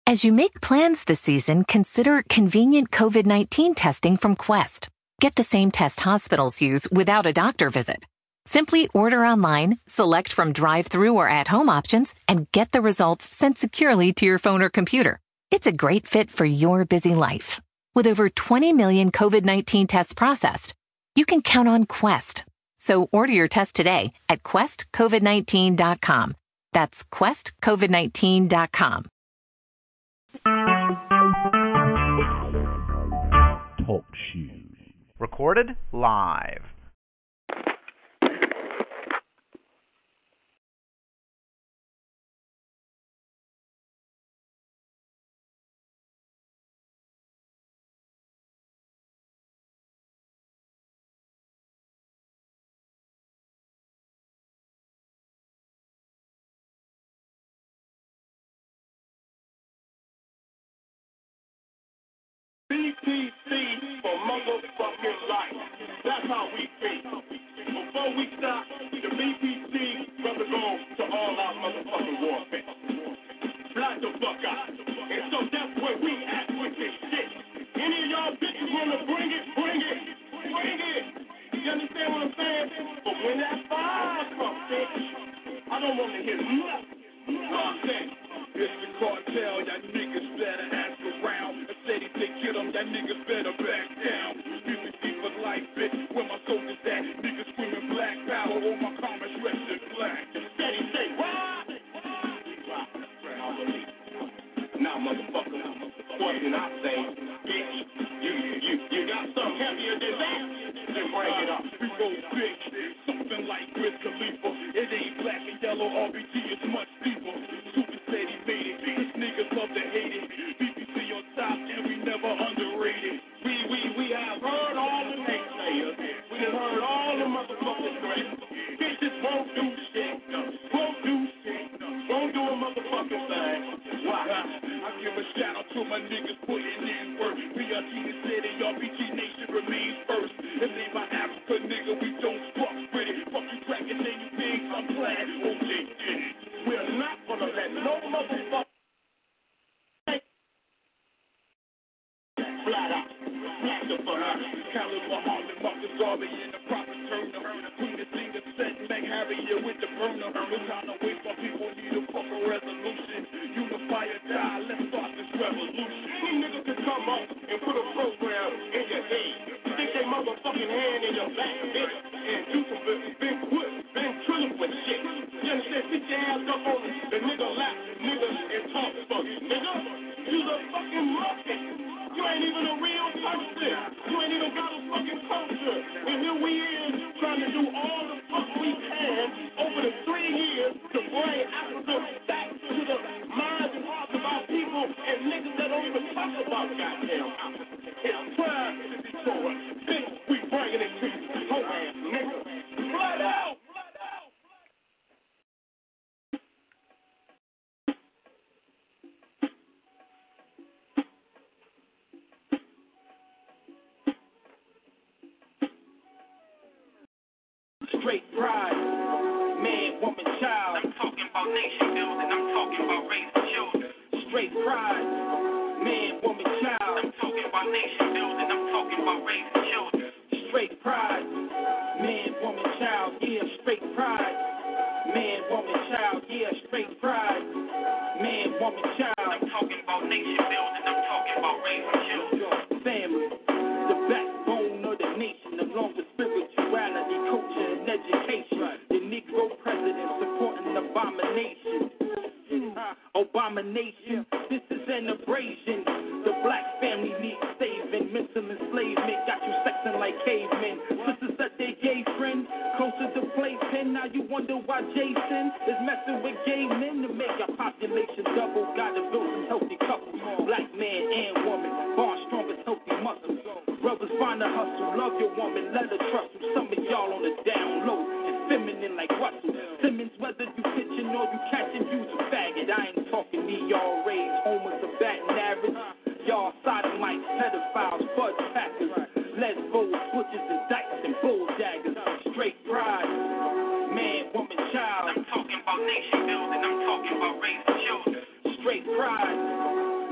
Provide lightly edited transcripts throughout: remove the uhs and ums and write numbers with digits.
As you make plans this season, consider convenient COVID-19 testing from Quest. Get the same test hospitals use without a doctor visit. Simply order online, select from drive-through or at-home options, and get the results sent securely to your phone or computer. It's a great fit for your busy life. With over 20 million COVID-19 tests processed, you can count on Quest. So order your test today at questcovid19.com. That's questcovid19.com. Talk shoes. Recorded live. BTC for motherfucking life. That's how we think. Before we stop, the BTC brother go to all our motherfucking warfare. Black the fuck out. And so that's where we at with this shit. Any of y'all bitches wanna bring it, bring it, bring it. You understand what I'm saying? But when that fire comes, bitch, I don't wanna hear nothing. You know what I'm saying? It's the cartel, y'all niggas better ask around. I said if they get them, y'all niggas better back down. BTC for life, bitch, where my soldiers at? Niggas screaming black power, all my comments resting black. Steady say, why? Nah, motherfucker, what did I say? Bitch, you got something heavier than that? Then bring it up. We go big, something like Wiz Khalifa. It ain't black and yellow, RBG is much deeper. Super said he made it, these niggas love to hate it. BBC on top and we never underrated. We have heard all the naysayers. We have heard all the motherfuckers great. Bitches won't do shit, won't do shit, won't do a motherfucking thing. Why? I give a shout out to my niggas putting in work. BRT said and RBG Nation remains first. If they my Africa nigga, we don't fuck with it. Fuck you cracking and you pigs, I'm glad OJ did it. We're not gonna let no motherfucker flat out. Black the fuck out. Caliber Harlem, Marcus Garvey in the proper turner. Queen the singer set Meg Harriet with the burner. No time to waste, my people need a fucking resolution. Unify or die, let's start this revolution. These niggas can come up and put a program in your head. Stick their motherfucking hand in your back, bitch, and do some ventriloquist shit. You understand? Sit your ass up on the nigga lap, nigga, and talk fuck. Nigga, you's a fucking monkey. You ain't even a real person. You ain't even got a fucking culture. And here we is trying to do all the fuck we can over the 3 years to bring Africa back to the minds and hearts of our people and niggas that don't even talk about goddamn Africa. It's time to be for us. Bitch, we bringing it to you. Whole ass nigga. Blood out! Straight pride, man, woman, child. I'm talking about nation building, I'm talking about raising children. Straight pride, man, woman, child. I'm talking about nation building, I'm talking about raising children. Straight pride, man, woman, child, yeah, straight pride. Man, woman, child, yeah, straight pride. Man, woman, child. I'm talking about nation building, I'm talking about raising children. Family, the backbone of the nation, along with spirituality, culture, and education. The Negro president supporting abomination. Abomination, this is an abrasion. The black family needs saving. Mental enslavement got you sexing like cavemen. Sisters that they gay friend, closer to playpen. Now you wonder why Jason is messing with gay men to make our population double. Gotta build some healthy couples. Black man and woman, born strong as healthy muscles. Brothers find a hustle, love your woman, let her trust you. Some of y'all on the down low, and feminine like Russell Simmons. Whether you pitching or you catching, you's a faggot. I ain't talking y'all rage, homers of batting average. Y'all sodomites, pedophiles, fudge packers, lesbos, switches and dykes and bull daggers. Straight pride, man, woman, child. I'm talking about nation building, I'm talking about raising children. Straight pride,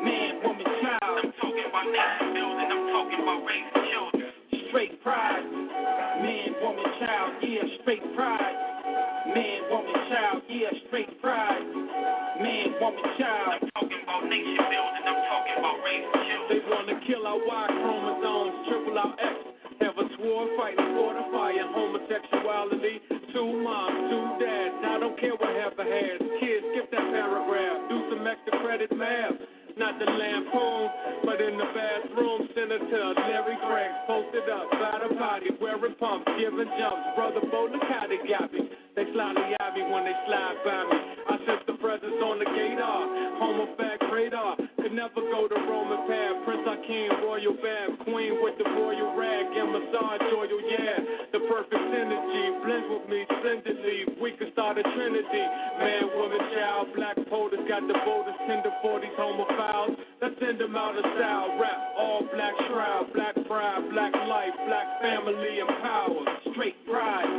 Kill our Y chromosomes, triple our X. Have a sword fighting for the fire, homosexuality. 2 moms, 2 dads, I don't care what half a has. Kids, skip that paragraph, do some extra credit math. Not the lampoon, but in the bathroom, Senator Larry Craig posted up, by the body, wearing pumps, giving jumps. Brother Bo, look how they got me. They slightly at me when they slide by me. I sense the presence on the gator, homo fact radar. Could never go the Roman path. Prince Hakeem, royal bath, queen with the royal rag and massage oil, yeah. The perfect synergy blends with me splendidly. We could start a trinity. Man, woman, child, black POTUS got the boldest tender 40s homophiles. Let's send them out of style. Rap all black shroud, black pride, black life, black family and power. Straight pride.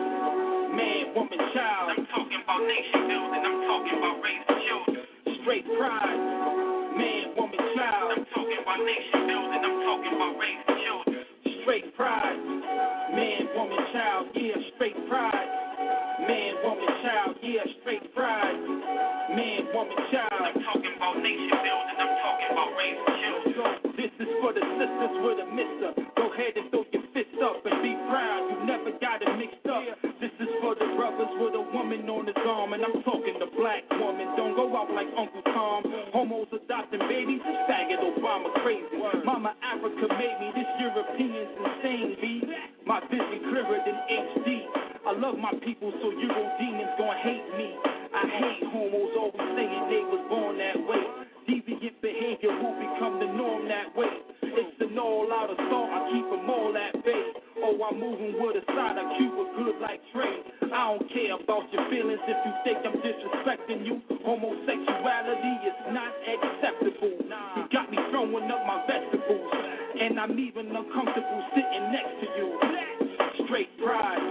Man, woman, child. I'm talking about nation building. I'm talking about raising children. Straight pride. Man, woman, child. I'm talking about nation building. I'm talking about raising children. Straight pride. Man, woman, child. Yeah, straight pride. Man, woman, child. Yeah, straight pride. Man, woman, child. I'm talking about nation building. I'm talking about raising children. This is for the sisters with a mister. Go ahead and throw your fists up and be proud. You never got it mixed up. This is for the brothers with a woman on his arm. And I'm talking the black woman. Don't go out like Uncle Tom. Homos adopting babies. This faggot Obama crazy. Mama Africa made me. This European's insane, B. My vision clearer than HD. I love my people, so Euro demons gon' hate me. I hate homos always saying they was born that way. Deviant behavior will become the norm that way. It's an all-out assault, I keep them all at bay. Oh, I'm moving with a side of Cuba good like Trey. I don't care about your feelings if you think I'm disrespecting you. Homosexuality is not acceptable. You got me throwing up my vegetables, and I'm even uncomfortable sitting next to you. Straight pride,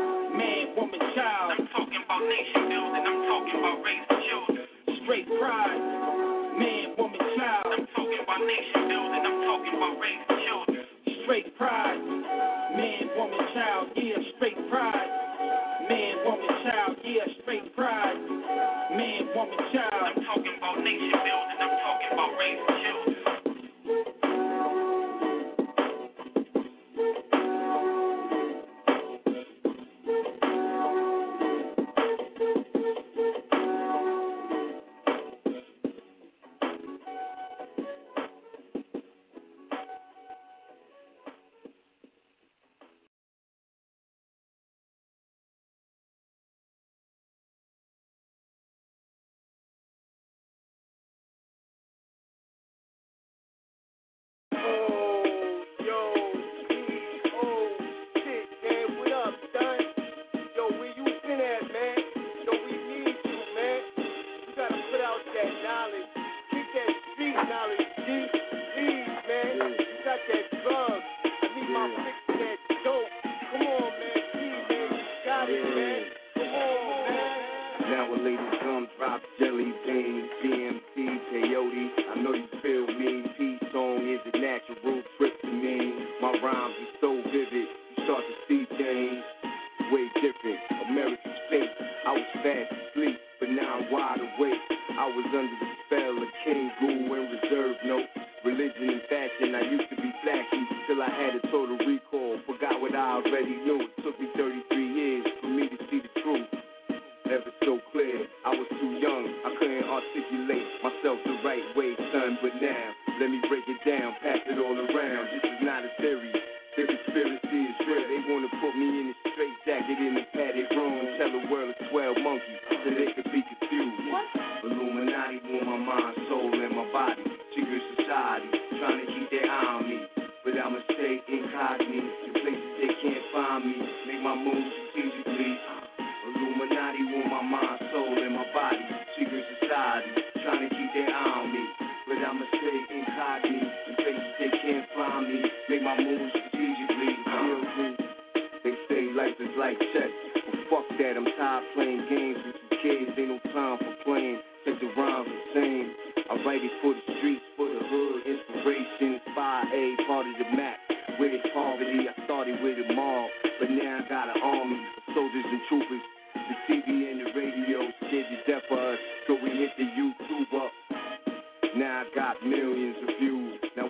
man, woman, child. I'm talking about nation building, I'm talking about raising children. Straight pride, man, woman, child. I'm talking about nation building, I'm talking about raising children. Straight pride, man, woman, child. Yeah, straight pride. Man, woman, child. Yeah, straight pride. Man, woman, child. I'm talking about nation building, I'm talking about raising children.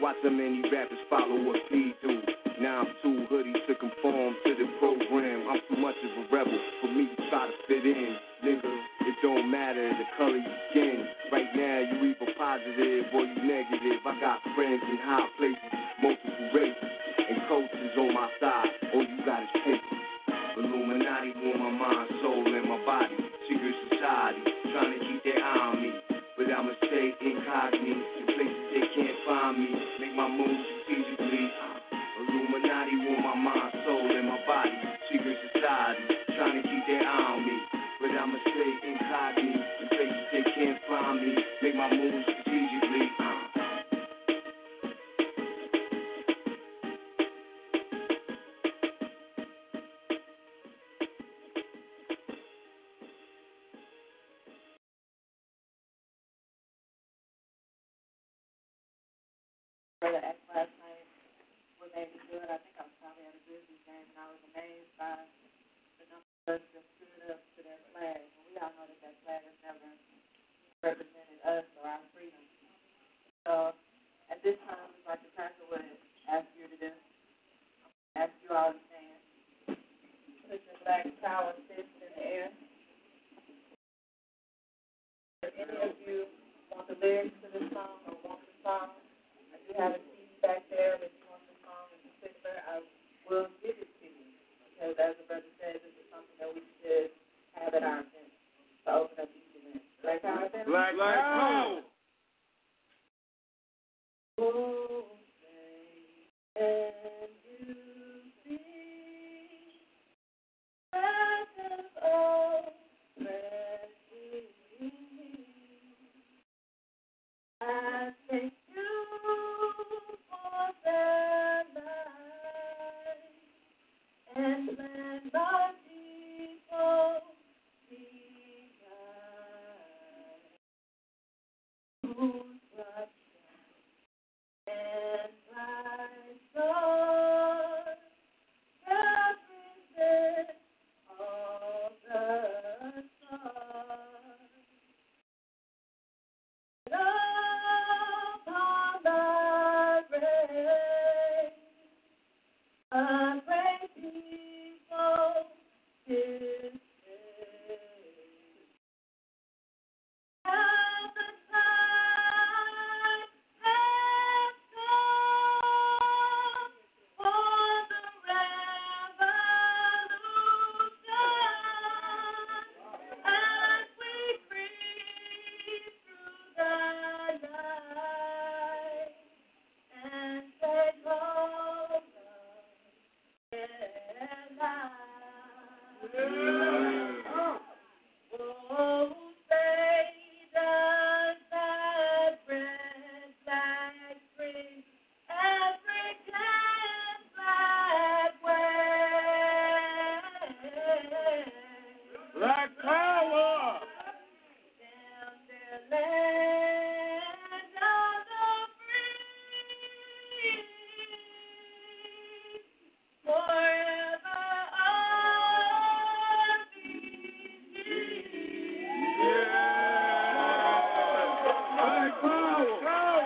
Watch how many rappers follow what we do. Now I'm too hoodie to conform to the program. I'm too much of a rebel for me to try to fit in. Nigga, it don't matter the color you skin. Right now you either positive or you negative. I got friends in high places, multiple races, and coaches on my side. All you got is paper. Illuminati on my mind, soul, and my body. Secret society, trying to keep their eye on me. But I'ma stay incognito in places they can't find me. Make my moves strategically. Illuminati on my mind, soul, and my body. Secret society, trying to keep their eye on me. But I'ma stay incognito in places they can't find me. Make my moves strategically. Brother X last night was able to do it. I think I was probably at a Grizzlies game, and I was amazed by the number of us that stood up to their flag. And we all know that that flag has never represented us or our freedom. So at this time, it's like the pastor would ask you to do. Ask you all to stand. Put your black power fist in the air. If any of you want the lyrics to this song or want the song, you have a CD back there that you want the song in particular, I will give it to you. Because as the brother says, this is something that we should have at our event to open up each event. Black Power event? Black Power! Oh, say, and you see, precious, oh, precious in me. I thank you for their life and let my people be right. Whose blood and my soul represent all the stars. Upon the race, a great people is saved. Now the time has come for the revolution as we breathe through the night and take hold of their lives. Oh, say does that red flag bring African flag wave? Black Power! Down their land of the free, forever on Black Power!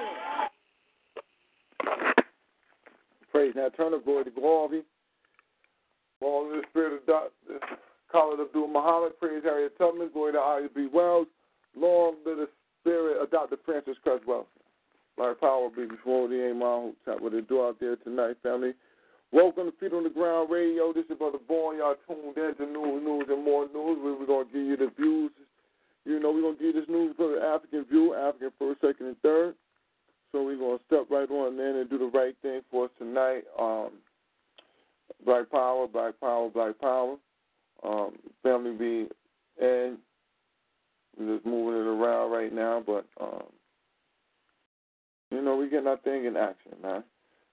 Praise. Now turn the glory to glory. All in the spirit of Khalid Abdul Muhammad. Praise Harriet Tubman. Glory to I.B. Wells. Long live the spirit of Dr. Francis Creswell. Black Power be before the Imam. What they do out there tonight, family. Welcome to Feet on the Ground Radio. This is Brother Bourne. Y'all tuned in to news, and more news. We're going to give you the views. You know, we're going to give you this news for the African view, African first, second, and third. So we're going to step right on in and do the right thing for us tonight. Black Power, Black Power, Black Power. Family be in. We're just moving it around right now, but, you know, we're getting our thing in action, man.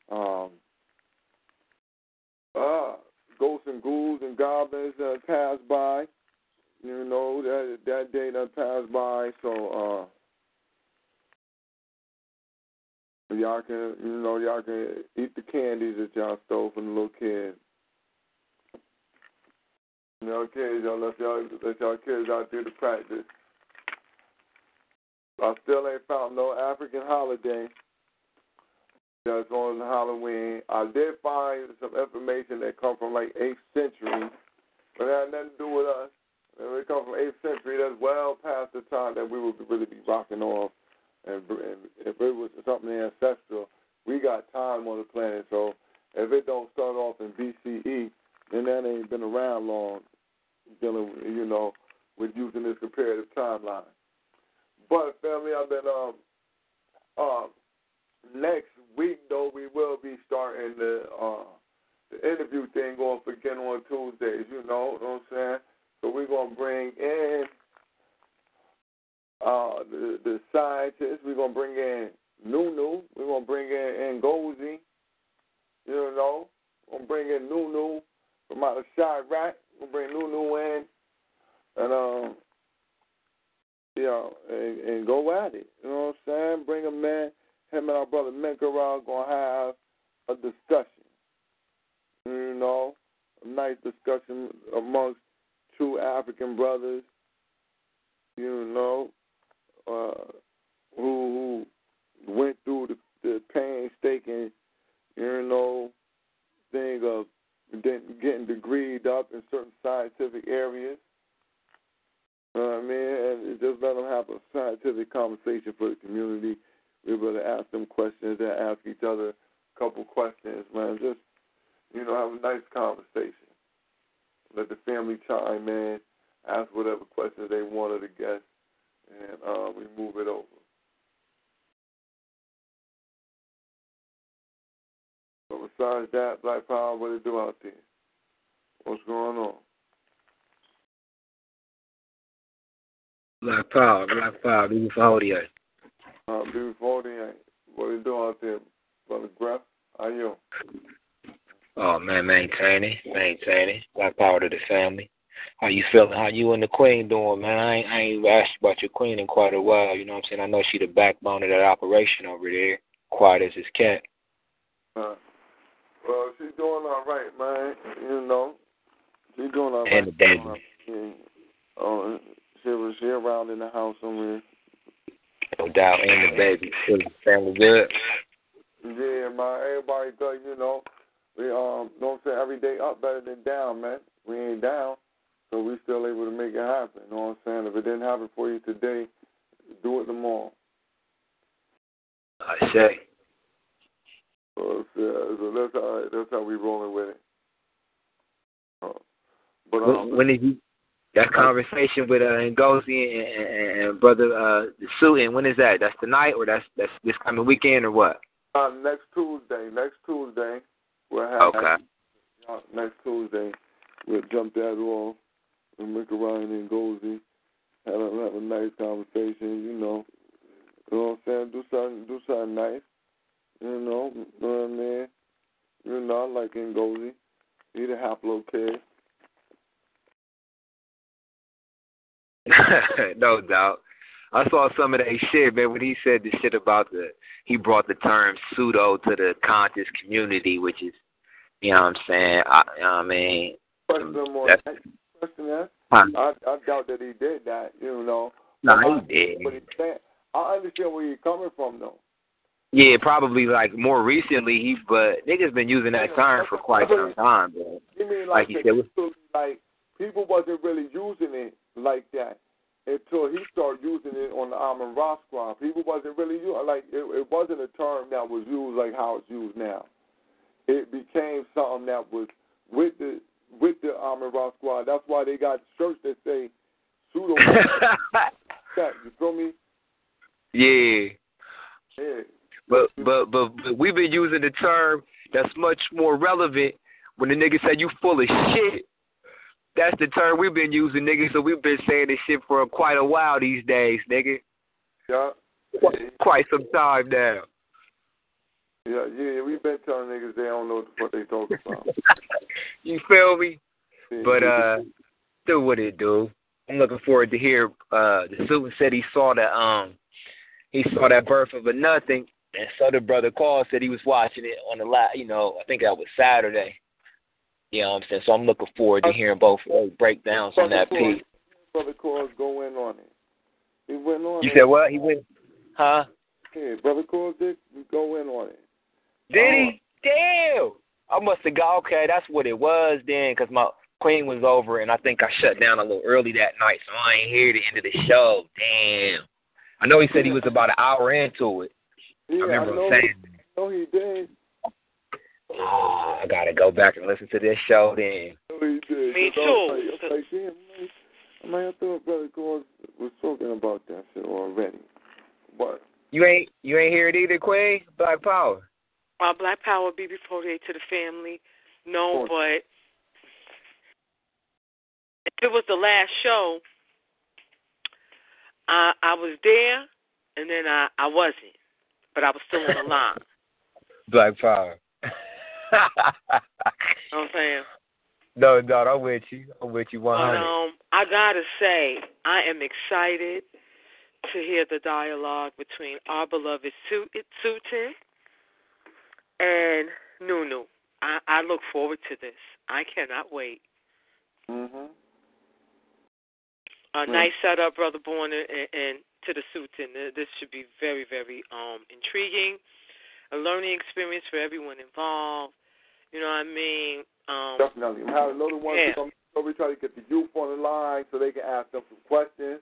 Ghosts and ghouls and goblins passed by. You know, that day that passed by, so y'all can eat the candies that y'all stole from the little kids. You know, kids, y'all let y'all kids out there to practice. I still ain't found no African holiday that's on Halloween. I did find some information that come from like 8th century, but it had nothing to do with us. If it comes from 8th century, that's well past the time that we would really be rocking off. And if it was something ancestral, we got time on the planet. So if it don't start off in BCE, then that ain't been around long, dealing, with using this comparative timeline. But family, I've been next week though we will be starting the interview thing going for again on Tuesdays. You know what I'm saying? So we're gonna bring in the scientists. We're gonna bring in Nunu. We're gonna bring in Ngozi. We're gonna bring in Nunu from out of Chirac. We'll bring Nunu in and and go at it. You know what I'm saying? Bring him in. Him and our brother Menkara gonna have a discussion. A nice discussion amongst two African brothers. Who went through the painstaking, thing of getting degreed up in certain scientific areas. You know what I mean? And just let them have a scientific conversation for the community. We're able to ask them questions and ask each other a couple questions, man. Just, have a nice conversation. Let the family chime in, ask whatever questions they want of the guests, and we move it over. But besides that, Black Power, what it do out there? What's going on? Black Power, beautiful audio. Beautiful audio. What it do out there, Brother Graf? How you? Oh, man, maintaining. Black Power to the family. How you feeling? How you and the Queen doing, man? I ain't asked you about your Queen in quite a while. You know what I'm saying? I know she the backbone of that operation over there. Quiet as his cat. Well, she's doing all right, man. She's doing all right. And the baby. She around in the house somewhere. No doubt. And the baby. Family good? Yeah, man. Everybody does, we, don't say every day up better than down, man. We ain't down, so we still able to make it happen. You know what I'm saying? If it didn't happen for you today, do it tomorrow. I say. So that's how we rolling with it. When did you that conversation with Ngozi and brother the Suitin? When is that? That's tonight or that's this coming weekend or what? Next Tuesday. We'll have next Tuesday. We'll jump that off and make a Ryan and Ngozi. Have a nice conversation. You know what I'm saying? Do something nice. You know what I mean? I like Ngozi. He's a haplo kid. No doubt. I saw some of that shit, man, when he said the shit about he brought the term pseudo to the conscious community, which is, you know what I'm saying? I doubt that he did that, No, he did. I understand where you're coming from, though. Yeah, probably, like, more recently, but niggas been using that term for quite some time, bro. You mean like he said, people wasn't really using it like that until he started using it on the Amon Ra Squad. People wasn't really using it wasn't a term that was used like how it's used now. It became something that was with the Amon Ra Squad. That's why they got shirts that say pseudo. You feel me? Yeah. Yeah. But we've been using the term that's much more relevant when the nigga said you full of shit. That's the term we've been using, nigga, so we've been saying this shit for quite a while these days, nigga. Yeah. Quite some time now. Yeah, we've been telling niggas they don't know what they talking about. You feel me? Yeah, But, do what it do. I'm looking forward to hear, the student said he saw that Birth of a Nothing, and so the brother called, said he was watching it on the I think that was Saturday. You know what I'm saying? So I'm looking forward to hearing both breakdowns on that piece. Brother Cause go in on it. He went on You it. said what? He went, huh? Yeah, Brother Cause did go in on it. Did he? Damn. I must have got, okay, that's what it was then, because my queen was over, and I think I shut down a little early that night, so I ain't hear the end of the show. Damn. I know he said he was about an hour into it. Yeah, I remember him saying that. I know he did. Oh, I got to go back and listen to this show then. I know he did. Me too. I was like, damn, I thought Brother Gordon was talking about that shit already. But You ain't hear it either, Queen? Black Power. Black Power, BB48 to the family. No, but if it was the last show, I was there, and then I wasn't, but I was still on the line. Black Power. You know what I'm saying? No, I'm with you. I'm with you 100. But I gotta say, I am excited to hear the dialogue between our beloved Sutin and Nunu. I look forward to this. I cannot wait. Mhm. A nice setup, Brother Bourne, and to the Sutin. This should be very, very intriguing. A learning experience for everyone involved. You know what I mean? Definitely. We have another one. Yeah. So we try to get the youth on the line so they can ask them some questions.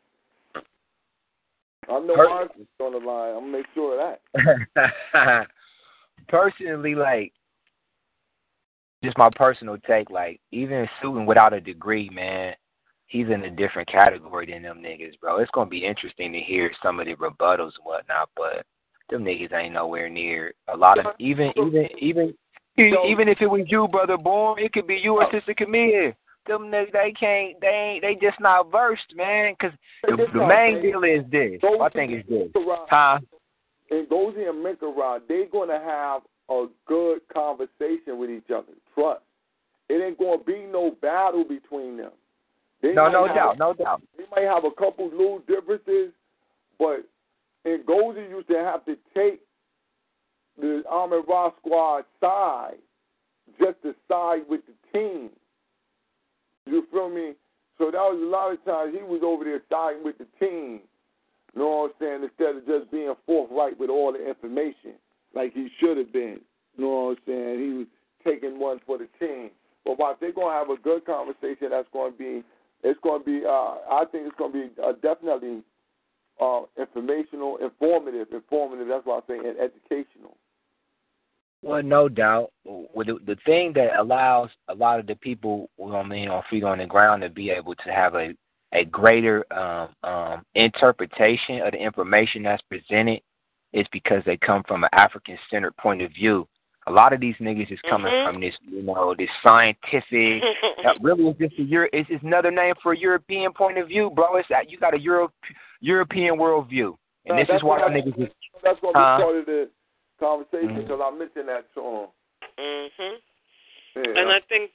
I know ours is on the line. I'm going to make sure of that. Personally, like, just my personal take, like, even Sutin without a degree, man, he's in a different category than them niggas, bro. It's going to be interesting to hear some of the rebuttals and whatnot, but them niggas ain't nowhere near a lot of, even if it was you, Brother Bourne, it could be you or Sister Camille. Them niggas, they just not versed, man, because the main deal is this. I think it's this. Huh? And Gozi and Minkarod, they're going to have a good conversation with each other. Trust. It ain't going to be no battle between them. No doubt. They might have a couple little differences, but and Gozi used to have to take the Ahmed Ra squad side just to side with the team. You feel me? So that was a lot of times he was over there siding with the team. You know what I'm saying? Instead of just being forthright with all the information like he should have been. You know what I'm saying? He was taking one for the team. But while they're going to have a good conversation, I think it's going to be definitely informative. That's why I say, and educational. Well, no doubt. The thing that allows a lot of the people, on feet on the ground to be able to have a greater interpretation of the information that's presented is because they come from an African-centered point of view. A lot of these niggas is coming from this, this scientific. Really, it's just another name for a European point of view, bro. It's that you got a European worldview, and this is why niggas is. That's going to be part of the conversation because I mentioned that to him. Yeah. And I think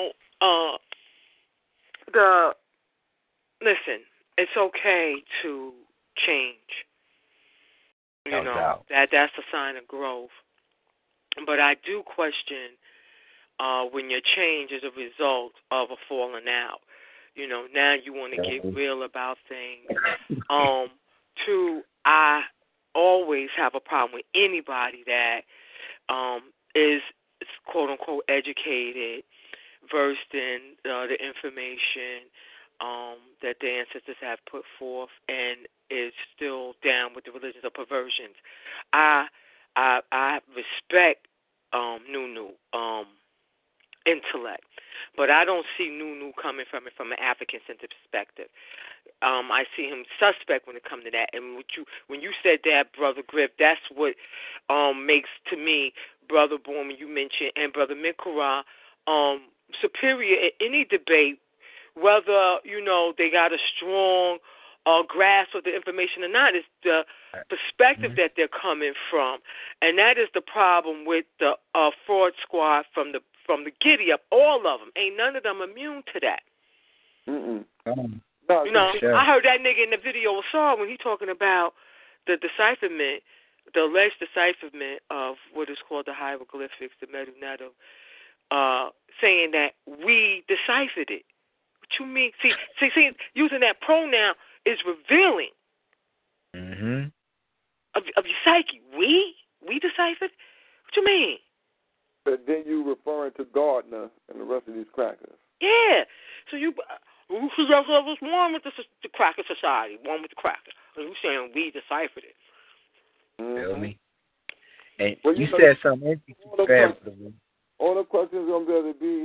listen, it's okay to change. No doubt. That's a sign of growth. But I do question when your change is a result of a falling out. Now you want to get real about things. I always have a problem with anybody that is quote unquote educated, versed in the information that the ancestors have put forth, and is still down with the religions of perversions. I respect Nunu intellect, but I don't see Nunu coming from it from an African-centered perspective. I see him suspect when it comes to that. And when you said that, Brother Griff, that's what makes to me, Brother Bourne, when you mentioned, and Brother Mikura, superior in any debate, whether, they got a strong grasp of the information or not, is the perspective that they're coming from. And that is the problem with the fraud squad from the giddy up. All of them. Ain't none of them immune to that. Sure. I heard that nigga in the video I saw when he talking about the decipherment, the alleged decipherment of what is called the hieroglyphics, the Medu Neter, saying that we deciphered it. What you mean? See, using that pronoun is revealing of your psyche. We deciphered? What you mean? But then you referring to Gardner and the rest of these crackers. Yeah. So you just was one with the Cracker Society, one with the cracker. And you saying we deciphered it. Feel me? And well, you said something interesting. All the questions gonna be able to be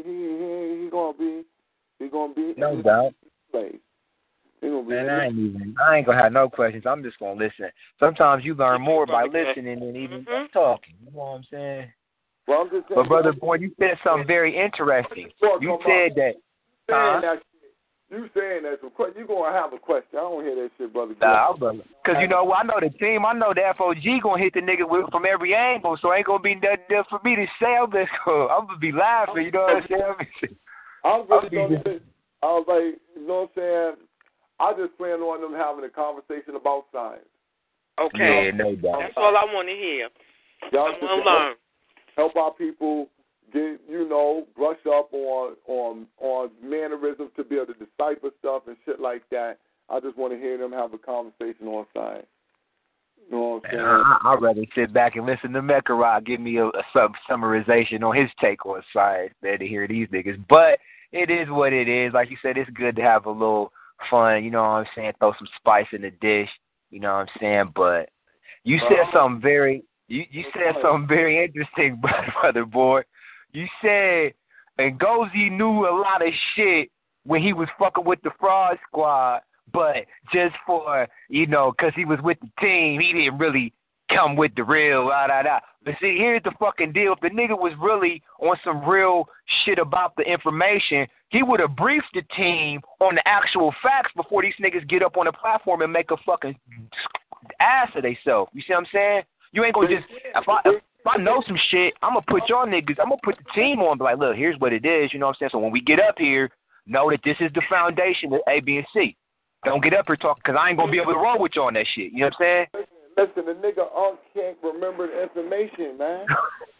he gonna be no doubt. Place. Man, I ain't gonna have no questions. I'm just gonna listen. Sometimes you learn more by listening than even talking. You know what I'm saying? Well, I'm just saying, but brother boy, you said something very interesting. You said that. You saying that, so you gonna have a question. I don't hear that shit, brother. Nah, brother. Because you know what? I know the team. I know the FOG gonna hit the nigga from every angle, so ain't gonna be nothing there for me to say. I'm gonna be laughing. You know what I'm saying? I was like, you know what I'm saying? I just plan on them having a conversation about science. Okay. Yeah, no doubt. That's all I want to hear. Y'all I want to learn. Help our people get, brush up on mannerisms to be able to decipher stuff and shit like that. I just want to hear them have a conversation on science. You know what I'm saying? I'd rather sit back and listen to Mekarot give me a summarization on his take on science than to hear these niggas. But it is what it is. Like you said, it's good to have a little fun, you know what I'm saying, throw some spice in the dish, you know what I'm saying, but you said something very, you said something very interesting, brother boy. You said Ngozi knew a lot of shit when he was fucking with the Fraud Squad, but just for, because he was with the team, he didn't really come with the real, But see, here's the fucking deal. If the nigga was really on some real shit about the information, he would have briefed the team on the actual facts before these niggas get up on the platform and make a fucking ass of themselves. You see what I'm saying? You ain't gonna just, if I know some shit, I'm gonna put y'all niggas, I'm gonna put the team on, be like, look, here's what it is, you know what I'm saying? So when we get up here, know that this is the foundation of A, B, and C. Don't get up here talking, because I ain't gonna be able to roll with y'all on that shit. You know what I'm saying? Listen, the nigga Unc can't remember the information, man.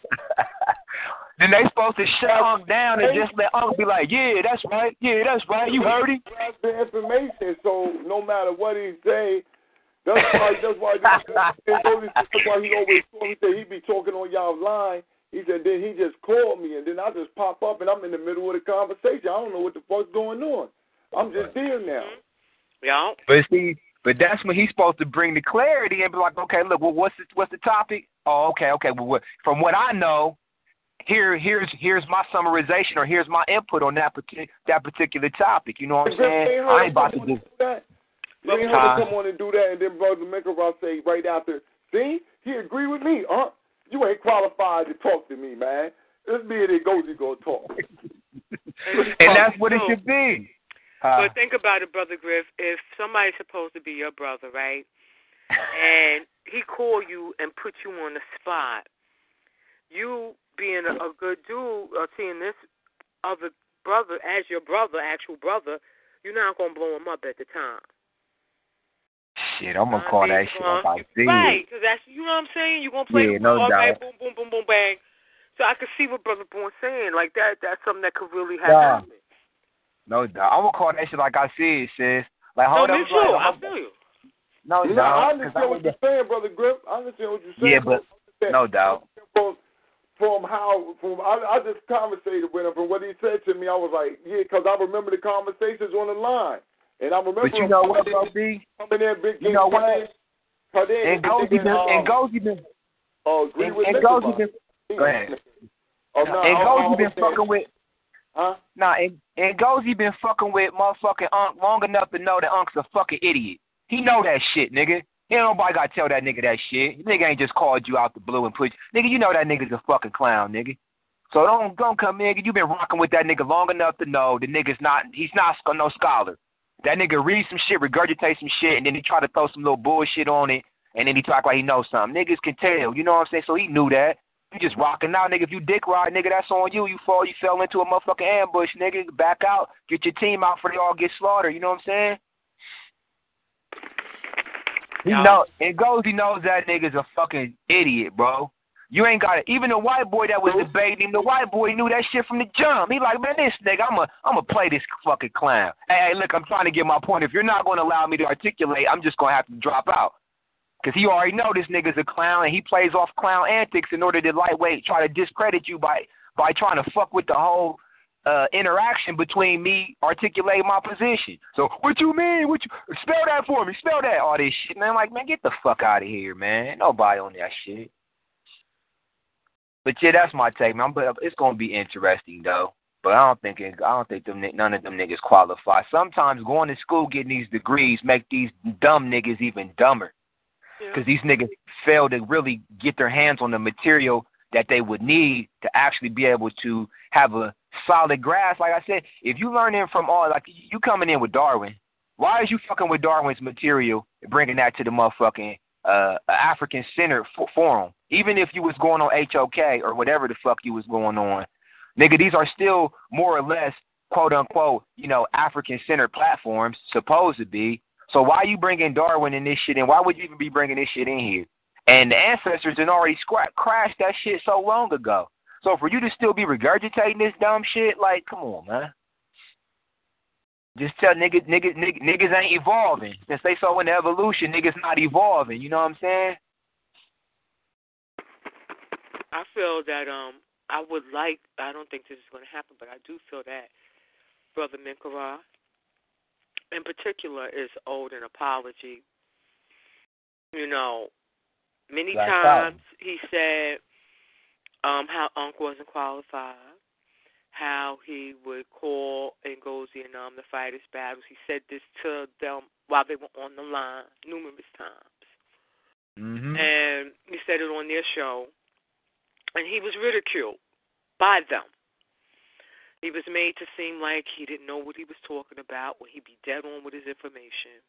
Then they supposed to shut Unc down and just let Unc be like, yeah, that's right, you heard him. That's the information, so no matter what he say, that's why he always told me, he said he be talking on y'all line. He said then he just called me, and then I just pop up, and I'm in the middle of the conversation. I don't know what the fuck's going on. I'm just there now. Yeah. But see, that's when he's supposed to bring the clarity and be like, okay, look, well, what's the topic? Oh, okay. Well, from what I know, here's my summarization, or here's my input on that particular topic. You know what I'm saying? I ain't about to do that. You ain't heard him come on and do that, and then Brother Mekarot say right after, see, he agree with me. You ain't qualified to talk to me, man. This me and Ngozi gonna talk. And that's what it should be. But think about it, Brother Griff. If somebody's supposed to be your brother, right, and he call you and put you on the spot, you being a good dude, seeing this other brother as your brother, actual brother, you're not going to blow him up at the time. Shit, I'm going to call that shit like I see it. Right, because that's, you know what I'm saying? You're going to play the ball, right, boom, boom, boom, boom, bang. So I can see what Brother Bourne saying. Like, that's something that could really happen. No doubt. I'm going to call that shit like I see it, sis. Like, hold me up. too. I feel you. No doubt. I understand what you're saying, Brother Griff. I understand what you're saying. Yeah, but no doubt. I just conversated with him. From what he said to me, I was like, yeah, because I remember the conversations on the line. And I remember. But you know what, B? Coming in, big. You know what? And Ngozi been. Oh, agree with Ngozi been. Go ahead. And Ngozi been fucking with. Huh? Nah, and Ngozi been fucking with motherfucking Unc long enough to know that Unc's a fucking idiot. He know that shit, nigga. Ain't nobody gotta tell that nigga that shit. Nigga ain't just called you out the blue and put you. Nigga, you know that nigga's a fucking clown, nigga. So don't come in. You been rocking with that nigga long enough to know the nigga's he's not no scholar. That nigga read some shit, regurgitate some shit, and then he try to throw some little bullshit on it, and then he talk like he knows something. Niggas can tell, you know what I'm saying? So he knew that. You just rocking out, nigga. If you dick ride, nigga, that's on you. You fell into a motherfucking ambush, nigga. Back out, get your team out before they all get slaughtered. You know what I'm saying? He knows that nigga's a fucking idiot, bro. You ain't got it. Even the white boy that was debating him, the white boy knew that shit from the jump. He like, man, this nigga, I'ma play this fucking clown. Hey, look, I'm trying to get my point. If you're not going to allow me to articulate, I'm just going to have to drop out. Because he already know this nigga's a clown, and he plays off clown antics in order to lightweight try to discredit you by trying to fuck with the whole interaction between me articulating my position. So, what you mean? What you spell that for me? Spell that. All this shit, man. Like, man, get the fuck out of here, man. Ain't nobody on that shit. But yeah, that's my take, man. But it's gonna be interesting though. But I don't think none of them niggas qualify. Sometimes going to school getting these degrees make these dumb niggas even dumber. Because these niggas fail to really get their hands on the material that they would need to actually be able to have a solid grasp. Like I said, if you learn in from all, like you coming in with Darwin, why is you fucking with Darwin's material and bringing that to the motherfucking African-centered forum? Even if you was going on HOK or whatever the fuck you was going on, nigga, these are still more or less, quote-unquote, African-centered platforms, supposed to be. So why you bringing Darwin in this shit, and why would you even be bringing this shit in here? And the ancestors had already crashed that shit so long ago. So for you to still be regurgitating this dumb shit, like, come on, man. Just tell niggas ain't evolving. Since they so into evolution, niggas not evolving. You know what I'm saying? I feel that I don't think this is going to happen, but I do feel that Brother Minkara, in particular, is owed an apology. Many times he said how Unc wasn't qualified, how he would call Ngozi and the fighters battles. He said this to them while they were on the line numerous times. Mm-hmm. And he said it on their show. And he was ridiculed by them. He was made to seem like he didn't know what he was talking about when he'd be dead on with his information.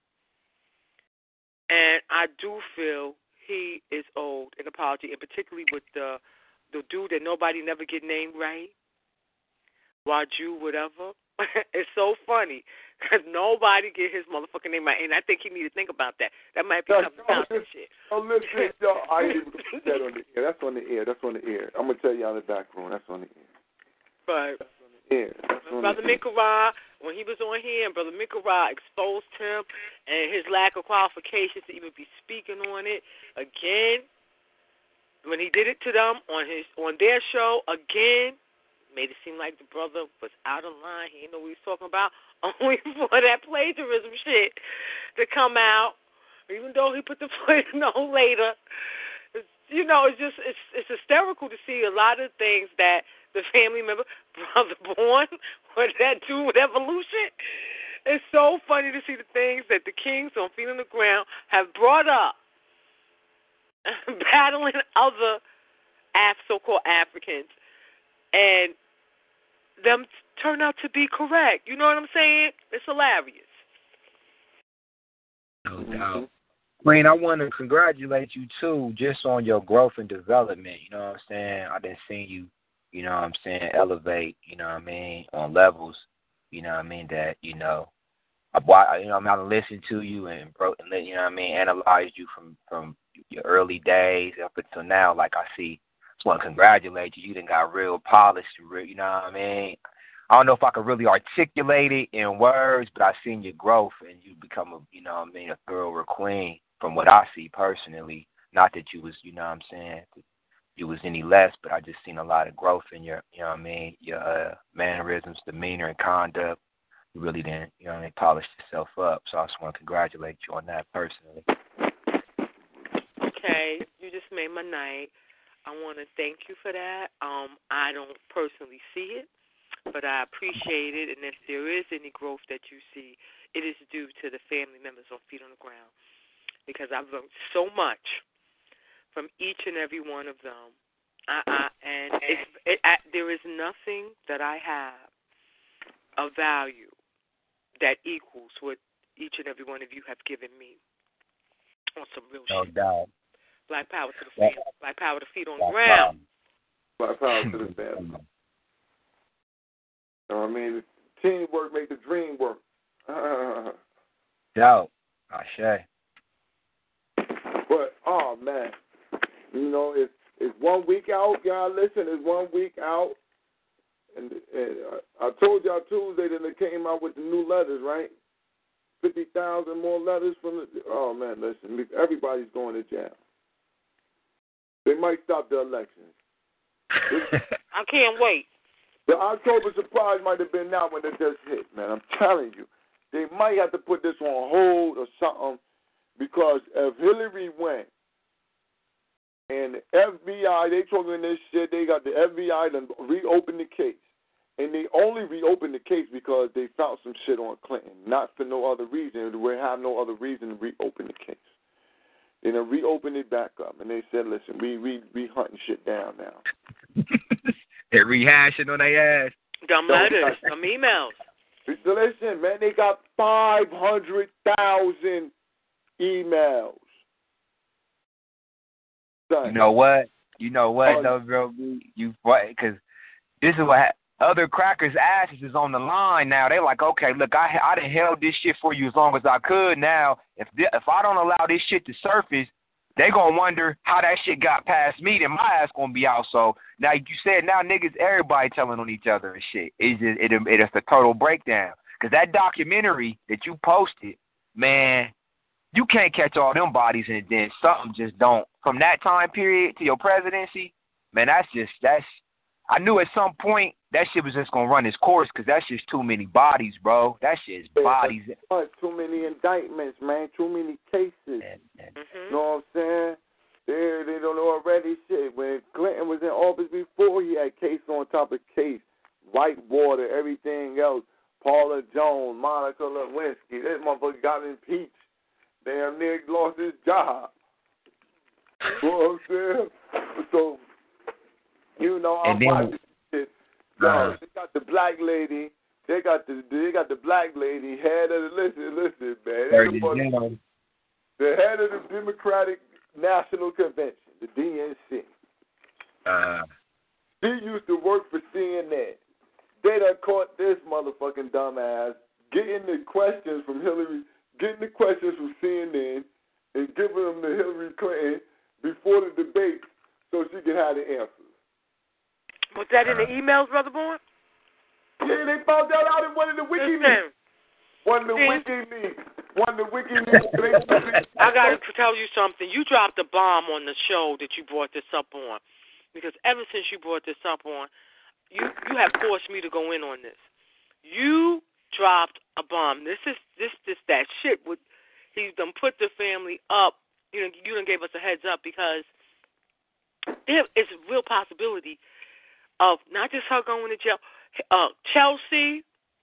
And I do feel he is owed an apology, and particularly with the dude that nobody never get named right, Waju, whatever. It's so funny because nobody get his motherfucking name right, and I think he need to think about that. That might be something about that shit. Oh, listen, y'all, I ain't able to put that on the air. That's on the air. I'm gonna tell y'all in the back room. That's on the air. But yeah, Brother Minkara, when he was on here, and Brother Minkara exposed him and his lack of qualifications to even be speaking on it again. When he did it to them on their show again, made it seem like the brother was out of line. He didn't know what he was talking about. Only for that plagiarism shit to come out, even though he put the footnote later. It's hysterical to see a lot of things that the family member, Brother Born, what that do with evolution. It's so funny to see the things that the kings on Feet on the Ground have brought up, battling other so-called Africans, and them turn out to be correct. You know what I'm saying? It's hilarious. No doubt. Queen, I want to congratulate you, too, just on your growth and development. You know what I'm saying? I done seen you, elevate, on levels, that, I'm out and listen to you and, analyze you from your early days up until now. Like I see, just want to congratulate you. You done got real polished, you know what I mean? I don't know if I could really articulate it in words, but I've seen your growth and you become a thorough queen from what I see personally. Not that you was, you was any less, but I just seen a lot of growth in your, your mannerisms, demeanor, and conduct. You really didn't, polished yourself up. So I just want to congratulate you on that personally. Okay, you just made my night. I want to thank you for that. I don't personally see it, but I appreciate it. And if there is any growth that you see, it is due to the family members on Feet on the Ground, because I've learned so much from each and every one of them. There is nothing that I have of value that equals what each and every one of you have given me on some real shit. No doubt. Black power to the family. Black power to Feet on the Ground. Black power to the family. Teamwork make the dream work. Doubt. Ashe. But, oh, man. It's 1 week out, y'all. Listen, it's 1 week out. And I told y'all Tuesday that they came out with the new letters, right? 50,000 more letters from the. Oh man, listen, everybody's going to jail. They might stop the elections. I can't wait. The October surprise might have been now when it just hit, man. I'm telling you, they might have to put this on hold or something because if Hillary went and the FBI, they talking this shit, they got the FBI to reopen the case. And they only reopened the case because they found some shit on Clinton, not for no other reason. We have no other reason to reopen the case. They done reopened it back up, and they said, listen, we hunting shit down now. They're rehashing on their ass. Some letters, some emails. So listen, man, they got 500,000 emails. Son. You know what? Though, bro? You because this is what other crackers' asses is on the line now. They like, okay, look, I done held this shit for you as long as I could. Now, if I don't allow this shit to surface, they gonna wonder how that shit got past me. Then my ass gonna be out. So now you said now niggas, everybody telling on each other and shit. It's a total breakdown. Cause that documentary that you posted, man, you can't catch all them bodies and then something just don't. From that time period to your presidency, man, that's. I knew at some point that shit was just gonna run its course because that's just too many bodies, bro. That's just bodies. Too many indictments, man. Too many cases. Mm-hmm. You know what I'm saying? They don't know already shit. When Clinton was in office before, he had case on top of case. Whitewater, everything else. Paula Jones, Monica Lewinsky. This motherfucker got impeached. Damn near lost his job. You know what I'm saying? So, you know, I'm watching shit. Yo, they got the black lady. They got the black lady head of the listen, man. The head of the Democratic National Convention, the DNC. She used to work for CNN. They done caught this motherfucking dumbass getting the questions from Hillary, getting the questions from CNN, and giving them to Hillary Clinton before the debate so she can have the answers. Was that in the emails, Brother Bourne? Yeah, they found that out in one of the WikiLeaks. One of the WikiLeaks. I got to tell you something. You dropped a bomb on the show that you brought this up on. Because ever since you brought this up on, you have forced me to go in on this. You dropped a bomb. This that shit. He done put the family up. You done gave us a heads up because there is a real possibility of not just her going to jail, Chelsea,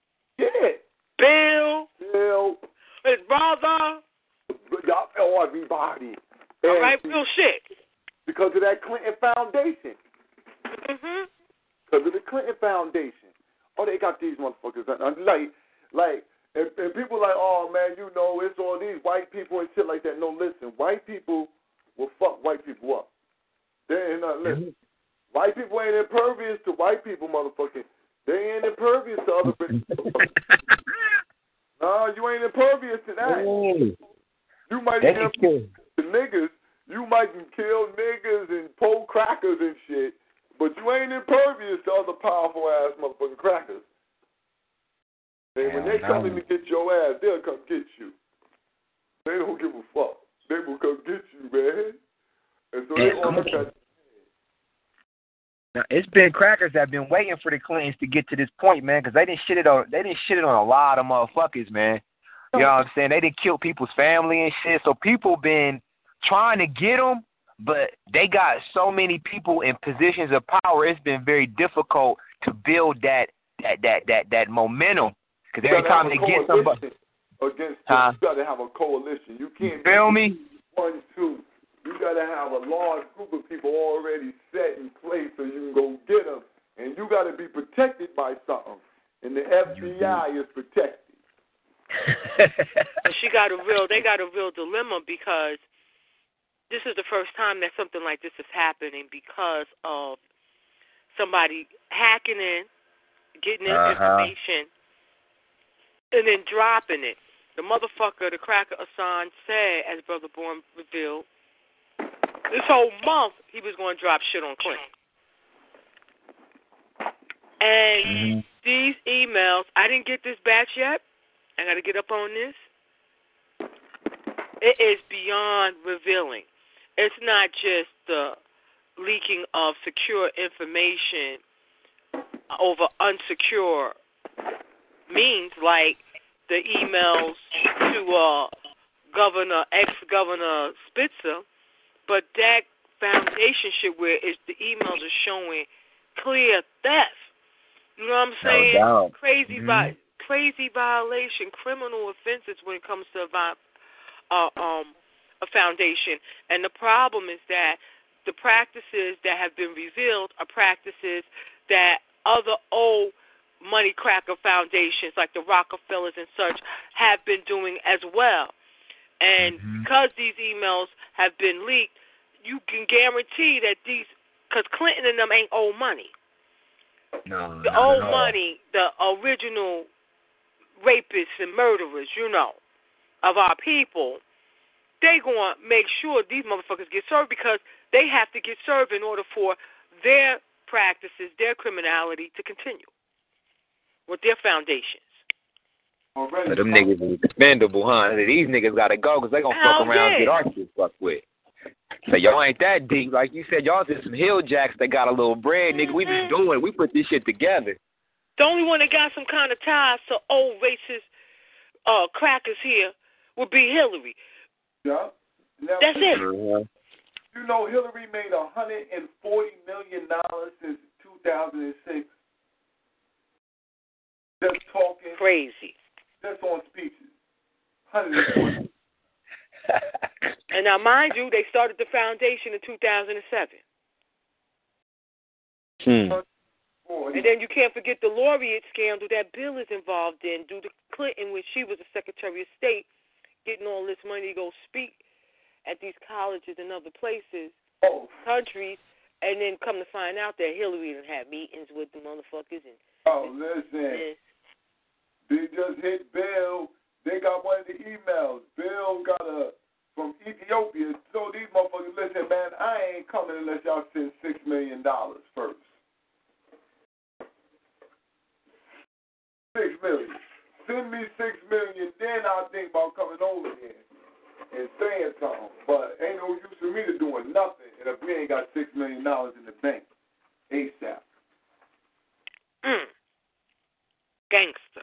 Bill, his brother, everybody. All right, real shit. Because of that Clinton Foundation. Mm-hmm. Because of the Clinton Foundation. Oh, they got these motherfuckers. Like, and people like, oh, man, you know, it's all these white people and shit like that. No, listen, white people will fuck white people up. They ain't not listen. White people ain't impervious to white people, motherfucker. They ain't impervious to other people. No, you ain't impervious to that. You might be impervious to niggas. You might kill niggas and pull crackers and shit, but you ain't impervious to other powerful-ass motherfucking crackers. And when they coming to get your ass, they'll come get you. They don't give a fuck. They will come get you, man. And so they all look at. Now, it's been crackers that have been waiting for the Clintons to get to this point, man, because they didn't shit it on a lot of motherfuckers, man. You know what I'm saying? They didn't kill people's family and shit, so people been trying to get them, but they got so many people in positions of power. It's been very difficult to build that momentum. Because every time they get somebody against them, you got to have a coalition. You can't feel me? 1, 2. You got to have a large group of people already set in place so you can go get them, and you got to be protected by something. And the FBI is protected. They got a real dilemma because this is the first time that something like this is happening because of somebody hacking in, getting information, and then dropping it. The motherfucker, the cracker Assange said, as Brother Bourne revealed, this whole month he was going to drop shit on Clinton. And these emails, I didn't get this batch yet. I got to get up on this. It is beyond revealing. It's not just the leaking of secure information over unsecure means, like the emails to ex-governor Spitzer, but that foundation shit where the emails are showing clear theft. You know what I'm saying? No doubt. Crazy violation, criminal offenses when it comes to a foundation. And the problem is that the practices that have been revealed are practices that other old money cracker foundations like the Rockefellers and such have been doing as well. And because these emails have been leaked, you can guarantee that because Clinton and them ain't old money. No, the old money, the original rapists and murderers, of our people, they going to make sure these motherfuckers get served because they have to get served in order for their practices, their criminality to continue with their foundations. So them niggas is expendable, huh? These niggas got to go because they going to fuck around and get our shit fucked with. So y'all ain't that deep. Like you said, y'all just some hill jacks that got a little bread, nigga. We just doing it. We put this shit together. The only one that got some kind of ties to old racist crackers here would be Hillary. Yeah. Now, that's it. You know, Hillary made $140 million since 2006. Just talking. Crazy. Just on speeches. 140. And now, mind you, they started the foundation in 2007. And then you can't forget the Laureate scandal that Bill is involved in due to Clinton when she was the Secretary of State, getting all this money to go speak at these colleges and other places, countries, and then come to find out that Hillary done had meetings with the motherfuckers. Listen. They just hit Bill. They got one of the emails. Bill got from Ethiopia. So these motherfuckers, listen, man, I ain't coming unless y'all send $6 million first. $6 million. Send me $6 million, then I'll think about coming over here and saying something. But ain't no use for me to doing nothing if we ain't got $6 million in the bank ASAP. Gangster.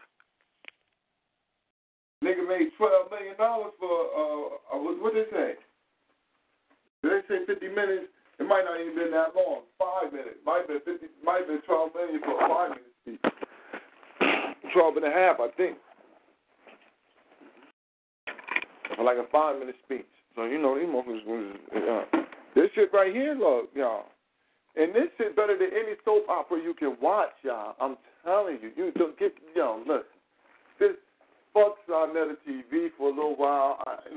Nigga made $12 million for, what did they say? Did they say 50 minutes? It might not even been that long. 5 minutes. Might have been $12 million for a 5 minute speech. 12 and a half, I think. For like a 5 minute speech. So, these motherfuckers, this shit right here, look, y'all. And this shit better than any soap opera you can watch, y'all. I'm telling you. You don't get, listen. This fuck Sarnetta TV for a little while.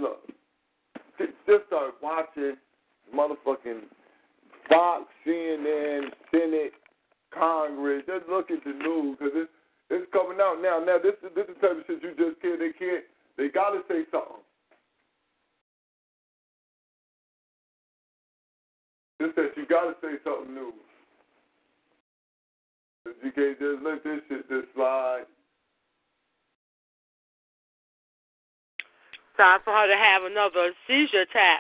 Just start watching motherfucking Fox, CNN, Senate, Congress. Just look at the news because it's coming out now. Now this is the type of shit you just can't. They gotta say something. This says you gotta say something new. You can't just let this shit just slide. Time for her to have another seizure attack.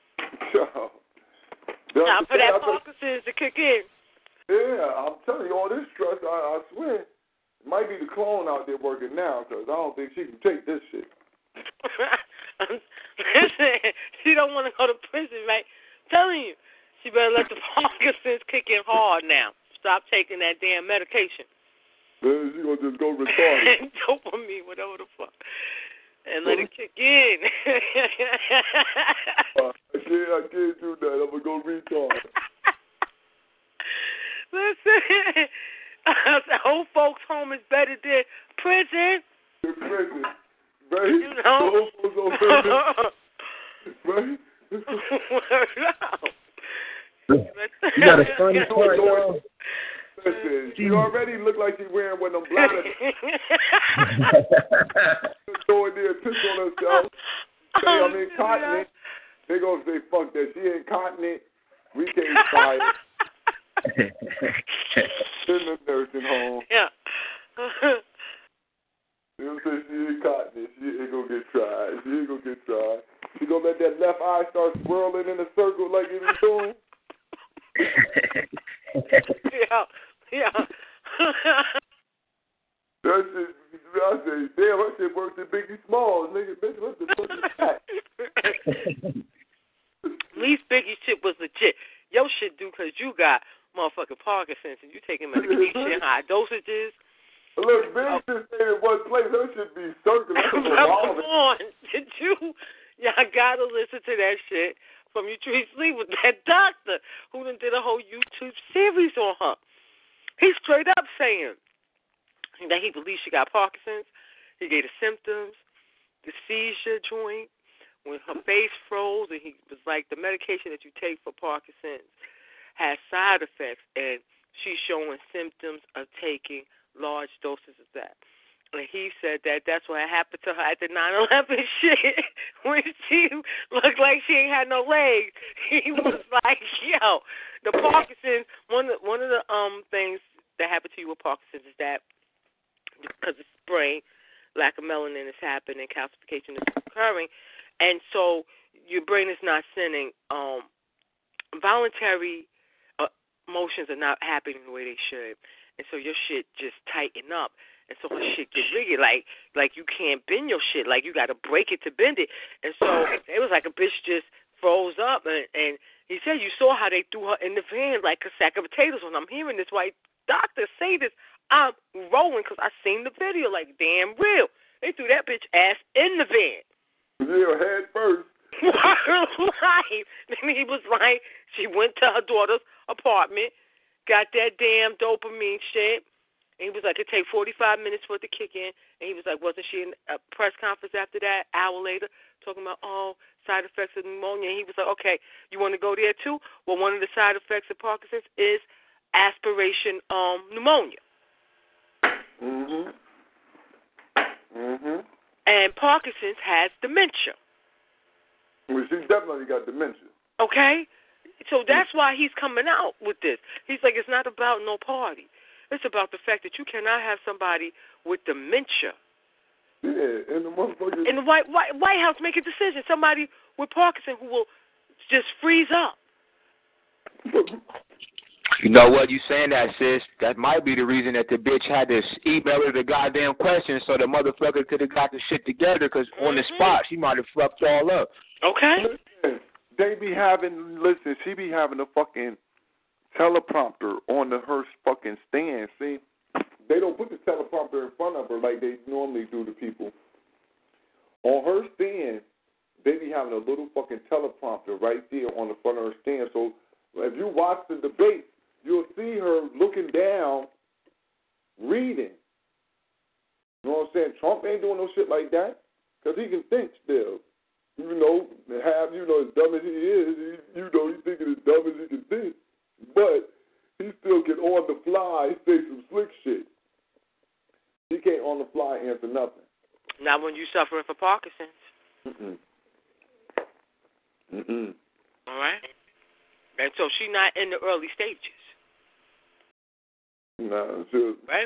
Time for that Parkinson's to kick in. Yeah, I'm telling you, all this stress, I swear, it might be the clone out there working now, because I don't think she can take this shit. Listen, she don't want to go to prison, right? I'm telling you, she better let the Parkinson's kick in hard now. Stop taking that damn medication. Then she gonna just go retarded. Dopamine, whatever the fuck. And let it kick in. I can't do that. I'm going to go retard. Listen, old folks' home is better than prison. Prison. Right? The old folks' home better right? You got a funny part, though. Listen, she already look like she's wearing one of them bladders. Go in there and piss on herself. Say, continent. They gonna say, fuck that. She ain't continent. We can't try it. In the nursing home. Yeah. They gonna say she ain't continent. She ain't gonna get tried. She gonna let that left eye start swirling in a circle like it was doing. Yeah. That shit, I say, damn, that shit works at Biggie Smalls, nigga. Bitch, what the fuck is that? At least Biggie shit was legit. Your shit do because you got motherfucking Parkinson's and you taking medication, high dosages. Look, Big just stayed in one place. That should be circular. Come on. Did you? Y'all gotta listen to that shit from You Treat Sleep with that doctor who done did a whole YouTube series on her. He's straight up saying that he believes she got Parkinson's. He gave the symptoms, the seizure joint, when her face froze, and he was like, the medication that you take for Parkinson's has side effects, and she's showing symptoms of taking large doses of that. And he said that that's what happened to her at the 9/11 shit when she looked like she ain't had no legs. He was like, yo, the Parkinson's, one of the things that happened to you with Parkinson's is that because it's brain, lack of melanin is happening, calcification is occurring, and so your brain is not sending voluntary motions are not happening the way they should, and so your shit just tighten up, and so her shit get rigid, like you can't bend your shit, like you got to break it to bend it, and so it was like a bitch just froze up, and he said you saw how they threw her in the van like a sack of potatoes. When I'm hearing this white doctor say this, I'm rolling because I seen the video, like, damn real. They threw that bitch ass in the van. Yeah, head first. Right. And he was like, she went to her daughter's apartment, got that damn dopamine shit, and he was like, it take 45 minutes for it to kick in. And he was like, wasn't she in a press conference after that, hour later, talking about, side effects of pneumonia? And he was like, okay, you want to go there too? Well, one of the side effects of Parkinson's is aspiration pneumonia. And Parkinson's has dementia. Well, she definitely got dementia. Okay? So that's why he's coming out with this. He's like, it's not about no party. It's about the fact that you cannot have somebody with dementia. Yeah, and the motherfucker in the White House make a decision. Somebody with Parkinson who will just freeze up. You know what? You saying that, sis. That might be the reason that the bitch had to email her the goddamn question so the motherfucker could have got the shit together, because on the spot, she might have fucked all up. Okay. Listen, she be having a fucking teleprompter on her fucking stand. See, they don't put the teleprompter in front of her like they normally do to people. On her stand, they be having a little fucking teleprompter right there on the front of her stand. So if you watch the debate, you'll see her looking down, reading. You know what I'm saying? Trump ain't doing no shit like that because he can think still. As dumb as he is, he's thinking as dumb as he can think. But he still can on the fly say some slick shit. He can't on the fly answer nothing. Not when you suffering from Parkinson's. All right? And so she's not in the early stages. Nah, sure. Right?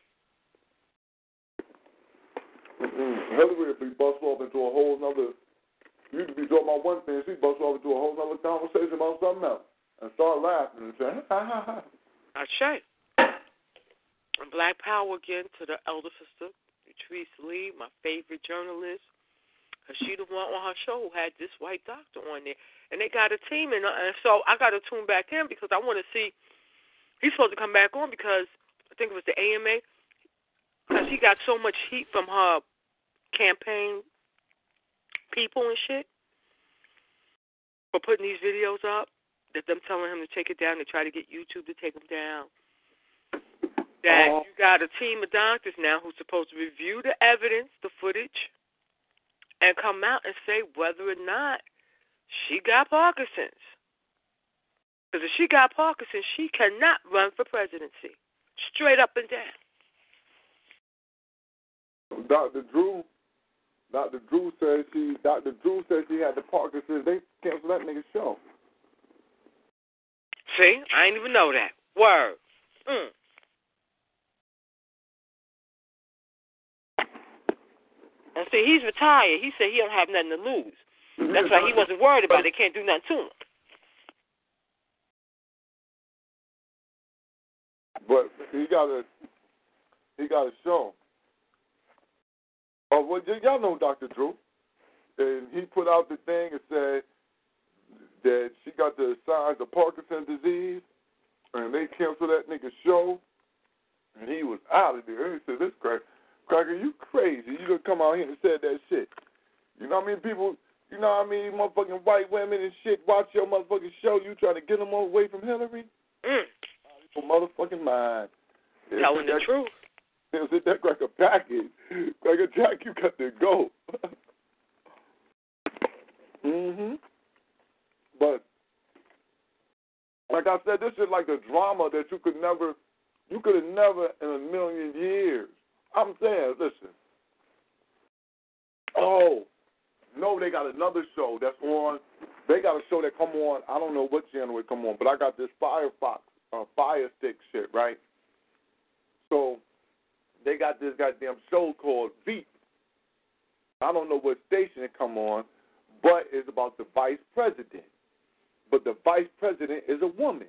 Hillary, if we bust off into a whole nother, used to be talking about one thing, she bust off into a whole nother conversation about something else and start laughing and saying, ha ha ha. That's right. And Black Power again to the elder sister, Patrice Lee, my favorite journalist, because she the one on her show who had this white doctor on there. And they got a team, and so I got to tune back in because I want to see. He's supposed to come back on because I think it was the AMA, because he got so much heat from her campaign people and shit for putting these videos up, that them telling him to take it down. They try to get YouTube to take them down. That you got a team of doctors now who's supposed to review the evidence, the footage, and come out and say whether or not she got Parkinson's. Because if she got Parkinson's, she cannot run for presidency. Straight up and down. Dr. Drew said she had the Parkinson's. They canceled that nigga's show. See? I didn't even know that. Word. And see, he's retired. He said he don't have nothing to lose. That's why he wasn't worried about it. They can't do nothing to him. But he got a show. Oh, well, y'all know Dr. Drew. And he put out the thing and said that she got the signs of Parkinson's disease, and they canceled that nigga's show, and he was out of there. He said, "This Cracker, you crazy. You gonna come out here and said that shit." You know what I mean? People, you know what I mean? Motherfucking white women and shit watch your motherfucking show. You trying to get them away from Hillary? For motherfucking mind. Telling the truth. Is that Cracker package? Cracker Jack, you got to go. But like I said, this is like a drama that you could have never in a million years. I'm saying, listen. Oh, no, they got another show that's on. They got a show that come on. I don't know what channel it come on, but I got this Fire Stick shit, right? So they got this goddamn show called Veep. I don't know what station it come on, but it's about the vice president. But the vice president is a woman.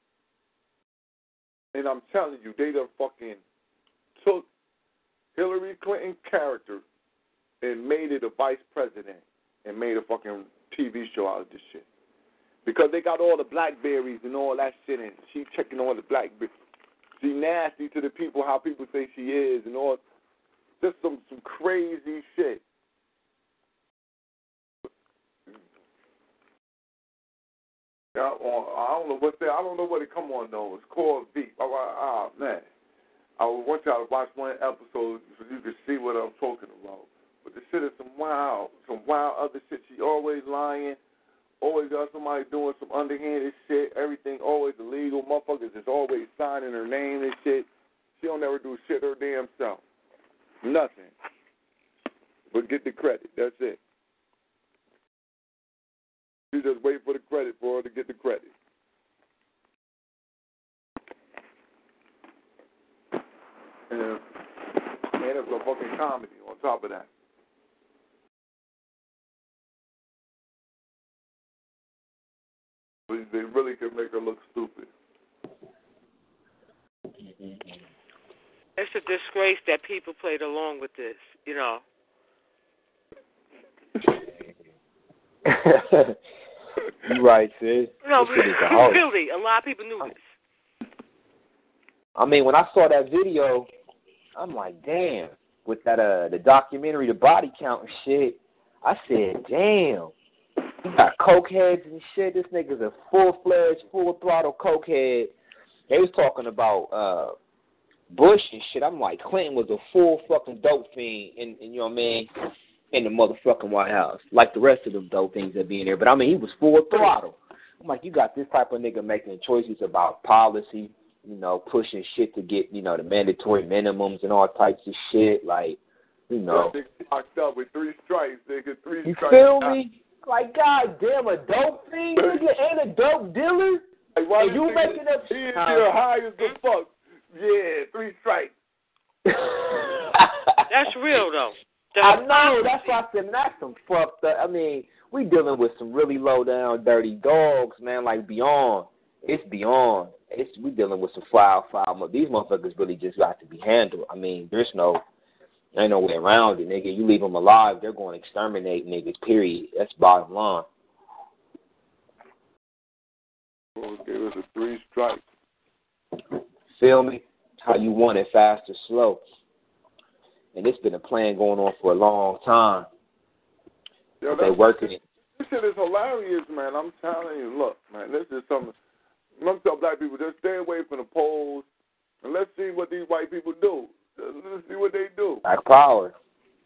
And I'm telling you, they done fucking took Hillary Clinton's character and made it a vice president and made a fucking TV show out of this shit. Because they got all the blackberries and all that shit, and she checking all the blackberries. She nasty to the people, how people say she is, and all. Just some crazy shit. I don't know what I don't know what it come on though. It's called Veep. Oh man, I want y'all to watch one episode so you can see what I'm talking about. But the shit is some wild other shit. She always lying, always got somebody doing some underhanded shit. Everything always illegal. Motherfuckers is always signing her name and shit. She don't never do shit her damn self. Nothing. But get the credit. That's it. You just wait for the credit for her to get the credit. And it's a fucking comedy on top of that. But they really can make her look stupid. It's a disgrace that people played along with this, you know. You right, sis. No, really, a lot of people knew this. I mean, when I saw that video, I'm like, damn. With that, the documentary, the body count and shit, I said, damn. You got cokeheads and shit. This nigga's a full-fledged, full-throttle cokehead. They was talking about Bush and shit. I'm like, Clinton was a full fucking dope fiend, in you know what I mean, in the motherfucking White House, like the rest of them dope things that be in there. But I mean, he was full throttle. I'm like, you got this type of nigga making choices about policy, you know, pushing shit to get, you know, the mandatory minimums and all types of shit, like, you know. They locked up with 3 strikes. They get 3 strikes. You feel me? Like, goddamn, a dope fiend, nigga, and a dope dealer? Like, why and you making up shit? He is high as the fuck. Yeah, 3 strikes. That's real, though. I know. That's why I said that's some fucked up. I mean, we dealing with some really low down, dirty dogs, man. Like beyond. It's beyond. We dealing with some foul. These motherfuckers really just got to be handled. I mean, ain't no way around it, nigga. You leave them alive, they're going to exterminate niggas. Period. That's bottom line. Okay, it was a 3 strikes. Feel me? How you want it, fast or slow. And it's been a plan going on for a long time. Yo, they working it. This shit is hilarious, man. I'm telling you. Look, man, this is something. I'm telling black people, just stay away from the polls, and let's see what these white people do. Let's see what they do. Black power.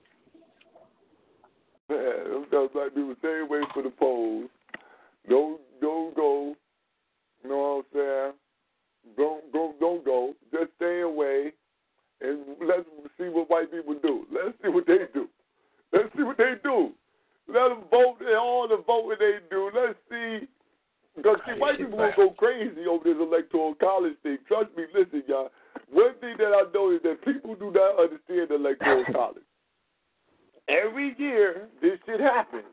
Yeah, I'm telling black people, stay away from the polls. Don't go. You know what I'm saying? Don't go. Just stay away. And let's see what white people do. Let's see what they do. Let them vote. All the voting they do. Let's see. Because, see, white people will go crazy over this electoral college thing. Trust me, listen, y'all. One thing that I know is that people do not understand electoral college. Every year, this shit happens.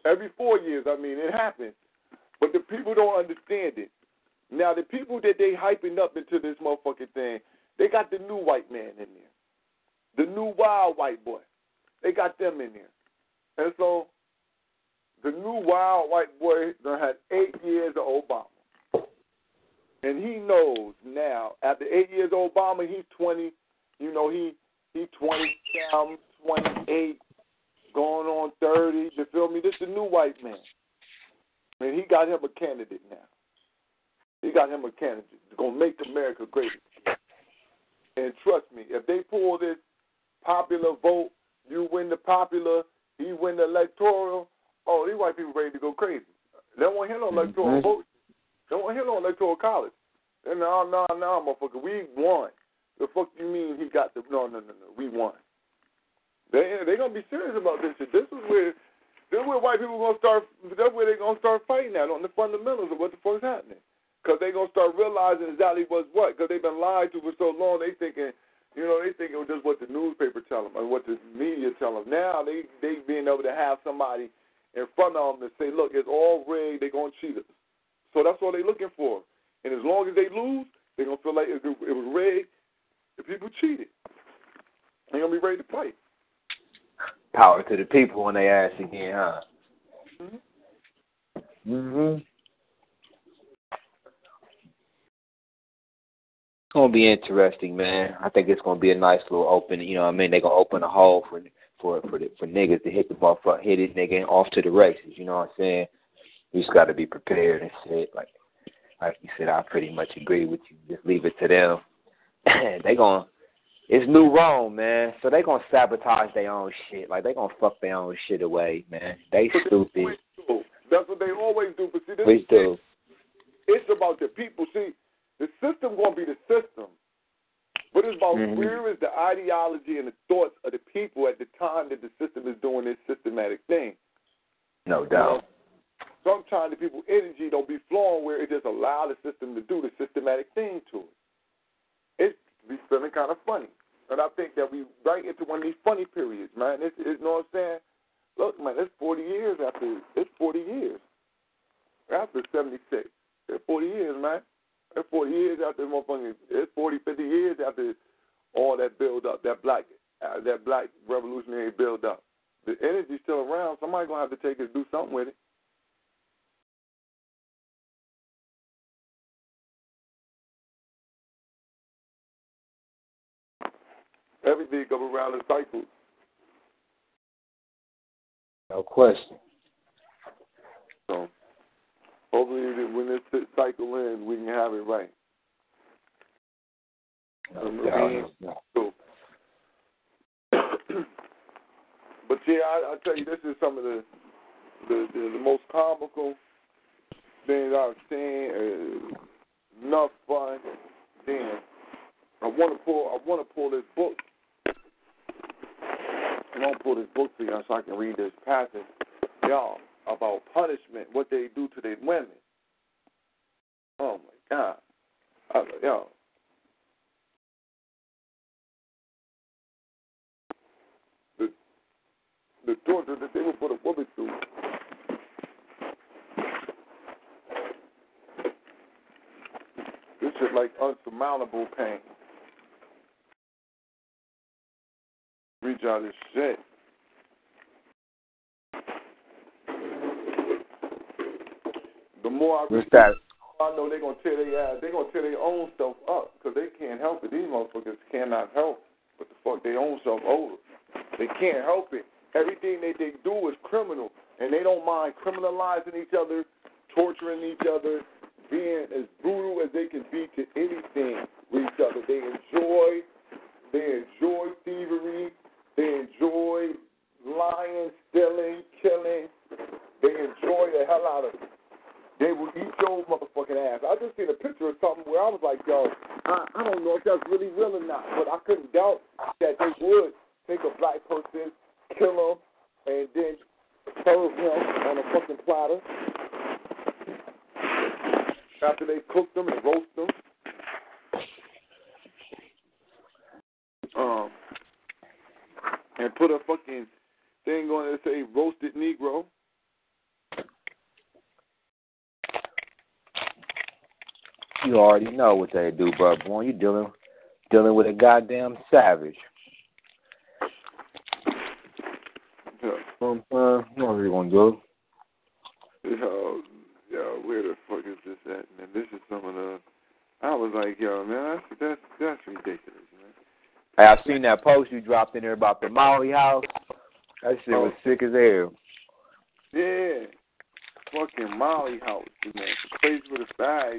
Every 4 years, I mean, it happens. But the people don't understand it. Now, the people that they hyping up into this motherfucking thing, they got the new white man in there. The new wild white boy. They got them in there. And so, the new wild white boy done had 8 years of Obama. And he knows now, after 8 years of Obama, he's 20, you know, he 20, 28, going on 30, you feel me? This is the new white man. And he got him a candidate now. He got him a candidate. It's going to make America great. And trust me, if they pull this popular vote, you win the popular, he win the electoral, oh, these white people ready to go crazy. They don't want to hear no electoral vote. They don't want to hear no electoral college. And no, motherfucker, we won. The fuck you mean he got the, no, we won. They going to be serious about this shit. This is where white people going to start, that's where they going to start fighting at on the fundamentals of what the fuck's happening. Because they going to start realizing exactly what's what. Because they've been lied to for so long, they thinking it was just what the newspaper tell them or what the media tell them. Now they being able to have somebody in front of them to say, look, it's all rigged, they're going to cheat us. So that's what they're looking for. And as long as they lose, they're going to feel like it was rigged, the people cheated. They're going to be ready to fight. Power to the people when they ask again, huh? Mm-hmm. It's going to be interesting, man. I think it's going to be a nice little open, you know what I mean? They're going to open a hole for niggas to hit the motherfucker, hit this nigga off to the races, you know what I'm saying? You just got to be prepared and shit. Like you said, I pretty much agree with you. Just leave it to them. It's new Rome, man. So they going to sabotage their own shit. Like, they going to fuck their own shit away, man. They stupid. That's what they always do. But see, it's about the people. See, the system going to be the system. But it's about where is the ideology and the thoughts of the people at the time that the system is doing this systematic thing. No doubt. Sometimes the people's energy don't be flowing where it just allow the system to do the systematic thing to it. It's be feeling kind of funny. And I think that we right into one of these funny periods, man. It's you know what I'm saying? Look, man, it's 40 years after 76. It's 40 years, man. It's 40 years after motherfucking, it's 40, 50 years after all that build up, that black revolutionary build up. The energy's still around. Somebody's going to have to take it and do something with it. Everything goes around in cycles. No question. So, hopefully when this cycle ends, we can have it right. No. But yeah, I tell you, this is some of the most comical things I've seen. Enough fun. Damn. I want to pull this book. I want to pull this book for y'all so I can read this passage, y'all, about punishment, what they do to their women. Oh my God, y'all. The torture that they would put a woman through. This is like unsurmountable pain. Reach out this shit. The more I read, I know they're gonna tear their ass. They're gonna tear their own stuff up because they can't help it. These motherfuckers cannot help but the fuck their own self over. They can't help it. Everything they do is criminal, and they don't mind criminalizing each other, torturing each other, being as brutal as they can be to anything with each other. They enjoy thievery. They enjoy lying, stealing, killing. They enjoy the hell out of it. They will eat your motherfucking ass. I just seen a picture of something where I was like, yo, I don't know if that's really real or not, but I couldn't doubt that they would take a black person, kill him, and then serve him on a fucking platter after they cook them and roast them. And put a fucking thing on it that say roasted Negro. You already know what they do, bro. Boy, you dealing with a goddamn savage. Yeah. What are you gonna do? Yo, where the fuck is this at, man? This is some of the. I was like, yo, man, that's ridiculous, man. Hey, I seen that post you dropped in there about the Molly house. That shit was sick as hell. Yeah, fucking Molly house, man. The place with a bag.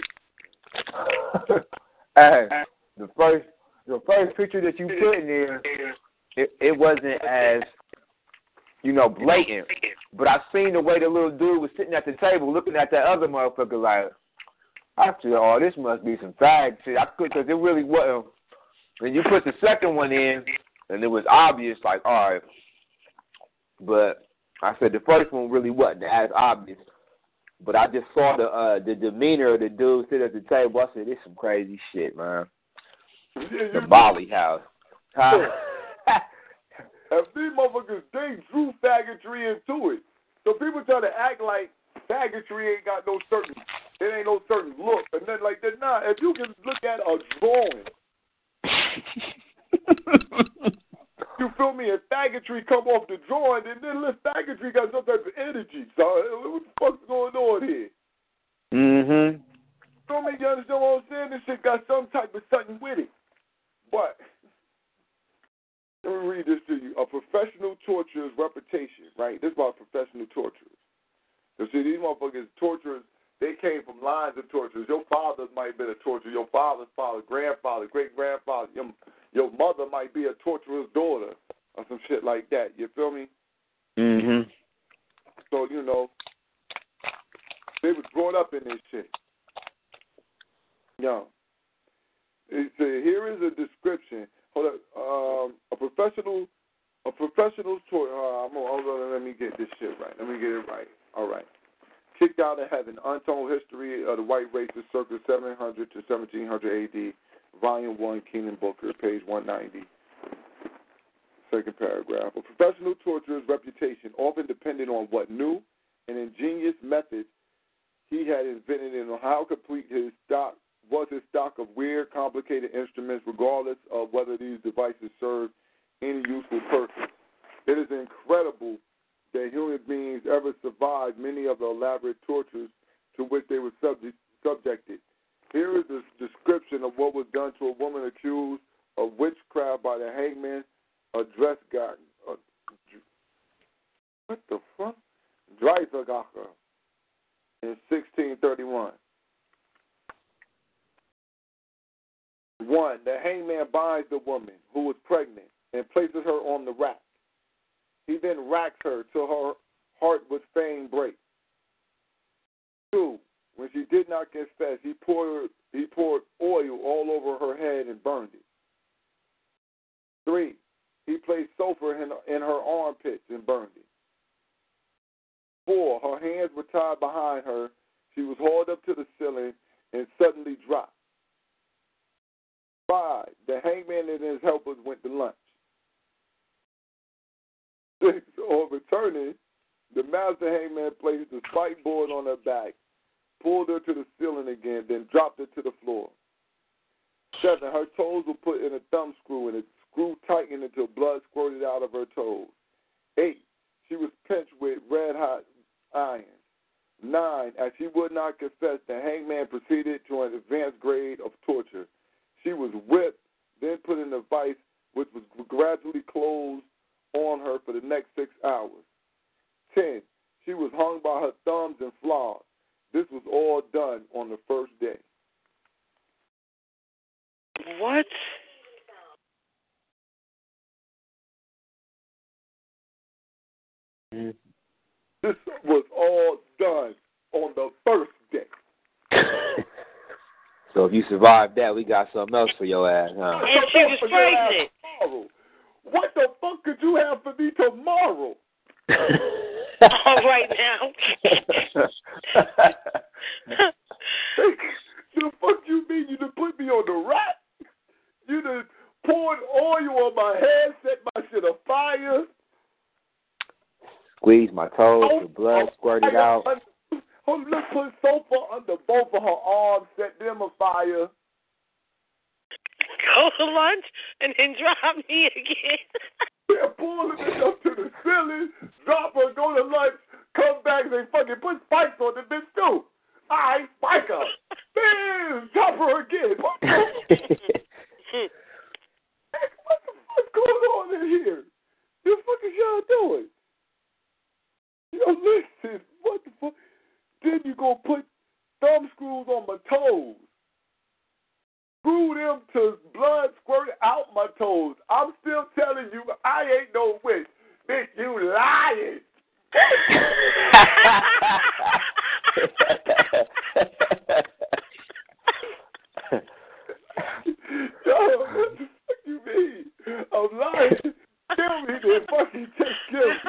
Hey, the first picture that you put in there, it wasn't as, blatant. But I seen the way the little dude was sitting at the table looking at that other motherfucker like, I said, oh, this must be some fag shit. I could, because it really wasn't. When you put the second one in, and it was obvious, like, all right. But I said the first one really wasn't as obvious. But I just saw the demeanor of the dude sitting at the table. I said, this some crazy shit, man. The Molly house. Huh? And these motherfuckers, they drew faggotry into it. So people try to act like faggotry ain't got no certain look. And then like that, nah, if you can look at a drawing, you feel me? If faggotry come off the drawing, then this faggotry got some type of energy. So what the fuck's going on here? Mm-hmm. Feel me? You understand what I'm saying? This shit got some type of something with it. But let me read this to you. A professional torturer's reputation, right? This is about professional torturers. So see, these motherfuckers, torturers, they came from lines of torturers. Your father might have been a torturer. Your father's father, grandfather, great-grandfather. Your mother might be a torturer's daughter or some shit like that. You feel me? Mm-hmm. So, they was brought up in this shit. Yo. Here is a description. Hold up. A professional torturer. Let me get this shit right. Let me get it right. All right. Kicked out of heaven. Untold history of the white races, circa 700 to 1700 A.D. Volume 1, Keenan Booker, page 190. Second paragraph. A professional torturer's reputation often depended on what new and ingenious methods he had invented and on how complete his stock of weird, complicated instruments, regardless of whether these devices served any useful purpose. It is incredible that human beings ever survived many of the elaborate tortures to which they were subjected. Here is a description of what was done to a woman accused of witchcraft by the hangman, a dress guy. What the fuck? Dreisagacher in 1631. 1. The hangman binds the woman who was pregnant and places her on the rack. He then racks her till her heart would fain break. 2. When she did not confess, he poured oil all over her head and burned it. 3. He placed sulfur in her armpits and burned it. 4. Her hands were tied behind her. She was hauled up to the ceiling and suddenly dropped. 5. The hangman and his helpers went to lunch. 6. On returning, the master hangman placed the spike board on her back, pulled her to the ceiling again, then dropped her to the floor. 7. Her toes were put in a thumb screw, and the screw tightened until blood squirted out of her toes. 8. She was pinched with red-hot irons. 9. As she would not confess, the hangman proceeded to an advanced grade of torture. She was whipped, then put in a vice, which was gradually closed on her for the next 6 hours. 10. She was hung by her thumbs and flogged. This was all done on the first day. What? This was all done on the first day. So if you survived that, we got something else for your ass, huh? And she was pregnant. What the fuck could you have for me tomorrow? All right now. The fuck you mean you done put me on the rack? You done poured oil on my head, set my shit afire. Squeeze my toes, the blood squirted out. Let's put Sofa under both of her arms, set them afire. Go to lunch and then drop me again. Yeah, pulling it up to the ceiling, drop her, go to lunch, come back, they fucking put spikes on the bitch too. Alright, spike her. Damn, drop her again. What the fuck's going on in here? The fuck is y'all doing? Yo, listen, what the fuck? Then you gonna put thumb screws on my toes. Screw them to blood squirt out my toes. I'm still telling you, I ain't no witch. Bitch, you lying. Yo, what the fuck you mean? I'm lying. Kill me, then fucking just kill me.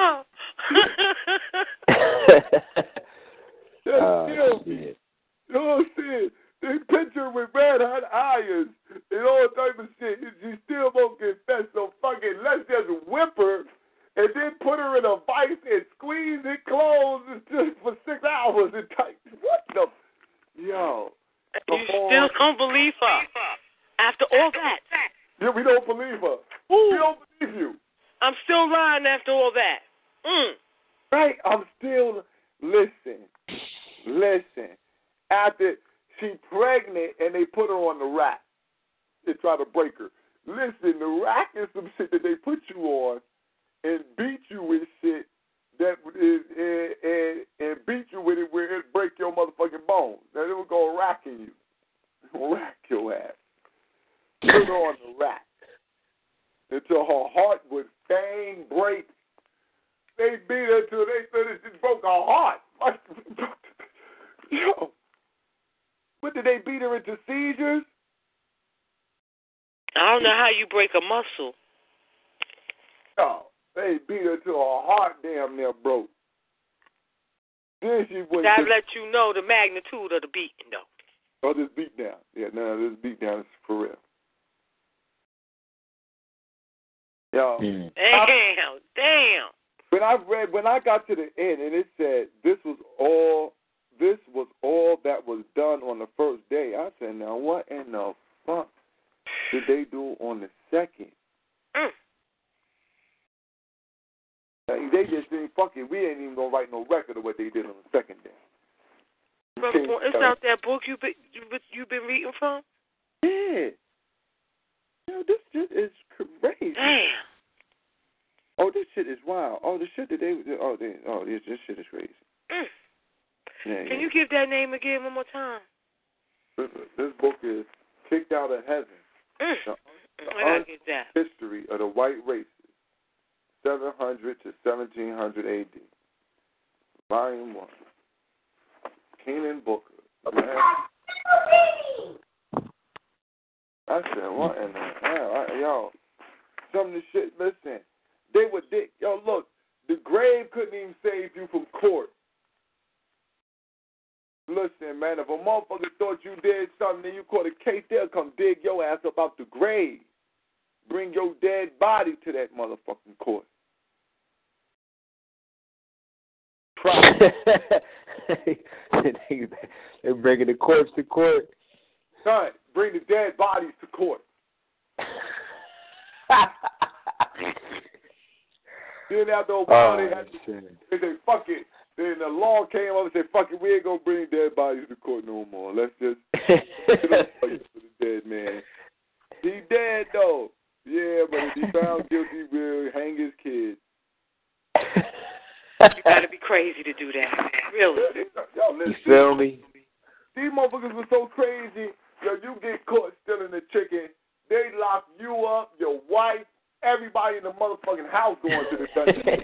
Just kill me. You know what I'm saying? They picture with red hot irons and all type of shit. She still won't confess, so fucking let's just whip her and then put her in a vice and squeeze it closed just for 6 hours and tight. What the? Yo. You still don't believe her after all that? Yeah, we don't believe her. Ooh. We don't believe you. I'm still lying after all that. Right? I'm still... Listen. After she pregnant and they put her on the rack. They try to break her. Listen, the rack is some shit that they put you on and beat you with shit that is and beat you with it where it break your motherfucking bones. Now they will go racking you. They'll rack your ass. Put her on the rack until her heart would bang break. They beat her till they said it just broke her heart. Yo. What, did they beat her into seizures? I don't know how you break a muscle. No, they beat her till her heart damn near broke. Then she went. That let you know the magnitude of the beating, though. Oh, this beat down. Yeah, no, this beat down is for real. Yo. Damn. When I got to the end and it said this was all that was done on the first day, I said, now what in the fuck did they do on the second? They just didn't fuck it. We ain't even gonna write no record of what they did on the second day. It's out that book you've been reading from? Yeah. Yo, this shit is crazy. Damn. Oh, this shit is wild. Oh, the shit that this shit is crazy. Yeah, Can you give that name again one more time? This book is Kicked Out of Heaven. The History of the White Races, 700 to 1700 A.D. Volume 1. Kenan Booker. I said, what in the hell? Yo, some of the shit, listen. They were dick. Yo, look, the grave couldn't even save you from court. Listen, man, if a motherfucker thought you did something and you caught a case, they'll come dig your ass up out the grave. Bring your dead body to that motherfucking court. They're bringing the corpse to court. Son, bring the dead bodies to court. Then after a while, they say, fuck it. Then the law came up and said, fuck it, we ain't going to bring dead bodies to court no more. Let's just get a place for the dead man. He dead, though. Yeah, but if he found guilty, we'll hang his kid. You got to be crazy to do that. Really. Yo, listen, you feel me? These motherfuckers were so crazy. Yo, you get caught stealing the chicken. They lock you up, your wife, everybody in the motherfucking house going to the dungeon.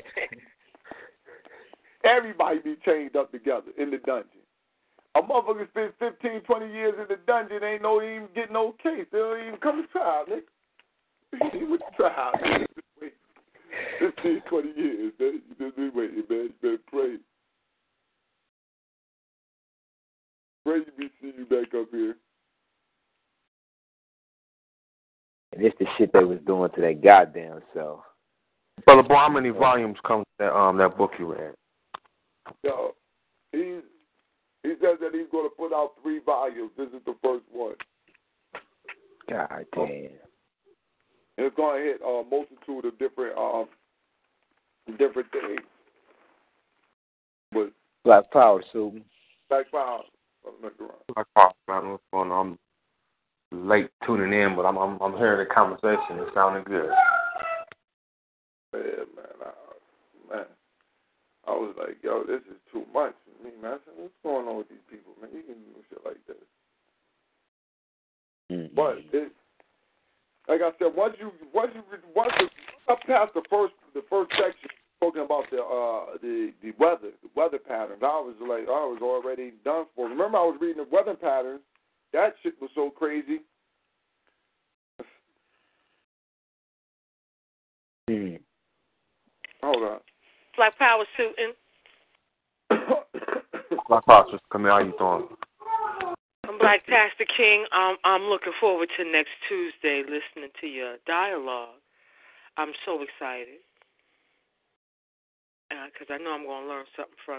Everybody be chained up together in the dungeon. A motherfucker spend 15, 20 years in the dungeon, ain't even get no case. They don't even come to trial, nigga. He went to trial. Wait, 15, 20 years. Just be waiting, man. You better pray. Pray you be seeing you back up here. And it's the shit they was doing to that goddamn self. Brother Boy, how many volumes come that book you read? Yo, He says that he's going to put out 3 volumes. This is the first one. God damn. And it's going to hit a multitude of different things. But Black Power, Susan. Black Power. Black Power, man. What's going on? I'm late tuning in, but I'm hearing the conversation. It's sounding good. Yeah, man. I was like, yo, this is too much for me, man. I said, what's going on with these people, man? You can do shit like this. Mm-hmm. But like I said, once I passed the first section talking about the weather patterns, I was already done for. Remember, I was reading the weather patterns. That shit was so crazy. Hold on. Black Power suiting. Black Power, Sister Camille, how you doing? I'm Black Pastor King. I'm looking forward to next Tuesday listening to your dialogue. I'm so excited because I know I'm going to learn something from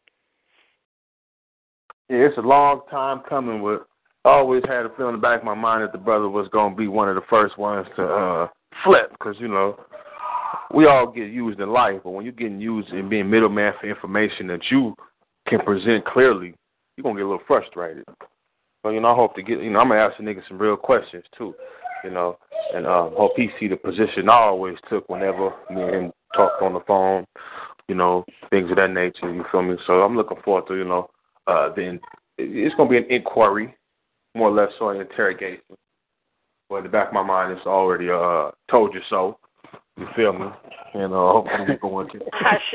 you. Yeah, it's a long time coming. I always had a feeling in the back of my mind that the brother was going to be one of the first ones to flip because, you know, we all get used in life, but when you're getting used and being middleman for information that you can present clearly, you're going to get a little frustrated. So, you know, I hope to get, you know, I'm going to ask the nigga some real questions, too, you know, and hope he see the position I always took whenever me and him talked on the phone, you know, things of that nature, you feel me? So I'm looking forward to, you know, then it's going to be an inquiry, more or less so an interrogation. But in the back of my mind, it's already told you so. You feel me? And hopefully we go into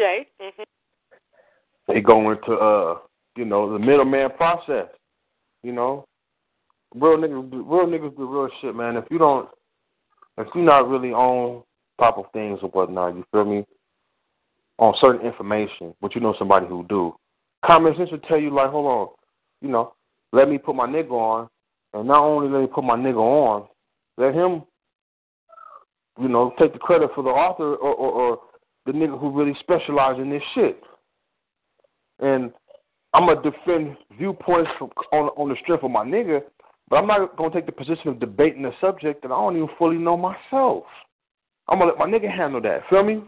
they go into you know, the middleman process. You know, real niggas do real shit, man. If you're not really on top of things or whatnot, you feel me? On certain information, but you know somebody who do. Common sense will tell you like, hold on, you know, let me put my nigga on, and not only let me put my nigga on, let him, you know, take the credit for the author or the nigga who really specializes in this shit. And I'm going to defend viewpoints on the strength of my nigga, but I'm not going to take the position of debating a subject that I don't even fully know myself. I'm going to let my nigga handle that. Feel me?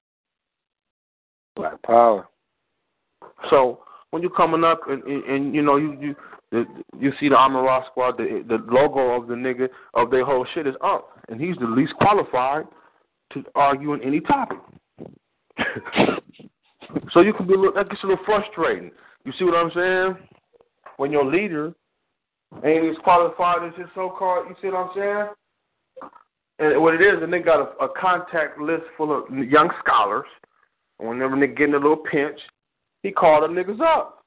Black Power. So when you're coming up and you know, you see the Amara Squad, the logo of the nigga, of their whole shit is up. And he's the least qualified to argue on any topic. So you can be that gets a little frustrating. You see what I'm saying? When your leader ain't as qualified as his so-called, you see what I'm saying? And what it is, the nigga got a contact list full of young scholars. And whenever nigga getting a little pinch, he called them niggas up.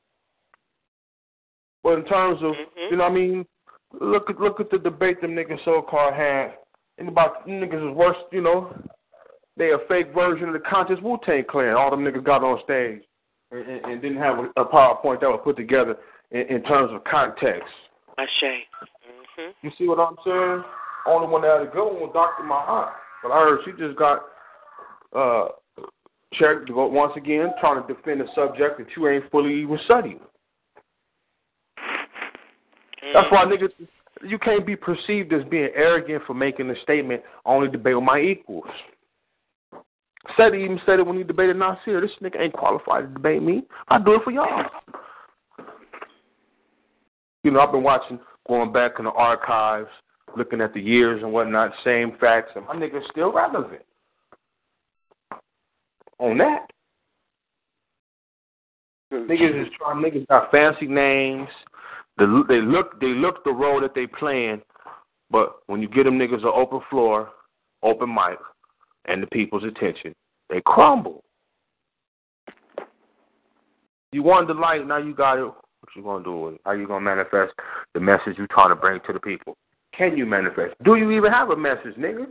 But in terms of, you know what I mean, look at the debate them niggas so-called had. And about niggas is worse, you know, they a fake version of the conscious Wu-Tang Clan. All them niggas got on stage and didn't have a PowerPoint that was put together in terms of context. You see what I'm saying? Only one that had a good one was Dr. Mahat. But I heard she just got checked once again, trying to defend a subject that you ain't fully even studying. That's why niggas, you can't be perceived as being arrogant for making a statement, I only debate with my equals. Even said it when he debated Nasir. This nigga ain't qualified to debate me. I do it for y'all. You know, I've been going back in the archives, looking at the years and whatnot, same facts, and my nigga's still relevant. On that. Niggas got fancy names. They look the role that they playing, but when you get them niggas an open floor, open mic, and the people's attention, they crumble. You wanted the light, now you got it. What you gonna do with it? How you gonna manifest the message you trying to bring to the people? Can you manifest? Do you even have a message, nigga?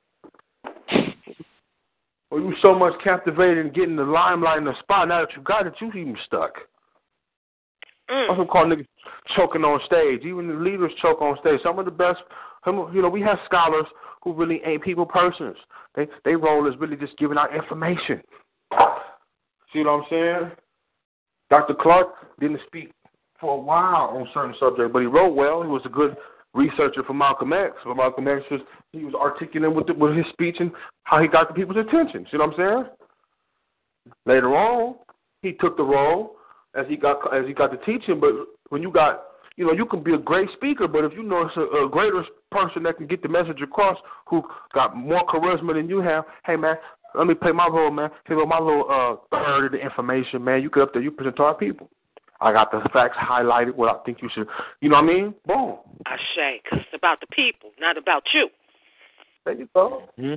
Or you so much captivated in getting the limelight in the spot, now that you got it, you even stuck. That's what call niggas choking on stage. Even the leaders choke on stage. Some of the best, you know, we have scholars who really ain't people persons. They role is really just giving out information. See what I'm saying? Dr. Clark didn't speak for a while on certain subjects, but he wrote well. He was a good researcher for Malcolm X. But Malcolm X he was articulate with his speech and how he got the people's attention. See what I'm saying? Later on, he took the role as he got the teaching. But when you got, you can be a great speaker, but if you know it's a greater person that can get the message across, who got more charisma than you have, hey man, let me play my role, man. Here go my little third of the information, man. You get up there, you present to our people. I got the facts highlighted. What I think you should, you know what I mean? Boom. I say, because it's about the people, not about you. There you go. Mm-hmm.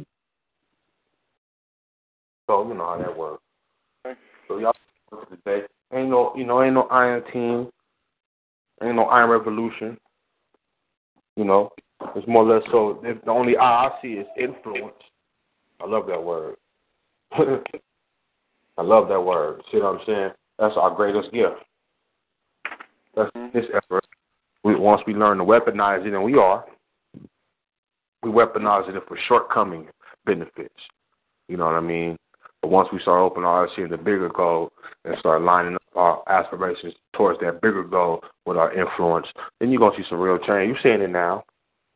So you know how that works. So y'all today ain't no Iron Team, ain't no Iron Revolution. It's more or less so. The only I see is influence. I love that word. I love that word. See what I'm saying? That's our greatest gift. That's this effort. Once we learn to weaponize it, and we weaponize it for shortcoming benefits. You know what I mean? But once we start opening our eyes, seeing the bigger goal, and start lining up our aspirations towards that bigger goal with our influence, then you're going to see some real change. You're seeing it now.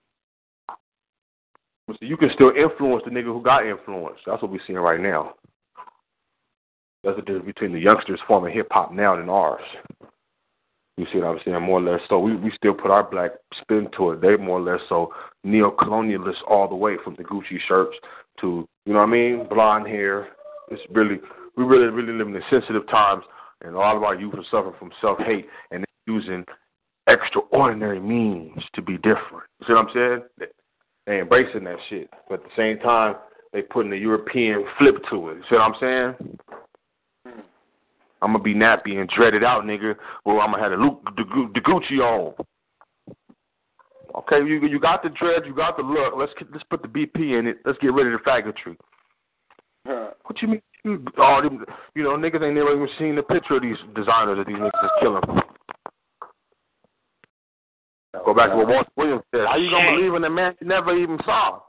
So you can still influence the nigga who got influence. That's what we're seeing right now. That's the difference between the youngsters forming hip-hop now than ours. You see what I'm saying? More or less. So we still put our black spin to it. They more or less so neo-colonialists all the way, from the Gucci shirts to, you know what I mean, blonde hair. We really live in sensitive times, and all of our youth are suffering from self-hate, and they're using extraordinary means to be different. You see what I'm saying? They embracing that shit, but at the same time, they putting the European flip to it. You see what I'm saying? I'm going to be nappy and dreaded out, nigga. Well, I'm going to have the Gucci on. Okay, you got the dread, you got the look. Let's put the BP in it. Let's get rid of the faggotry. What you mean? Niggas ain't never even seen the picture of these designers that these niggas is killing. Go back to what Walter Williams said. How you going to believe in a man you never even saw?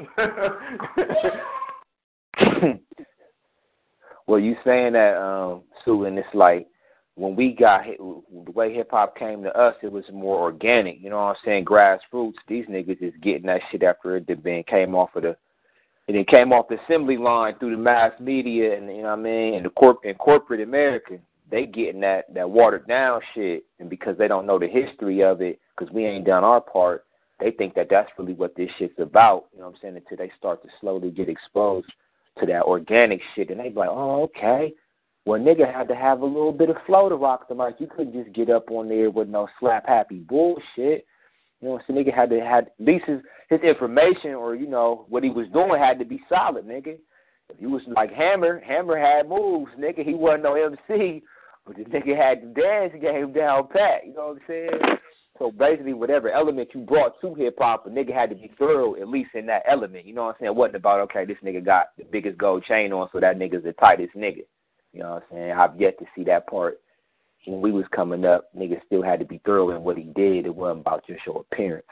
Well, you saying that, Sue, and it's like when we got the way hip-hop came to us, it was more organic. You know what I'm saying? Grassroots. These niggas is getting that shit after it came off of the assembly line through the mass media, and you know what I mean, and the corporate America. They getting that watered down shit, and because they don't know the history of it, because we ain't done our part, they think that that's really what this shit's about. You know what I'm saying? Until they start to slowly get exposed to that organic shit, and they be like, oh, okay. Well, nigga had to have a little bit of flow to rock the mic. You couldn't just get up on there with no slap happy bullshit. You know, so nigga had to have at least his information, or what he was doing had to be solid, nigga. If you was like Hammer had moves, nigga. He wasn't no MC, but the nigga had the dance game down pat. You know what I'm saying? So basically, whatever element you brought to hip hop, a nigga had to be thorough, at least in that element. You know what I'm saying? It wasn't about, okay, this nigga got the biggest gold chain on, so that nigga's the tightest nigga. You know what I'm saying? I've yet to see that part. When we was coming up, niggas still had to be thorough in what he did. It wasn't about just your appearance.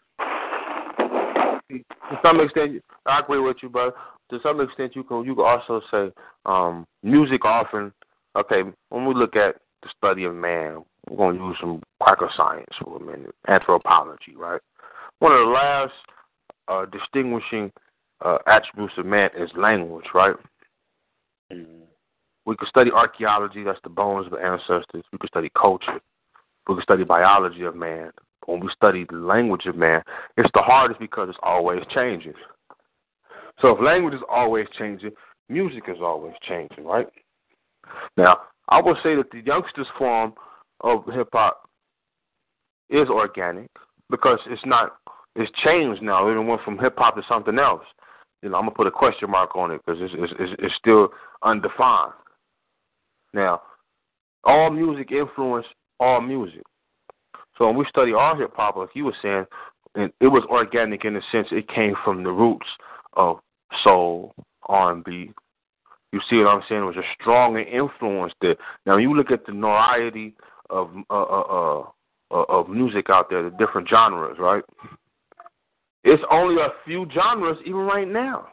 To some extent, I agree with you, but to some extent, you can also say music often. Okay, when we look at the study of man, we're going to use some cracker science for a minute, anthropology, right? One of the last distinguishing attributes of man is language, right? Mm-hmm. We could study archaeology, that's the bones of the ancestors. We could study culture. We could study biology of man. When we study the language of man, it's the hardest because it's always changing. So if language is always changing, music is always changing, right? Now, I will say that the youngsters' form of hip-hop is organic because it's changed now. It went from hip-hop to something else. I'm going to put a question mark on it because it's still undefined. Now, all music influenced all music. So when we study our hip-hop, like you were saying, it was organic in the sense it came from the roots of soul, R&B. You see what I'm saying? It was a stronger influence there. Now, when you look at the variety of music out there, the different genres, right? It's only a few genres even right now.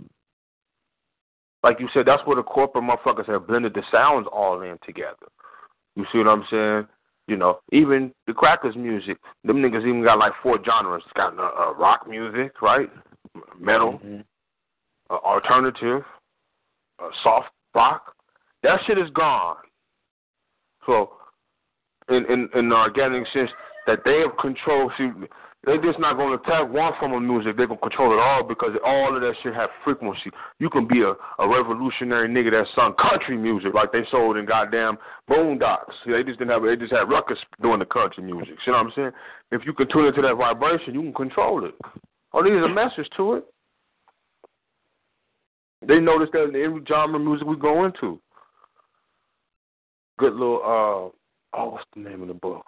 Like you said, that's where the corporate motherfuckers have blended the sounds all in together. You see what I'm saying? You know, even the Crackers music, them niggas even got like 4 genres. It's got rock music, right? Metal, alternative, soft rock. That shit is gone. So, in the organic sense that they have control, see, they just not going to attack one form of music. They're going to control it all because all of that shit have frequency. You can be a revolutionary nigga that sung country music like they sold in goddamn Boondocks. They just didn't have. They just had ruckus doing the country music. See what I'm saying? If you can tune into that vibration, you can control it. Oh, there's a message to it. They notice that in every genre of music we go into. Good little what's the name of the book?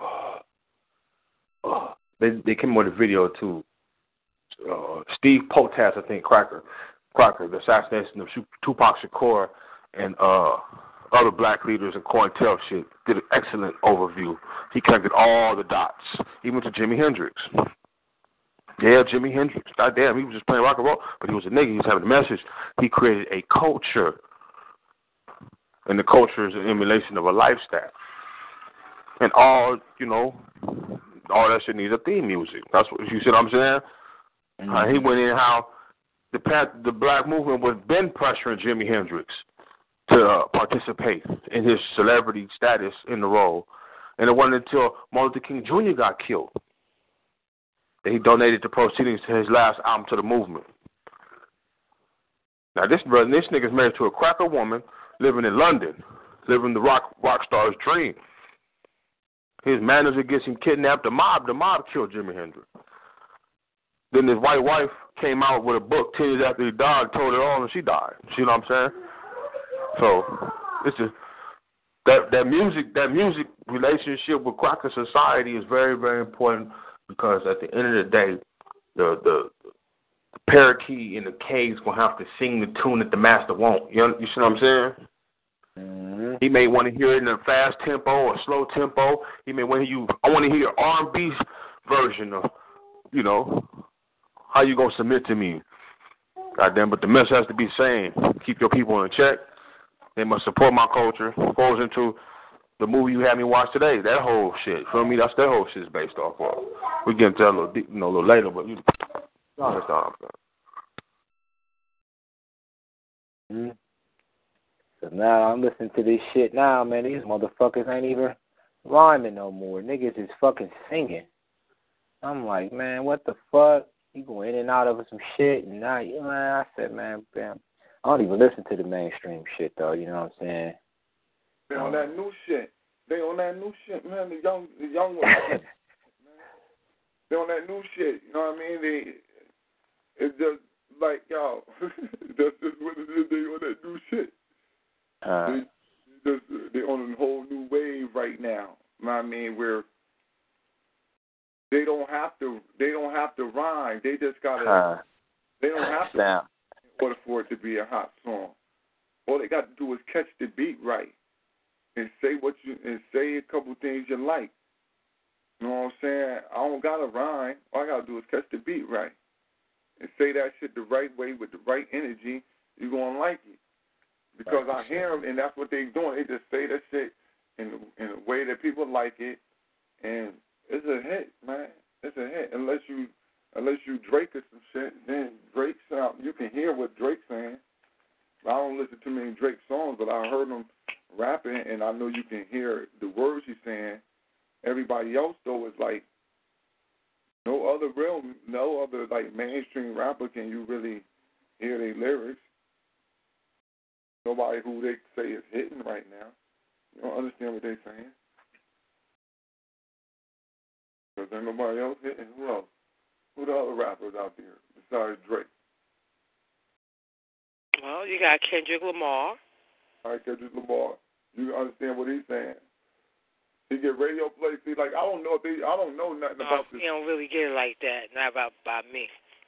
They came with a video too. Steve Potas, I think, Crocker, the assassination of Tupac Shakur and other black leaders and COINTEL shit. Did an excellent overview. He connected all the dots, even to Jimi Hendrix. Yeah, Jimi Hendrix. Goddamn, he was just playing rock and roll, but he was a nigga. He was having a message. He created a culture, and the culture is an emulation of a lifestyle. And all that shit needs a theme music. That's what you see what I'm saying? He went in how the black movement was been pressuring Jimi Hendrix to participate in his celebrity status in the role. And it wasn't until Martin Luther King Jr. got killed that he donated the proceedings to his last album to the movement. Now this nigga's married to a cracker woman living in London, living the rock star's dream. His manager gets him kidnapped. The mob killed Jimi Hendrix. Then his white wife came out with a book 10 years after he died, told it all, and she died. See what I'm saying? So it's just that music relationship with cracker society is very, very important because at the end of the day, the parakeet in the cave's gonna have to sing the tune that the master won't. You see what I'm saying? Mm-hmm. He may want to hear it in a fast tempo or slow tempo. He may want to hear I want to hear R&B version of, how you gonna submit to me? Goddamn, but the message has to be same. Keep your people in check. They must support my culture. Goes into the movie you had me watch today. That whole shit. Feel me? That's that whole shit is based off of. We get into that a little deep, a little later, but you understand. Mm-hmm. So now I'm listening to this shit now, man. These motherfuckers ain't even rhyming no more. Niggas is fucking singing. I'm like, man, what the fuck? You go in and out of some shit, and now, man, I said, man, I don't even listen to the mainstream shit, though, you know what I'm saying? They on that new shit. Man. The young ones. Man. They on that new shit, you know what I mean? It's just like, yo, that's just what it is. They on that new shit. They're on a whole new wave right now. You know what I mean? Where they don't have to rhyme. They just gotta. They don't have to in order for it to be a hot song. All they got to do is catch the beat right and say a couple things you like. You know what I'm saying? I don't gotta rhyme. All I gotta do is catch the beat right and say that shit the right way with the right energy. You're gonna like it. Because I hear them, and that's what they're doing. They just say that shit in a way that people like it, and it's a hit, man. It's a hit. Unless you Drake or some shit, then Drake sound. You can hear what Drake's saying. I don't listen to many Drake songs, but I heard him rapping, and I know you can hear the words he's saying. Everybody else though is like no other like mainstream rapper can you really hear their lyrics. Nobody who they say is hitting right now. You don't understand what they're saying. Because there's nobody else hitting. Who else? Who the other rappers out there besides Drake? Well, you got Kendrick Lamar. All right, Kendrick Lamar. You understand what he's saying. He get radio play. See, like, I don't know nothing about this. He don't really get it like that. Not by me.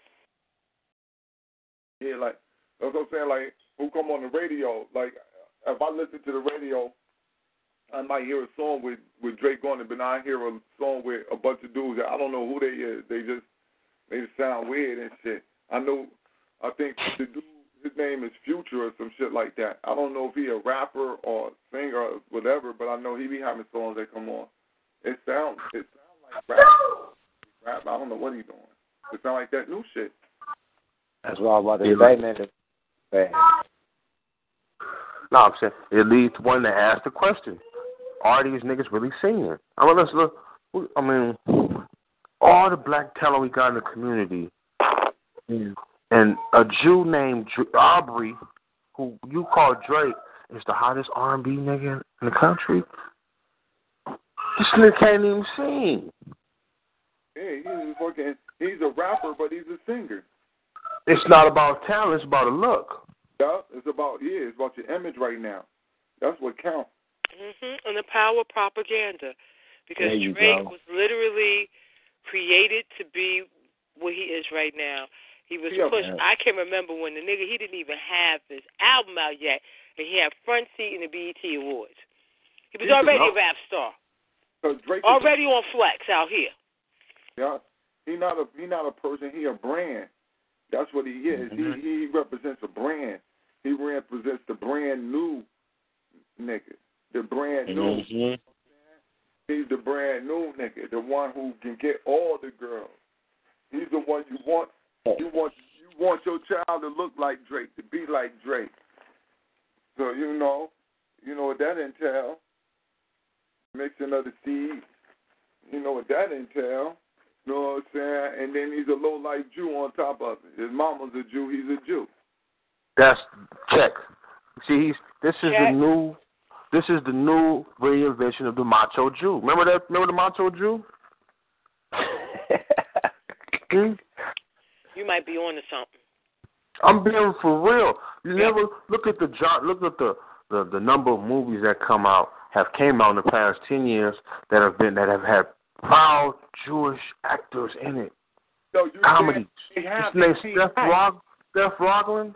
Yeah, like, that's what I'm saying. Like, who come on the radio? Like, if I listen to the radio, I might hear a song with Drake on it, but I hear a song with a bunch of dudes that I don't know who they is. They just sound weird and shit. I think the dude, His name is Future or some shit like that. I don't know if he a rapper or singer or whatever, but I know he be having songs that come on. It sounds like rap. I don't know what he's doing. It sounds like that new shit. That's what I'm about to say, man. No, I'm saying it leads to one to ask the question: are these niggas really singing? I mean, let's look. I mean, all the black talent we got in the community, and a Jew named Aubrey, who you call Drake, is the hottest R&B nigga in the country. This nigga can't even sing. Yeah, he's a rapper, but he's a singer. It's not about talent; it's about a look. Yeah, it's about your image right now. That's what counts. And the power of propaganda, because Drake was literally created to be what he is right now. He was pushed. Man. I can remember when the nigga, he didn't even have his album out yet, and he had front seat in the BET Awards. He was already a rap star. Drake already on Flex out here. Yeah, he not a person. He a brand. That's what he is. Mm-hmm. He represents a brand. He represents the brand new nigga. The brand new. Mm-hmm. He's the brand new nigga. The one who can get all the girls. He's the one you want. You want your child to look like Drake, to be like Drake. So you know what that entails. Mixing of the seeds. You know what that entails. You know what I'm saying? And then he's a low-life Jew on top of it. His mama's a Jew. He's a Jew. That's check. See, this is the new reinvention of the macho Jew. Remember that? Remember the macho Jew? You might be on to something. I'm being for real. You never look at the number of movies that came out in the past 10 years that have had proud Jewish actors in it. So comedy. His name's Seth Rogen.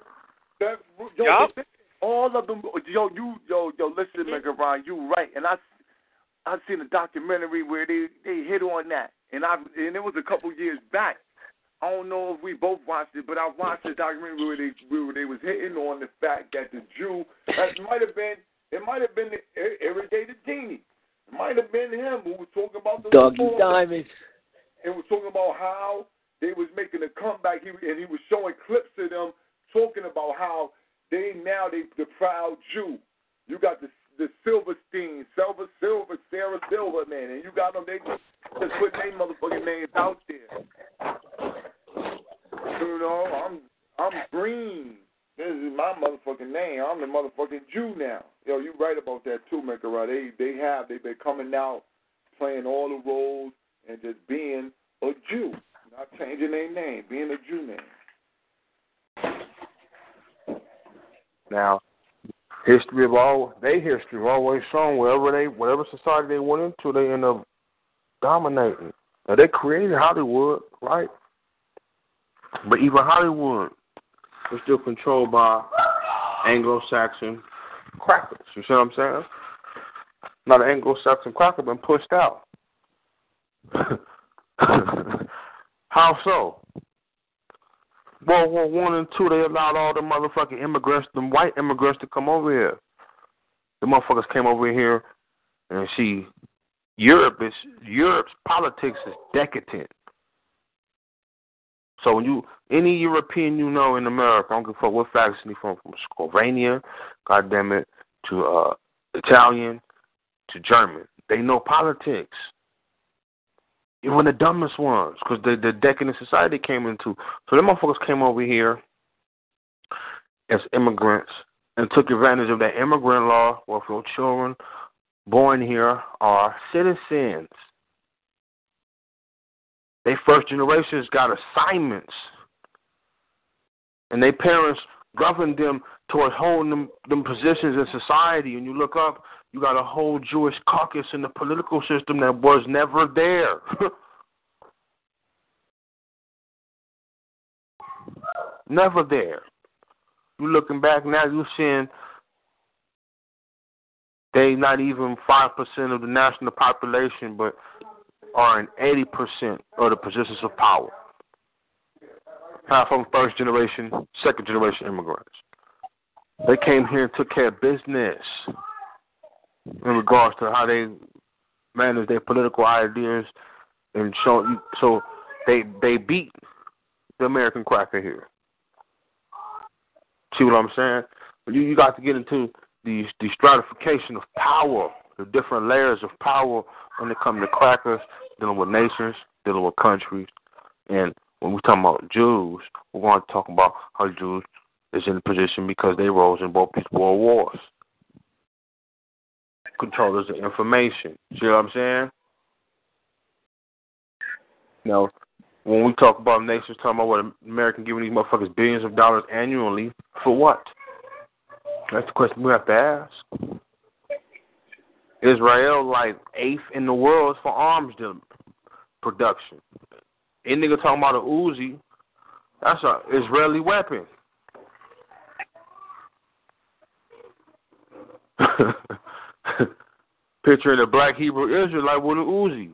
All of them. Listen, Megaron, you right. And I've seen a documentary where they hit on that, and it was a couple years back. I don't know if we both watched it, but I watched the documentary where they was hitting on the fact that the Jew it might have been the irrigated genie. It might have been him who was talking about the Doggy Diamonds. And was talking about how they was making a comeback. He was showing clips of them talking about how they the proud Jew. You got the Silverstein, Sarah Silver, man, and you got them. They just put their motherfucking names out there. You know, I'm green. This is my motherfucking name. I'm the motherfucking Jew now. Yo, you right about that too, Menkara. They've been coming out, playing all the roles, and just being a Jew, not changing their name, being a Jew name. Now, history always shown whatever society they went into, they end up dominating. Now, they created Hollywood, right? But even Hollywood was still controlled by Anglo-Saxon crackers. You see what I'm saying? Now the Anglo-Saxon cracker been pushed out. How so? World War I and II, they allowed all the motherfucking immigrants, the white immigrants, to come over here. The motherfuckers came over here, and Europe's politics is decadent. So when any European you know in America, I don't give a fuck what faction he's from Slovenia, goddammit, to Italian, to German, they know politics. Even the dumbest ones, because the decadent society came into. So them motherfuckers came over here as immigrants and took advantage of that immigrant law, where if your children born here are citizens. They first generations got assignments, and their parents governed them towards holding them positions in society. And you look up, you got a whole Jewish caucus in the political system that was never there. Never there. You looking back now, you seeing they not even 5% of the national population, but are in 80% of the positions of power. half of them first generation, second generation immigrants. They came here and took care of business in regards to how they manage their political ideas and so they beat the American cracker here. See what I'm saying? You got to get into the stratification of power, the different layers of power when it comes to crackers, dealing with nations, dealing with countries. And when we're talking about Jews, we're going to talk about how Jews is in position because they rose in both these world wars. Controllers of information. See what I'm saying? Now, when we talk about nations, talking about what America giving these motherfuckers billions of dollars annually, for what? That's the question we have to ask. Israel, like 8th in the world for arms production. Any nigga talking about a Uzi, that's an Israeli weapon. Picturing a black Hebrew Israelite with an Uzi.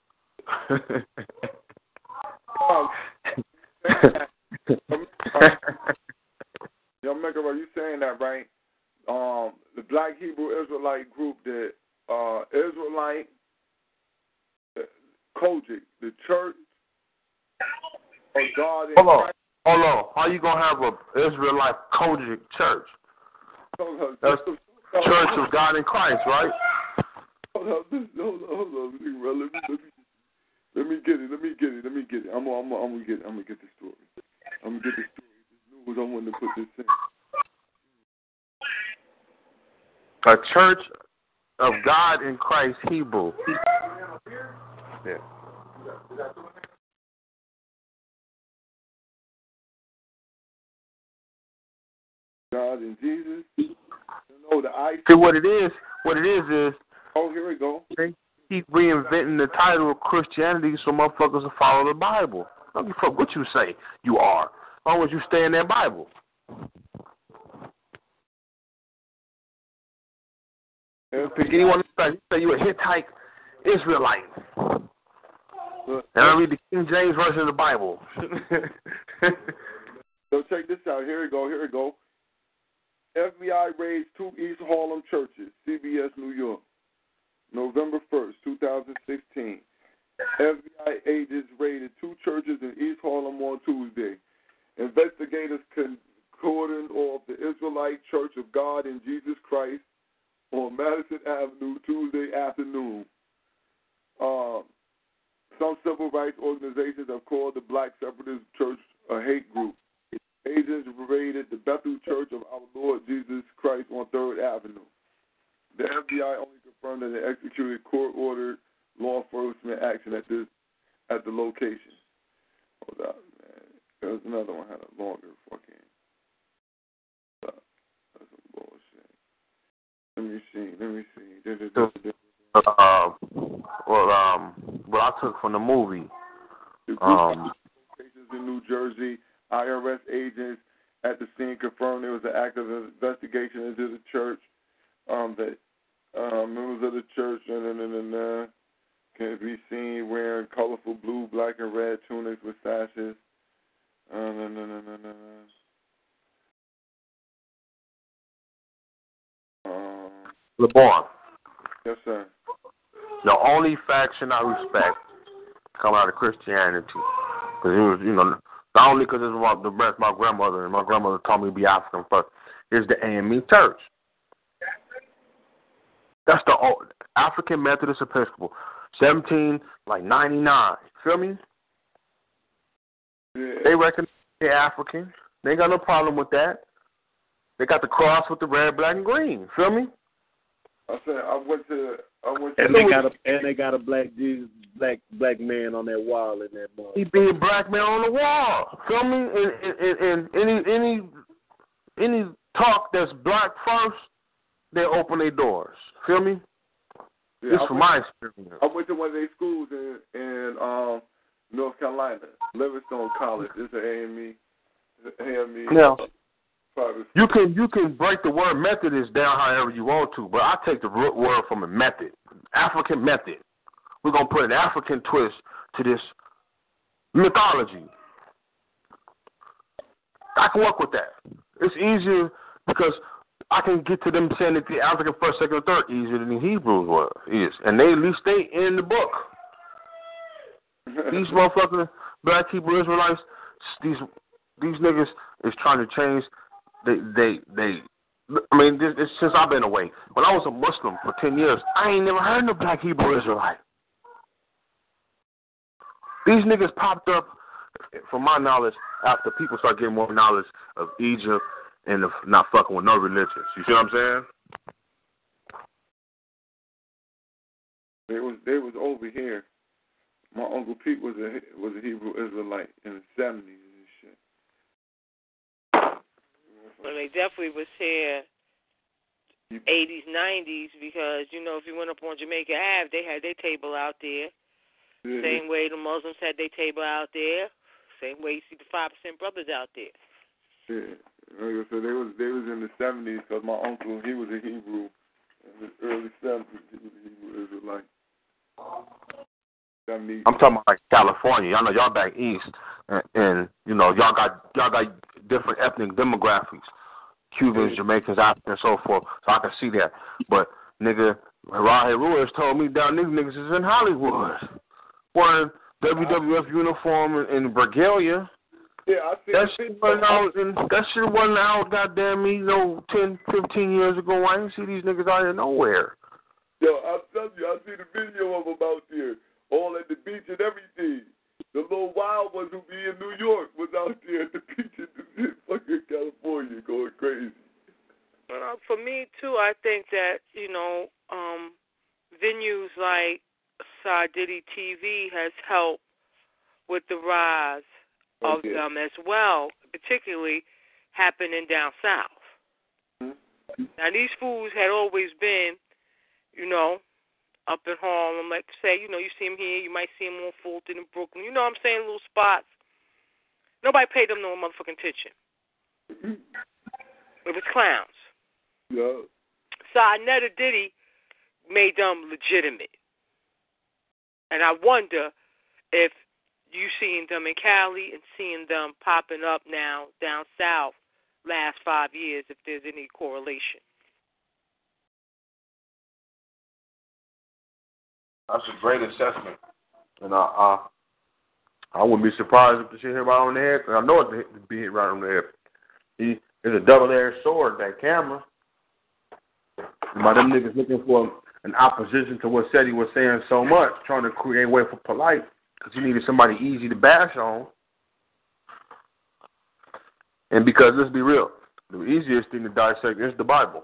Yo, Mecca, are you saying that right? The Black Hebrew Israelite group, the Israelite Kojic, the Church of God in Christ. Hold on. How you gonna have a Israelite Kojic church? That's Church of God in Christ, right? Hold on, let me get it. I'm gonna get the story. This news. I want to put this in. A Church of God in Christ Hebrew. Yeah. God and Jesus. No, the I. See what it is. Oh, here we go. They keep reinventing the title of Christianity so motherfuckers will follow the Bible. Don't give a fuck what you say you are, as long as you stay in that Bible. Pick anyone else. You say you a Hittite Israelite. And I read the King James version of the Bible. So check this out. Here we go. FBI raids 2 East Harlem churches, CBS, New York, November 1st, 2016. FBI agents raided 2 churches in East Harlem on Tuesday. Investigators cordoned off the Israelite Church of God in Jesus Christ on Madison Avenue Tuesday afternoon. Some civil rights organizations have called the Black Separatist Church a hate group. Agents raided the Bethel Church of Our Lord Jesus Christ on 3rd Avenue. The FBI only confirmed that they executed court-ordered law enforcement action at the location. Hold up, man. There was another one had a longer fucking. That's some bullshit. Let me see. What I took from the movie. The group locations in New Jersey. IRS agents at the scene confirmed there was an active investigation into the church. That members of the church can be seen wearing colorful blue, black, and red tunics with sashes. LeBron. Yes, sir. The only faction I respect coming out of Christianity, because it was, not only because it's the rest of my grandmother, and my grandmother taught me to be African first, is the AME Church. That's the old African Methodist Episcopal, 1799. Feel me? Yeah. They recognize they're African. They ain't got no problem with that. They got the cross with the red, black, and green. Feel me? I said I went to. And they got a black Jesus, black man on that wall in that mall. He be a black man on the wall. Feel me? And any talk that's black first, they open their doors. Feel me? Yeah, This is from my experience. I went to one of their schools in North Carolina, Livingstone College. It's an AME. Now, private. you can break the word Methodist down however you want to, but I take the root word from a method, African method. We're gonna put an African twist to this mythology. I can work with that. It's easier because I can get to them saying that the African first, second, or third easier than the Hebrews is. And they at least stay in the book. These motherfucking black Hebrew Israelites, these niggas is trying to change. It's since I've been away. When I was a Muslim for 10 years, I ain't never heard of a black Hebrew Israelite. These niggas popped up, from my knowledge, after people start getting more knowledge of Egypt and of not fucking with no religions. You see what I'm saying? They was over here. My Uncle Pete was a Hebrew Israelite in the 70s and shit. Well, they definitely was here 80s, 90s, because, you know, if you went up on Jamaica Ave, they had their table out there. Yeah. Same way the Muslims had their table out there. Same way you see the 5% brothers out there. Yeah. Like I said, they was in the 70s, because my uncle, he was a Hebrew. In the early 70s, he was a Hebrew Israelite. I'm talking about like California. Y'all know y'all back east, and you know y'all got different ethnic demographics, Cubans, Jamaicans, Africans, and so forth. So I can see that. But nigga, Rahe Ruiz told me down these niggas is in Hollywood, wearing WWF uniform in Regalia. Yeah, I see that shit wasn't out. Goddamn me, 10, 15 years ago. I didn't see these niggas out here nowhere. Yo, I'm telling you, I see the video of them out there. All at the beach and everything. The little wild ones who be in New York was out there at the beach in fucking California going crazy. For me, too, I think that, you know, venues like Sardiddy TV has helped with the rise of them as well, particularly happening down south. Mm-hmm. Now, these fools had always been, you know, up in Harlem, like say, you know, you see them here, you might see them on Fulton in Brooklyn. You know what I'm saying? Little spots. Nobody paid them no motherfucking attention. It was clowns. Yeah. So Netta Diddy made them legitimate. And I wonder if you seeing them in Cali and seeing them popping up now down south last 5 years, if there's any correlation. That's a great assessment, and I wouldn't be surprised if the shit hit right on the head. Cause I know it would be hit right on the head. It's a double-edged sword, that camera. By them niggas looking for an opposition to what Seti was saying so much, trying to create a way for polite, because he needed somebody easy to bash on. And because, let's be real, the easiest thing to dissect is the Bible.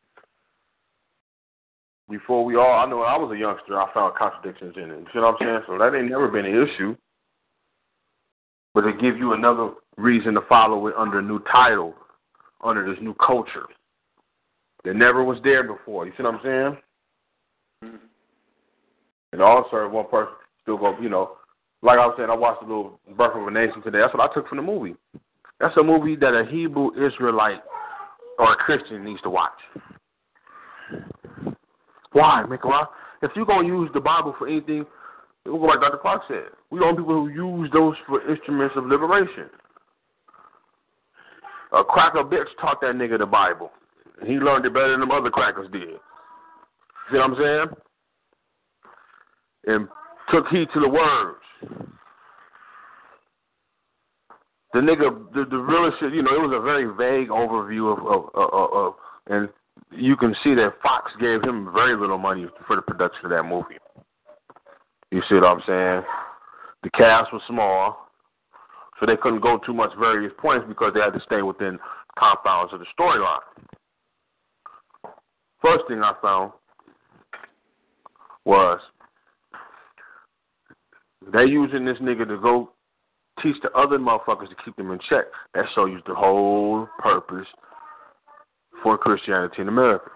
Before I know when I was a youngster, I found contradictions in it. You see what I'm saying? So that ain't never been an issue. But it gives you another reason to follow it under a new title, under this new culture that never was there before. You see what I'm saying? Mm-hmm. And also, one person still go, you know, like I was saying, I watched a little Birth of a Nation today. That's what I took from the movie. That's a movie that a Hebrew Israelite or a Christian needs to watch. Why, Michael? If you're going to use the Bible for anything, we'll go like Dr. Clark said. We don't people who use those for instruments of liberation. A cracker bitch taught that nigga the Bible. And he learned it better than them other crackers did. See what I'm saying? And took heed to the words. The nigga, the real shit, you know, it was a very vague overview of and you can see that Fox gave him very little money for the production of that movie. You see what I'm saying? The cast was small, so they couldn't go too much various points because they had to stay within confines of the storyline. First thing I found was they using this nigga to go teach the other motherfuckers to keep them in check. That shows you the whole purpose for Christianity in America.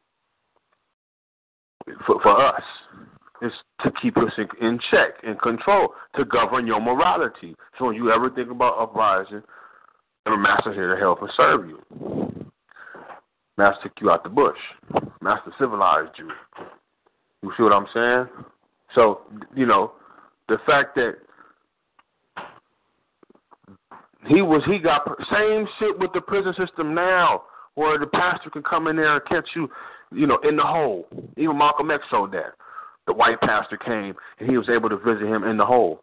For us, is to keep us in check, in control, to govern your morality. So when you ever think about uprising, the master's here to help and serve you. Master took you out the bush. Master civilized you. You see what I'm saying? So, you know, the fact that He got same shit with the prison system now, where the pastor can come in there and catch you, in the hole. Even Malcolm X showed that. The white pastor came and he was able to visit him in the hole.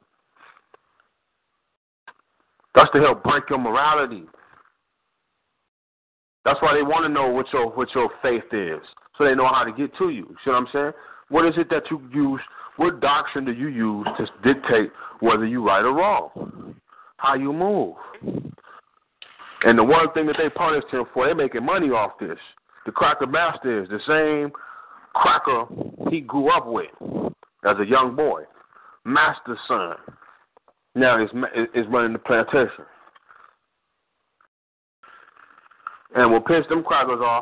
That's to help break your morality. That's why they want to know what your faith is, so they know how to get to you. See what I'm saying? What is it that you use? What doctrine do you use to dictate whether you're right or wrong? How you move? And the one thing that they punished him for, they're making money off this. The cracker master is the same cracker he grew up with as a young boy. Master's son. Now is running the plantation. And we'll pinch them crackers off.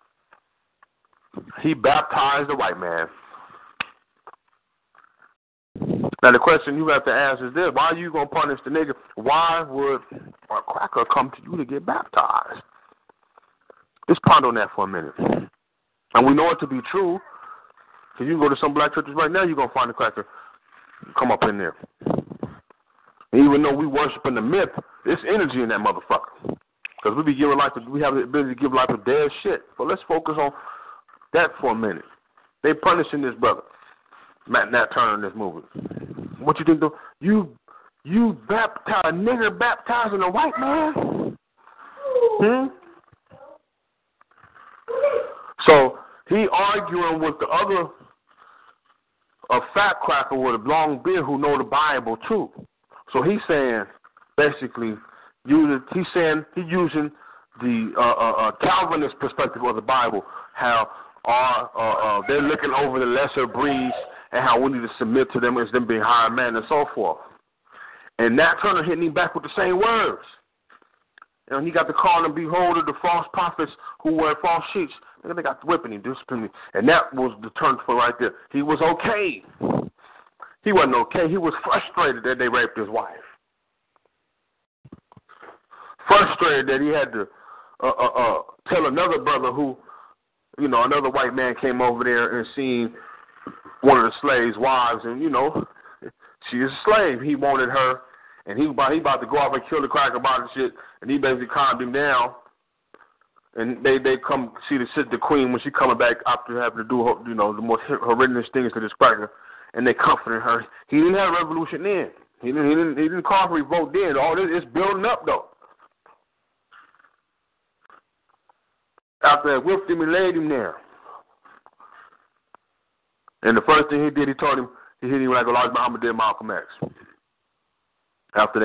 He baptized the white man. Now the question you have to ask is this: why are you gonna punish the nigga? Why would a cracker come to you to get baptized? Just ponder on that for a minute. And we know it to be true, because you can go to some black churches right now, you're gonna find a cracker come up in there. And even though we worshiping the myth, there's energy in that motherfucker. Because we have the ability to give life to dead shit. So let's focus on that for a minute. They punishing this brother, Nat Turner, in this movie. What you think though? You baptize a nigger baptizing a white man? So he arguing with the other, a fat cracker with a long beard who know the Bible too. So he's saying basically. He's saying he's using the Calvinist perspective of the Bible, how they're looking over the lesser breeds and how we need to submit to them as them being higher men and so forth. And Nat Turner hitting him back with the same words. And he got to call them, behold, the false prophets who wear false sheets. And they got to whipping him, disciplining him. And that was the turn for right there. He was okay. He wasn't okay. He was frustrated that they raped his wife. Frustrated that he had to tell another brother who, another white man came over there and seen one of the slaves' wives, and, she is a slave. He wanted her, and he about to go off and kill the cracker about the shit, and he basically calmed him down. And they come see the queen when she coming back after having to do, the most horrendous things to this cracker, and they comforted her. He didn't have a revolution then. He didn't call for revolt then. All this is building up though. After that, whipped him and laid him there. And the first thing he did, he told him, he hit him like Elijah Muhammad did Malcolm X. After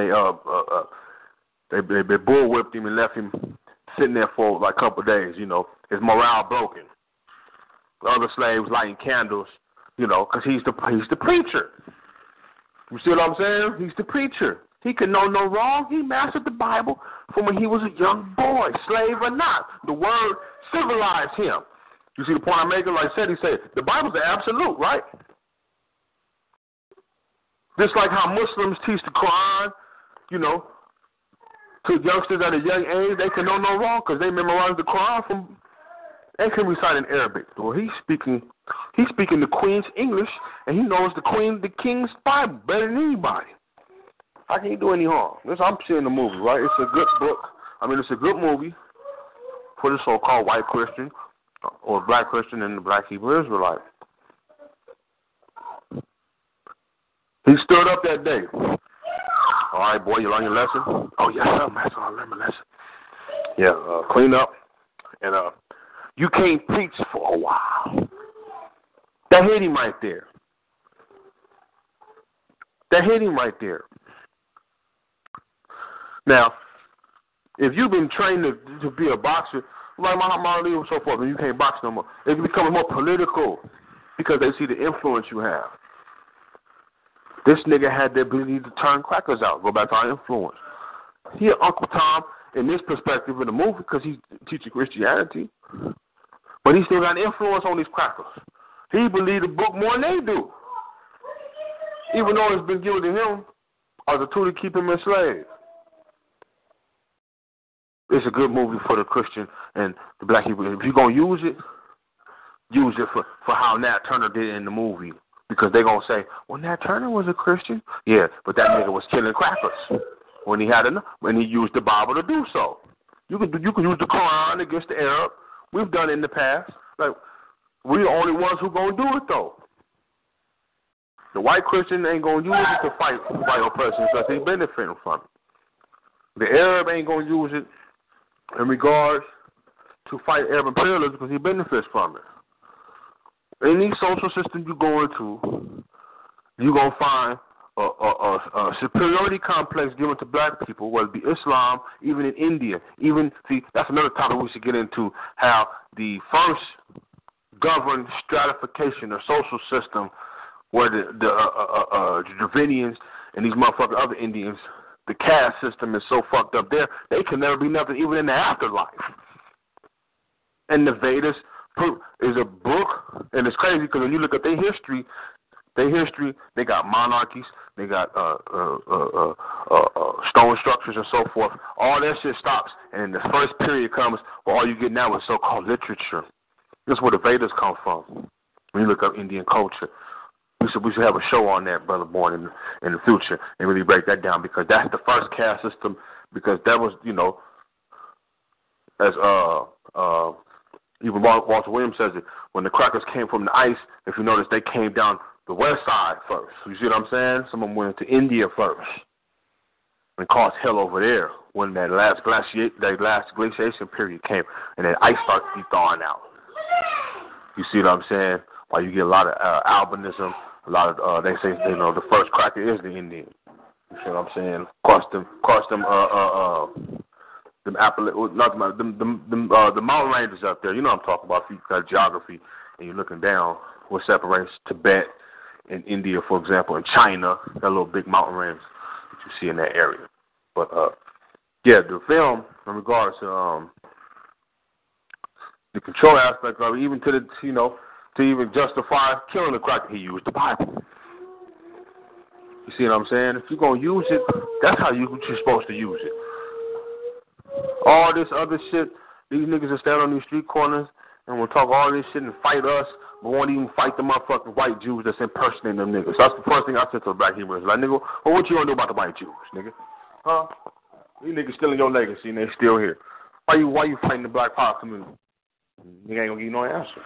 they bull whipped him and left him sitting there for like a couple of days, his morale broken. The other slaves lighting candles, because he's the preacher. You see what I'm saying? He's the preacher. He could know no wrong. He mastered the Bible from when he was a young boy, slave or not. The word civilized him. You see the point I'm making? Like I said, he said, the Bible's the absolute, right? Just like how Muslims teach the Quran, to youngsters at a young age, they can know no wrong because they memorize the Quran they can recite in Arabic. Well, he's speaking the Queen's English, and he knows the King's Bible better than anybody. How can he do any harm? I'm seeing the movie, right? It's a good book. It's a good movie for the so-called white Christian or black Christian and the black Hebrew Israelite. He stood up that day. All right, boy, you learn your lesson? Oh, yes, sir, master, I learned my lesson. Yeah, clean up. And you can't preach for a while. That hit him right there. Now, if you've been trained to be a boxer, like Muhammad Ali and so forth, and you can't box no more, it becomes more political because they see the influence you have. This nigga had the ability to turn crackers out, go back to our influence. He Uncle Tom in this perspective in the movie because he's teaching Christianity, but he still got influence on these crackers. He believed the book more than they do, even though it's been given to him as a tool to keep him enslaved. It's a good movie for the Christian and the black people. If you're going to use it for how Nat Turner did in the movie. Because they're going to say, well, Nat Turner was a Christian. Yeah, but that nigga was killing crackers. when he used the Bible to do so. You could use the Quran against the Arab. We've done it in the past. Like, we're the only ones who gonna do it though. The white Christian ain't gonna use it to fight white oppression because he's benefiting from it. The Arab ain't gonna use it in regards to fight Arab imperialism because he benefits from it. Any social system you go into, you're gonna find a superiority complex given to black people, whether it be Islam, even in India. That's another topic we should get into, how the first governed stratification or social system where the Dravidians and these motherfucking other Indians, the caste system is so fucked up there, they can never be nothing even in the afterlife. And the Vedas is a book, and it's crazy because when you look at their history, they got monarchies, they got stone structures and so forth. All that shit stops, and the first period comes where all you get now is so-called literature. That's where the Vedas come from. When you look up Indian culture, we should have a show on that, Brother Born, in the future, and really break that down, because that's the first caste system. Because that was, as even Walter Williams says it, when the crackers came from the ice, if you notice, they came down the west side first. You see what I'm saying? Some of them went to India first and caused hell over there when that last glaciation period came and then ice started to be thawing out. You see what I'm saying? Why you get a lot of albinism, a lot of they say the first cracker is the Indian. You see what I'm saying? The mountain ranges up there. You know what I'm talking about. If you got geography and you're looking down, what separates Tibet and India, for example, and China, that little big mountain range that you see in that area. But the film, in regards to the control aspect of it, even to the to even justify killing the cracker, he used the Bible. You see what I'm saying? If you're gonna use it, that's how you're supposed to use it. All this other shit, these niggas will stand on these street corners and will talk all this shit and fight us, but won't even fight the motherfucking white Jews that's impersonating them niggas. That's the first thing I said to the black Hebrews. Like, nigga, well, what you gonna do about the white Jews, nigga? Huh? These niggas stealing your legacy and they still here. Why you fighting the black power community? Nigga ain't gonna give you no answer.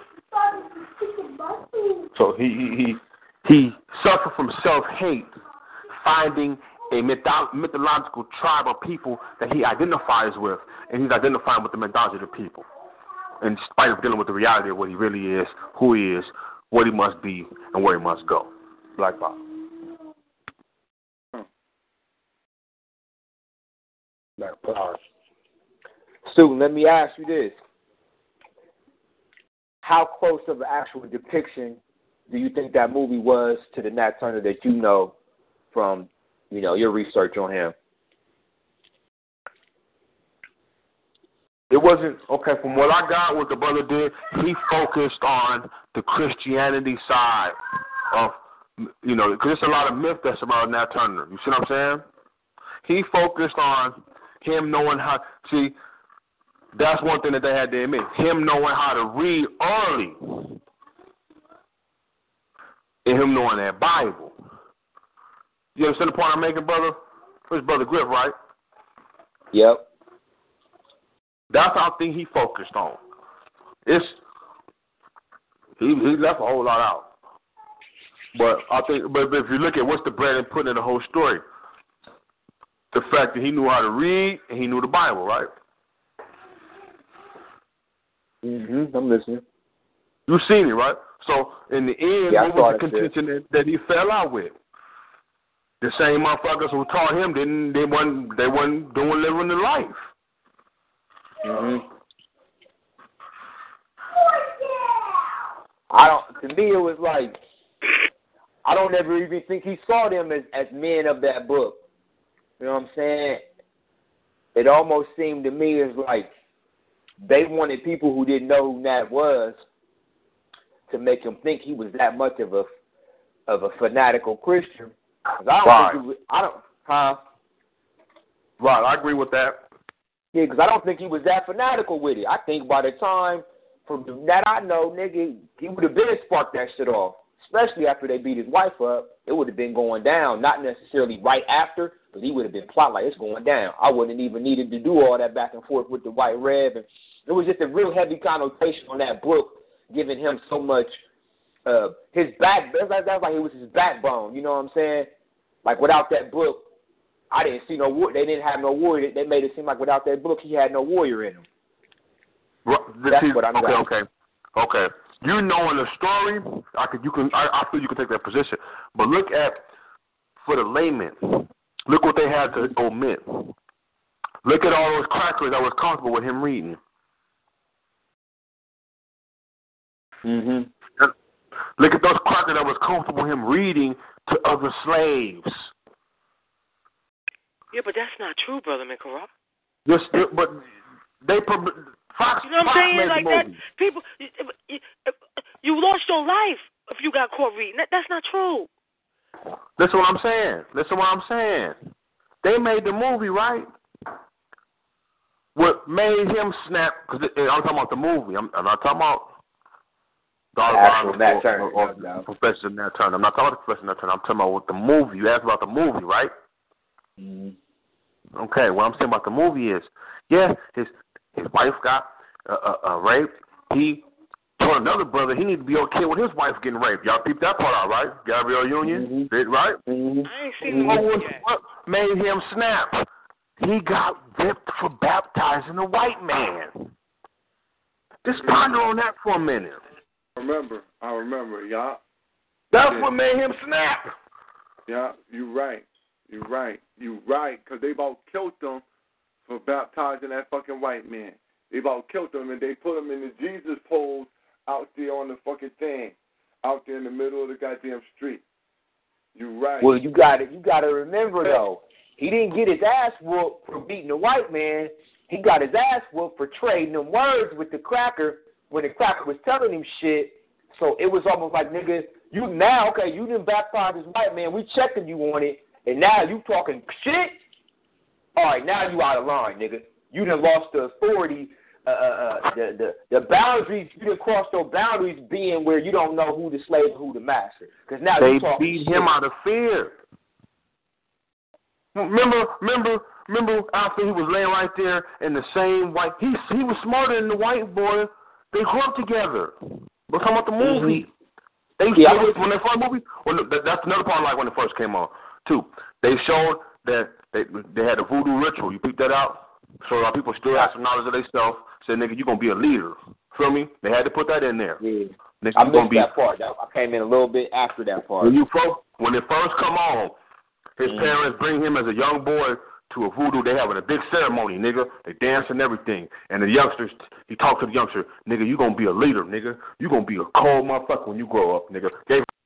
So he suffered from self-hate, finding a mythological tribe of people that he identifies with, and he's identifying with the mythology of the people, in spite of dealing with the reality of what he really is, who he is, what he must be, and where he must go. Black Bob. Black Power. Student, let me ask you this. How close of an actual depiction do you think that movie was to the Nat Turner that you know from, your research on him? It wasn't, okay, from what I got, what the brother did, he focused on the Christianity side of, because there's a lot of myth that's about Nat Turner. You see what I'm saying? He focused on him knowing how, that's one thing that they had to admit, him knowing how to read early and him knowing that Bible. You understand the point I'm making, brother? It's Brother Griff, right? Yep. That's how I think he focused on. He left a whole lot out. But I think, but if you look at what's the bread and putting in the whole story, the fact that he knew how to read and he knew the Bible, right? I'm listening. You seen it, right? So in the end, what was the contention that he fell out with? The same motherfuckers who taught him they wasn't doing living the life. To me it was like, I don't ever even think he saw them as men of that book. You know what I'm saying? It almost seemed to me as like they wanted people who didn't know who Nat was to make him think he was that much of a fanatical Christian. Right, I agree with that. Yeah, because I don't think he was that fanatical with it. I think by the time, from that I know, nigga, he would have been sparked that shit off. especially after they beat his wife up, it would have been going down. Not necessarily right after, but he would have been plotting like it's going down. I wouldn't even needed to do all that back and forth with the White Rev. And it was just a real heavy connotation on that book, giving him so much his back. That's like it was his backbone. You know what I'm saying? Like without that book, I didn't see no war. They didn't have no warrior. They made it seem like without that book, he had no warrior in him. That's what I'm saying. Okay. You knowing the story, I feel you can take that position. But look at, for the layman, look what they had to omit. Look at all those crackers that was comfortable with him reading. Mhm. Look at those crackers that was comfortable with him reading to other slaves. Yeah, but that's not true, Brother Mikara. Yes, but they Fox. You know what I'm saying? Like that, movie. people, you lost your life if you got caught reading. That's not true. Listen what I'm saying. They made the movie, right? What made him snap? Because I'm talking about the movie. I'm not talking about Nat Turner or Professor Nat Turner. I'm not talking about Professor Nat Turner. I'm talking about what the movie. You asked about the movie, right? Mhm. Okay. What I'm saying about the movie is, yeah, his wife got raped. He told another brother he need to be okay with his wife getting raped. Y'all peeped that part out, right? Gabrielle Union, right? Mhm. I ain't seen the movie yet. What made him snap? He got whipped for baptizing a white man. Just ponder on that for a minute. I remember, yeah. That's what made him snap. Yeah, you're right, because they about killed him for baptizing that fucking white man. They about killed him, and they put him in the Jesus pose out there on the fucking thing, out there in the middle of the goddamn street. You're right. Well, you got to remember though, he didn't get his ass whooped for beating the white man. He got his ass whooped for trading them words with the cracker when the cracker was telling him shit. So it was almost like, nigga, you didn't baptize this white man. We checking you on it, and now you talking shit. All right, now you out of line, nigga. You done lost the authority, the boundaries. You done crossed those boundaries, being where you don't know who the slave and who the master. Because now they you talking beat shit. him out of fear. Remember after he was laying right there in the same white. He was smarter than the white boy. They grew up together. We're talking about the movie. When they first movie, that's another part like when it first came on too. They showed that they had a voodoo ritual. You peeped that out? So a lot of people still have some knowledge of themselves. Said, nigga, you gonna be a leader. Feel me? They had to put that in there. Yeah. I missed that part. I came in a little bit after that part. When it first come on, his parents bring him as a young boy to a voodoo. They having a big ceremony, nigga. They dance and everything. And the youngsters, he talked to the youngster, nigga, you gonna be a leader, nigga. You gonna be a cold motherfucker when you grow up, nigga.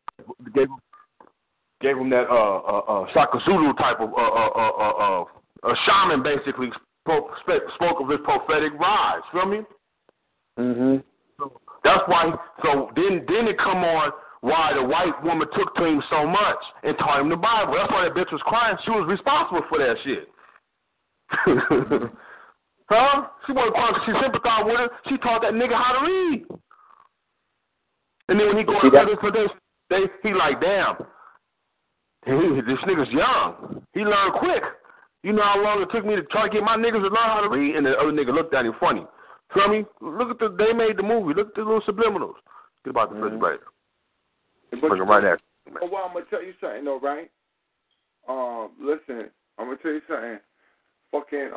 Gave him that Shaka Zulu type of a shaman basically spoke of his prophetic rise. Feel me? Mhm. So that's why. So then it come on why the white woman took to him so much and taught him the Bible. That's why that bitch was crying. She was responsible for that shit. Huh? She wasn't crying because she sympathized with her. She taught that nigga how to read. And then when he go to prison for this, he like, damn, this nigga's young. He learned quick. You know how long it took me to try to get my niggas to learn how to read? And the other nigga looked at him funny. Feel me? Look at they made the movie. Look at the little subliminals. Get about the refrigerator. Bring it right at you. Well, I'm going to tell you something, though, right? Listen, I'm going to tell you something. Fucking,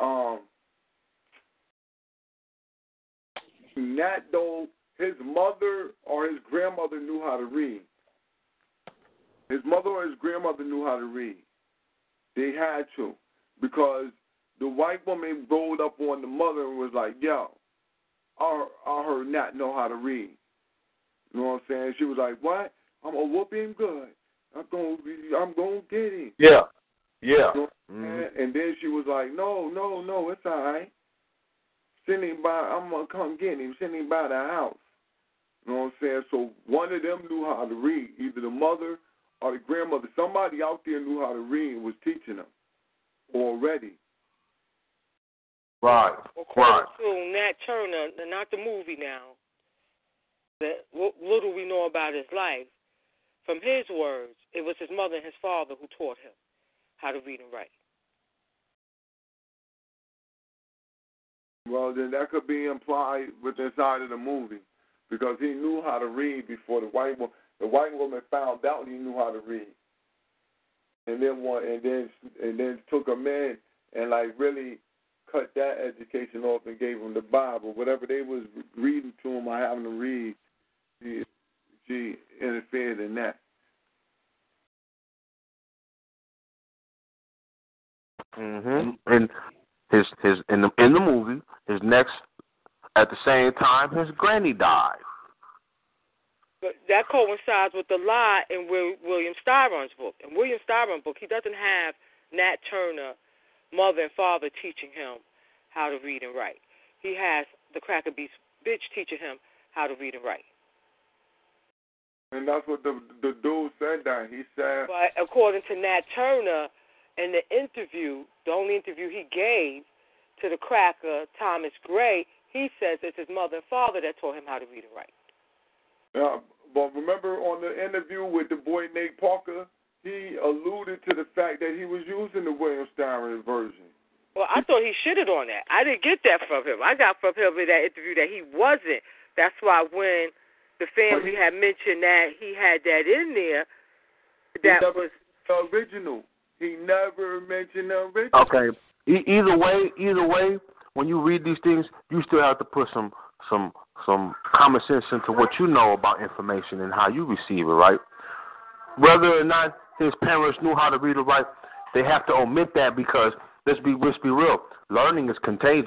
Nat, though, his mother or his grandmother knew how to read. His mother or his grandmother knew how to read. They had to. Because the white woman rolled up on the mother and was like, yo, I heard Nat know how to read. You know what I'm saying? She was like, what? I'm going to whoop him good. I'm going to get him. Yeah. You know And then she was like, no, it's all right. Send him by, I'm going to come get him. Send him by the house. You know what I'm saying? So one of them knew how to read, either the mother or the grandmother. Somebody out there knew how to read and was teaching them already. Right. According to Nat Turner, not the movie now, that little we know about his life, from his words, it was his mother and his father who taught him how to read and write. Well, then that could be implied with inside of the movie, because he knew how to read before the white woman found out he knew how to read, and then took him in and like really cut that education off and gave him the Bible, whatever they was reading to him or having to read. She interfered in that. And his in the movie, his next at the same time his granny died. But that coincides with the lie in William Styron's book. In William Styron's book, he doesn't have Nat Turner, mother and father, teaching him how to read and write. He has the Cracker Beast bitch teaching him how to read and write. And that's what the dude said that. He said... But according to Nat Turner, in the interview, the only interview he gave to the cracker, Thomas Gray, he says it's his mother and father that taught him how to read and write. Yeah, but remember on the interview with the boy Nate Parker, he alluded to the fact that he was using the William Styron version. Well, I thought he shitted on that. I didn't get that from him. I got from him in that interview that he wasn't. That's why when the family had mentioned that he had that in there, that was the original. He never mentioned the original. Okay. Either way, when you read these things, you still have to put some common sense into what you know about information and how you receive it, right? Whether or not his parents knew how to read or write, they have to omit that because let's be real. Learning is contagious.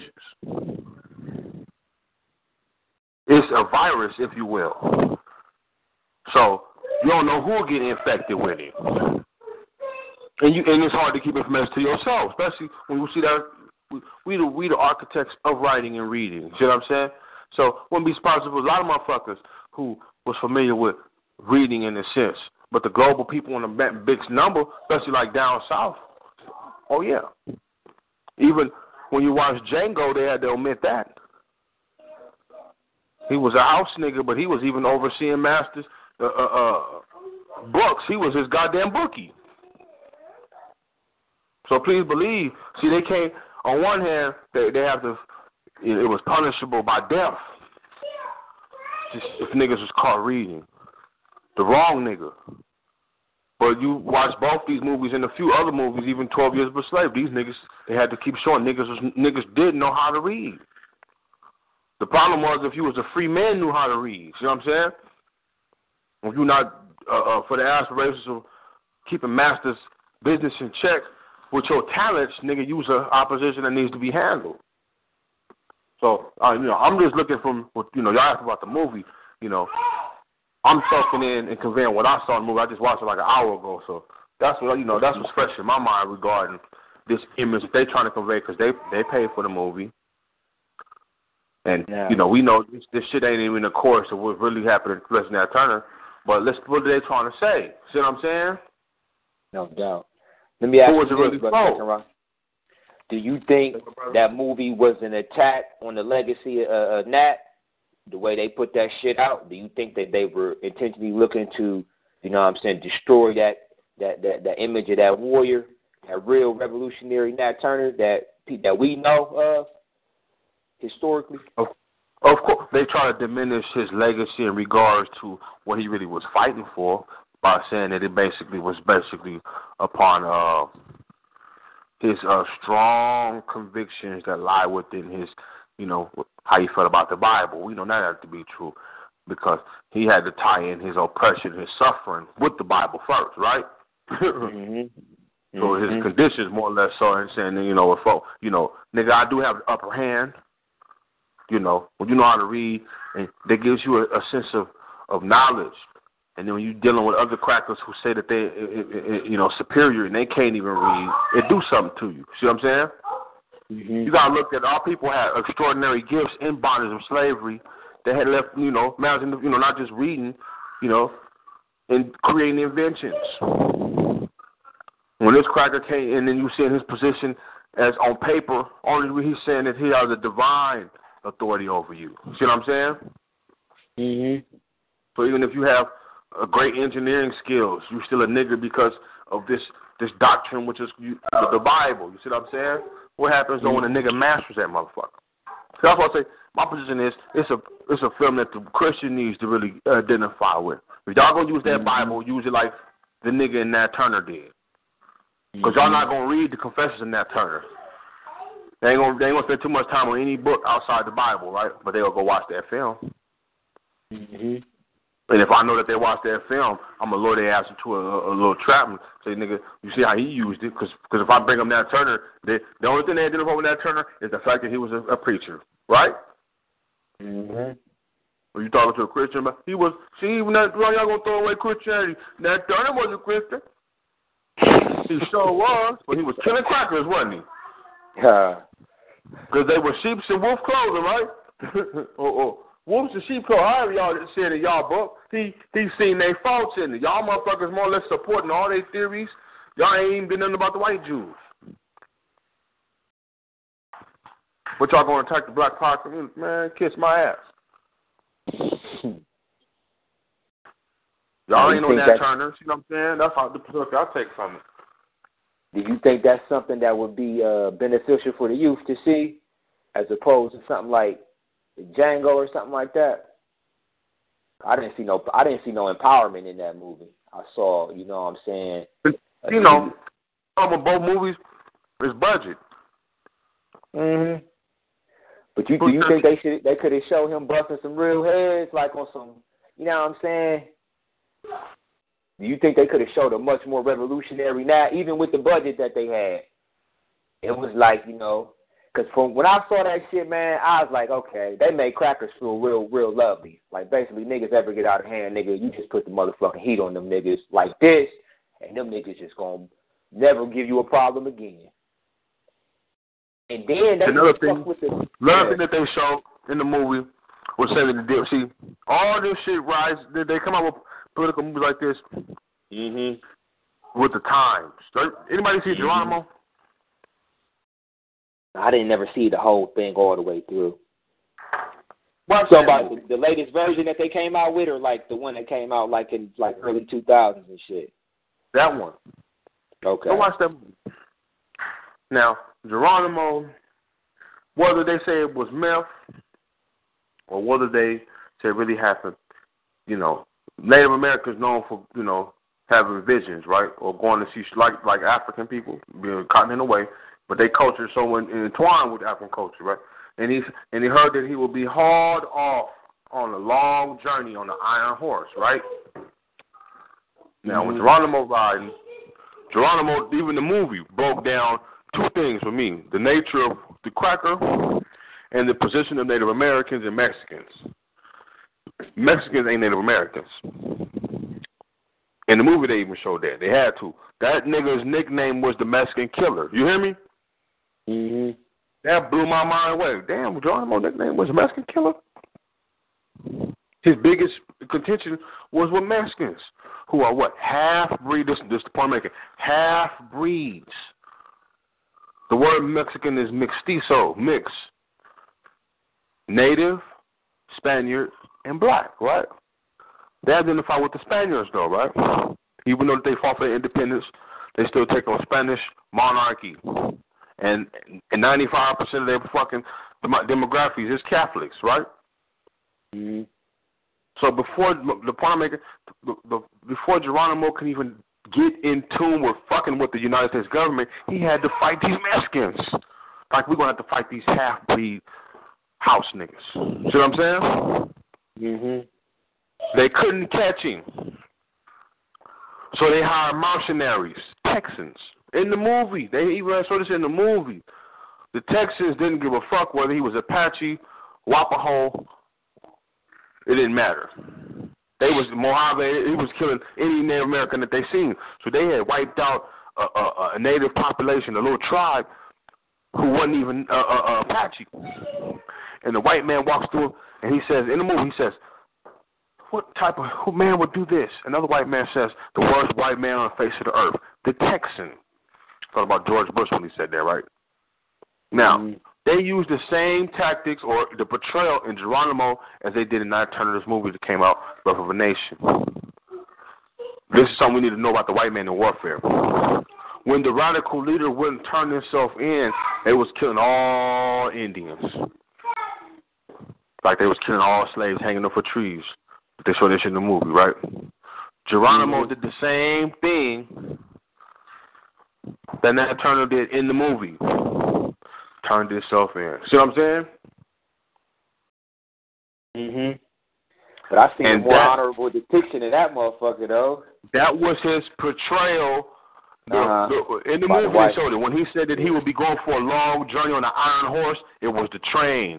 It's a virus, if you will. So you don't know who will get infected with it. And it's hard to keep information to yourself, especially when you see that we the architects of writing and reading. See what I'm saying? So wouldn't be surprised if a lot of motherfuckers who was familiar with reading in a sense, but the global people in a big number, especially like down south. Oh yeah. Even when you watch Django, they had to omit that. He was a house nigga, but he was even overseeing Masters books. He was his goddamn bookie. So please believe. See, they can't. On one hand, they have to. It was punishable by death. Just if niggas was caught reading the wrong nigga. But you watch both these movies and a few other movies, even 12 Years of a Slave. These niggas, they had to keep showing niggas didn't know how to read. The problem was if you was a free man, knew how to read. You know what I'm saying? If you're not for the aspirations of keeping Master's business in check with your talents, nigga, use an opposition that needs to be handled. So, I'm just looking from what y'all asked about the movie. I'm soaking in and conveying what I saw in the movie. I just watched it like an hour ago, so that's what that's what's fresh in my mind regarding this image they trying to convey because they paid for the movie, and we know this shit ain't even the course of what really happened to President Nat Turner. But what are they trying to say? See what I'm saying? No doubt. Let me ask you this, Brother. Do you think that movie was an attack on the legacy of Nat? The way they put that shit out, do you think that they were intentionally looking to, destroy that image of that warrior, that real revolutionary Nat Turner that we know of historically? Of course, they try to diminish his legacy in regards to what he really was fighting for by saying that it was upon his strong convictions that lie within his, how he felt about the Bible. We know that to be true because he had to tie in his oppression, his suffering with the Bible first, right? So his conditions more or less so, and saying, nigga, I do have the upper hand. When you know how to read, and that gives you a sense of knowledge. And then when you're dealing with other crackers who say that they, superior and they can't even read, it do something to you. See what I'm saying? You got to look at our people had extraordinary gifts in bondage of slavery. They had left, imagine, not just reading, and creating inventions. When this cracker came, and then you see in his position as on paper, only he's saying that he has a divine authority over you. See what I'm saying? So even if you have a great engineering skills. You still a nigga because of this doctrine, which is the Bible. You see what I'm saying? What happens though when a nigga masters that motherfucker? So that's what I say. My position is it's a film that the Christian needs to really identify with. If y'all gonna use that Bible, use it like the nigga in Nat Turner did. Because y'all not gonna read the Confessions of Nat Turner. They ain't gonna spend too much time on any book outside the Bible, right? But they'll go watch that film. Mm-hmm. And if I know that they watched that film, I'm gonna lure their ass into a little trap and say, nigga, you see how he used it? Because if I bring up Nat Turner, the only thing they identify with Nat Turner is the fact that he was a preacher, right? Mm-hmm. When you talking to a Christian, but he was. See, even that y'all gonna throw away Christianity. Nat Turner was a Christian. He sure was, but he was killing crackers, wasn't he? Because they were sheep in wolf clothing, right? or wolves in sheep clothing. However y'all said in y'all book, he seen their faults in it. Y'all motherfuckers more or less supporting all their theories. Y'all ain't even been nothing about the white Jews. But y'all gonna attack the black power community? Man, kiss my ass. Y'all ain't on that Turner. See what I'm saying? That's how the look I take from it. Do you think that's something that would be beneficial for the youth to see, as opposed to something like Django or something like that? I didn't see no empowerment in that movie. I saw, you know what I'm saying? You know, both movies is budget. Mhm. But do you think they could have showed him busting some real heads, like on some, you know what I'm saying? Do you think they could have showed a much more revolutionary now, even with the budget that they had? It was like, you know, because from when I saw that shit, man, I was like, okay, they made crackers feel real lovely. Like, basically, niggas ever get out of hand, nigga, you just put the motherfucking heat on them niggas like this, and them niggas just gonna never give you a problem again. And then they another thing that they showed in the movie was saying that the see all this shit rise. They come out with political movies like this with the times. Anybody see Geronimo? I didn't never see the whole thing all the way through. So about the latest version that they came out with, or like the one that came out like in like early 2000s and shit? That one. Okay. Go watch that movie. Now, Geronimo, whether they say it was meth or whether they say it really happened, you know, Native Americans known for, you know, having visions, right? Or going to see, like African people, being caught in a way, but their culture is so entwined with African culture, right? And he heard that he would be hauled off on a long journey on an iron horse, right? Now, with Geronimo riding, even the movie broke down two things for me: the nature of the cracker and the position of Native Americans and Mexicans. Mexicans ain't Native Americans. In the movie, they even showed that. They had to. That nigga's nickname was the Mexican Killer. You hear me? Mm-hmm. That blew my mind away. Damn, Geronimo's nickname was the Mexican Killer? His biggest contention was with Mexicans, who are what? Half-breed. This is the point I'm making. Half-breeds. The word Mexican is mestizo, mix. Native, Spaniard, and black, right? They identify with the Spaniards, though, right? Even though they fought for their independence, they still take on Spanish monarchy. And 95% of their fucking demographics is Catholics, right? Mm-hmm. So before the point I'm making, before Geronimo can even get in tune with fucking with the United States government, he had to fight these Mexicans. Like, we're going to have to fight these half-breed house niggas. See what I'm saying? Mm-hmm. They couldn't catch him. So they hired mercenaries, Texans. In the movie, they even saw this in the movie. The Texans didn't give a fuck whether he was Apache, Wapaho. It didn't matter. They was Mojave. He was killing any Native American that they seen. So they had wiped out a native population, a little tribe who wasn't even Apache. And the white man walks through and he says, in the movie, he says, what type of man would do this? Another white man says, the worst white man on the face of the earth, the Texan. Thought about George Bush when he said that, right? Now, they used the same tactics or the portrayal in Geronimo as they did in Nat Turner's movie that came out, Birth of a Nation. This is something we need to know about the white man in warfare. When the radical leader wouldn't turn himself in, they was killing all Indians. Like they was killing all slaves hanging up for trees. They showed this in the movie, right? Geronimo did the same thing that Nat Turner did in the movie. Turned himself in. See what I'm saying? But I seen a more honorable depiction of that motherfucker, though. That was his portrayal. In the movie, they showed it. When he said that he would be going for a long journey on an iron horse, it was the train.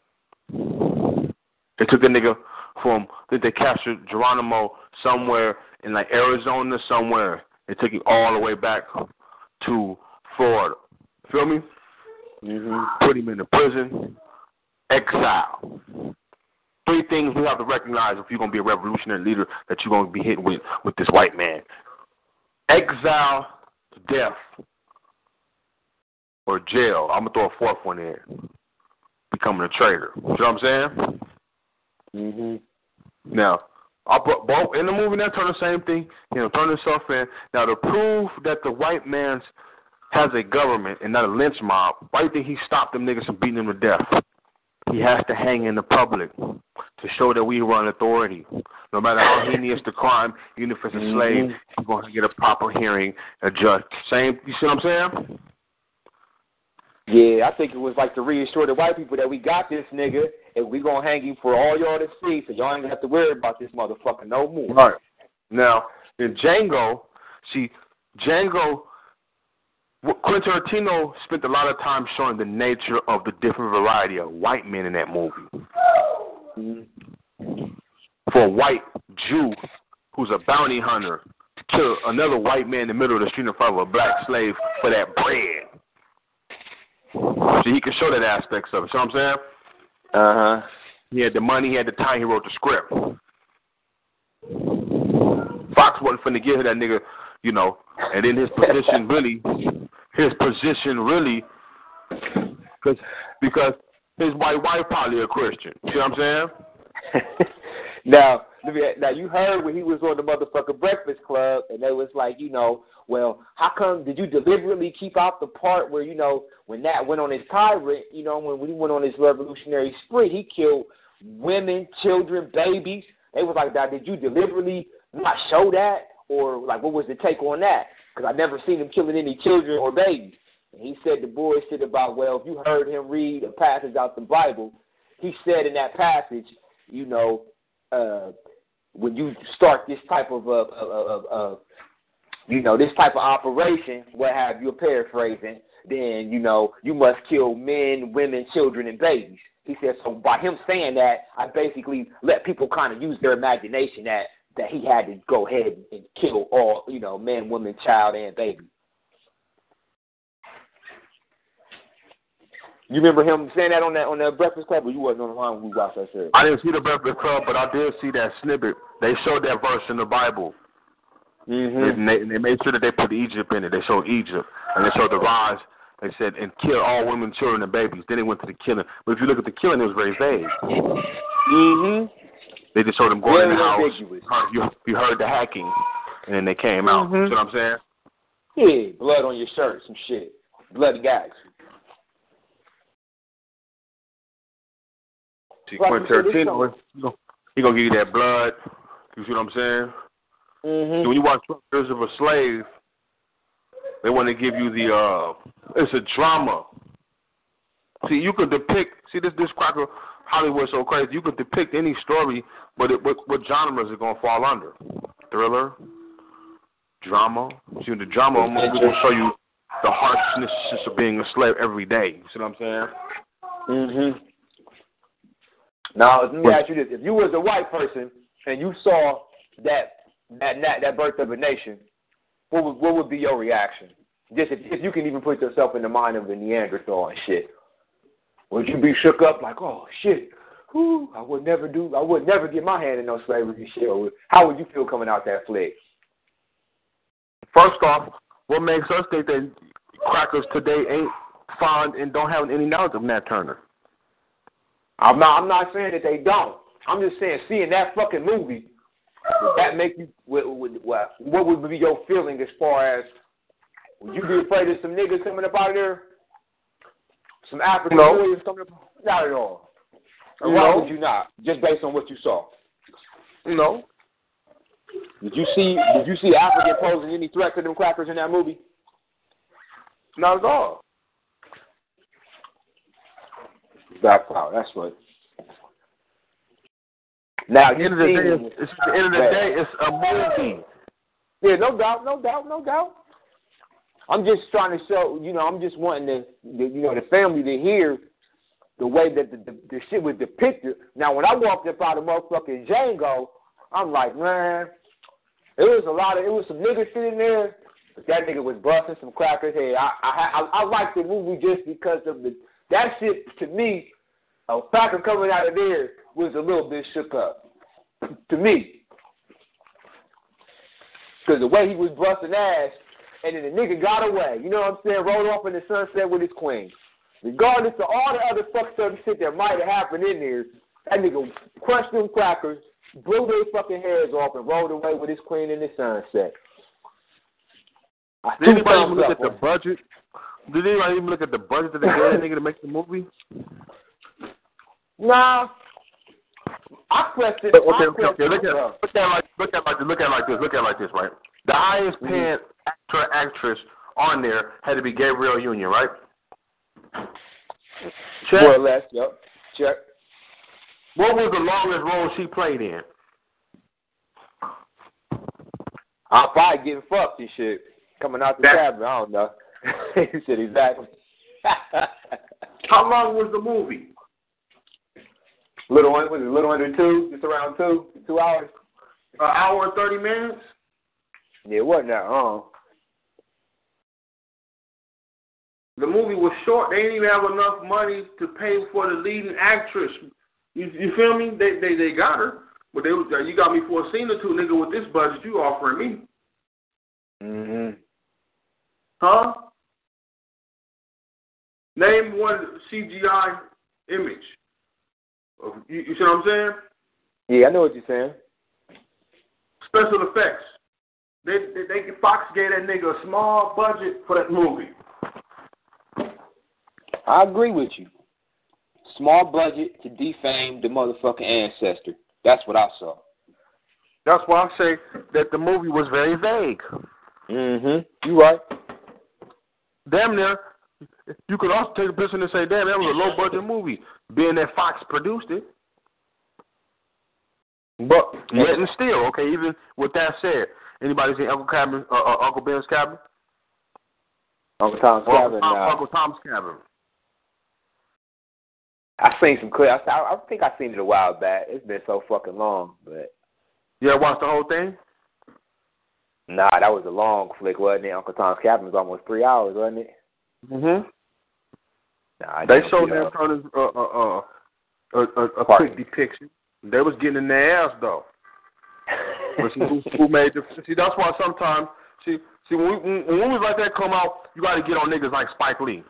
They took the nigga from, I think they captured Geronimo somewhere in like Arizona somewhere. They took him all the way back to Florida. Feel me? Put him in the prison. Exile. 3 things we have to recognize if you're going to be a revolutionary leader that you're going to be hit with this white man. Exile, death, or jail. I'm going to throw a 4th one in. Becoming a traitor. You know what I'm saying? Now, I put both in the movie. That turn the same thing. Turn himself in. Now, to prove that the white man has a government and not a lynch mob, why do you think he stopped them niggas from beating them to death? He has to hang in the public to show that we run authority. No matter how heinous the crime, even if it's a slave, he's going to get a proper hearing, a judge. Same. You see what I'm saying? Yeah, I think it was like to reassure the white people that we got this nigga and we going to hang him for all y'all to see, so y'all ain't going to have to worry about this motherfucker no more. Right. Now, in Django, Quentin Tarantino spent a lot of time showing the nature of the different variety of white men in that movie. For a white Jew who's a bounty hunter to kill another white man in the middle of the street in front of a black slave for that bread. So he could show that aspects of it. See what I'm saying? He had the money, he had the time, he wrote the script. Fox wasn't finna give that nigga, and then his position really, because his white wife probably a Christian. See what I'm saying? Now you heard when he was on the motherfucking Breakfast Club, and they was like, well, how come did you deliberately keep out the part where, when Nat went on his tirade, when he went on his revolutionary spree, he killed women, children, babies. They was like, did you deliberately not show that? Or, like, what was the take on that? Because I never seen him killing any children or babies. And he said the bullshit about, well, if you heard him read a passage out the Bible, he said in that passage, when you start this type of this type of operation, what have you, paraphrasing, then, you must kill men, women, children, and babies. He said, so by him saying that, I basically let people kind of use their imagination that he had to go ahead and kill all, man, woman, child, and baby. You remember him saying that on that Breakfast Club, or you wasn't on the line when we watched that series? I didn't see the Breakfast Club, but I did see that snippet. They showed that verse in the Bible. And they made sure that they put Egypt in it. They showed Egypt, and they showed the rise. They said, and kill all women, children, and babies. Then they went to the killing. But if you look at the killing, it was very vague. They just showed them going in the house. You heard the hacking, and then they came out. You see what I'm saying? Yeah, blood on your shirt, some shit. Bloody gags. See, Quentin Tarantino, he gonna give you that blood. You see what I'm saying? So when you watch 12 Years of a Slave, they want to give you the, it's a drama. See, you could depict, this cracker, Hollywood's so crazy, you could depict any story, but what genres is it going to fall under? Thriller? Drama? See, the drama movie will show you the harshness of being a slave every day. You see what I'm saying? Now, let me ask you this. If you was a white person and you saw that Birth of a Nation, what would be your reaction? Just if you can even put yourself in the mind of a Neanderthal and shit. Would you be shook up like, oh shit, I would never get my hand in no slavery shit? Or how would you feel coming out that flick? First off, what makes us think that crackers today ain't fond and don't have any knowledge of Nat Turner? I'm not saying that they don't. I'm just saying, seeing that fucking movie, Would that make you? What would be your feeling as far as would you be afraid of some niggas coming up out of there? Some African warriors coming up? Not at all. Or why would you not? Just based on what you saw. No. Did you see African posing any threat to them crackers in that movie? Not at all. Black power. That's what. Now, at the end of the day, it's a movie. Yeah, no doubt. I'm just trying to show, I'm just wanting the family to hear the way that the shit was depicted. Now, when I walked up out of motherfucking Django, I'm like, man, it was some niggas sitting there, but that nigga was busting some crackers' head. I like the movie just because of that shit, to me, a cracker coming out of there was a little bit shook up. To me. Because the way he was busting ass, and then the nigga got away. You know what I'm saying? Rode off in the sunset with his queen. Regardless of all the other fucked up shit that might have happened in there, that nigga crushed them crackers, blew their fucking heads off, and rode away with his queen in the sunset. Did anybody even look at the budget? Did anybody even look at the budget that they gave that nigga to make the movie? Nah. I question. Okay. Look at it like this, right? The highest paying actress on there had to be Gabrielle Union, right? Check. More or less, yep. Check. What was the longest role she played in? I'm probably getting fucked and shit. Coming out the cabin, I don't know. He said exactly. How long was the movie? Little under 2, just around 2 hours. An hour and 30 minutes? Yeah, it wasn't that long. The movie was short. They didn't even have enough money to pay for the leading actress. You feel me? They got her, but you got me for a scene or two, nigga. With this budget, you offering me? Mhm. Huh? Name one CGI image. You see what I'm saying? Yeah, I know what you're saying. Special effects. Fox gave that nigga a small budget for that movie. I agree with you. Small budget to defame the motherfucking ancestor. That's what I saw. That's why I say that the movie was very vague. Mhm. You right. Damn near. You could also take a picture and say, damn, that was a low budget movie, being that Fox produced it. But yet and still, okay, even with that said, anybody seen Uncle Ben's Cabin? Uncle Tom's Cabin. Uncle Tom's Cabin. I seen some clips. I think I seen it a while back. It's been so fucking long, but. You ever watched the whole thing? Nah, that was a long flick, wasn't it? Uncle Tom's Cabin was almost 3 hours, wasn't it? Mhm. Nah, they showed them turning a quick depiction. They was getting in their ass though. But who made the? See, that's why sometimes when movies like that come out, you got to get on niggas like Spike Lee.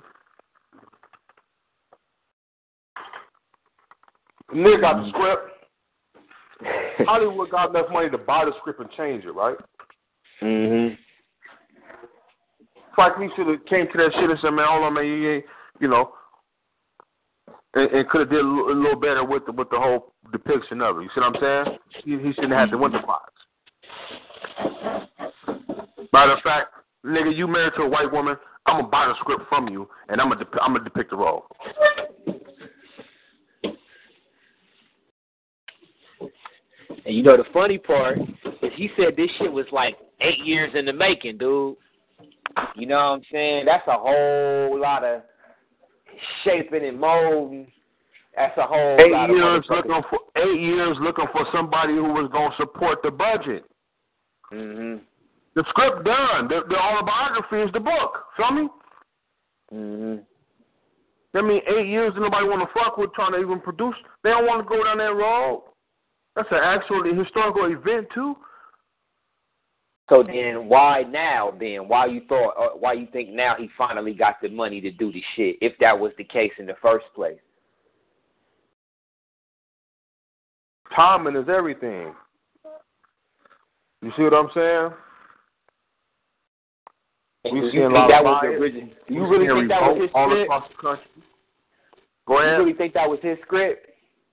Nigga got the script. Hollywood got enough money to buy the script and change it, right? Mhm. Spike Lee should have came to that shit and said, man, hold on, man, you know, and could have did a little better with the whole depiction of it. You see what I'm saying? He shouldn't have to win the box. Matter of fact, nigga, you married to a white woman, I'm gonna buy the script from you, and I'm gonna depict the role. And you know the funny part is he said this shit was like 8 years in the making, dude. You know what I'm saying? That's a whole lot of shaping and molding. That's a whole 8 lot years of 8 years looking for somebody who was gonna support the budget. Mhm. The script done. The autobiography is the book. Feel me? Mhm. I mean, 8 years and nobody want to fuck with trying to even produce. They don't want to go down that road. That's an actual historical event too. So then, why now? Then why you think now he finally got the money to do the shit? If that was the case in the first place. Timing is everything. You see what I'm saying? And you think that was the original? You really think that was his script? All across the country. Go ahead. You really think that was his script?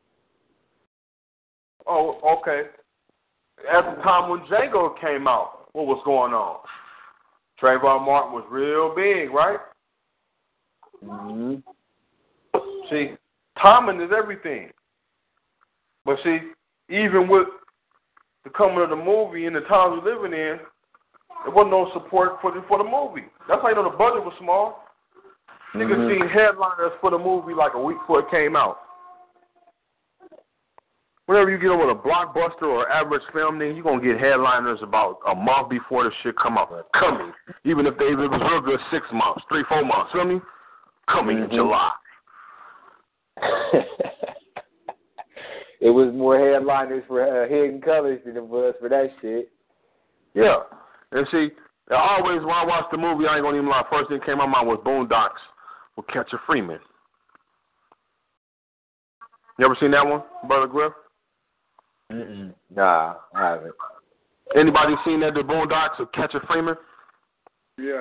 Oh, okay. At the time when Django came out, what was going on? Trayvon Martin was real big, right? Mm-hmm. See, timing is everything. But see, even with the coming of the movie and the times we're living in, there wasn't no support for the movie. That's how you know the budget was small. Niggas seen headliners for the movie like a week before it came out. Whenever you get over a blockbuster or average film, then you're going to get headliners about a month before the shit come out. Coming. Even if it was real good 6 months, 3-4 months. Feel me? Coming in July. It was more headliners for Hidden Colors than it was for that shit. Yeah. And see, always when I watched the movie, I ain't going to even lie, first thing that came to my mind was Boondocks with Catcher Freeman. You ever seen that one, Brother Griff? Nah, I haven't. Anybody seen that, the Boondocks with Catcher Freeman? Yeah.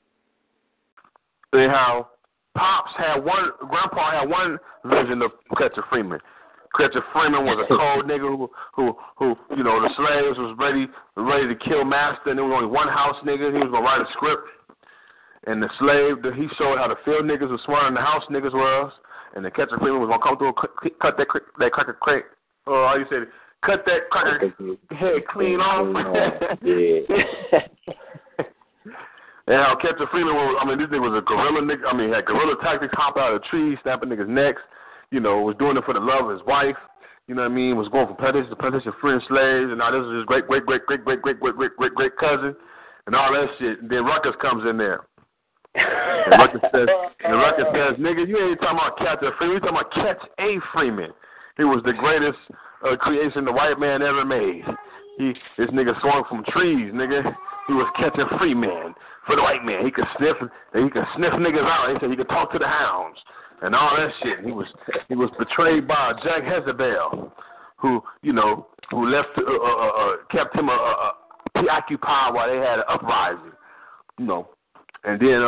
And how Grandpa had one vision of Catcher Freeman. Catcher Freeman was a cold nigga who you know, the slaves was ready to kill master, and there was only one house nigga. He was gonna write a script, and the slave he showed how the field niggas was smarter than the house niggas was, and the Catcher Freeman was gonna come through and cut that cracker crate. Oh, how you said it? Cut that cracker head clean off. Yeah. And how Catcher Freeman was, this nigga was a guerrilla nigga. Had guerrilla tactics, hop out of trees, snapping niggas' necks. You know, was doing it for the love of his wife. You know what I mean? Was going from plantation to plantation, freeing slaves, and now this is his great cousin, and all that shit. And then Ruckus comes in there. And Ruckus says, nigga, you ain't talking about Catcher Freeman, you talking about Catch A. Freeman. He was the greatest creation the white man ever made. This nigga swung from trees, nigga. He was catching free man for the white man. He could sniff niggas out. He said he could talk to the hounds and all that shit. He was betrayed by Jack Jezebel, who left kept him preoccupied while they had an uprising. You know, and then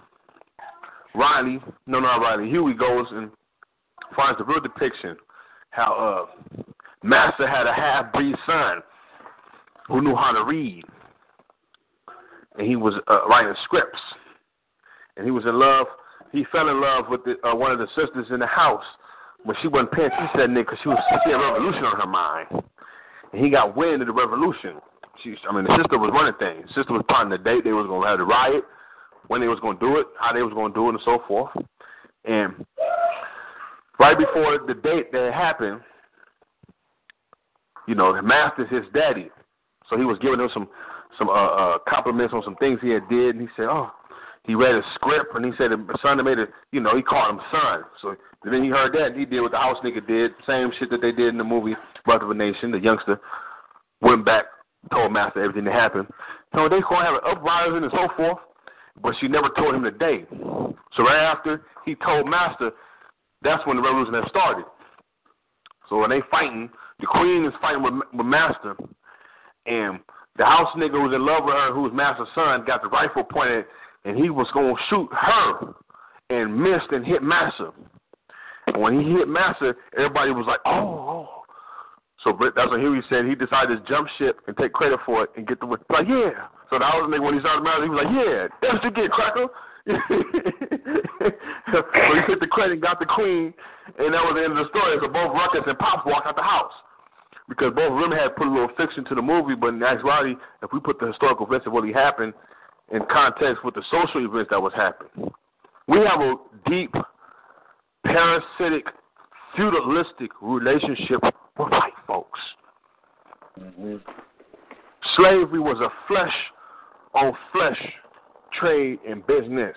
Huey goes and finds the real depiction how Master had a half-breed son who knew how to read. And he was writing scripts. And he was in love. He fell in love with one of the sisters in the house. When she wasn't paying, she said, nigga, because she had a revolution on her mind. And he got wind of the revolution. The sister was running things. The sister was plotting the date they was going to have the riot, when they was going to do it, how they was going to do it, and so forth. And right before the date that happened, you know, the Master's his daddy. So he was giving him some compliments on some things he had did, and he said, he read a script, and he said the son that made it, you know, he called him son. So then he heard that, and he did what the house nigga did, same shit that they did in the movie Birth of a Nation. The youngster went back, told Master everything that happened. So they going to have an uprising and so forth, but she never told him the day. So right after he told Master, that's when the revolution had started. So when they fighting, the queen is fighting with Master, and the house nigga who was in love with her, who was Master's son, got the rifle pointed, and he was going to shoot her, and missed and hit Master. And when he hit Master, everybody was like, oh. So that's when Huey said he decided to jump ship and take credit for it and get the win. Like, yeah. So the house nigga, when he started Master, he was like, yeah, that's what you get, cracker. So he hit the credit and got the queen, and that was the end of the story. So both Ruckus and Pops walked out the house. Because both of them had put a little fiction to the movie, but in actuality, if we put the historical events that really happened in context with the social events that was happening, we have a deep, parasitic, feudalistic relationship with white folks. Mm-hmm. Slavery was a flesh-on-flesh trade and business.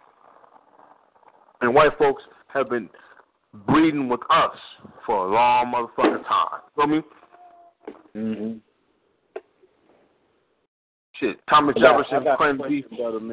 And white folks have been breeding with us for a long motherfucking time. You know what I mean? Mm-hmm. Shit, Thomas Jefferson claimed beef.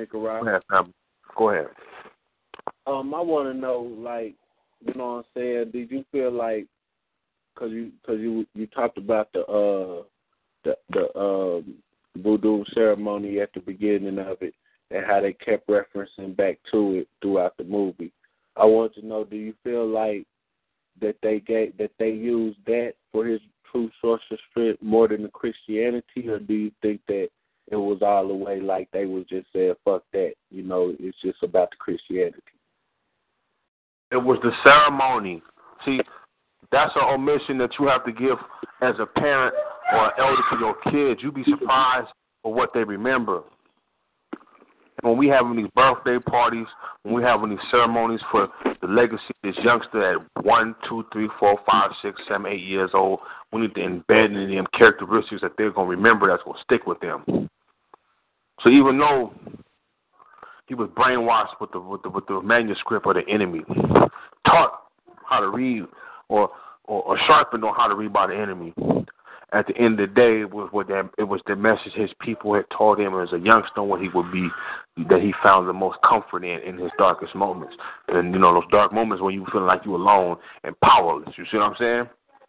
Go ahead. I want to know, like, you know what I'm saying? Did you feel like, because you talked about the the voodoo ceremony at the beginning of it, and how they kept referencing back to it throughout the movie. I want to know, do you feel like that they used that for his true source of strength more than the Christianity, or do you think that it was all the way like they was just saying, fuck that, it's just about the Christianity? It was the ceremony. See, that's an omission that you have to give as a parent or an elder to your kids. You'd be surprised for what they remember. When we having these birthday parties, when we having these ceremonies for the legacy of this youngster at 1, 2, 3, 4, 5, 6, 7, 8 years old, we need to embed in them characteristics that they're going to remember that's going to stick with them. So even though he was brainwashed with the manuscript of the enemy, taught how to read or sharpened on how to read by the enemy, at the end of the day, it was the message his people had taught him as a youngster what he would be, that he found the most comfort in his darkest moments. And, those dark moments when you feel like you're alone and powerless. You see what I'm saying?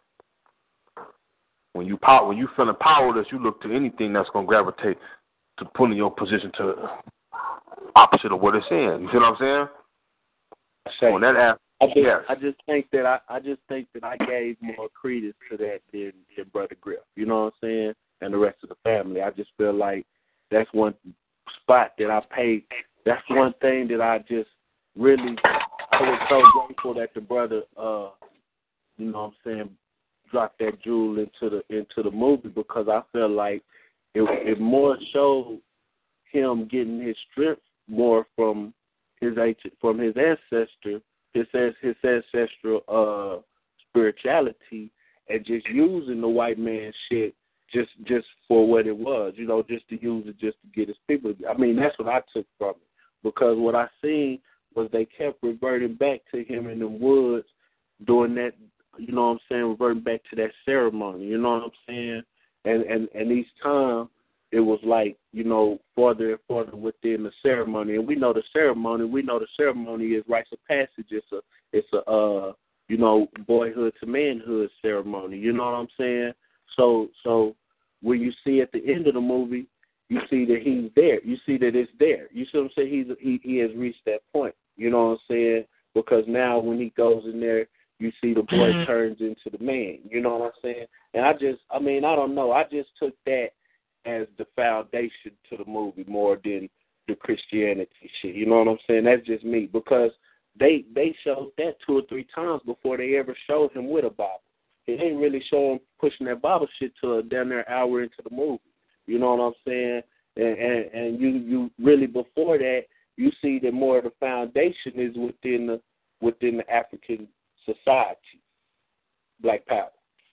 When you feeling powerless, you look to anything that's going to gravitate to put in your position to opposite of what it's in. You see what I'm saying? On that aspect. I just think that I gave more credence to that than Brother Griff. You know what I'm saying? And the rest of the family. I just feel like that's one spot that I paid. That's one thing that I just really, I was so grateful that the brother, dropped that jewel into the movie, because I feel like it more showed him getting his strength more from his ancestor. His ancestral spirituality, and just using the white man shit just for what it was, just to use it just to get his people. I mean, that's what I took from it, because what I seen was they kept reverting back to him in the woods doing that, reverting back to that ceremony, you know what I'm saying? And each time it was like, farther and farther within the ceremony. And we know the ceremony is rites of passage. It's a boyhood to manhood ceremony. You know what I'm saying? So when you see at the end of the movie, you see that he's there. You see that it's there. You see what I'm saying? He has reached that point. You know what I'm saying? Because now when he goes in there, you see the boy turns into the man. You know what I'm saying? And I don't know. I just took that as the foundation to the movie more than the Christianity shit. You know what I'm saying? That's just me, because they showed that 2 or 3 times before they ever showed him with a Bible. They didn't really show him pushing that Bible shit to down there an hour into the movie. You know what I'm saying? And you really, before that, you see that more of the foundation is within the African society. Black power.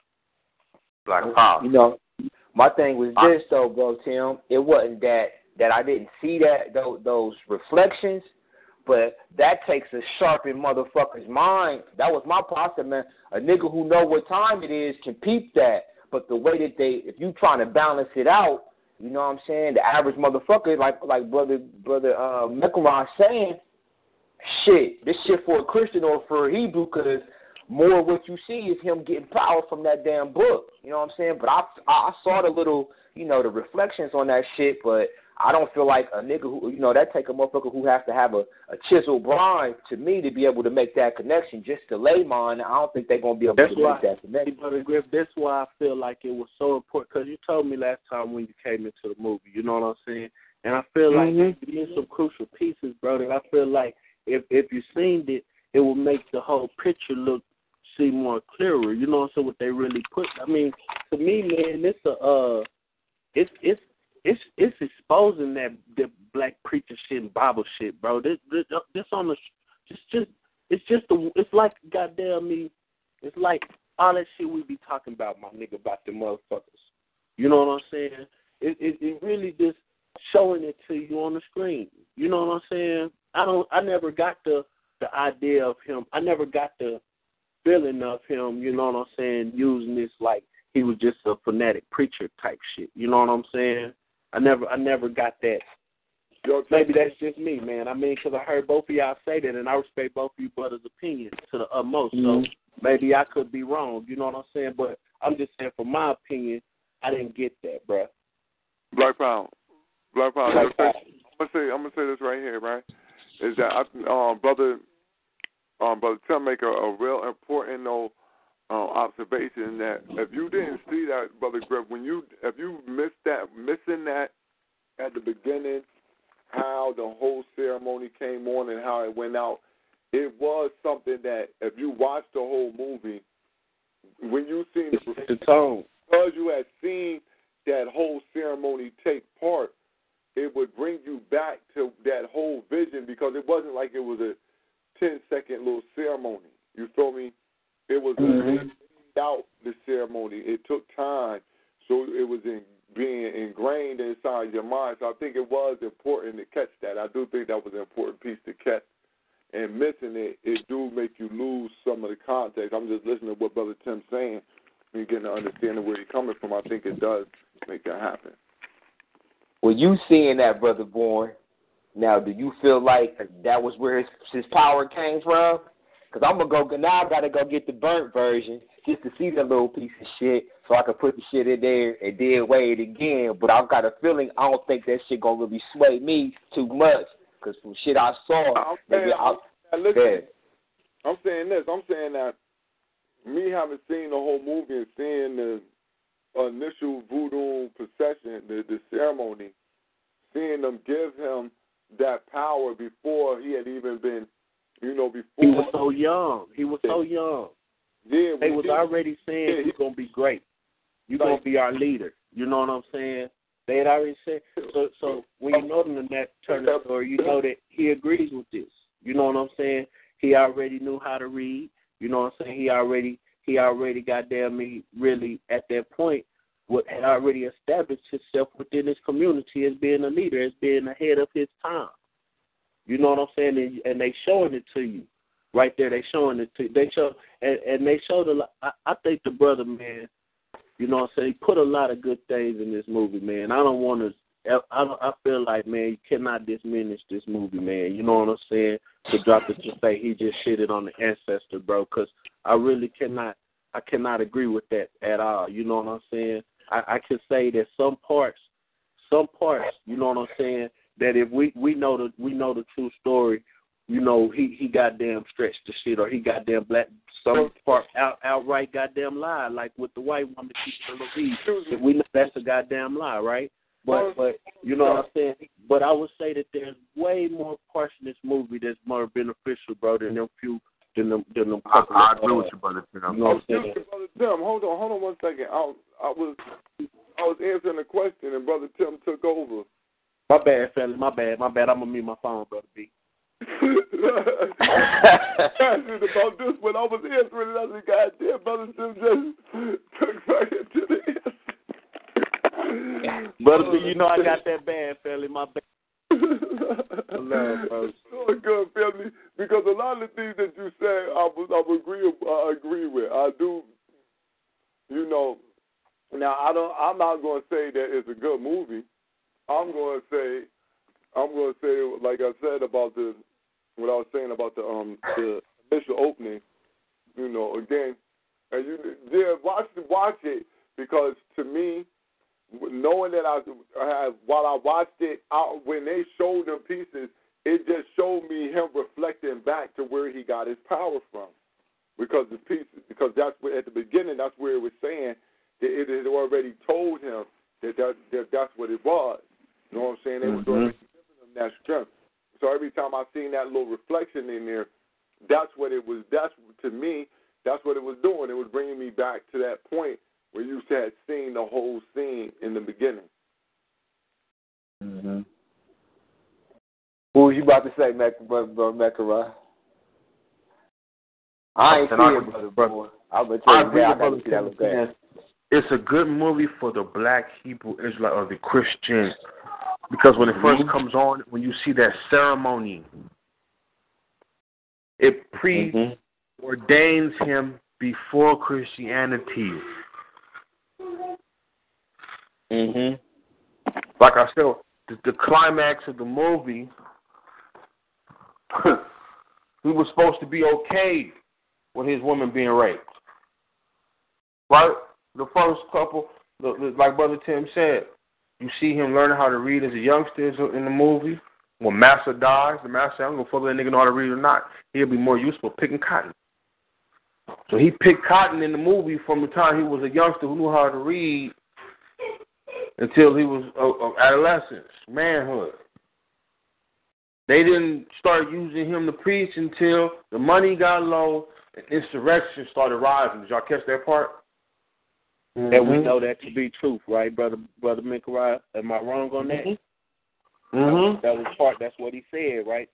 Black power. My thing was this, though, bro, Tim. It wasn't that I didn't see those reflections, but that takes a sharpened motherfucker's mind. That was my process, man. A nigga who know what time it is can peep that. But the way that if you trying to balance it out, you know what I'm saying? The average motherfucker, like brother Mekaron saying, shit, this shit for a Christian or for a Hebrew, because more of what you see is him getting power from that damn book. You know what I'm saying? But I saw the little, the reflections on that shit, but I don't feel like a nigga who, that take a motherfucker who has to have a chiseled brain to me to be able to make that connection. Just to layman, I don't think they're going to be able to make that connection. Brother Griff, that's why I feel like it was so important, because you told me last time when you came into the movie, you know what I'm saying? And I feel like there's some crucial pieces, bro, that I feel like if you seen it, it will make the whole picture see more clearer. You know what I'm saying? What they really put. I mean, to me, man, it's exposing that the black preacher shit and Bible shit, bro. This on the it's like goddamn me. It's like all that shit we be talking about, my nigga, about the motherfuckers. You know what I'm saying? It really just showing it to you on the screen. You know what I'm saying? I never got the idea of him. I never got the feeling of him, you know what I'm saying, using this like he was just a fanatic preacher type shit. You know what I'm saying? I never got that. Maybe that's just me, man. I mean, because I heard both of y'all say that, and I respect both of you brothers' opinions to the utmost. So maybe I could be wrong. You know what I'm saying? But I'm just saying, from my opinion, I didn't get that, bro. Black Power. I'm gonna say this right here, right? Is that brother Tim make a real important observation that if you didn't see that, Brother Griff, if you missing that at the beginning, how the whole ceremony came on and how it went out, it was something that if you watched the whole movie, when you seen the tone, because you had seen that whole ceremony take part, it would bring you back to that whole vision because it wasn't like it was a 10-second little ceremony. You feel me? It was out the ceremony. It took time, so it was being ingrained inside your mind. So I think it was important to catch that. I do think that was an important piece to catch. And missing it do make you lose some of the context. I'm just listening to what Brother Tim's saying. When you get to understanding where he's coming from, I think it does make that happen. Well, you seeing that, Brother Bourne, now do you feel like that was where his power came from? Because I'm going to now I got to go get the burnt version just to see that little piece of shit so I can put the shit in there and then weigh it again. But I've got a feeling I don't think that shit going to really sway me too much because from shit I saw. I'm saying this. I'm saying that me having seen the whole movie and seeing the initial voodoo procession, the ceremony, seeing them give him that power before he had even been, before. He was so young. Yeah, they was already saying you're going to be great. You're going to be our leader. You know what I'm saying? They had already said. So when you know them in that Turner story, you know that he agrees with this. You know what I'm saying? He already knew how to read. You know what I'm saying? He already goddamn me really at that point had already established himself within his community as being a leader, as being ahead of his time. You know what I'm saying? And they showing it to you. Right there, they showing it to you. They showed a lot. I think the brother, man, you know what I'm saying, he put a lot of good things in this movie, man. I feel like, man, you cannot diminish this movie, man. You know what I'm saying? To drop it to say he just shitted on the ancestor, bro, because I really cannot agree with that at all. You know what I'm saying? I can say that some parts, you know what I'm saying, that if we know the true story, you know, he goddamn stretched the shit, or he goddamn black some part outright goddamn lie, like with the white woman keeping the lead. We know that's a goddamn lie, right? But you know what I'm saying? But I would say that there's way more parts in this movie that's more beneficial, bro, than them few than them couple. I agree with you, Brother Tim. You know what I'm saying? Brother Tim, hold on 1 second. I was answering the question and Brother Tim took over. My bad, fella. My bad. I'm gonna mute my phone, Brother B. Passionate about this when I was answering it. I said, God damn, Brother Tim just took right into the answer. Brother B, you know I got that bad, fella. My bad. I love, bro. So good, family. Because a lot of the things that you say, I agree with. I do. You know. Now I'm not going to say that it's a good movie. I'm going to say, like I said about what I was saying about the initial opening. You know, again, and watch it because to me, knowing that while I watched it, when they showed them pieces, it just showed me him reflecting back to where he got his power from. Because that's where, at the beginning, that's where it was saying that it had already told him that's what it was. You know what I'm saying? They was already giving him that strength. So every time I seen that little reflection in there, that's what it was. To me, that's what it was doing. It was bringing me back to that point where you had seen the whole scene in the beginning. Mm-hmm. What was you about to say, Mekara? I ain't see it, brother. I'm going to tell you that. I got to see that look bad. It's a good movie for the black Hebrew Israelite or the Christian, because when it first comes on, when you see that ceremony, it preordains him before Christianity. Like I said, the climax of the movie, he was supposed to be okay with his woman being raped. Right? The first couple, like Brother Tim said, you see him learning how to read as a youngster in the movie. When Master dies, the Master, I'm going to fuck with that nigga know how to read or not. He'll be more useful picking cotton. So he picked cotton in the movie from the time he was a youngster who knew how to read until he was of adolescence, manhood. They didn't start using him to preach until the money got low and insurrection started rising. Did y'all catch that part? And we know that to be truth, right, brother Mikarai? Am I wrong on that? That was part. That's what he said, right?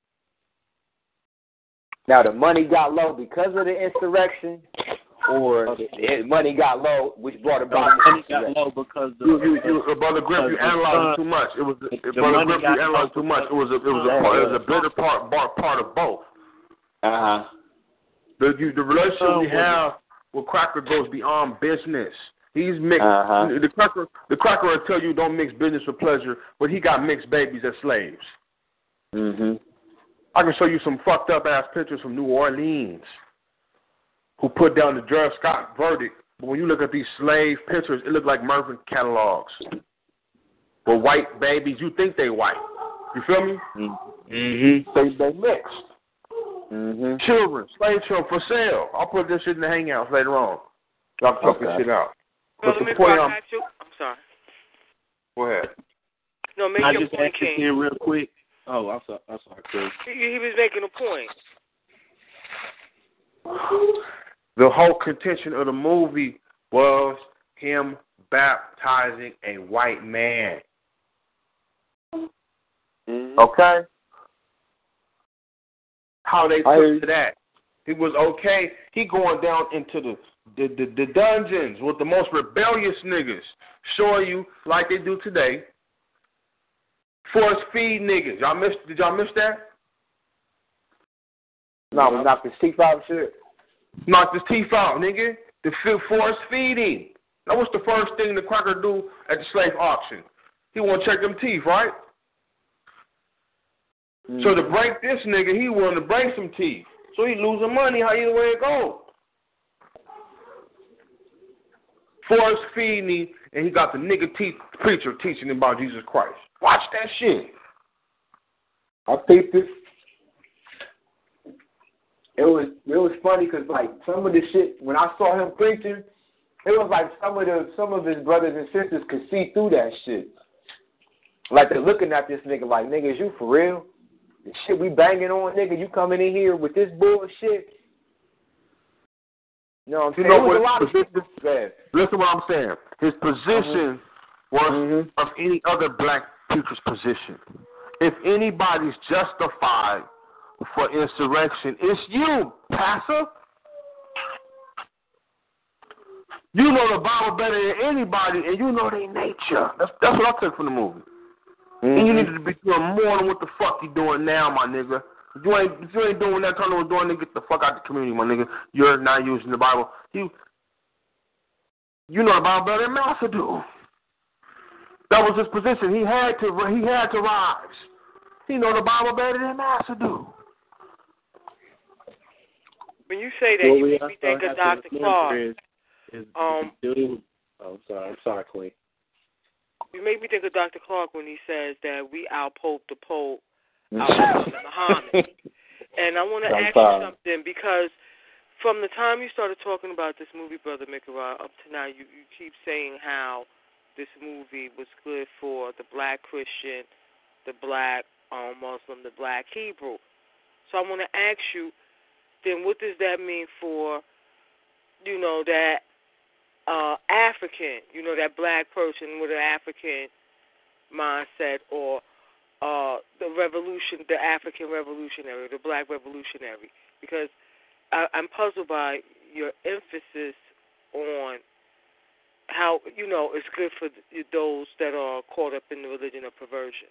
Now the money got low because of the insurrection, or the money got low, which brought about the money got low because Brother Griff, you analyzed too much. It was Brother Griff, you analyzed too much. It was a bitter part of both. The relationship we have with Cracker goes beyond business. He's mixed. The cracker will tell you don't mix business with pleasure, but he got mixed babies as slaves. I can show you some fucked up ass pictures from New Orleans who put down the Dred Scott verdict. But when you look at these slave pictures, it look like Mervyn catalogs. With white babies, you think they white. You feel me? They mixed. Children, slave children for sale. I'll put this shit in the hangouts later on. Y'all can talk this shit out. But the point I'm sorry. Go ahead. No, make your point, King. In real quick. Oh, I'm sorry, Chris. He was making a point. The whole contention of the movie was him baptizing a white man. Okay? How they took to that. He was okay. He going down into the dungeons with the most rebellious niggas. Show you like they do today. Force feed niggas. Did y'all miss that? No, we knocked his teeth out and shit. Knocked his teeth out, nigga. The force feeding. That was the first thing the cracker do at the slave auction. He want to check them teeth, right? So to break this nigga, he wanted to break some teeth. So he losing money how either way it goes. Force feeding, and he got the nigga preacher teaching him about Jesus Christ. Watch that shit. I think this. It was funny because like some of the shit when I saw him preaching, it was like some of his brothers and sisters could see through that shit. Like they're looking at this nigga like, nigga, is you for real? The shit we banging on, nigga, you coming in here with this bullshit? You know what I'm saying? There was a lot of shit. Listen to what I'm saying. His position was of any other black preacher's position. If anybody's justified for insurrection, it's you, Pastor. You know the Bible better than anybody, and you know their nature. That's what I took from the movie. And you need to be doing more than what the fuck you doing now, my nigga. If you ain't doing that, turn on doing, nigga, get the fuck out the community, my nigga. You're not using the Bible. You know the Bible better than Master do. That was his position. He had to rise. He know the Bible better than Master do. When you say that, you make me think of Dr. Clark. I'm sorry, Queen. You make me think of Dr. Clark when he says that we out-pope the Pope, out-pope Muhammad. And I want to ask you something, because from the time you started talking about this movie, Brother Mikarai, up to now, you keep saying how this movie was good for the black Christian, the black Muslim, the black Hebrew. So I want to ask you, then what does that mean for, that African, that black person with an African mindset, or the revolution, the African revolutionary, the black revolutionary? Because I'm puzzled by your emphasis on how, it's good for those that are caught up in the religion of perversion.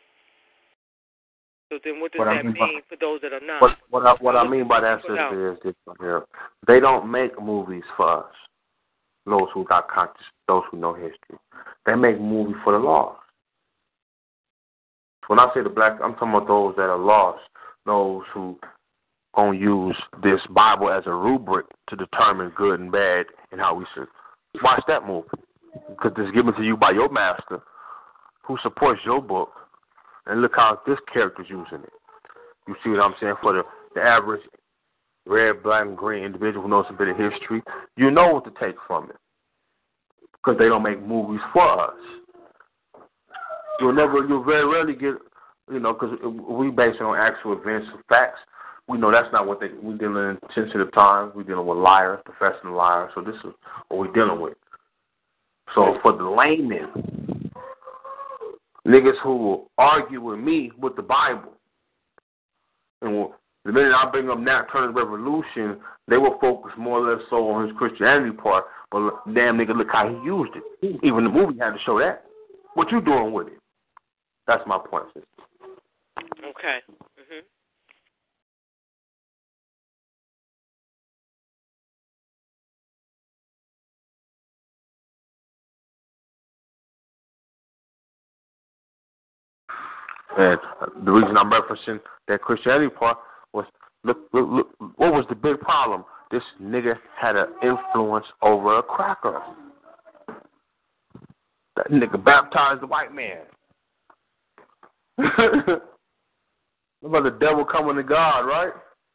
So then what does that mean for those that are not? What I mean by that, sister, is this right here. They don't make movies for us, those who got conscience, those who know history. They make movies for the lost. When I say the black, I'm talking about those that are lost, those who gonna use this Bible as a rubric to determine good and bad and how we should watch that movie. because it's given to you by your master who supports your book. And look how this character's using it. You see what I'm saying? For the average red, black, and green individual who knows a bit of history, you know what to take from it. Because they don't make movies for us. You'll very rarely get, because we base it on actual events and facts. We know that's not what we're dealing in sensitive times. We're dealing with liars, professional liars. So this is what we're dealing with. So for the laymen, niggas who will argue with me with the Bible, and the minute I bring up Nat Turner's Revolution, they will focus more or less so on his Christianity part. But damn nigga, look how he used it. Even the movie had to show that. What you doing with it? That's my point, sister. Okay. Mhm. And the reason I'm referencing that Christianity part was, look, what was the big problem? This nigga had an influence over a cracker. That nigga baptized the white man. About the devil coming to God, right?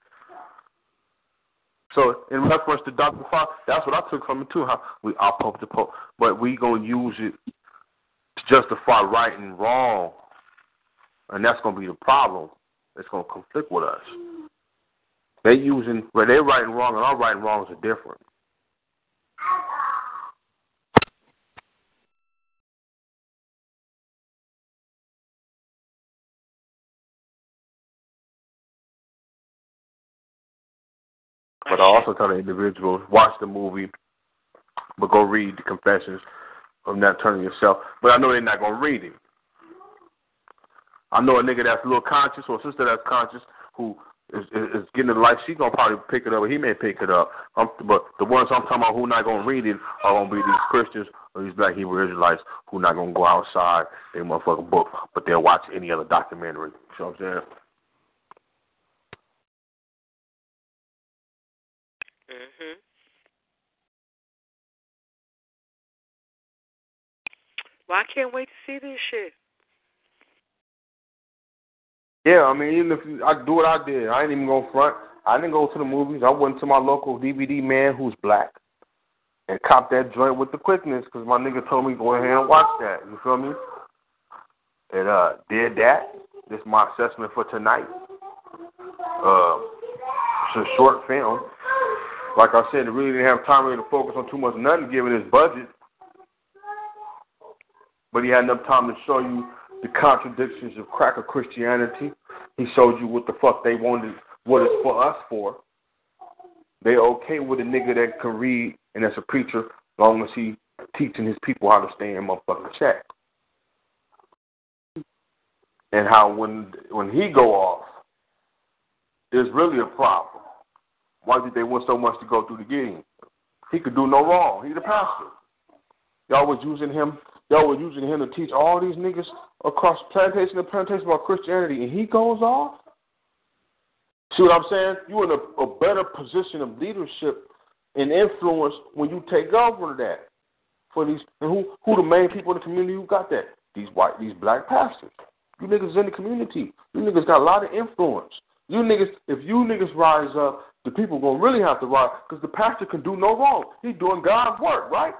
So in reference to Dr. Fox, that's what I took from it too, how we are pope to pope. But we going to use it to justify right and wrong. And that's going to be the problem. It's going to conflict with us. They're right and wrong, and our right and wrongs are different. But I also tell the individuals, watch the movie, but go read the Confessions of Nat Turner yourself. But I know they're not going to read it. I know a nigga that's a little conscious or a sister that's conscious who is getting the life. She's going to probably pick it up, or he may pick it up. But the ones I'm talking about who not going to read it are going to be these Christians or these Black Hebrew Israelites who not going to go outside their motherfucking book, but they'll watch any other documentary. You know what I'm saying? Mhm. Well, I can't wait to see this shit. Yeah, I mean, even if I do what I did, I ain't even go front. I didn't go to the movies. I went to my local DVD man who's black and copped that joint with the quickness because my nigga told me go ahead and watch that. You feel me? And did that. This is my assessment for tonight. It's a short film. Like I said, it really didn't have time really to focus on too much nothing given his budget. But he had enough time to show you the contradictions of cracker Christianity. He showed you what the fuck they wanted, what it's for us for. They okay with a nigga that can read and that's a preacher as long as he teaching his people how to stay in motherfucking check. And how when he go off, there's really a problem. Why did they want so much to go through the game? He could do no wrong. He's the pastor. Y'all was using him to teach all these niggas across plantation to plantation about Christianity, and he goes off? See what I'm saying? You're in a better position of leadership and influence when you take over that. For these, and who the main people in the community who got that? These black pastors. You niggas in the community. You niggas got a lot of influence. You niggas, if you niggas rise up, the people gonna really have to rise because the pastor can do no wrong. He's doing God's work, right?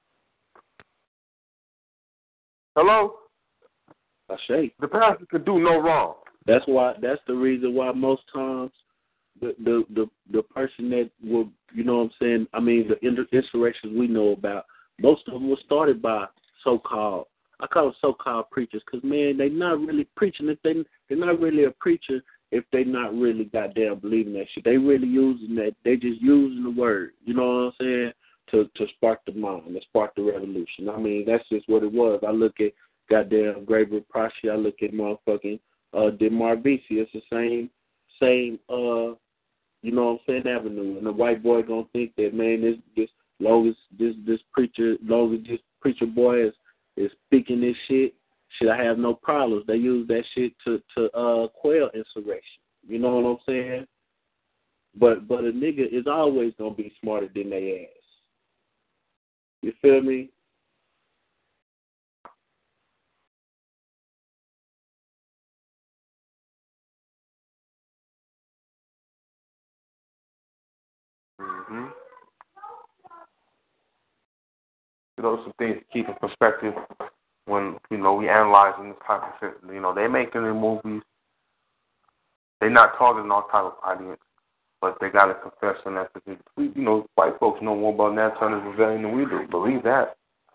Hello? I say the pastor can do no wrong. That's the reason why most times the person that will, you know what I'm saying, I mean the insurrections we know about, most of them were started by so-called, I call them so-called preachers, because man, they not really preaching if they're not really a preacher if they not really goddamn believing that shit. They really using that, they just using the word, you know what I'm saying, to spark the mind, to spark the revolution. I mean, that's just what it was. I look at goddamn Gabriel Prosky, I look at motherfucking DeMar Vesey. It's the same you know what I'm saying, avenue. And the white boy gonna think that, man, this long as this preacher boy is speaking this shit, should I have no problems? They use that shit to quell insurrection. You know what I'm saying? But a nigga is always gonna be smarter than they ass. You feel me? Mm-hmm. Some things to keep in perspective when, we analyzing this type of shit. They making the movies. They're not targeting all type of audience, but they got to confess on that because, white folks know more about Nat Turner's rebellion than we do. Believe that.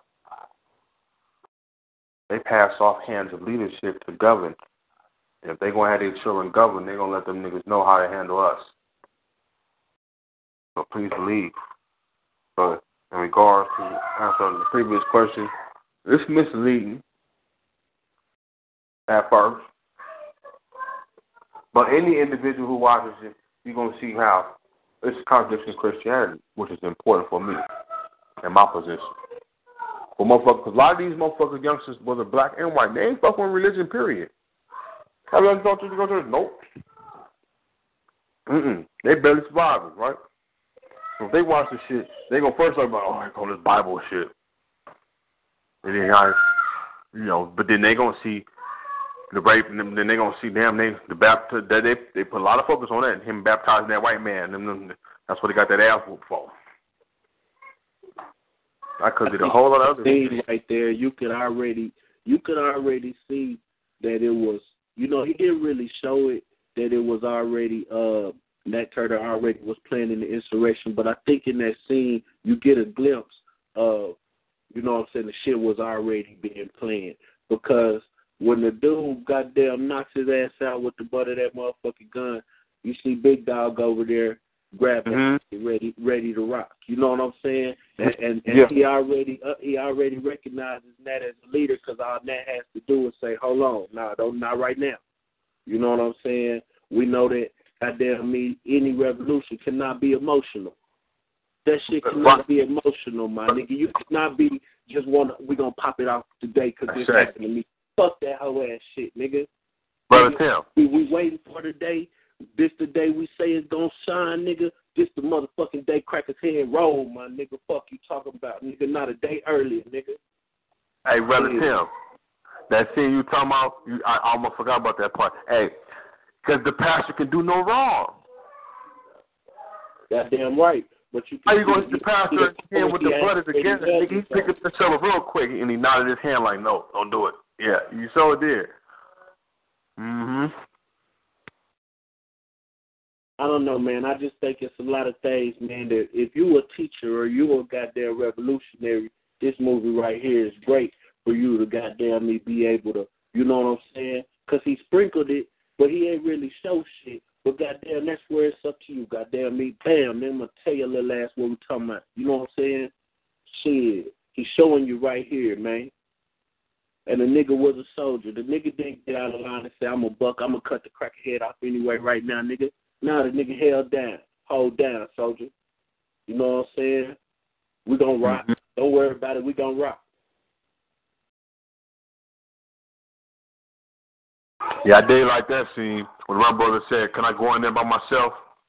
They pass off hands of leadership to govern. And if they're going to have their children govern, they're going to let them niggas know how to handle us. So please believe. But in regards to answering the previous question, it's misleading at first. But any individual who watches it, you're going to see how it's a contradiction in Christianity, which is important for me in my position. For motherfuckers, because a lot of these motherfuckers, youngsters, whether black and white, they ain't fucking with religion, period. Have you ever gone to go to Nope. They barely surviving, right? So if they watch this shit, they gonna first talk about, I call this Bible shit. And then but then they gonna see the rape, and then they gonna see they put a lot of focus on that, him baptizing that white man, and that's what they got that ass whooped for. Because of a whole lot of other things right there, you could already see that it was, he didn't really show it that it was already Nat Turner already was planning the insurrection, but I think in that scene you get a glimpse of, the shit was already being planned, because when the dude goddamn knocks his ass out with the butt of that motherfucking gun, you see Big Dog over there grabbing, ready to rock. You know what I'm saying? And he already recognizes Nat as a leader, because all Nat has to do is say, hold on, not right now. You know what I'm saying? We know that goddamn any revolution cannot be emotional. That shit cannot be emotional, my nigga. You cannot be just we're gonna pop it off today because this happened to me. Fuck that whole ass shit, nigga. Brother Tim. We waiting for the day. This the day we say it's gonna shine, nigga. This the motherfucking day crackers head roll, my nigga. Fuck you talking about, nigga. Not a day earlier, nigga. Hey, Brother Tim. That scene you talking about, I almost forgot about that part. Hey, because the pastor can do no wrong. Goddamn right. But how you going to hit the pastor again with the butt together? Nigga, he picked up the shovel real quick and he nodded his hand like, no, don't do it. Yeah, you so did. Mm-hmm. I don't know, man. I just think it's a lot of things, man, that if you a teacher or you a goddamn revolutionary, this movie right here is great for you to goddamn be able to, you know what I'm saying? Because he sprinkled it, but he ain't really show shit. But goddamn, that's where it's up to you. Goddamn me, bam, then I'm going to tell your little ass what we talking about. You know what I'm saying? Shit. He's showing you right here, man. And the nigga was a soldier. The nigga didn't get out of line and say, I'm a buck, I'm going to cut the cracker head off anyway right now, nigga. Now the nigga held down. Hold down, soldier. You know what I'm saying? We going to rock. Mm-hmm. Don't worry about it. We going to rock. Yeah, I did like that scene when my brother said, can I go in there by myself?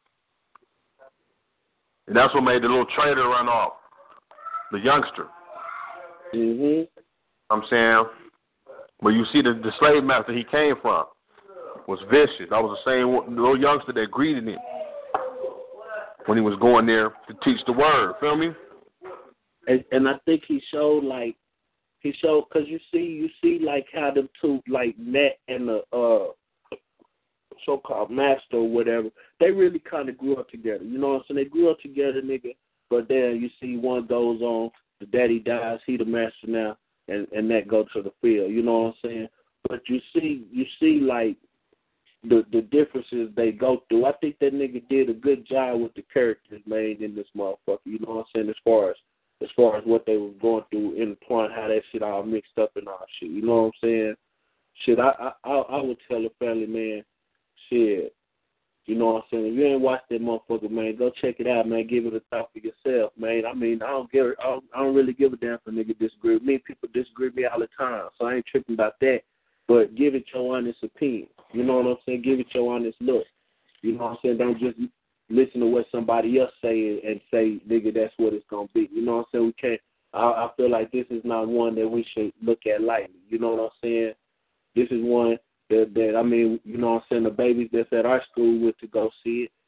And that's what made the little traitor run off, the youngster. Mm-hmm. I'm saying, but you see the slave master he came from was vicious. That was the same little youngster that greeted him when he was going there to teach the word. Feel me? And I think he showed, because you see like how them two, like Nat and the so-called master or whatever, they really kind of grew up together. You know what I'm saying? They grew up together, nigga. But then you see one goes on, the daddy dies, he the master now, and that go to the field. You know what I'm saying? But you see like the differences they go through. I think that nigga did a good job with the characters made in this motherfucker. You know what I'm saying? As far as what they were going through in the point, how that shit all mixed up and all shit. You know what I'm saying? Shit, I would tell the family, man, shit, you know what I'm saying? If you ain't watched that motherfucker, man, go check it out, man. Give it a thought for yourself, man. I mean, I don't really give a damn if a nigga disagree with me. People disagree with me all the time, so I ain't tripping about that. But give it your honest opinion. You know what I'm saying? Give it your honest look. You know what I'm saying? Don't just listen to what somebody else say and say, nigga, that's what it's going to be. You know what I'm saying? We can't. I feel like this is not one that we should look at lightly. You know what I'm saying? This is one that I mean, you know what I'm saying, the babies that's at our school went to go see it.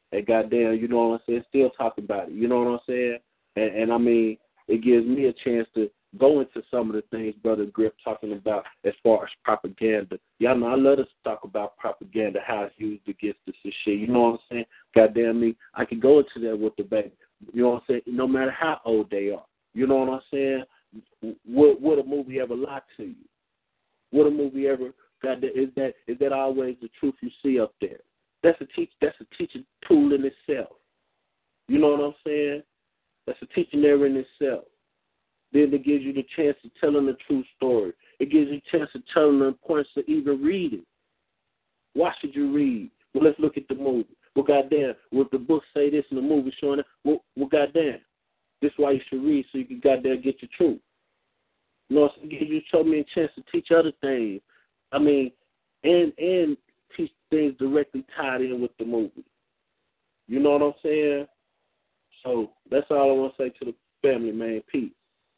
and goddamn, you know what I'm saying, still talk about it. You know what I'm saying? And I mean, it gives me a chance to go into some of the things Brother Grip talking about as far as propaganda. Y'all know I love to talk about propaganda, how it's used against us and shit. You know what I'm saying? Goddamn me, I can go into that with the baby. You know what I'm saying? No matter how old they are. You know what I'm saying? Would a movie ever lie to you? Would a movie ever? Is that always the truth you see up there? That's a teaching tool in itself. You know what I'm saying? That's a teaching error in itself. Then it gives you the chance of telling the true story. It gives you a chance of telling the importance of even reading. Why should you read? Well, let's look at the movie. Well, goddamn, would the book say this and the movie showing it? Well, goddamn, this is why you should read so you can goddamn get your truth. You know, it gives you so many chance to teach other things. I mean, and teach things directly tied in with the movie. You know what I'm saying? So that's all I want to say to the family, man. Peace.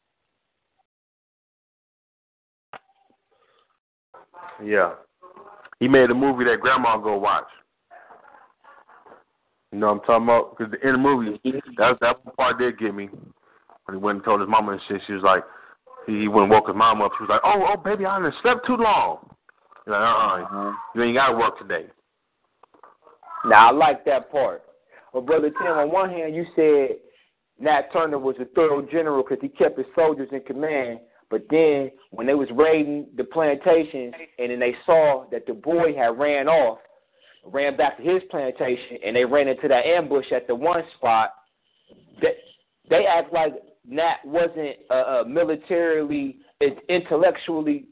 Yeah. He made a movie that grandma go watch. You know what I'm talking about? Because in the movie, that part did get me. When he went and told his mama and shit, she was like, he went and woke his mom up. She was like, oh, baby, I done slept too long. He's like, you ain't got to work today. Now, I like that part. Well, Brother Tim, on one hand, you said Nat Turner was a thorough general because he kept his soldiers in command. But then when they was raiding the plantations and then they saw that the boy had ran back to his plantation, and they ran into that ambush at the one spot, they act like Nat wasn't militarily intelligent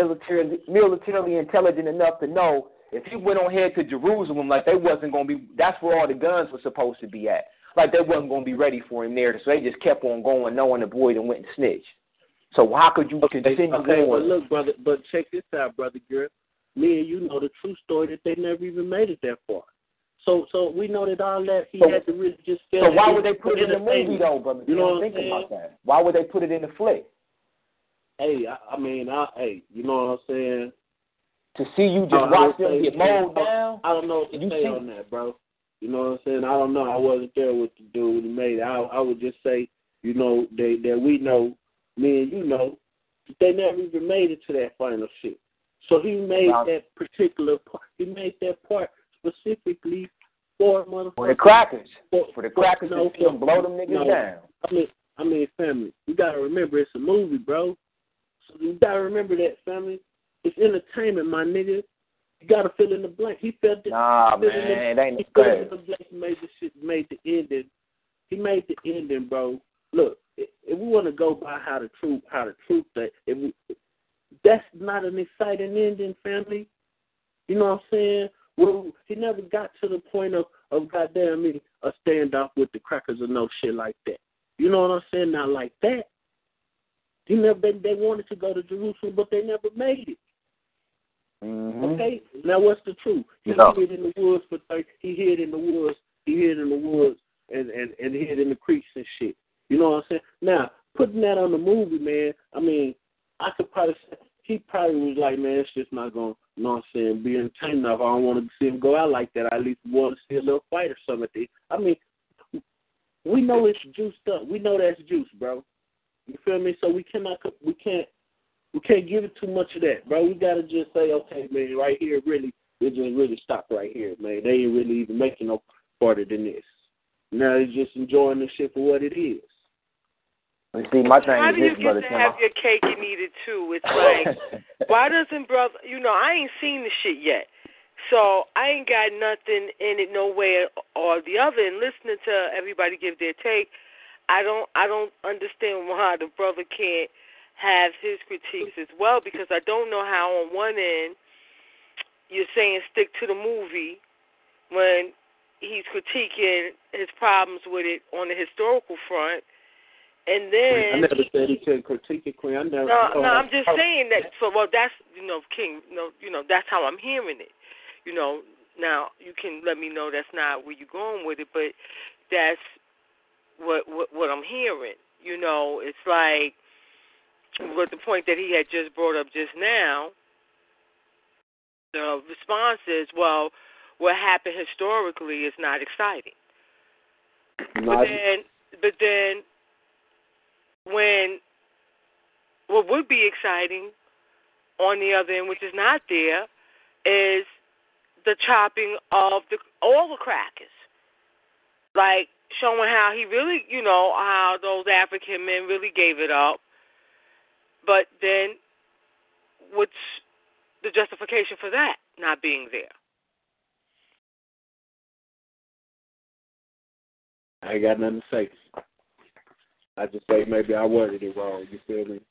enough to know if he went on ahead to Jerusalem, like they wasn't going to be, that's where all the guns were supposed to be at. Like they wasn't going to be ready for him there. So they just kept on going, knowing the boy that went and snitched. So how could you continue Okay, going? but look, brother, but check this out, Brother Garrett. Me and you know the true story that they never even made it that far. So we know that all that he had to really just feel. So why would they put it in the movie though, brother? You know what think I'm saying? about that. Why would they put it in the flick? Hey, I mean, you know what I'm saying? To see you just watch them get mowed down? I don't know what to say on that, bro. You know what I'm saying? I don't know. I wasn't there with the dude when he made it. I would just say, you know, that we know, me and you know, they never even made it to that final shit. So he made that particular part. He made that part specifically for motherfuckers. For the crackers. For the crackers to blow them niggas down. I mean, family, you gotta remember it's a movie, bro. So you gotta remember that, family. It's entertainment, my nigga. You gotta fill in the blank. He felt it. Nah, man, it ain't he filled in the blank. He made the shit. Made the ending. He made the ending, bro. Look, if we want to go by how the truth that, that's not an exciting ending, family. You know what I'm saying? Well, he never got to the point of goddamn me a standoff with the crackers or no shit like that. You know what I'm saying? Not like that. They wanted to go to Jerusalem, but they never made it. Mm-hmm. Okay. Now what's the truth? He hid in the woods for 30. He hid in the woods. He hid in the woods and hid in the creeks and shit. You know what I'm saying? Now putting that on the movie, man. I mean, I could probably say he probably was like, man, it's just not gonna, you know what I'm saying, be entertaining enough. I don't want to see him go out like that. I at least want to see a little fight or something. I mean, we know it's juiced up. We know that's juice, bro. You feel me? So we can't give it too much of that, bro. We gotta just say, okay, man, right here, really, it just really stop right here, man. They ain't really even making no farther than this. Now they're just enjoying the shit for what it is. See, my thing how is do you this, get brother, to have your cake and eat it too? It's like, why doesn't brother? You know, I ain't seen the shit yet, so I ain't got nothing in it, no way or the other. And listening to everybody give their take, I don't understand why the brother can't have his critiques as well, because I don't know how on one end you're saying stick to the movie when he's critiquing his problems with it on the historical front. And then I never said he couldn't critique it, Queen. No, I'm just saying that. So, well, that's King. That's how I'm hearing it. Now you can let me know that's not where you're going with it, but that's what I'm hearing. It's like with the point that he had just brought up just now. The response is, well, what happened historically is not exciting. But then, when what would be exciting on the other end, which is not there, is the chopping of all the crackers, like showing how he really, how those African men really gave it up. But then, what's the justification for that not being there? I ain't got nothing to say. I just say maybe I worded it wrong. You feel me?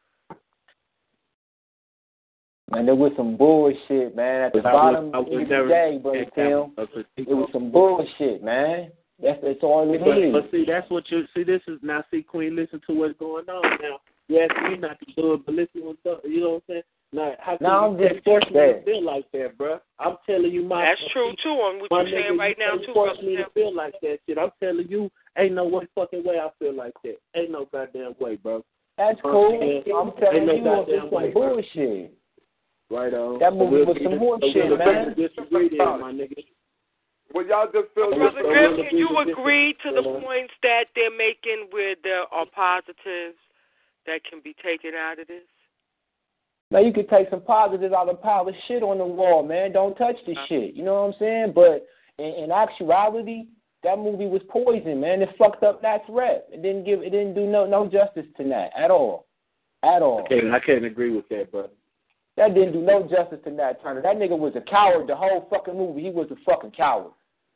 Man, there was some bullshit, man. At the bottom of the day, Brother Tim, it was some bullshit, man. That's all it is. But see, that's what you see. This is now. See, Queen, listen to what's going on now. You ask me not to do it, but listen to what's up. You know what I'm saying? Now, how can you force me to feel like that, bro? I'm telling you, that's true too. On what you're saying right now too, force me to feel like that shit. I'm telling you, ain't no fucking way I feel like that. Ain't no goddamn way, bro. That's cool. I'm telling you, it's some bullshit. Right on. That movie was some horse shit, man. Disagree there, my nigga. Well, y'all just feel. Brother Griff, can you agree to the points that they're making where there are positives that can be taken out of this? Now, you could take some positives out of a pile of shit on the wall, man. Don't touch the shit. You know what I'm saying? But in actuality, that movie was poison, man. It fucked up Nat's rep. It didn't do no justice to Nat at all. At all. I can't agree with that, brother. That didn't do no justice to Nat Turner. That nigga was a coward the whole fucking movie. He was a fucking coward.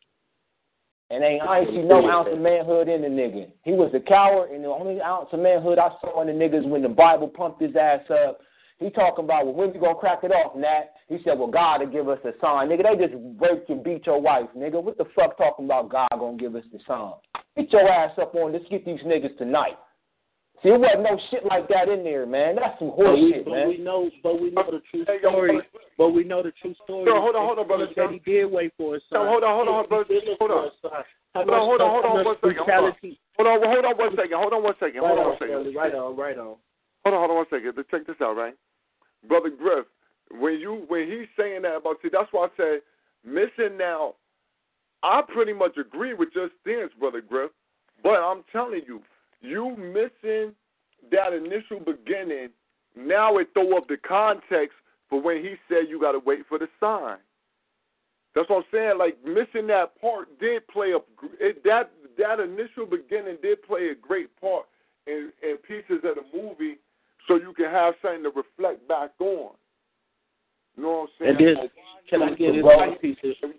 And I ain't see no ounce of manhood in the nigga. He was a coward, and the only ounce of manhood I saw in the nigga is when the Bible pumped his ass up. He talking about, well, when we gonna crack it off, Nat? He said, well, God will give us a sign. Nigga, they just raped and beat your wife, nigga. What the fuck talking about God gonna give us the sign? Get your ass up on this. Get these niggas tonight. See, it wasn't no shit like that in there, man. That's some horse shit, man. We know the true story. But we know the true story. No, hold on, brother. That he did wait for his son. Hold on, brother. Hold on. Hold on 1 second. Hold on 1 second. Right on. Hold on 1 second. Check this out, right? Brother Griff, when he's saying that about, see, that's why I said missing now. I pretty much agree with your stance, Brother Griff, but I'm telling you, you missing that initial beginning. Now it throw up the context for when he said you got to wait for the sign. That's what I'm saying. Like, missing that part did play that initial beginning did play a great part in pieces of the movie, so you can have something to reflect back on. You know what I'm saying? And then, can I get one piece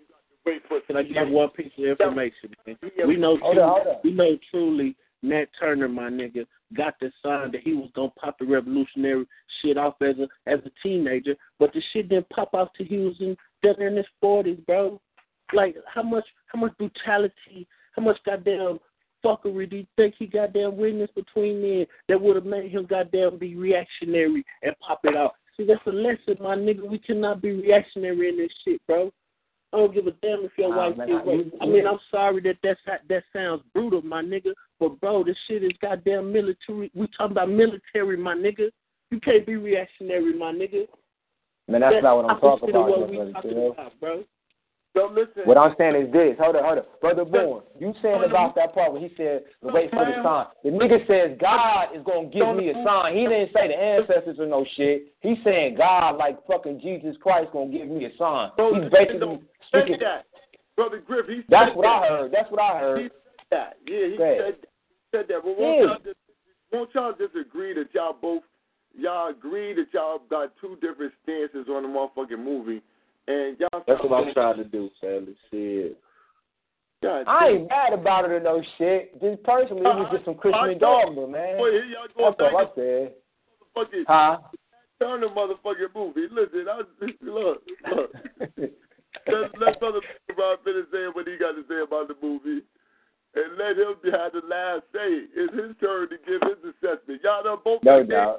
of information, man? We know truly Nat Turner, my nigga, got the sign that he was gonna pop the revolutionary shit off as a teenager, but the shit didn't pop off till he was in his 40s, bro. Like, how much brutality, how much goddamn fuckery do you think he goddamn witnessed between men that would have made him goddamn be reactionary and pop it out? See, that's a lesson, my nigga. We cannot be reactionary in this shit, bro. I don't give a damn if your wife is raped. I mean, I'm sorry that sounds brutal, my nigga, but bro, this shit is goddamn military. We talking about military, my nigga. You can't be reactionary, my nigga. Man, that's not what I'm talking about. What we talking about, bro. So listen. What I'm saying is this. Hold on. Brother Bourne, you saying about that part where he said, wait for the sign. The nigga says God is going to give me a sign. He didn't say the ancestors or no shit. He's saying God, like fucking Jesus Christ, going to give me a sign. He's basically speaking. That. Brother Griff, he said That's what I heard. That's what I heard. He said that. Yeah, he said that. But won't y'all just agree that y'all agree that y'all got two different stances on the motherfucking movie? And y'all, that's what I'm trying to do, Sally. Shit. I ain't mad about it or no shit. Just personally, it was just some Christian dogma, man. Boy, that's all I said. Huh? Turn the motherfucking movie. Listen, look. Let Brother Rob finish saying what he got to say about the movie, and let him have the last say. It's his turn to give his assessment. Y'all done both. No doubt.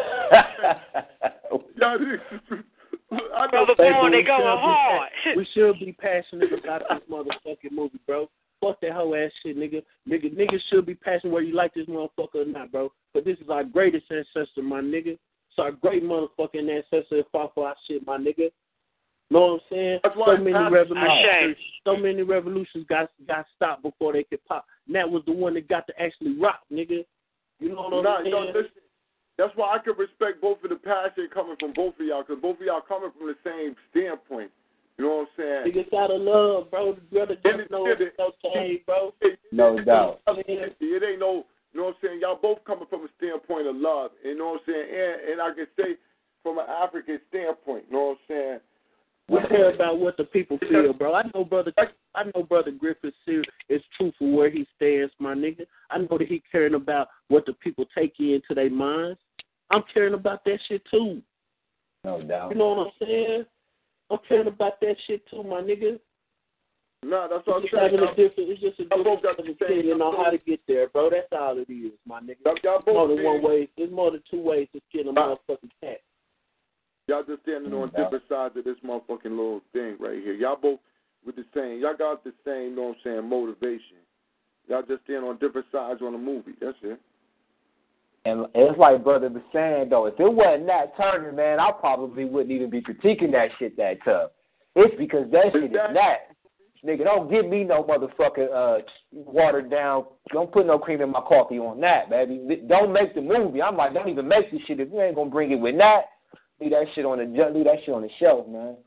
Y'all. Brother Bourne, they going hard. We should be passionate about this motherfucking movie, bro. Fuck that whole ass shit, nigga. Niggas should be passionate whether you like this motherfucker or not, bro. But this is our greatest ancestor, my nigga. It's our great motherfucking ancestor that fought for our shit, my nigga. Know what I'm saying? That's why so many revolutions got stopped before they could pop. And that was the one that got to actually rock, nigga. You know what I'm saying? Listen, that's why I can respect both of the passion coming from both of y'all, because both of y'all coming from the same standpoint. You know what I'm saying? Niggas out of love, bro. The brother just know it's okay, bro. No doubt. It ain't no, you know what I'm saying? Y'all both coming from a standpoint of love. You know what I'm saying? And I can say from an African standpoint, you know what I'm saying? We care about what the people feel, bro. I know brother Griffith is true for where he stands, my nigga. I know that he caring about what the people take into their minds. I'm caring about that shit too. No doubt. You know what I'm saying? I'm caring about that shit too, my nigga. No, that's what I'm saying. It's just a different opinion on how to get there, bro. That's all it is, my nigga. There's more than one way. There's more than two ways to skin a motherfucking cat. Y'all just standing on different sides of this motherfucking little thing right here. Y'all both with the same. Y'all got the same, you know what I'm saying, motivation. Y'all just stand on different sides on the movie. That's it. And it's like Brother was saying, though, if it wasn't Nat Turner, man, I probably wouldn't even be critiquing that shit that tough. It's because that shit is Nat. Nigga, don't give me no motherfucking watered down. Don't put no cream in my coffee on that, baby. Don't make the movie. I'm like, don't even make this shit if you ain't gonna bring it with Nat. Leave that shit on the shelf, man.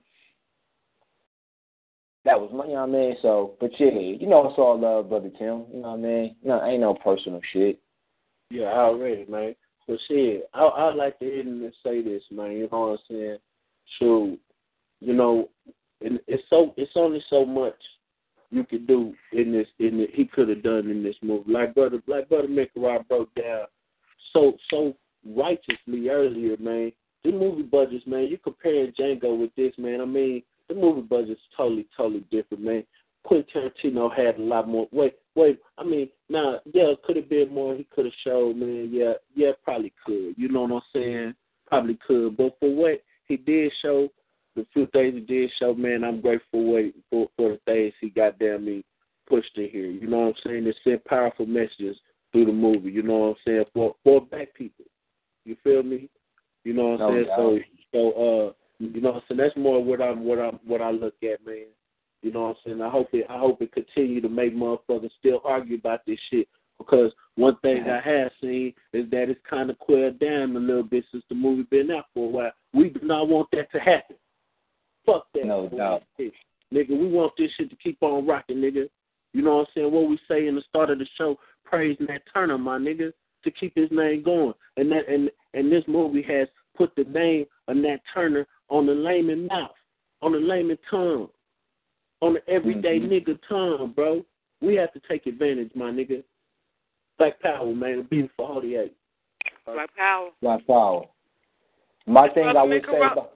That was my, you know what I mean? So, but yeah, you know it's all love, Brother Tim. You know what I mean? No, ain't no personal shit. Yeah, already, man. But shit, I'd like to end and say this, man. You know what I'm saying? So, you know, it's only so much you could do he could have done in this movie. Like brother Mikarah broke down so righteously earlier, man. The movie budgets, man, you comparing Django with this, man. I mean, the movie budget's totally different, man. Quentin Tarantino had a lot more. Wait. I mean, could have been more. He could have showed, man. Yeah, probably could. You know what I'm saying? Probably could. But for what he did show, the few things he did show, man, I'm grateful for the things he goddamn me pushed in here. You know what I'm saying? They sent powerful messages through the movie. You know what I'm saying? For black people. You feel me? You know what I'm saying? So you know what I'm saying? That's more what I look at, man. You know what I'm saying? I hope it continue to make motherfuckers still argue about this shit, because one thing I have seen is that it's kind of quelled down a little bit since the movie been out for a while. We do not want that to happen. Fuck that. No doubt. Nigga, we want this shit to keep on rocking, nigga. You know what I'm saying? What we say in the start of the show, praise Nat Turner, my nigga, to keep his name going. And this movie has put the name of Nat Turner on the layman mouth, on the layman tongue, on the everyday nigga tongue, bro. We have to take advantage, my nigga. Black Power, man. Beautiful 48. Black Power. Black Power. My thing I would say about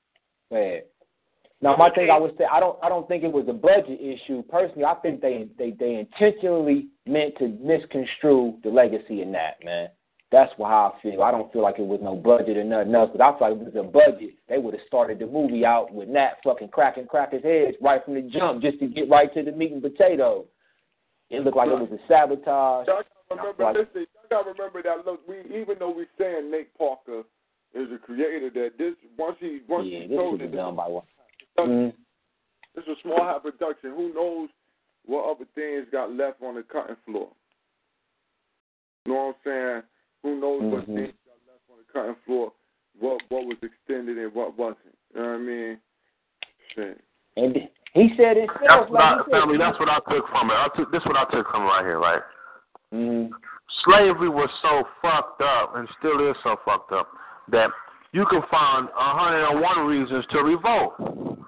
my thing I would say, I don't think it was a budget issue. Personally, I think they intentionally meant to misconstrue the legacy in that, man. That's how I feel. I don't feel like it was no budget or nothing else, but I feel like if it was a budget, they would have started the movie out with Nat fucking cracking crackers' heads right from the jump just to get right to the meat and potatoes. It looked like it was a sabotage. Y'all gotta remember that. Look, even though we're saying Nate Parker is a creator, that this once he told it, done by one. It's a small high production. Who knows what other things got left on the cutting floor? You know what I'm saying? Who knows what things got left on the cutting floor? What was extended and what wasn't? You know what I mean? Shit. And he said it. That's what I took from it. This is what I took from it right here, right? Slavery was so fucked up, and still is so fucked up, that you can find 101 reasons to revolt.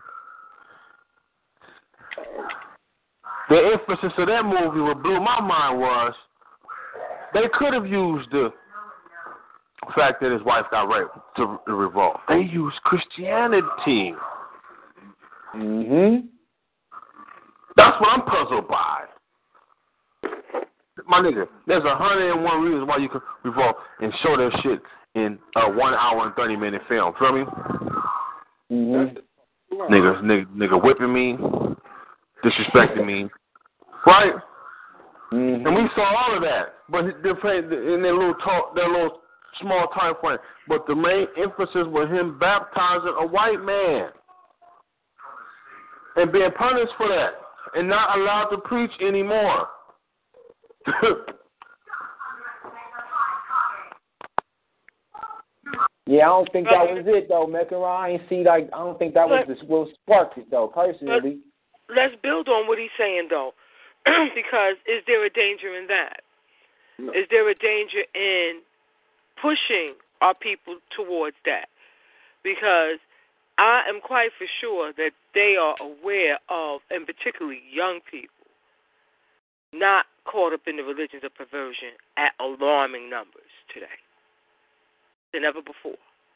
The emphasis of that movie, what blew my mind was, they could have used the fact that his wife got raped to revolt. They used Christianity. That's what I'm puzzled by. My nigga, there's 101 reasons why you can revolt and show that shit in a 1 hour and 30-minute film. Feel me? Nigga whipping me, disrespecting me, right? And we saw all of that, but in their little small time frame. But the main emphasis was him baptizing a white man. and being punished for that and not allowed to preach anymore. Yeah, I don't think that was it though, Mecca. I don't think that was what sparked it though, personally. Let's build on what he's saying though, because is there a danger in that? No. Is there a danger in pushing our people towards that? Because I am quite for sure that they are aware of, and particularly young people, not caught up in the religions of perversion at alarming numbers today than ever before.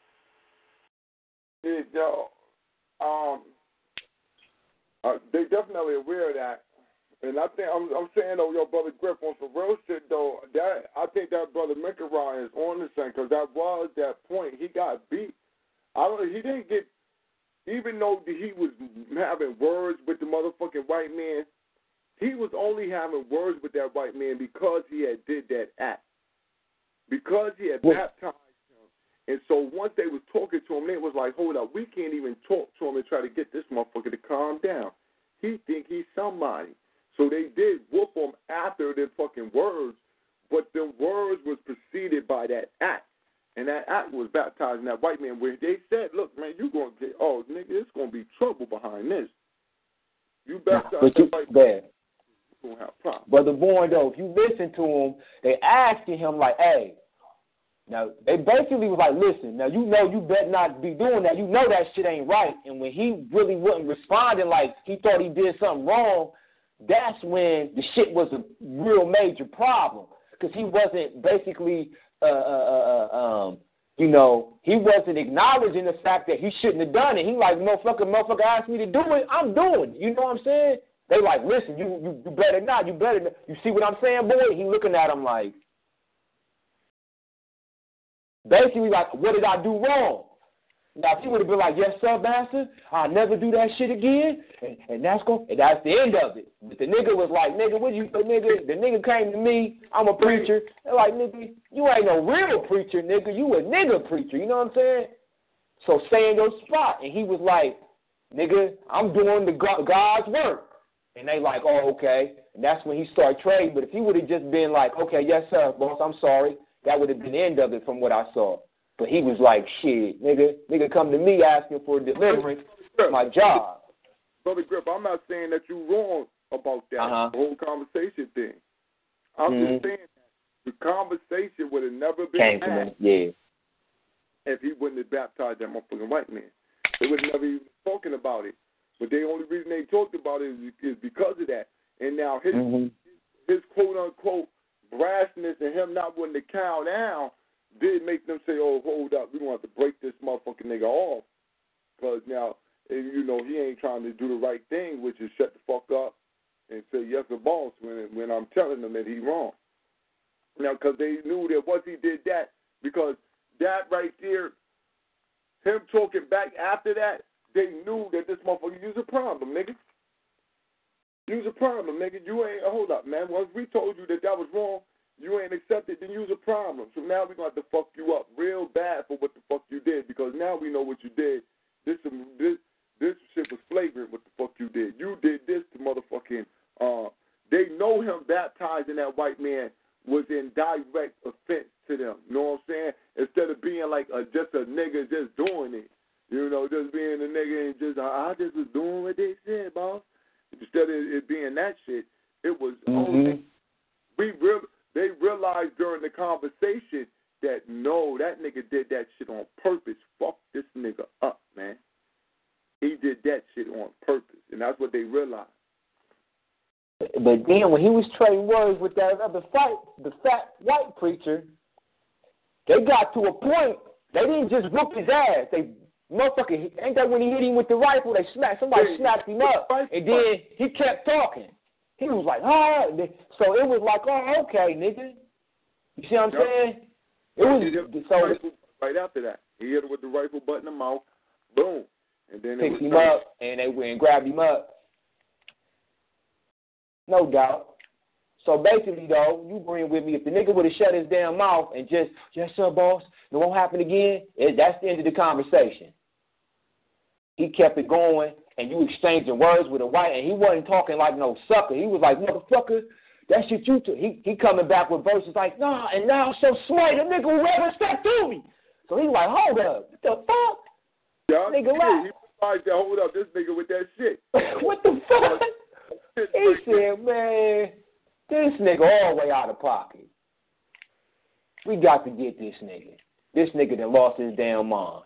They definitely aware of that, and I think I'm saying though, your brother Griff on some real shit though. That I think that brother Mikarai is on the same because that was that point. He got beat. He didn't get, even though he was having words with the motherfucking white man. He was only having words with that white man because he had did that act, because he had baptized. And so once they was talking to him, they was like, hold up, we can't even talk to him and try to get this motherfucker to calm down. He think he's somebody. So they did whoop him after their fucking words, but the words was preceded by that act. And that act was baptizing that white man where they said, look, man, you going to get, oh, nigga, there's going to be trouble behind this. You baptize that white man, you're going to have problems. Brother Bourne, though, if you listen to him, they asking him like, hey, now, they basically was like, listen, now you know you better not be doing that. You know that shit ain't right. And when he really wasn't responding like he thought he did something wrong, that's when the shit was a real major problem. Because he wasn't basically, he wasn't acknowledging the fact that he shouldn't have done it. He like, motherfucker asked me to do it, I'm doing it. You know what I'm saying? They like, listen, you better not. You see what I'm saying, boy? He looking at him like, basically, like, what did I do wrong? Now, if he would have been like, yes, sir, master, I'll never do that shit again, and that's the end of it. But the nigga was like, nigga, the nigga came to me, I'm a preacher. They're like, nigga, you ain't no real preacher, nigga. You a nigga preacher, you know what I'm saying? So stay in your spot. And he was like, nigga, I'm doing God's work. And they like, oh, okay. And that's when he started trading. But if he would have just been like, okay, yes, sir, boss, I'm sorry, that would have been the end of it from what I saw. But he was like, shit, nigga come to me asking for deliverance. It's my job. Brother Griff, I'm not saying that you're wrong about that, the whole conversation thing. I'm just saying that the conversation would have never been had if he wouldn't have baptized that motherfucking white man. They would have never even spoken about it. But the only reason they talked about it is because of that. And now his quote-unquote brassness and him not wanting to cow down did make them say, oh, hold up, we're going to have to break this motherfucking nigga off. Because now, you know, he ain't trying to do the right thing, which is shut the fuck up and say, yes, the boss, when I'm telling them that he's wrong. Now, because they knew that once he did that, because that right there, him talking back after that, they knew that this motherfucker, you's a problem, nigga. You's a problem, nigga. You ain't, hold up, man. Once we told you that was wrong, you ain't accepted, then you's a problem. So now we're going to have to fuck you up real bad for what the fuck you did, because now we know what you did. This shit was flagrant what the fuck you did. You did this to motherfucking, they know him baptizing that white man was in direct offense to them. You know what I'm saying? Instead of being like just a nigga just doing it. You know, just being a nigga and just, I just was doing what they said, boss. Instead of it being that shit, it was only, they realized during the conversation that, no, that nigga did that shit on purpose. Fuck this nigga up, man. He did that shit on purpose, and that's what they realized. But then when he was trading words with that other the fat white preacher, they got to a point, they didn't just whoop his ass. They motherfucker, ain't that when he hit him with the rifle, somebody snapped him up, and then he kept talking. He was like, oh, so it was like, oh, okay, nigga. You see what I'm saying? It was so right after that. He hit him with the rifle butt in the mouth, boom. And then picked him up, and they went and grabbed him up. No doubt. So basically, though, you agreeing with me, if the nigga would have shut his damn mouth and just, yes, sir, boss, it won't happen again, that's the end of the conversation. He kept it going, and you exchanging words with a white, and he wasn't talking like no sucker. He was like, motherfucker, that shit you took. He coming back with verses like, nah, and now I'm so smart, the nigga will ever step through me. So he's like, hold up, what the fuck? Yeah, nigga laugh. He was like, hold up, this nigga with that shit. What the fuck? He said, man, this nigga all the way out of pocket. We got to get this nigga. This nigga that lost his damn mind.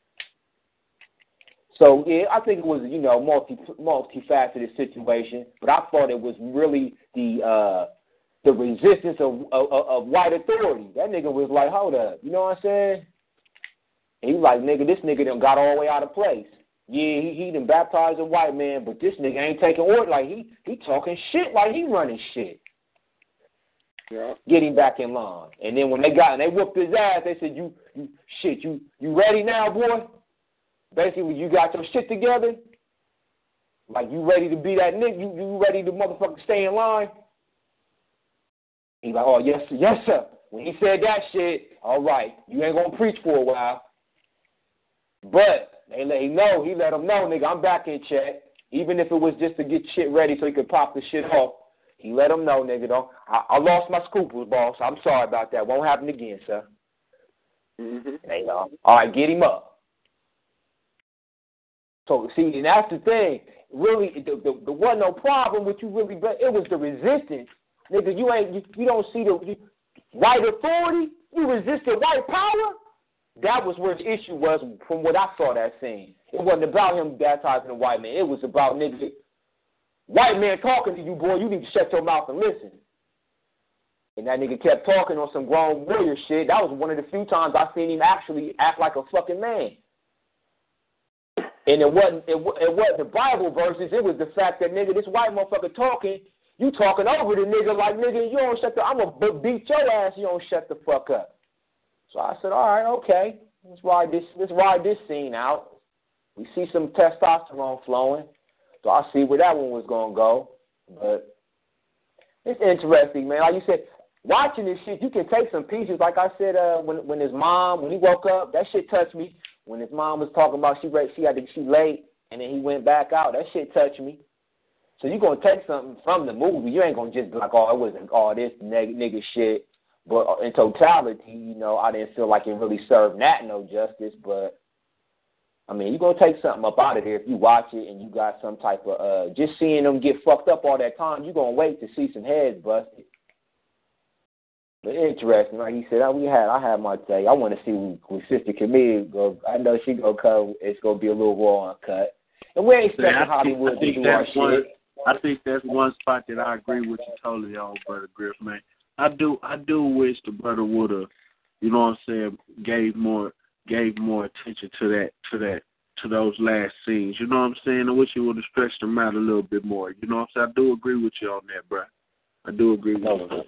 So, yeah, I think it was, multifaceted situation, but I thought it was really the resistance of white authority. That nigga was like, hold up, you know what I'm saying? And he was like, nigga, this nigga done got all the way out of place. Yeah, he done baptized a white man, but this nigga ain't taking order. Like, he talking shit like he running shit. Yeah. Get him back in line. And then when they whooped his ass, they said, you ready now, boy? Basically, you got your shit together? Like, you ready to be that nigga? You ready to motherfucker stay in line? He's like, oh, yes, sir, yes, sir. When he said that shit, all right, you ain't going to preach for a while. But he let him know, nigga, I'm back in check. Even if it was just to get shit ready so he could pop the shit off. He let him know, nigga, though. I lost my scruples, boss. I'm sorry about that. Won't happen again, sir. Mm-hmm. All right, get him up. So, see, and that's the thing. Really, the wasn't no problem with you really, but it was the resistance. Nigga, you don't see the white authority? You resisted white power? That was where the issue was from what I saw that scene. It wasn't about him baptizing a white man. It was about, nigga, white man talking to you, boy, you need to shut your mouth and listen. And that nigga kept talking on some grown warrior shit. That was one of the few times I seen him actually act like a fucking man. And it wasn't the Bible verses. It was the fact that, nigga, this white motherfucker talking, you talking over the nigga like, nigga, you don't shut the, I'm going to beat your ass, you don't shut the fuck up. So I said, all right, okay. Let's ride this scene out. We see some testosterone flowing. So I see where that one was going to go. But it's interesting, man. Like you said, watching this shit, you can take some pieces. Like I said, when his mom, when he woke up, that shit touched me. When his mom was talking about she late, and then he went back out, that shit touched me. So you're going to take something from the movie. You ain't going to just be like, oh, it wasn't all this nigga shit. But in totality, I didn't feel like it really served Nat no justice. But, I mean, you're going to take something up out of there if you watch it and you got some type of, just seeing them get fucked up all that time, you're going to wait to see some heads busted. But interesting, like he said, I had my take. I want to see when Sister Camille go. I know she gonna come. It's gonna be a little raw uncut, and we ain't expecting Hollywood to do our shit. I think that's one spot that I agree with you totally on, Brother Griff, man. I do wish the brother would have, you know what I'm saying, gave more attention to those last scenes. You know what I'm saying? I wish he would have stretched them out a little bit more. You know what I'm saying? I do agree with you on that, bro. I do agree with you.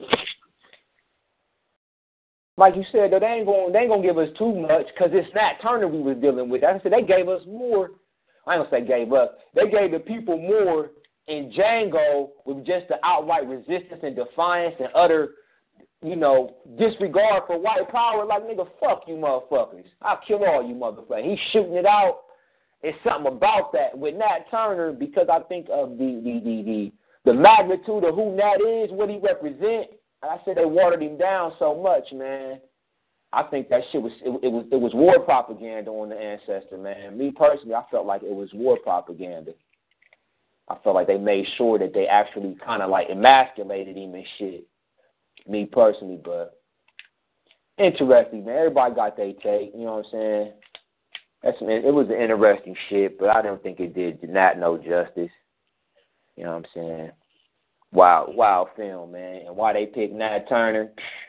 Like you said, though, they ain't gonna give us too much because it's Nat Turner we was dealing with. Like I said, they gave us more. I ain't gonna say gave us. They gave the people more in Django with just the outright resistance and defiance and utter, disregard for white power. Like, nigga, fuck you motherfuckers. I'll kill all you motherfuckers. He's shooting it out. It's something about that with Nat Turner because I think of the magnitude of who Nat is, what he represents. I said they watered him down so much, man. I think that shit was war propaganda on the ancestor, man. Me personally, I felt like it was war propaganda. I felt like they made sure that they actually kind of like emasculated him and shit. Me personally, but interesting, man. Everybody got their take, you know what I'm saying? It was an interesting shit, but I don't think it did not no justice. You know what I'm saying? Wild film, man. And why they picked Nat Turner?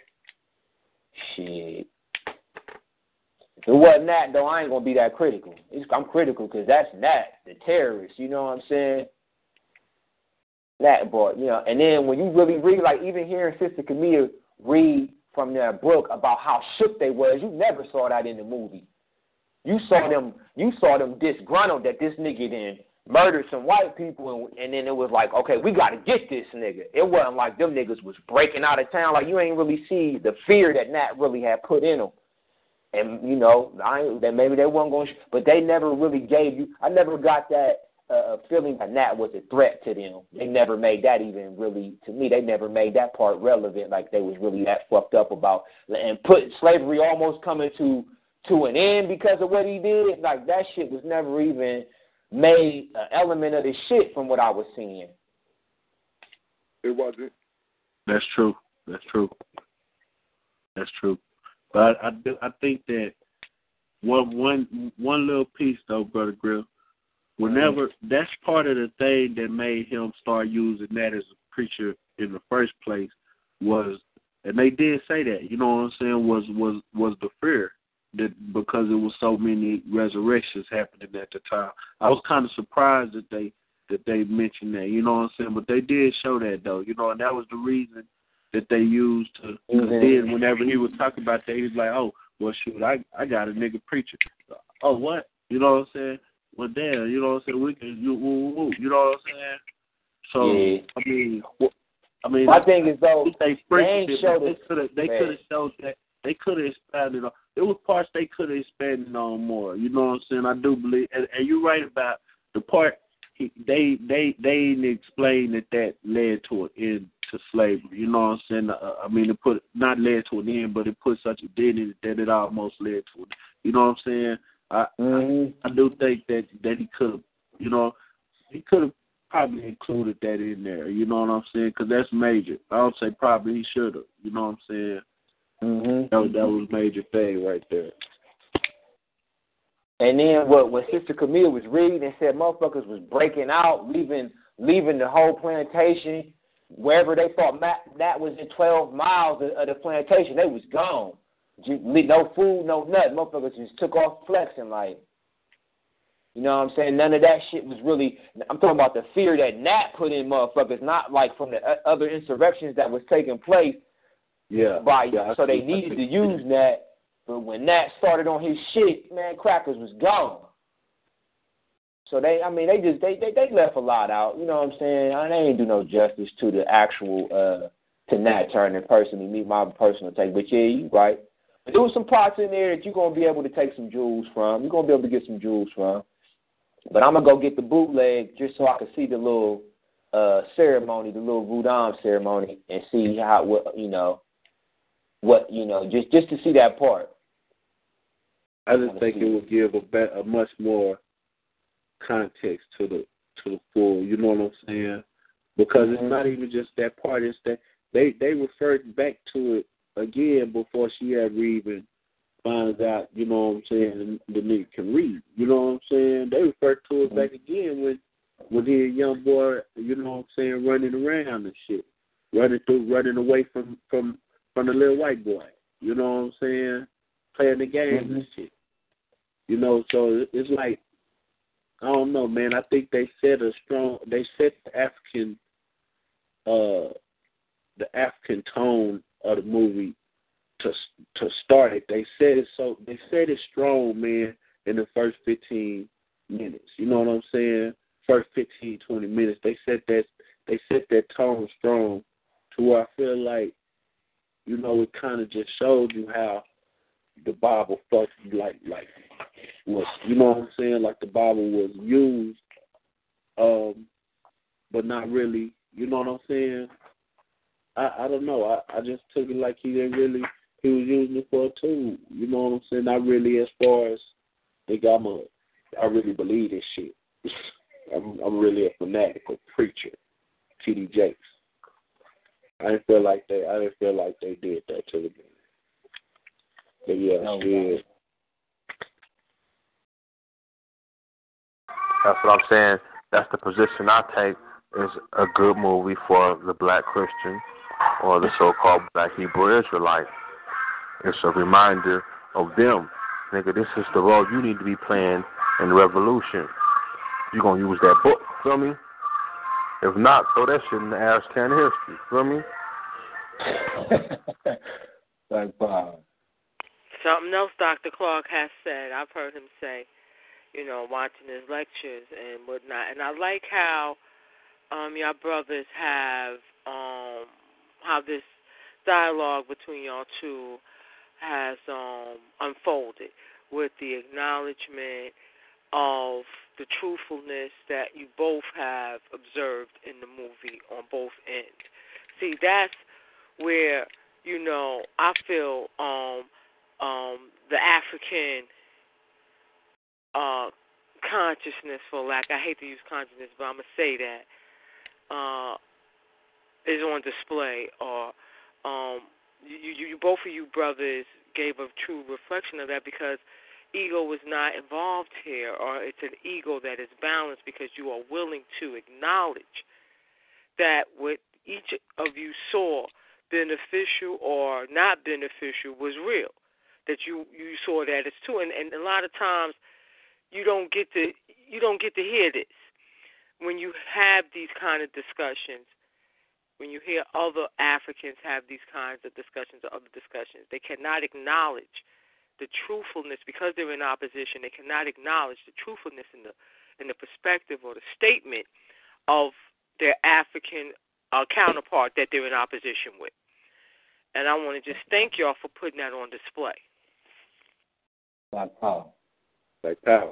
Shit. If it wasn't Nat, though, I ain't going to be that critical. I'm critical because that's Nat, the terrorist. You know what I'm saying? Nat, boy, and then when you really read, like even hearing Sister Camille read from their book about how shook they was, you never saw that in the movie. You saw them disgruntled that this nigga then murdered some white people, and then it was like, okay, we got to get this nigga. It wasn't like them niggas was breaking out of town. Like, you ain't really see the fear that Nat really had put in them. And, that maybe they weren't going to, but they never really gave you, I never got that feeling that Nat was a threat to them. They never made that even really, to me, they never made that part relevant, like they was really that fucked up about, and put slavery almost coming to an end because of what he did. Like, that shit was never even made an element of the shit from what I was seeing. It wasn't. That's true. But I think that one little piece though, Brother Grill, whenever that's part of the thing that made him start using that as a preacher in the first place was, and they did say that, you know what I'm saying, was the fear that because it was so many resurrections happening at the time. I was kind of surprised that they mentioned that, you know what I'm saying, but they did show that though, you know, and that was the reason that they used to. Then whenever he was talking about that, he was like, oh, well, shoot, I got a nigga preacher. Oh, what? You know what I'm saying? Well, damn, you know what I'm saying? We can, you know what I'm saying? So, yeah. I mean, my thing is though, they could have showed that. They could have expanded on. There was parts they could have expanded on more. You know what I'm saying? I do believe, and you're right about the part. They didn't explain that led to an end to slavery. You know what I'm saying? I mean, it put not led to an end, but it put such a dent in it that it almost led to it. You know what I'm saying? I do think that he could have, you know, he could have probably included that in there. You know what I'm saying? Because that's major. I don't say probably, he should have. You know what I'm saying? That was a major thing right there. And then when Sister Camille was reading and said motherfuckers was breaking out, leaving the whole plantation, wherever they thought that was in 12 miles of the plantation, they was gone. No food, no nothing. Motherfuckers just took off flexing like, you know what I'm saying? None of that shit was really, I'm talking about the fear that Nat put in motherfuckers, not like from the other insurrections that was taking place. So they needed to use Nat. But when Nat started on his shit, man, crackers was gone. So they left a lot out. You know what I'm saying? They ain't do no justice to the actual to Nat Turner personally, me, my personal take. But yeah, you right. But there was some parts in there that you're gonna be able to take some jewels from. You're gonna be able to get some jewels from. But I'm gonna go get the bootleg just so I can see the little ceremony, the little Voodoo ceremony, and see just to see that part. I just think it would give a much more context to the full. You know what I'm saying? Because it's not even just that part. It's that they referred back to it again before she ever even finds out. You know what I'm saying? The nigga can read. You know what I'm saying? They referred to it back again when he a young boy. You know what I'm saying? Running around and shit, running away from the little white boy. You know what I'm saying? Playing the game and shit. You know, so it's like, I don't know, man. I think they set the African tone of the movie to start it. They said it strong, man, in the first 15 minutes. You know what I'm saying? First 15, 20 minutes. They set that tone strong to where I feel like, you know, it kind of just showed you how the Bible was, you know what I'm saying? Like the Bible was used, but not really. You know what I'm saying? I don't know. I just took it like he was using it for a tool. You know what I'm saying? Not really as far as I really believe this shit. I'm really a fanatical preacher, T.D. Jakes. I didn't feel like they did that to the game. But yeah, That's what I'm saying. That's the position I take. Is a good movie for the black Christian or the so-called black Hebrew Israelite. It's a reminder of them. Nigga, this is the role you need to be playing in the revolution. You're going to use that book, feel me? If not, throw that shit in the ash can of history, feel me? Like Bob. Something else Dr. Clark has said, I've heard him say, you know, watching his lectures and whatnot. And I like how y'all brothers have, how this dialogue between y'all two has unfolded with the acknowledgement of the truthfulness that you both have observed in the movie on both ends. See, that's where, I feel the African consciousness, for lack, I hate to use consciousness, but I'm going to say that, is on display. Or you both of you brothers gave a true reflection of that, because ego was not involved here, or it's an ego that is balanced because you are willing to acknowledge that what each of you saw, beneficial or not beneficial, was real. That you saw that it's true, and a lot of times you don't get to hear this when you have these kind of discussions. When you hear other Africans have these kinds of discussions or other discussions, they cannot acknowledge the truthfulness because they're in opposition. They cannot acknowledge the truthfulness in the perspective or the statement of their African counterpart that they're in opposition with. And I want to just thank y'all for putting that on display. Black power. Black power.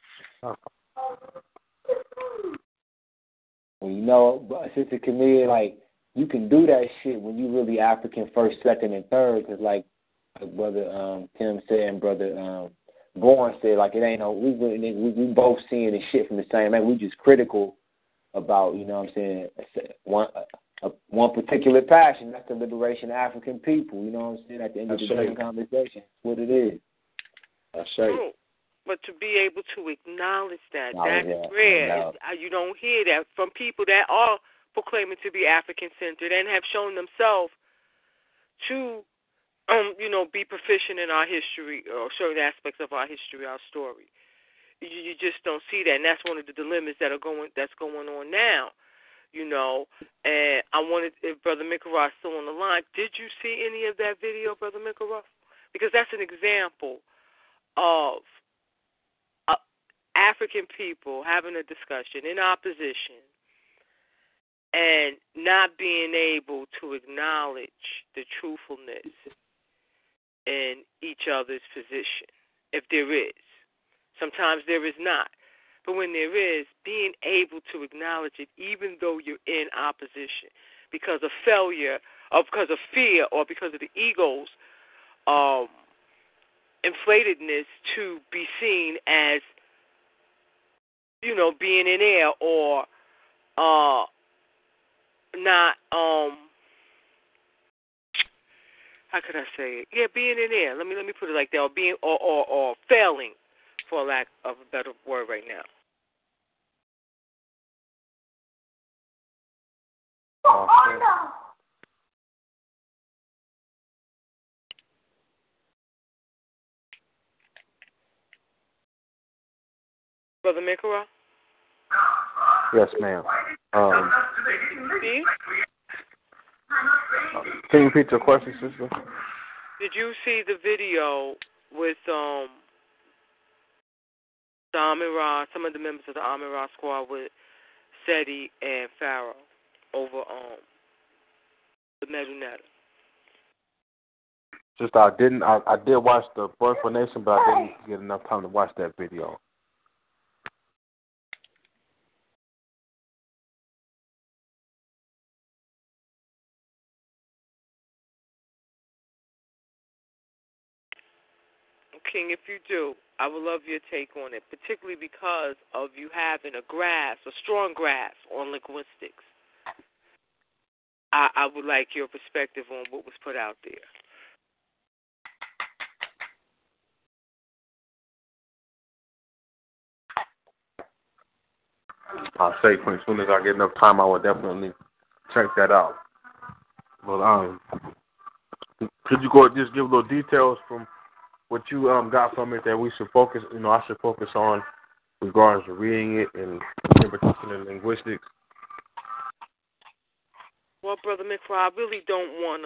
Well, Sister Camille, like, you can do that shit when you really African first, second, and third, because like Brother Tim said and Brother Bourne said, like, it ain't no, we both seeing the shit from the same man. We just critical about, you know what I'm saying, one particular passion. That's the liberation of African people. You know what I'm saying? At the end of the day, conversation, that's what it is. That's right. But to be able to acknowledge that's rare. You don't hear that from people that are proclaiming to be African-centered and have shown themselves to, be proficient in our history or certain aspects of our history, our story. You just don't see that, and that's one of the dilemmas that's going on now. And I wanted, if Brother Mikara is still on the line, did you see any of that video, Brother Mikara? Because that's an example of African people having a discussion in opposition and not being able to acknowledge the truthfulness in each other's position, if there is. Sometimes there is not. But when there is, being able to acknowledge it, even though you're in opposition, because of failure, or because of fear, or because of the ego's inflatedness to be seen as, being in air or not, how could I say it? Yeah, being in air. Let me put it like that, or being or failing, for lack of a better word right now. Brother Mikara? Yes, ma'am. Steve? Can you repeat your question, sister? Did you see the video with the Amira, some of the members of the Amira squad with Seti and Pharaoh over the Medunetta? Just I did watch the Birthful Nation, but I didn't get enough time to watch that video. King, if you do, I would love your take on it, particularly because of you having a strong grasp on linguistics. I would like your perspective on what was put out there. I'll say as soon as I get enough time, I will definitely check that out. But could you go just give a little details from what you got from it that we should focus, I should focus on regards to reading it and interpretation and linguistics? Well, Brother Mikra, I really don't want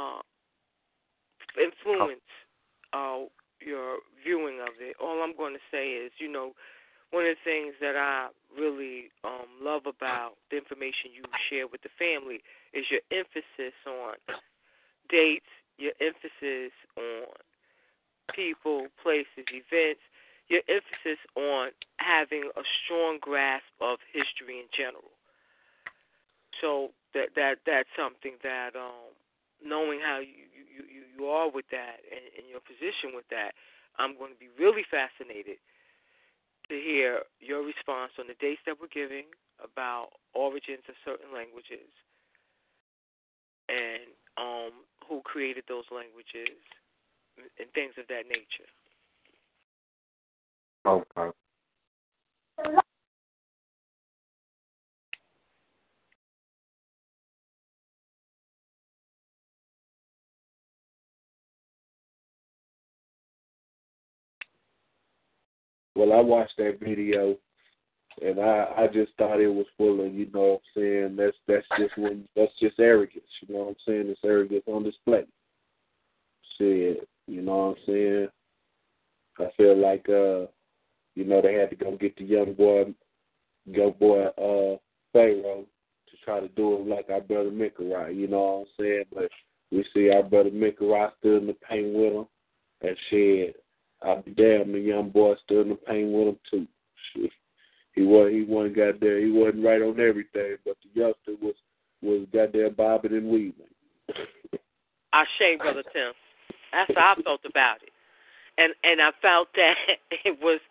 to influence your viewing of it. All I'm going to say is, one of the things that I really love about the information you share with the family is your emphasis on dates, your emphasis on people, places, events, your emphasis on having a strong grasp of history in general. So that's something that knowing how you are with that and your position with that, I'm going to be really fascinated to hear your response on the dates that we're giving about origins of certain languages and who created those languages and things of that nature. Okay. Well, I watched that video, and I just thought it was full of, you know what I'm saying, that's just arrogance, you know what I'm saying? It's arrogance on display. Shit, you know what I'm saying? I feel like, you know, they had to go get the young boy Pharaoh to try to do it like our brother Mikarai, you know what I'm saying? But we see our brother Mikarai stood in the paint with him, and shit, I'll be damned, the young boy stood in the paint with him too. Shit. He wasn't goddamn, he wasn't right on everything, but the youngster was goddamn bobbing and weaving. Ashe, Brother Tim. That's how I felt about it. And I felt that it was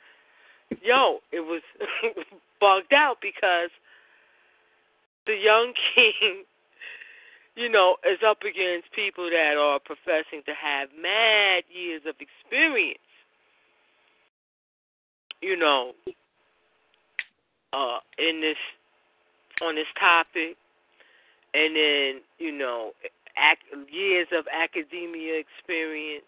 bugged out because the young king, you know, is up against people that are professing to have mad years of experience, you know, on this topic, and then, you know, years of academia experience.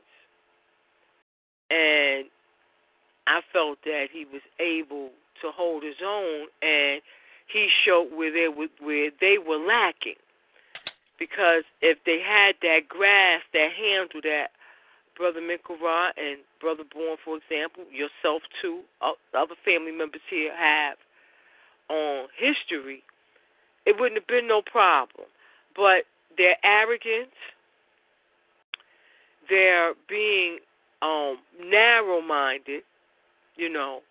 And I felt that he was able to hold his own, and he showed where they were lacking. Because if they had that grasp, that handle that Brother Mikarai and Brother Bourne, for example, yourself too, other family members here have on history, it wouldn't have been no problem. But their arrogance, their being narrow-minded, you know,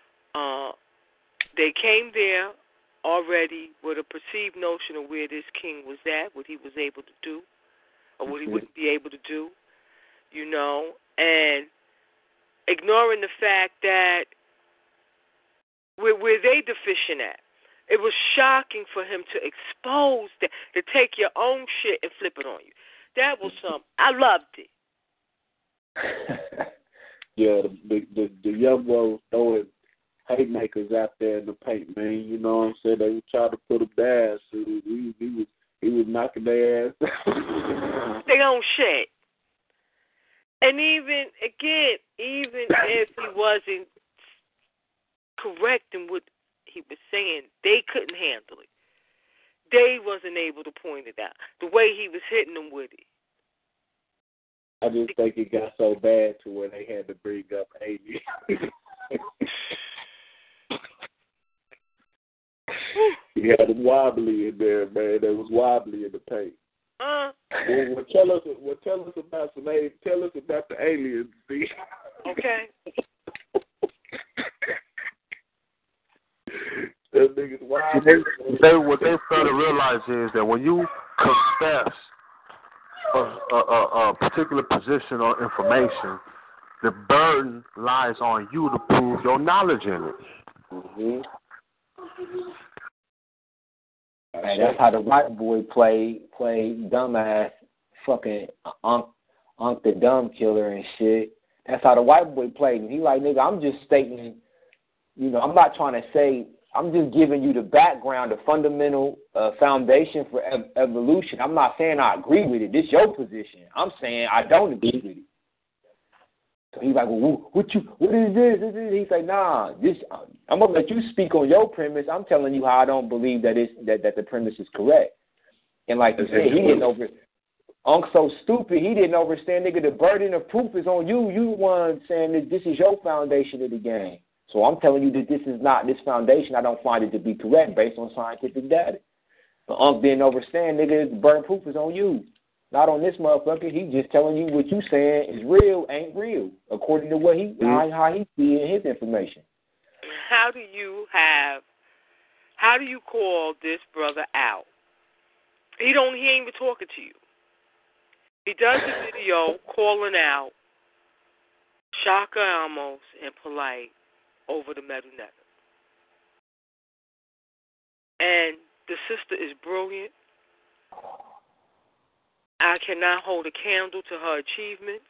they came there already with a perceived notion of where this king was at, what he was able to do, or what he wouldn't be able to do, you know, and ignoring the fact that where they deficient at. It was shocking for him to expose that, to take your own shit and flip it on you. That was something. I loved it. Yeah, the young boy was throwing haymakers out there in the paint, man. You know what I'm saying? They were trying to put him down. So he was knocking their ass. They own shit. And even if he wasn't correct in what he was saying, they couldn't handle it. They wasn't able to point it out. The way he was hitting them with it. I just think it got so bad to where they had to bring up Amy. He had him wobbly in there, man. That was wobbly in the paint. Well, tell us about the aliens, see? Okay. That nigga's wobbly. What they fail to realize is that when you confess a particular position or information, the burden lies on you to prove your knowledge in it. Mm-hmm. Hey, that's how the white boy played dumbass fucking Unc the Dumb Killer and shit. That's how the white boy played. And he like, nigga, I'm just stating, you know, I'm not trying to say, I'm just giving you the background, the fundamental foundation for evolution. I'm not saying I agree with it. This is your position. I'm saying I don't agree with it. So he's like, well, what is this? He's like, nah, I'm gonna let you speak on your premise. I'm telling you how I don't believe that the premise is correct. And like you said, he didn't Unc's so stupid, he didn't understand, nigga, the burden of proof is on you. You the one saying that this is your foundation of the game. So I'm telling you that this is not this foundation. I don't find it to be correct based on scientific data. But Unc didn't understand, nigga, the burden of proof is on you. Not on this motherfucker. He's just telling you what you saying is real, ain't real, according to what how he see in his information. how do you call this brother out? He ain't even talking to you. He does a video calling out Shaka Amos and Polite over the Metal Netter. And the sister is brilliant. I cannot hold a candle to her achievements.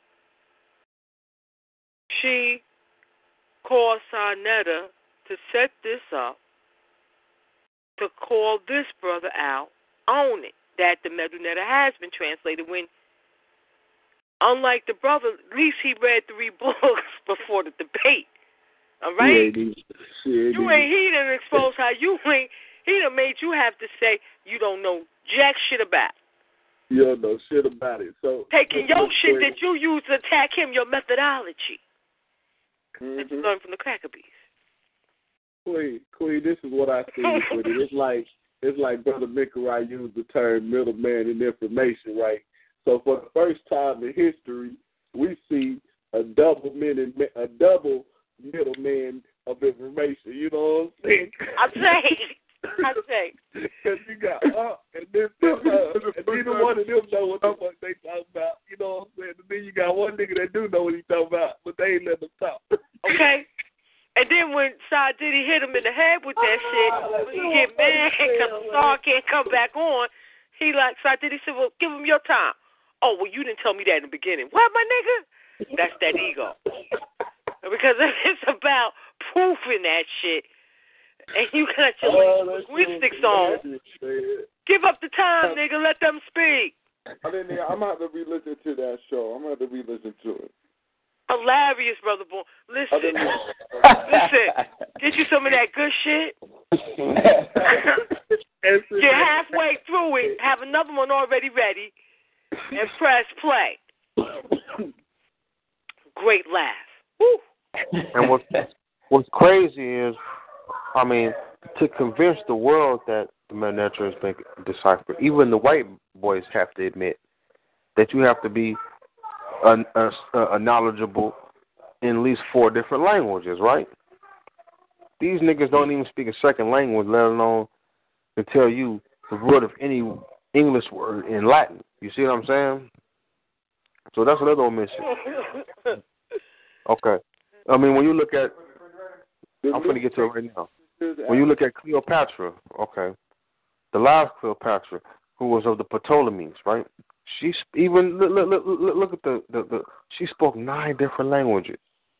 She called Sa Neter to set this up, to call this brother out on it, that the Metal Netter has been translated when, unlike the brother, at least he read 3 books before the debate. All right? He done exposed how he done made you have to say you don't know jack shit about it. You don't know shit about it. So taking your shit that you use to attack him, your methodology that you learned from the Cracker Bees. Queen, this is what I see with it. It's like Brother Mikarai used the term middleman in information, right? So for the first time in history, we see a double middleman of information. You know what I'm saying? I say. Because you got and this and neither one of them know what the fuck they talking about. You know what I'm saying? And then you got one nigga that do know what he talking about, but they ain't letting him talk. Okay. And then when Side Diddy hit him in the head with that shit, when he get mad because the star can't come back on, he like, Side Diddy said, well, give him your time. Oh, well, you didn't tell me that in the beginning. What, my nigga? That's that ego. Because it's about proofing that shit. And you got your linguistics on. Give up the time, nigga. Let them speak. I'm going to have to re-listen to that show. I'm going to have to re-listen to it. Hilarious, Brother Boy. Listen. Get you some of that good shit. You're halfway through it. Have another one already ready. And press play. Great laugh. Woo. And what's crazy is, I mean, to convince the world that the Metal Netter has been deciphered, even the white boys have to admit that you have to be a knowledgeable in at least 4 different languages, right? These niggas don't even speak a second language, let alone to tell you the root of any English word in Latin. You see what I'm saying? So that's another omission. Okay. I mean, when you look at, I'm going to get to it right now. When you look at Cleopatra, okay, the last Cleopatra, who was of the Ptolemies, right? She even look at the she spoke 9 different languages.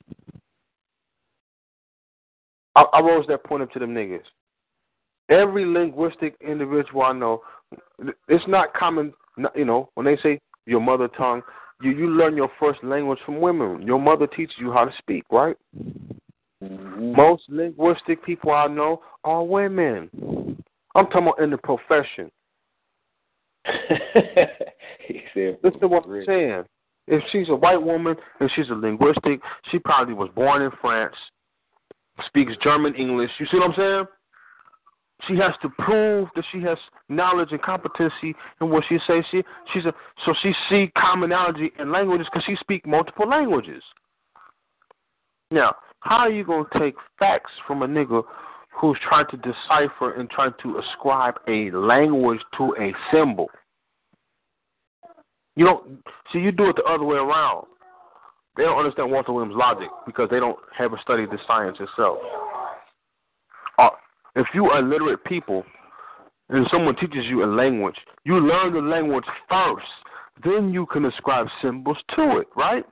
I rose that point up to them niggas. Every linguistic individual I know, it's not common, you know, when they say your mother tongue, you learn your first language from women. Your mother teaches you how to speak, right? Mm-hmm. Most linguistic people I know are women. I'm talking about in the profession. Listen to what I'm saying. If she's a white woman and she's a linguistic, she probably was born in France, speaks German, English. You see what I'm saying? She has to prove that she has knowledge and competency in what she says. So she see commonality in languages because she speaks multiple languages. Now, how are you going to take facts from a nigga who's trying to decipher and trying to ascribe a language to a symbol? You don't see. You do it the other way around. They don't understand Walter Williams' logic because they haven't studied the science itself. If you are illiterate people and someone teaches you a language, you learn the language first. Then you can ascribe symbols to it, right?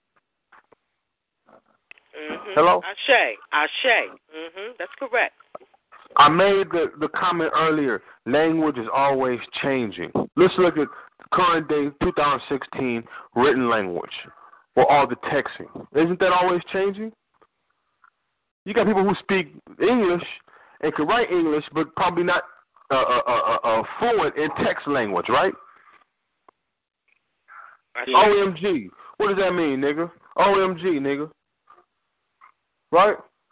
Mm-hmm. Hello? Ashe. Mm-hmm. That's correct. I made the comment earlier. Language is always changing. Let's look at current day 2016 written language or all the texting. Isn't that always changing? You got people who speak English and can write English, but probably not fluent in text language, right? OMG. What does that mean, nigga? OMG, nigga. Right?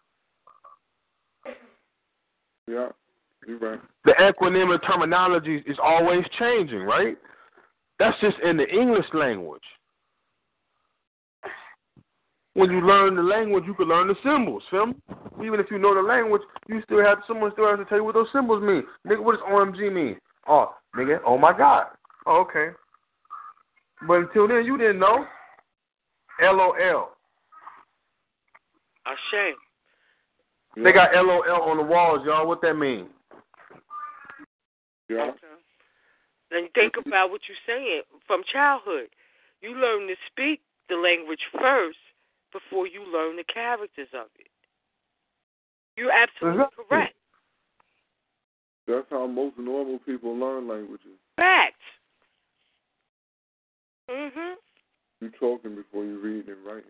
Yeah, you're right. The acronym and terminology is always changing, right? That's just in the English language. when you learn the language, you can learn the symbols, feel me? Even if you know the language, someone still has to tell you what those symbols mean. Nigga, what does OMG mean? Oh, nigga, oh my God. Oh, okay. But until then, you didn't know. LOL. Ashamed. They got LOL on the walls, y'all. What that mean? Yeah. Okay. Then think about what you're saying from childhood. You learn to speak the language first before you learn the characters of it. You're absolutely correct. That's how most normal people learn languages. Facts. Mhm. You talking before you read and writing.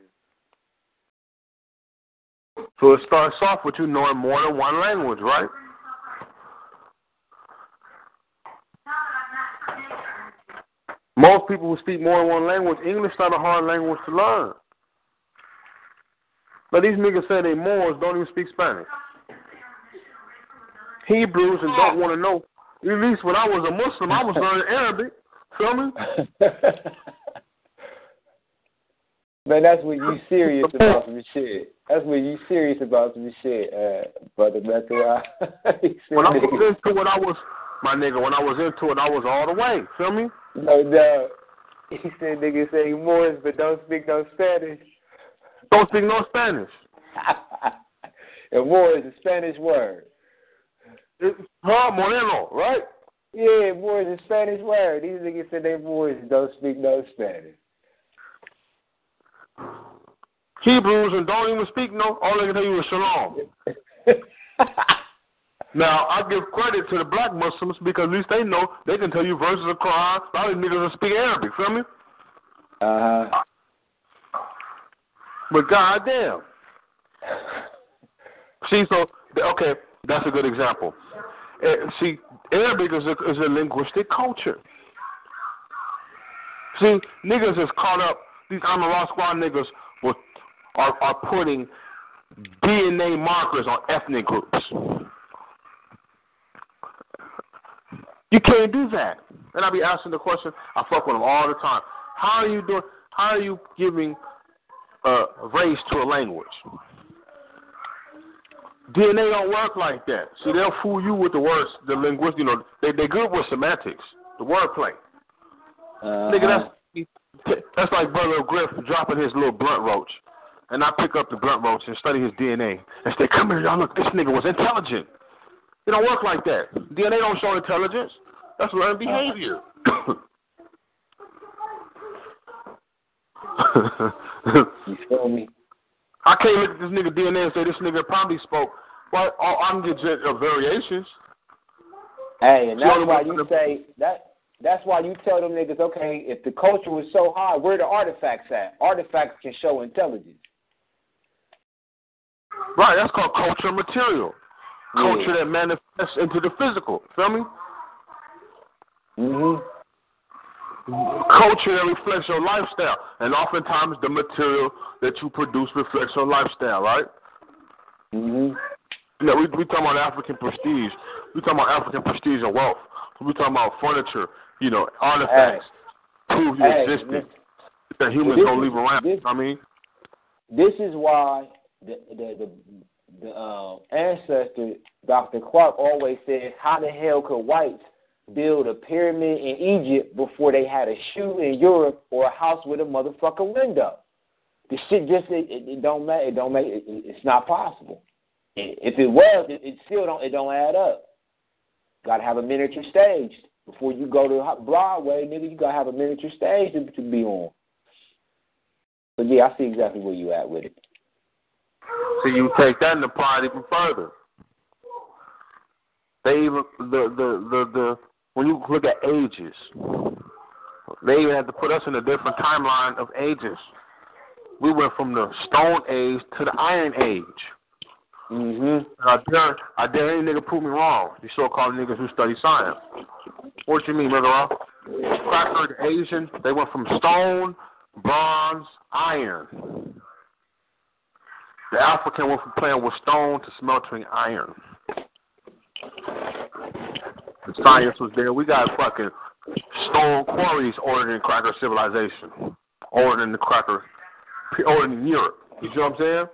So it starts off with you knowing more than one language, right? Most people who speak more than one language, English is not a hard language to learn. But these niggas say they Moors don't even speak Spanish. Hebrews and don't want to know. At least when I was a Muslim, I was learning Arabic. Feel me? Man, that's when you serious about some shit. That's when you serious about some shit, brother Method. When I was into it, when I was into it, I was all the way. Feel me? No. He said niggas say Moors but don't speak no Spanish. Don't speak no Spanish. And Moor is a Spanish word. It's Moreno, right? Yeah, Moor is a Spanish word. These niggas said they Moors don't speak no Spanish. Hebrews and don't even speak no. All they can tell you is shalom. Now, I give credit to the black Muslims because at least they know they can tell you verses of Quran. A lot of niggas don't speak Arabic, feel me? But goddamn. See, so, okay, that's a good example. See, Arabic is a linguistic culture. See, niggas is caught up, these Amaral Squad niggas are putting DNA markers on ethnic groups. You can't do that. And I be asking the question, I fuck with them all the time. How are you giving race to a language? DNA don't work like that. See, they'll fool you with the words, the linguist, they're good with semantics, the wordplay. Nigga, that's like Brother Griff dropping his little blunt roach. And I pick up the blunt roach and study his DNA and say, come here, y'all, look, this nigga was intelligent. It don't work like that. DNA don't show intelligence. That's learned behavior. You feel me? I can't look at this nigga DNA and say this nigga probably spoke. Well, I'm getting variations. Hey, and that's why you say that. That's why you tell them niggas, okay, if the culture was so hard, where the artifacts at? Artifacts can show intelligence. Right, that's called culture material. Culture that manifests into the physical. Feel me? Mm-hmm. Culture that reflects your lifestyle. And oftentimes the material that you produce reflects your lifestyle, right? Mm-hmm. We talking about African prestige. We talking about African prestige and wealth. We talking about furniture, artifacts, prove your existence. That humans don't leave around. This is why the ancestor, Dr. Clark, always said, how the hell could whites build a pyramid in Egypt before they had a shoe in Europe or a house with a motherfucking window? The shit just, it don't make, it's not possible. If it was, it still don't add up. Got to have a miniature stage. Before you go to Broadway, nigga, you got to have a miniature stage to be on. But yeah, I see exactly where you at with it. So you take that and apply it even further. They even when you look at ages, they even have to put us in a different timeline of ages. We went from the Stone Age to the Iron Age. Mm-hmm. I dare any nigga prove me wrong. You so-called niggas who study science. What you mean, Brother Rob? Cracker, the Asian, they went from stone, bronze, iron. The African went from playing with stone to smelting iron. The science was there. We got fucking stone quarries ordered in cracker civilization. Ordered in Europe. You see what I'm saying?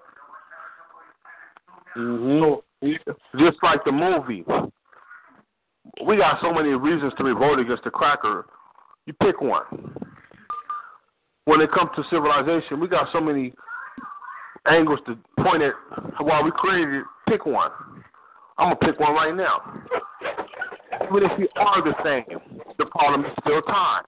Mm-hmm. So, just like the movie, we got so many reasons to revolt against the cracker. You pick one. When it comes to civilization, we got so many angles to point at why we created it. Pick one. I'm going to pick one right now. Even if we are the same, the problem is still time.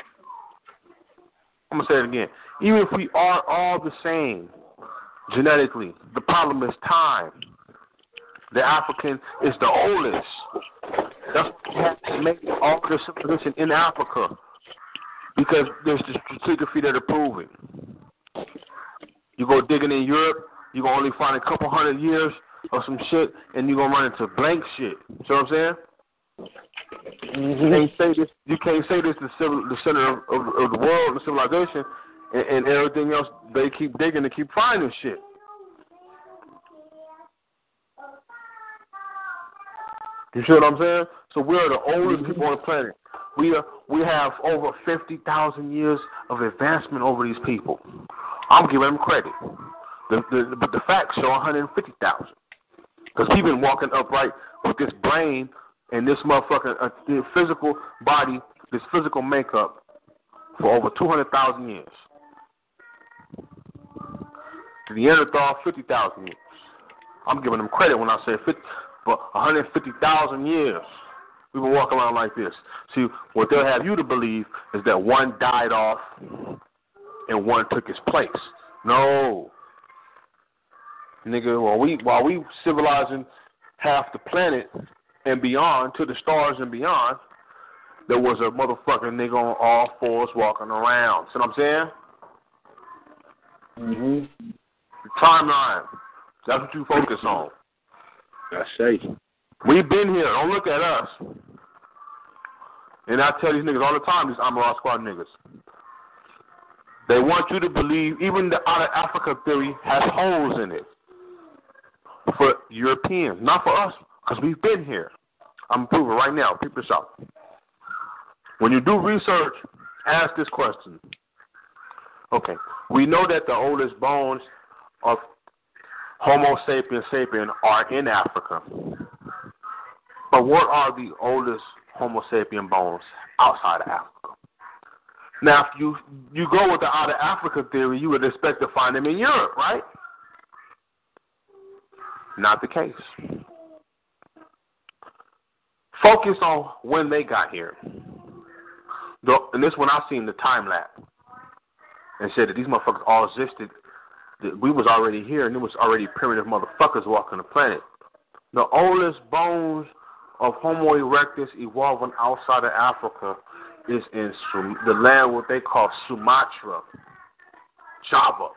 I'm going to say it again. Even if we are all the same genetically, the problem is time. The African is the oldest. That's what makes all the civilization in Africa, because there's the stratigraphy that are proving. You go digging in Europe, you're going to only find a couple hundred years of some shit, and you're going to run into blank shit. You know what I'm saying? You can't say this is the center of the world, the civilization, and everything else. They keep digging and keep finding shit. You see what I'm saying? So we're the oldest people on the planet. We have over 50,000 years of advancement over these people. I'm giving them credit. But the facts show 150,000. Because he's been walking upright with this brain and this motherfucking physical body, this physical makeup for over 200,000 years. The Neanderthal, 50,000 years. I'm giving them credit when I say 50, for 150,000 years. We've been walking around like this. See, what they'll have you to believe is that one died off and one took his place. No. Nigga, while we civilizing half the planet and beyond, to the stars and beyond, there was a motherfucking nigga on all fours walking around. See what I'm saying? Mm-hmm. The timeline. That's what you focus on. I say. We've been here. Don't look at us. And I tell these niggas all the time, these Amaral Squad niggas. They want you to believe even the out of Africa theory has holes in it. For Europeans, not for us, because we've been here. I'm proving right now. Peep this out. When you do research, ask this question. Okay, we know that the oldest bones of Homo sapiens sapien are in Africa. But what are the oldest Homo sapien bones outside of Africa? Now, if you go with the out of Africa theory, you would expect to find them in Europe, right? Not the case. Focus on when they got here. And this one I seen the time lapse and said that these motherfuckers all existed. That we was already here and it was already primitive motherfuckers walking the planet. The oldest bones of Homo erectus evolving outside of Africa is in the land what they call Sumatra, Java.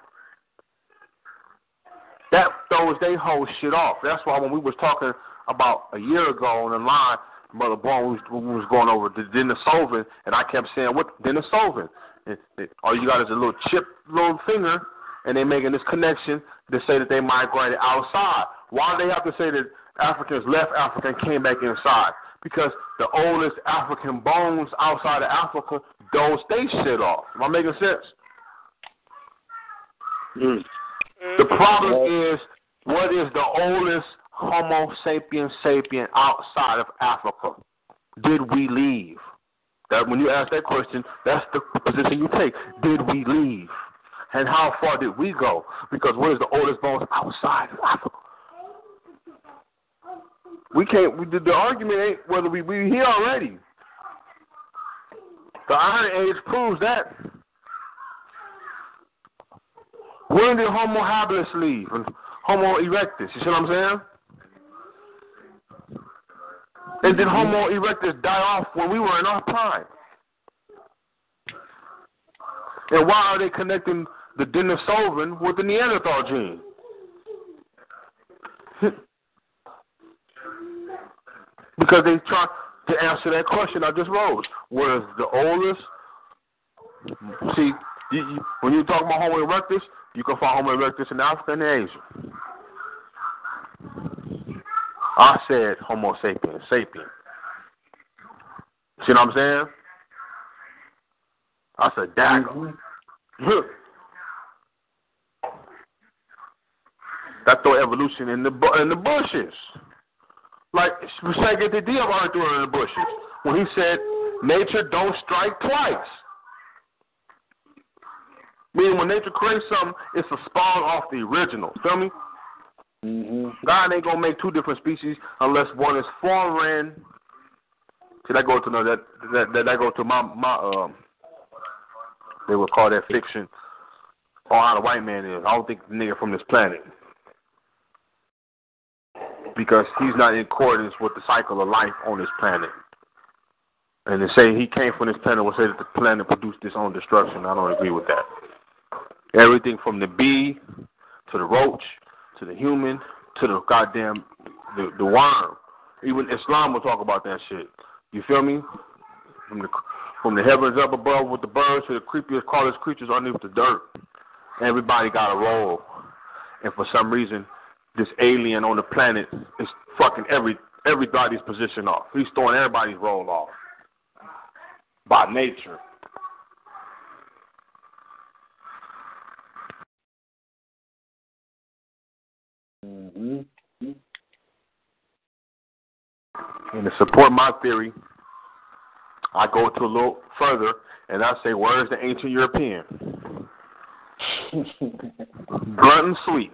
That throws they whole shit off. That's why when we was talking about a year ago on the line, Mother Bone, we was going over the Denisovan, and I kept saying, what Denisovan? All you got is a little chip, little finger, and they making this connection to say that they migrated outside. Why do they have to say that Africans left Africa and came back inside? Because the oldest African bones outside of Africa don't stay shit off. Am I making sense? Mm. The problem is, what is the oldest Homo sapiens sapien outside of Africa? Did we leave? That when you ask that question, that's the position you take. Did we leave? And how far did we go? Because what is the oldest bones outside of Africa? We can't. The argument ain't whether we here already. The Iron Age proves that. When did Homo habilis leave? And Homo erectus. You see what I'm saying? And did Homo erectus die off when we were in our prime? And why are they connecting the Denisovan with the Neanderthal gene? Because they try to answer that question I just posed. What is the oldest? See, when you talk about Homo erectus, you can find Homo erectus in Africa and Asia. I said Homo sapiens, sapien. See what I'm saying? I said dagger. That throw evolution in the bushes. Like Shaggy the Dia already threw it in the bushes when he said, "Nature don't strike twice." Meaning when nature creates something, it's a spawn off the original. Feel me? Mm-hmm. God ain't gonna make two different species unless one is foreign. See, that goes to that goes to my they would call that fiction on how the white man is. I don't think the nigga from this planet, because he's not in accordance with the cycle of life on this planet. And to say he came from this planet will say that the planet produced its own destruction. I don't agree with that. Everything from the bee to the roach to the human to the goddamn the worm. Even Islam will talk about that shit. You feel me? From the heavens up above with the birds to the creepiest, callest creatures underneath the dirt. Everybody got a role. And for some reason, this alien on the planet is fucking everybody's position off. He's throwing everybody's role off. By nature. Mm-hmm. And to support my theory, I go to a little further and I say, where is the ancient European? Blunt and sweet.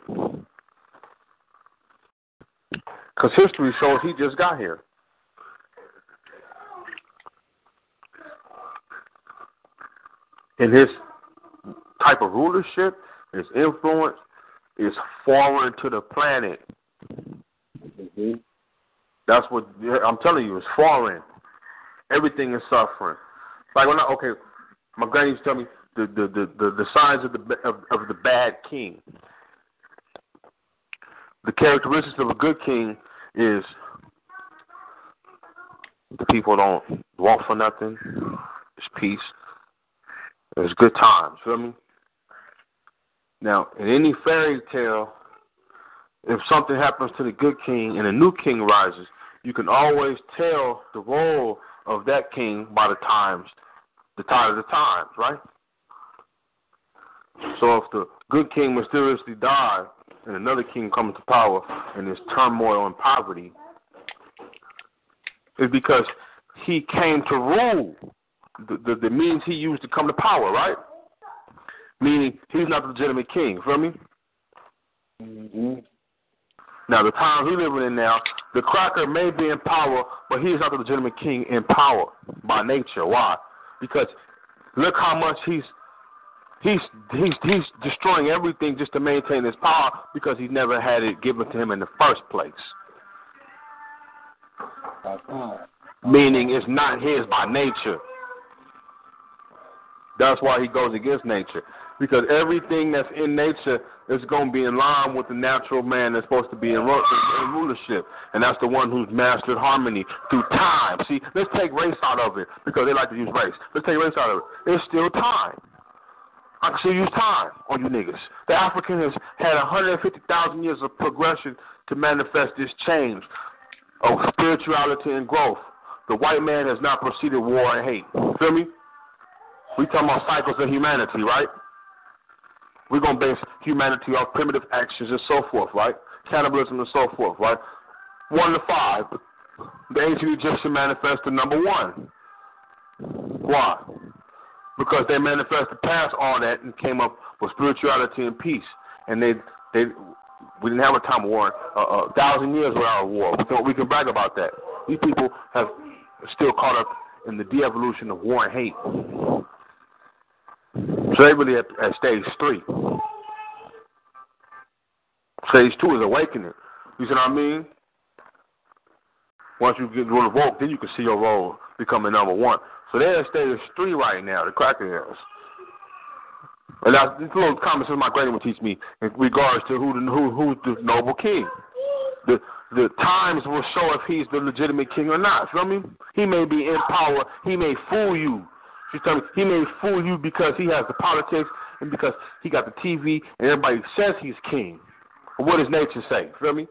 Because history shows he just got here. And his type of rulership, his influence, is foreign to the planet. Mm-hmm. That's what I'm telling you. It's foreign. Everything is suffering. Like my granny used to tell me the signs of the bad king. The characteristics of a good king is the people don't want for nothing. There's peace. There's good times. Feel me? Now, in any fairy tale, if something happens to the good king and a new king rises, you can always tell the role of that king by the tide of the times, right? So if the good king mysteriously died and another king comes to power and there's turmoil and poverty, it's because he came to rule. The means he used to come to power, right? Meaning he's not the legitimate king. Feel me? Mm-hmm. Now, the times we're living in now, the cracker may be in power, but he is not the legitimate king in power by nature. Why? Because look how much he's destroying everything just to maintain his power, because he never had it given to him in the first place. Meaning it's not his by nature. That's why he goes against nature. Because everything that's in nature is going to be in line with the natural man that's supposed to be in rulership. And that's the one who's mastered harmony through time. See, let's take race out of it, because they like to use race. Let's take race out of it. It's still time. I can still use time on you niggas. The African has had 150,000 years of progression to manifest this change of spirituality and growth. The white man has not proceeded war and hate. Feel me? We talking about cycles of humanity, right? We're going to base humanity off primitive actions and so forth, right? Cannibalism and so forth, right? 1 to 5. The ancient Egyptian manifested number 1. Why? Because they manifested past all that and came up with spirituality and peace. And we didn't have a time of war, 1,000 years without a war. We can brag about that. These people have still caught up in the de-evolution of war and hate. So they really at stage 3. Stage 2 is awakening. You see what I mean? Once you get revoked, then you can see your role becoming number 1. So they're at stage 3 right now, the crackers. And that's this little comments my granny would teach me in regards to who's the noble king. The times will show if he's the legitimate king or not. Feel me? He may be in power. He may fool you. She's telling me he may fool you because he has the politics and because he got the TV and everybody says he's king. But what does nature say? Feel me?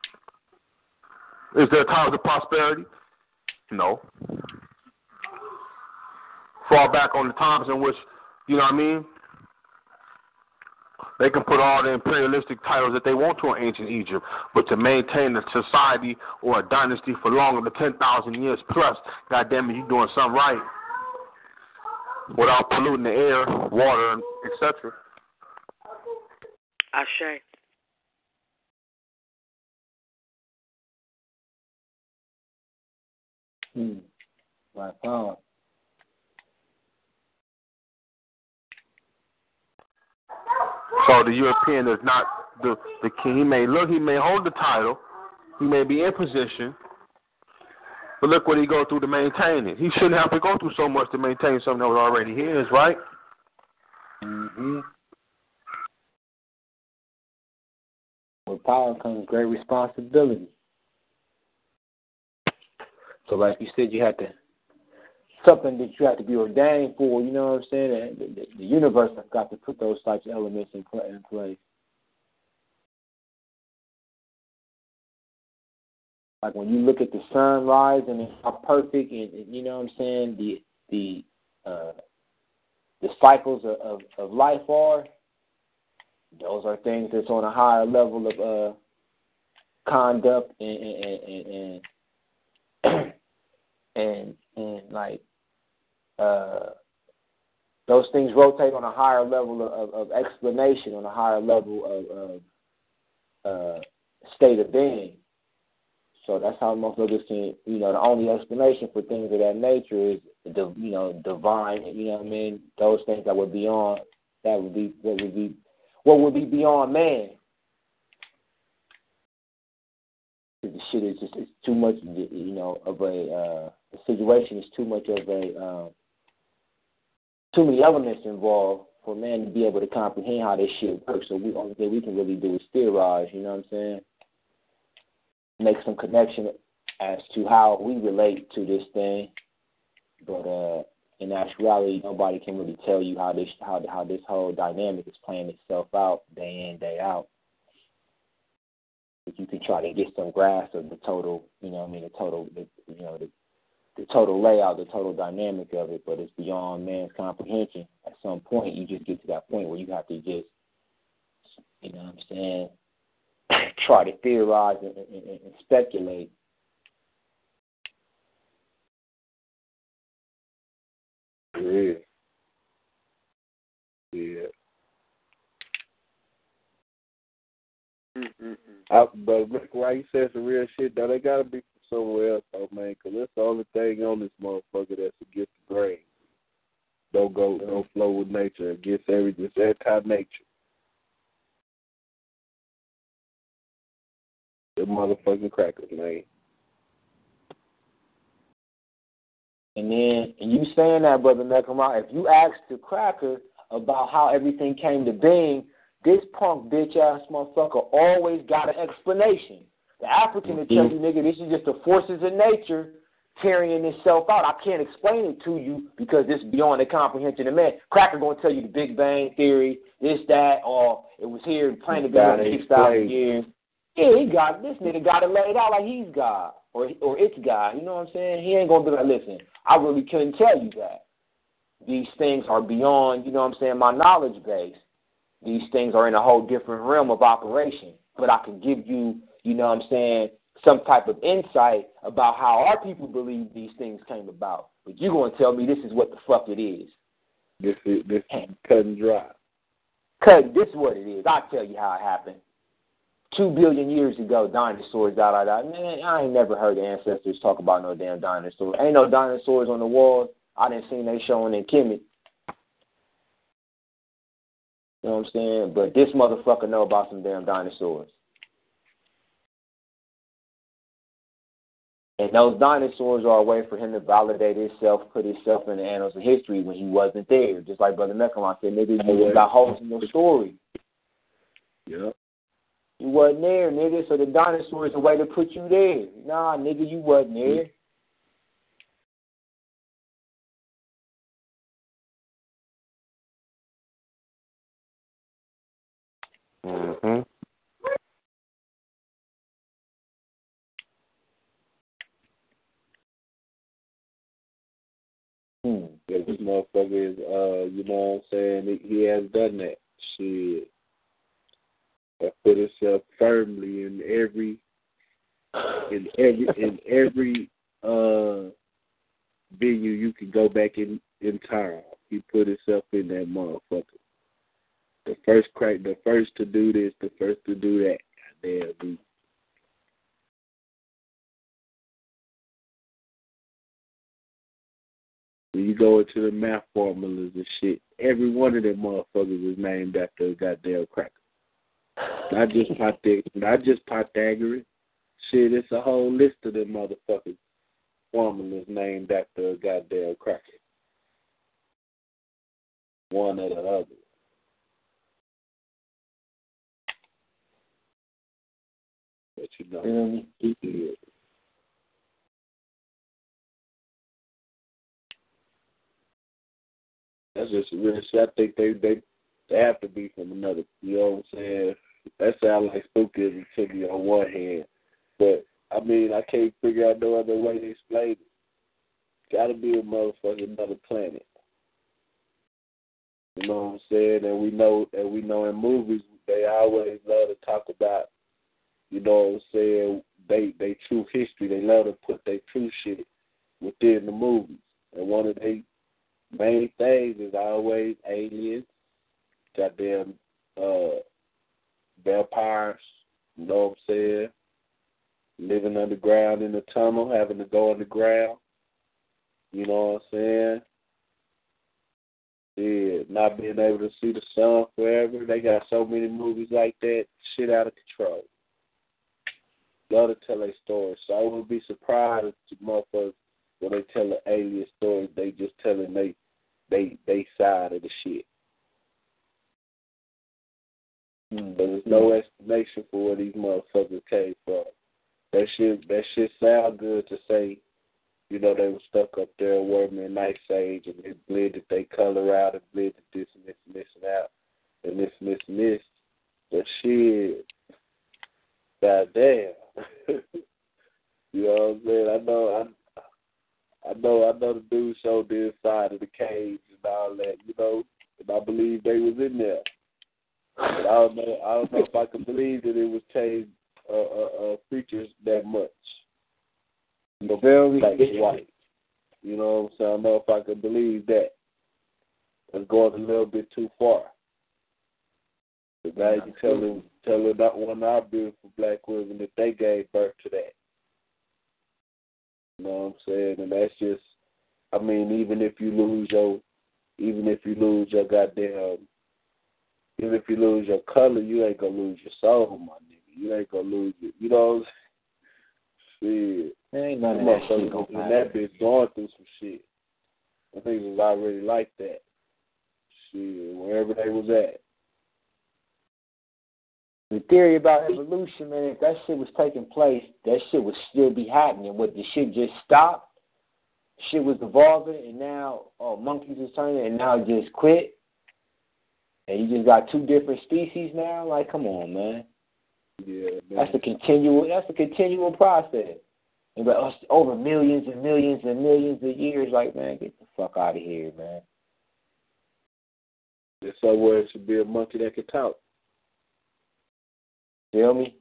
Is there times of prosperity? No. Fall back on the times in which, you know what I mean? They can put all the imperialistic titles that they want to in ancient Egypt, but to maintain a society or a dynasty for longer than 10,000 years plus, goddamn it, you doing something right without polluting the air, water, etc. Ashe. Right on. So the European is not the king. He may hold the title, he may be in position, but look what he go through to maintain it. He shouldn't have to go through so much to maintain something that was already his, right? Mm-hmm. With power comes great responsibility. So, like you said, you had to something that you have to be ordained for. You know what I'm saying? The universe has got to put those types of elements in place. Like when you look at the sunrise and how perfect, and you know what I'm saying, the cycles of life are. Those are things that's on a higher level of conduct and like those things rotate on a higher level of explanation, on a higher level of state of being. So that's how motherfuckers can, the only explanation for things of that nature is, divine, what I mean? Those things that would be beyond, what would be beyond man. The shit is just, it's too much, of the situation is too much of too many elements involved for man to be able to comprehend how this shit works. So the only thing we can really do is theorize, you know what I'm saying? Make some connection as to how we relate to this thing, but in actuality, nobody can really tell you how this whole dynamic is playing itself out day in, day out. But you can try to get some grasp of the total, the total layout, the total dynamic of it, but it's beyond man's comprehension. At some point, you just get to that point where you have to just, try to theorize and speculate. Yeah. But look, why you said some real shit, though, they gotta be from somewhere else, though, man, because that's the only thing on this motherfucker that's against the grain. Don't flow with nature, against everything. It's anti-nature. The motherfucking crackers, man. And you saying that, Brother Nekama, if you ask the cracker about how everything came to being, this punk bitch-ass motherfucker always got an explanation. The African will tell you, nigga, this is just the forces of nature carrying itself out. I can't explain it to you because it's beyond the comprehension of man. Cracker going to tell you the Big Bang Theory, this, that, or it was here planted for 6,000 years. Yeah, this nigga got it laid out like he's God or it's God. You know what I'm saying? He ain't going to be like, listen, I really couldn't tell you that. These things are beyond, my knowledge base. These things are in a whole different realm of operation. But I can give you, some type of insight about how our people believe these things came about. But you're going to tell me this is what the fuck it is. This is cut and dry. This is what it is. I'll tell you how it happened. 2 billion years ago, dinosaurs, Man, I ain't never heard the ancestors talk about no damn dinosaurs. Ain't no dinosaurs on the walls. I didn't see they showing in Kemet. You know what I'm saying? But this motherfucker know about some damn dinosaurs. And those dinosaurs are a way for him to validate himself, put himself in the annals of history when he wasn't there. Just like Brother Mechalon said, nigga, you got holes in your story. Yeah. You wasn't there, nigga, so the dinosaur is a way to put you there. Nah, nigga, you wasn't there. Mm-hmm. Yeah, this motherfucker is, you know what I'm saying, he has done that. Shit. That put itself firmly in every venue you can go back in time. He put himself in that motherfucker. The first to do this, the first to do that. Goddamn, dude. When you go into the math formulas and shit, every one of them motherfuckers is named after a goddamn cracker. Not just Pythagoras. Shit, it's a whole list of them motherfuckers formulas named after a goddamn cracker. One or the other. But you know, that's just real shit. I think they have to be from another. You know what I'm saying? That sounds like spookism to me on one hand, but I mean I can't figure out no other way to explain it. Gotta be a motherfucking another planet. You know what I'm saying? And we know in movies they always love to talk about, you know what I'm saying, they true history. They love to put their true shit within the movies. And one of their main things is always aliens, goddamn vampires, you know what I'm saying? Living underground in the tunnel, having to go underground. You know what I'm saying? Yeah, not being able to see the sun forever. They got so many movies like that, shit out of control. Love to tell their stories. So I wouldn't be surprised if motherfuckers, when they tell an alien story, they just telling they side of the shit. But there's no explanation for where these motherfuckers came from. That shit sound good to say, you know, they were stuck up there working in Ice Age and they blended their color out and blended this and this and this and out and this and this and this. But shit, goddamn. You know what I'm saying? I know the dude showed the inside of the cage and all that, you know, and I believe they was in there. But I don't know if I can believe that it was changed features that much. You know, black and white. You know what I'm saying? I don't know if I can believe that. It's going a little bit too far. But now you telling not one of our beautiful black women that they gave birth to that. You know what I'm saying? And that's just, I mean, even if you lose your color, you ain't gonna lose your soul, my nigga. You ain't gonna lose it. You know what I'm saying? Shit. There ain't none of that shit gonna happen. That bitch going through some shit. I think it was already like that. Shit, wherever they was at. The theory about evolution, man, if that shit was taking place, that shit would still be happening. What, the shit just stopped? Shit was evolving, and now monkeys is turning, and now it just quit? And you just got two different species now? Like, come on, man. Yeah, man. That's a continual process. And but over millions and millions and millions of years, like, man, get the fuck out of here, man. There's somewhere it should be a monkey that can talk. Feel me?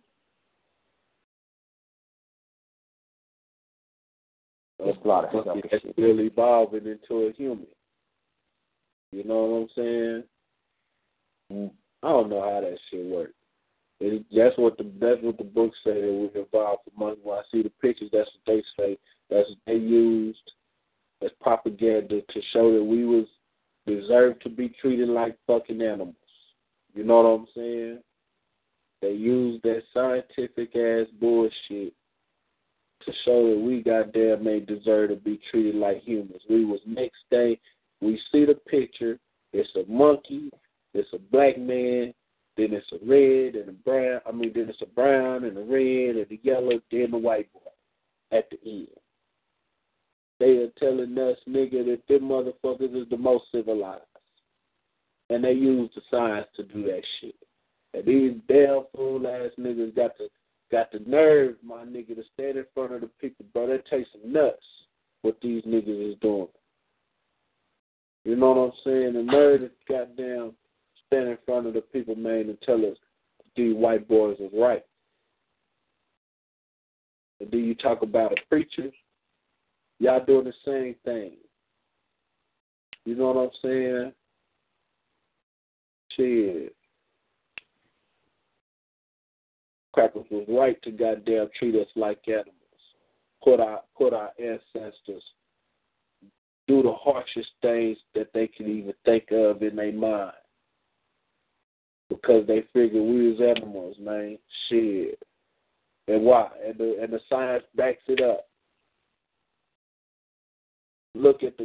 That's a lot of stuff. That's really evolving into a human. You know what I'm saying? I don't know how that shit works. That's what the books say that we evolved from monkeys. When I see the pictures, that's what they say. That's what they used as propaganda to show that we was deserved to be treated like fucking animals. You know what I'm saying? They used that scientific ass bullshit to show that we goddamn ain't deserve to be treated like humans. We was next day, we see the picture, it's a monkey, it's a black man, then it's a red and a brown, then it's a brown and a red and a yellow, then the white boy at the end. They are telling us, nigga, that them motherfuckers is the most civilized. And they use the science to do that shit. And these damn fool-ass niggas got the nerve, my nigga, to stand in front of the people, bro. That takes some nuts, what these niggas is doing. You know what I'm saying? The nerve to goddamn stand in front of the people, man, and tell us these white boys is right. And then you talk about a preacher, y'all doing the same thing. You know what I'm saying? Shit. Crackers was right to goddamn treat us like animals. Put our ancestors do the harshest things that they can even think of in their mind. Because they figure we was animals, man. Shit. And why? And the science backs it up. Look at the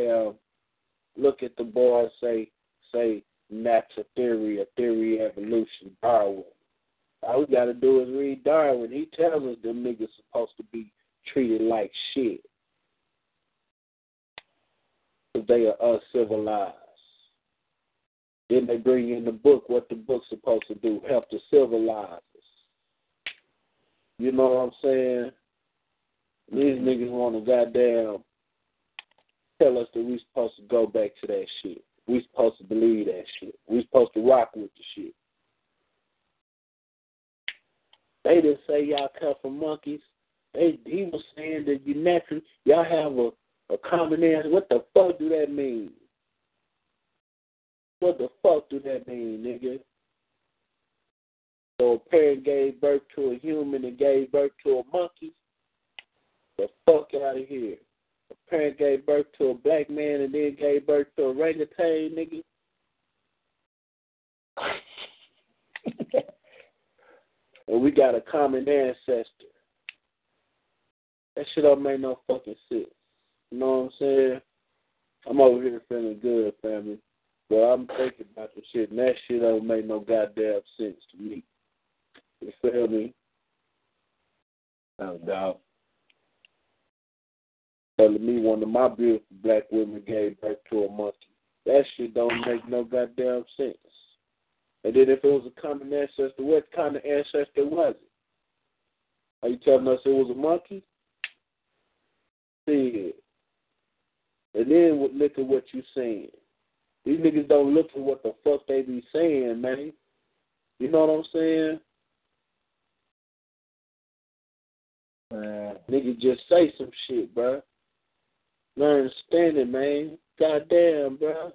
boys say natural theory or theory of evolution, Darwin. All we got to do is read Darwin. He tells us them niggas supposed to be treated like shit. Because they are uncivilized. Then they bring in the book, what the book's supposed to do, help to civilize us. You know what I'm saying? These niggas want to goddamn tell us that we supposed to go back to that shit. We supposed to believe that shit. We supposed to rock with the shit. They didn't say y'all come from monkeys. He was saying that you naturally, y'all have a common ancestor. What the fuck do that mean? What the fuck do that mean, nigga? So a parent gave birth to a human and gave birth to a monkey? The fuck out of here. A parent gave birth to a black man and then gave birth to a orangutan, nigga? And we got a common ancestor. That shit don't make no fucking sense. You know what I'm saying? I'm over here feeling good, family. But I'm thinking about the shit, and that shit don't make no goddamn sense to me. You feel me? No doubt. Telling me one of my beautiful black women gave birth to a monkey. That shit don't make no goddamn sense. And then if it was a common ancestor, what kind of ancestor was it? Are you telling us it was a monkey? See it. And then look at what you saying. These niggas don't look at what the fuck they be saying, man. You know what I'm saying? Niggas just say some shit, bro. Not understanding, man. Goddamn, bro.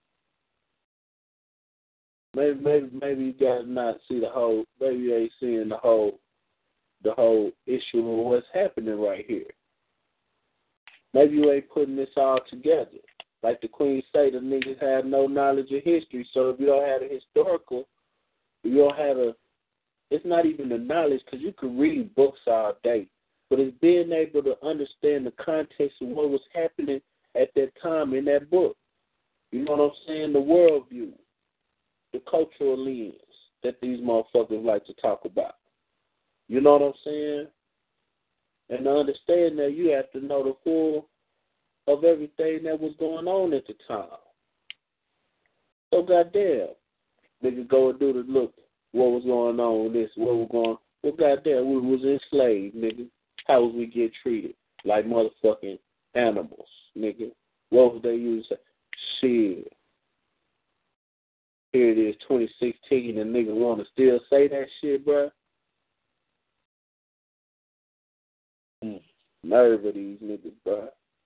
Maybe you guys not see the whole. Maybe you ain't seeing the whole issue of what's happening right here. Maybe you ain't putting this all together. Like the Queen say, the niggas have no knowledge of history. So if you don't have a historical, if you don't have it's not even the knowledge, because you can read books all day. But it's being able to understand the context of what was happening at that time in that book. You know what I'm saying? The worldview, the cultural lens that these motherfuckers like to talk about. You know what I'm saying? And to understand that, you have to know the full of everything that was going on at the time. So goddamn, nigga go and do the look, what was going on with this, what was going on. Well, goddamn, we was enslaved, nigga. How was we get treated? Like motherfucking animals, nigga. What was they used to say? Shit. Here it is, 2016, and niggas want to still say that shit, bruh. Nerve of these niggas, bruh.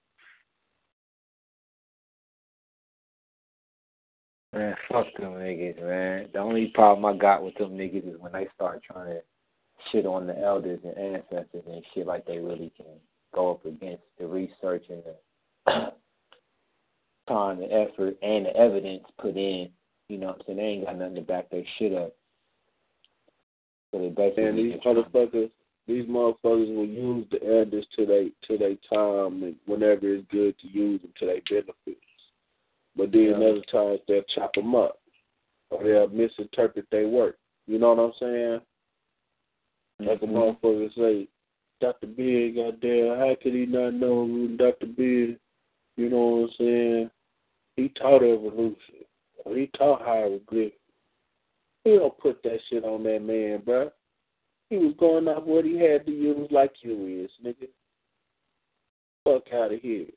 Man, fuck them niggas, man. The only problem I got with them niggas is when they start trying to shit on the elders and ancestors and shit like they really can go up against the research and the time, the effort, and the evidence put in. You know what I'm saying? They ain't got nothing to back their shit up. So they basically and these motherfuckers will use the elders to their time and whenever it's good to use them to their benefits. But then other times they'll chop them up or they'll misinterpret their work. You know what I'm saying? Like a motherfucker say, Dr. Beard, goddamn, how could he not know who Dr. Beard, you know what I'm saying? He taught evolution. Or he taught hieroglyphics. He don't put that shit on that man, bruh. He was going off what he had to use like you is, nigga. Fuck out of here.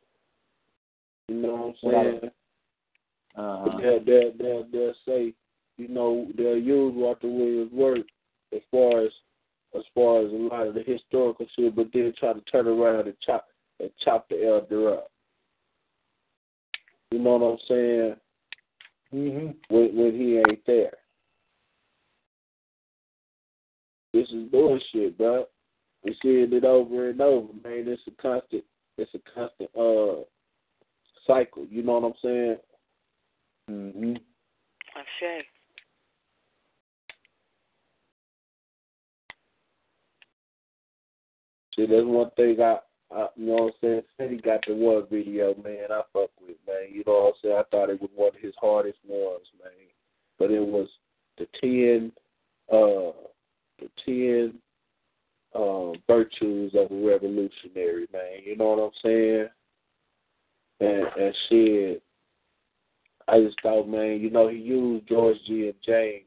You know what I'm saying? They'll say they'll use Walter Williams' work as far as a lot of the historical shit, but then try to turn around and chop the elder up. You know what I'm saying? When he ain't there. This is bullshit, bro. We're seeing it over and over, man. It's a constant cycle. You know what I'm saying? Okay. See, there's one thing I you know what I'm saying? Said he got the one video, man, I fuck with, man. You know what I'm saying? I thought it was one of his hardest ones, man. But it was the 10 virtues of a revolutionary, man. You know what I'm saying? And shit, I just thought, man, he used George G. and James,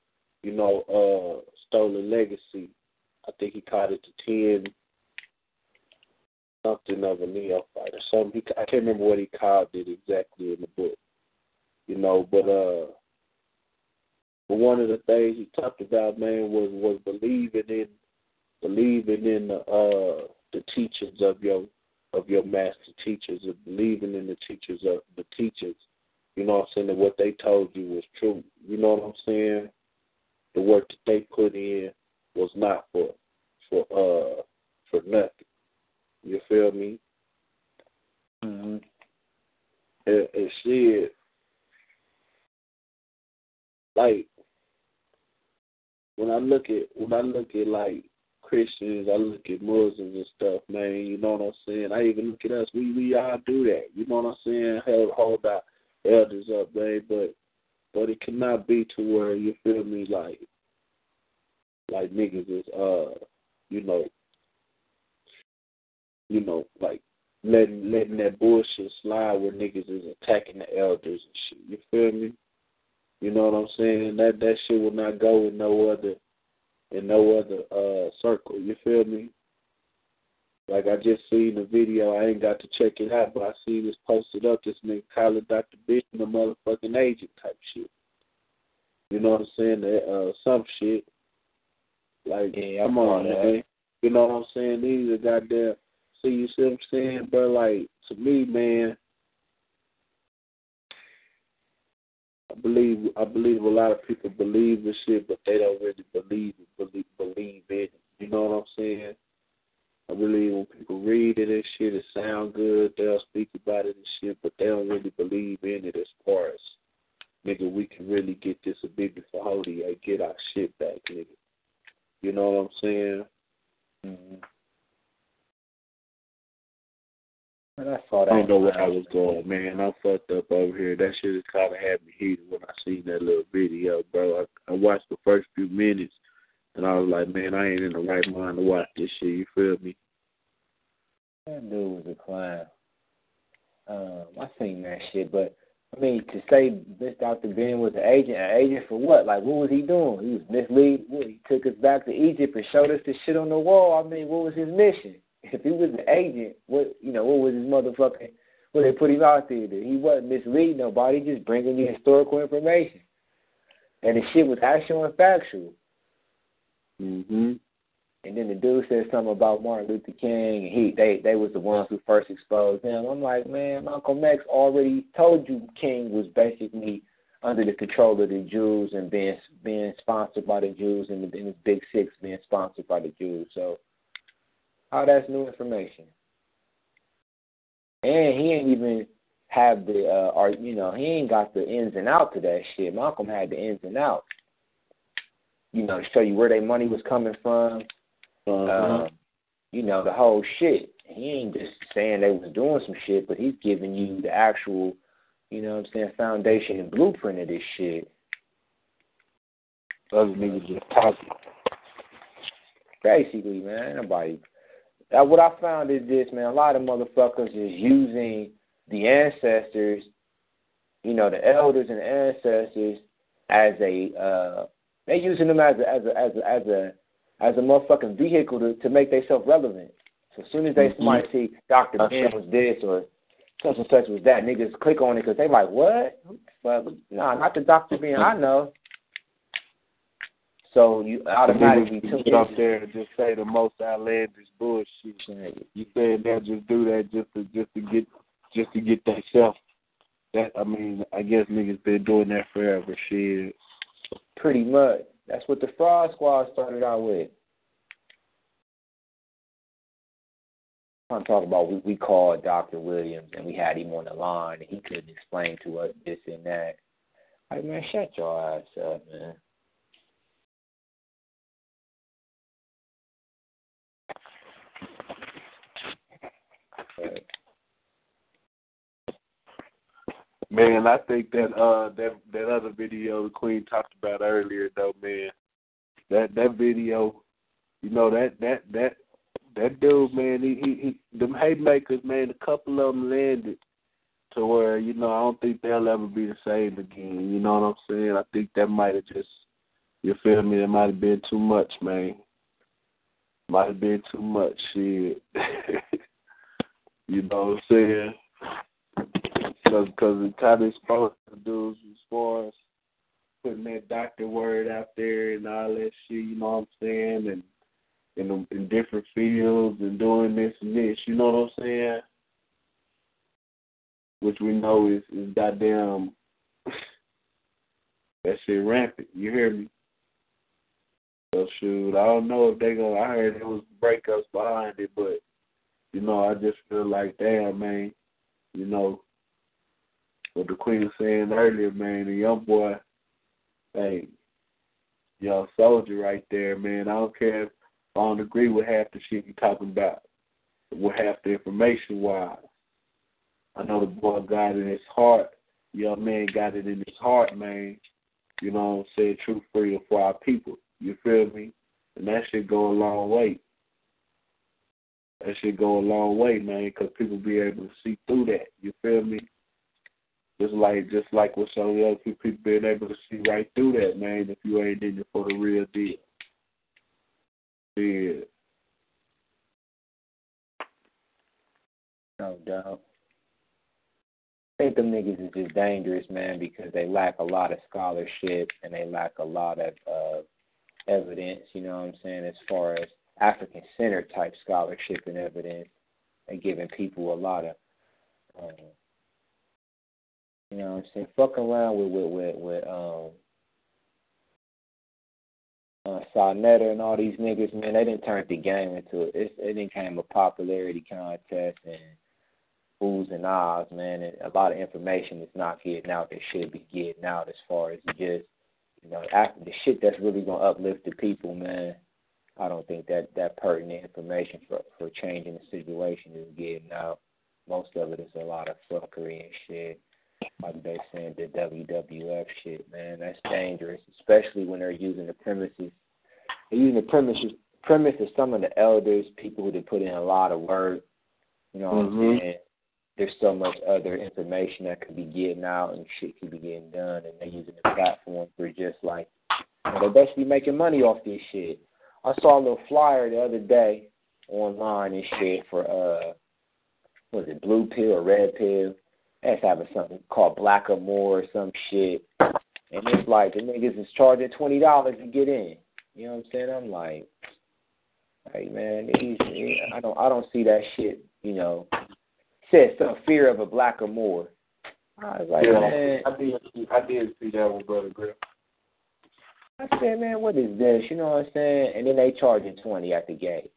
Stolen Legacy. I think he called it the 10 something of a neophyte or something. I can't remember what he called it exactly in the book, but one of the things he talked about, man, was believing in the teachings of your master teachers, and believing in the teachers of the teachers. You know what I'm saying? That what they told you was true. You know what I'm saying? The work that they put in was not for nothing. You feel me? And shit, like when I look at like Christians, I look at Muslims and stuff, man. You know what I'm saying? I even look at us. We all do that. You know what I'm saying? Hold our elders up, man. But it cannot be to where, you feel me, like niggas is like letting that bullshit slide where niggas is attacking the elders and shit. You feel me? You know what I'm saying? That shit will not go in no other circle. You feel me? Like I just seen the video. I ain't got to check it out, but I see this posted up. This nigga calling Dr. Bishop a motherfucking agent type shit. You know what I'm saying? Some shit. Like, yeah, come on, man. You know what I'm saying? These are goddamn. See, you see what I'm saying? But like, to me, man, I believe a lot of people believe this shit, but they don't really believe it. You know what I'm saying? I believe when people read it and shit, it sound good. They'll speak about it and shit, but they don't really believe in it as far as, nigga, we can really get this a big for Hody and get our shit back, nigga. You know what I'm saying? I don't know where I was going, man. I'm fucked up over here. That shit has kind of had me heated when I seen that little video, bro. I watched the first few minutes, and I was like, man, I ain't in the right mind to watch this shit. You feel me? That dude was a clown. I seen that shit, but I mean, to say this Dr. Ben was an agent for what? Like, what was he doing? He was misleading. He took us back to Egypt and showed us the shit on the wall. I mean, what was his mission? If he was an agent, what was his motherfucking, what they put him out there? He wasn't misleading nobody, just bringing you historical information. And the shit was actual and factual. Mm-hmm. And then the dude said something about Martin Luther King, and they was the ones who first exposed him. I'm like, man, Malcolm X already told you King was basically under the control of the Jews and being sponsored by the Jews, and his Big Six being sponsored by the Jews. So how that's new information? And he ain't even have the, he ain't got the ins and outs of that shit. Malcolm had the ins and outs. To show you where their money was coming from. The whole shit. He ain't just saying they was doing some shit, but he's giving you the actual, foundation and blueprint of this shit. Other niggas just talking. Basically, man, nobody. What I found is this, man. A lot of motherfuckers is using the ancestors, the elders and the ancestors as they're using them as a motherfucking vehicle to make themselves relevant. So as soon as somebody see Dr. Ben was this or such and such was that, niggas click on it because they like, what? Well, nah, not the Dr. Ben I know. So you automatically took get up there and just say the most outlandish bullshit. You said they'll just do that just to get themselves. That I guess niggas been doing that forever. Shit. Pretty much. That's what the Fraud Squad started out with. I'm talking about we called Dr. Williams and we had him on the line and he couldn't explain to us this and that. Like, man, shut your ass up, man. Man, I think that other video the Queen talked about earlier though, man. That video, you know, that dude, man, he them haymakers, man, a couple of them landed to where, you know, I don't think they'll ever be the same again. You know what I'm saying? I think that might have just, you feel me, that might have been too much, man. Might have been too much, shit. You know what I'm saying? Because the kind of exposed to dudes as far as putting that doctor word out there and all that shit, you know what I'm saying? And in different fields and doing this and this, you know what I'm saying? Which we know is goddamn, that shit rampant, you hear me? So shoot, I don't know if they gonna, I heard there was breakups behind it, but, you know, I just feel like, damn, man, you know, what the Queen was saying earlier, man, the young boy, hey, young soldier right there, man. I don't care if I don't agree with half the shit you talking about, with half the information-wise. I know the boy got it in his heart. Young man got it in his heart, man. You know what I'm saying? True freedom for our people. You feel me? And that shit go a long way. That shit go a long way, man, because people be able to see through that. You feel me? Just like with some of the other people being able to see right through that, man, if you ain't in it for the real deal. Yeah. No doubt. I think them niggas is just dangerous, man, because they lack a lot of scholarship and they lack a lot of evidence, you know what I'm saying, as far as African-centered type scholarship and evidence. They giving people a lot of, you know what I'm saying, fucking around with Sarnetta and all these niggas, man, they didn't turn the game into it. It became a popularity contest and oohs and ahs, man. And a lot of information is not getting out that should be getting out as far as just, you know, after the shit that's really going to uplift the people, man. I don't think that pertinent information for changing the situation is getting out. Most of it is a lot of fuckery and shit. Like they saying the WWF shit, man. That's dangerous, especially when they're using the premises. They're using the premise of some of the elders, people who put in a lot of work. You know what I'm saying? There's so much other information that could be getting out and shit could be getting done, and they're using the platform for just like, you know, they're basically making money off this shit. I saw a little flyer the other day online and shit for was it blue pill or red pill? That's having something called Blackamore or some shit. And it's like the niggas is charging $20 to get in. You know what I'm saying? I'm like, hey man, I don't see that shit, you know. Said some fear of a Blackamore. I was like, man. I did see that one, Brother Griff. I said, man, what is this? You know what I'm saying? And then they charging $20 at the gate.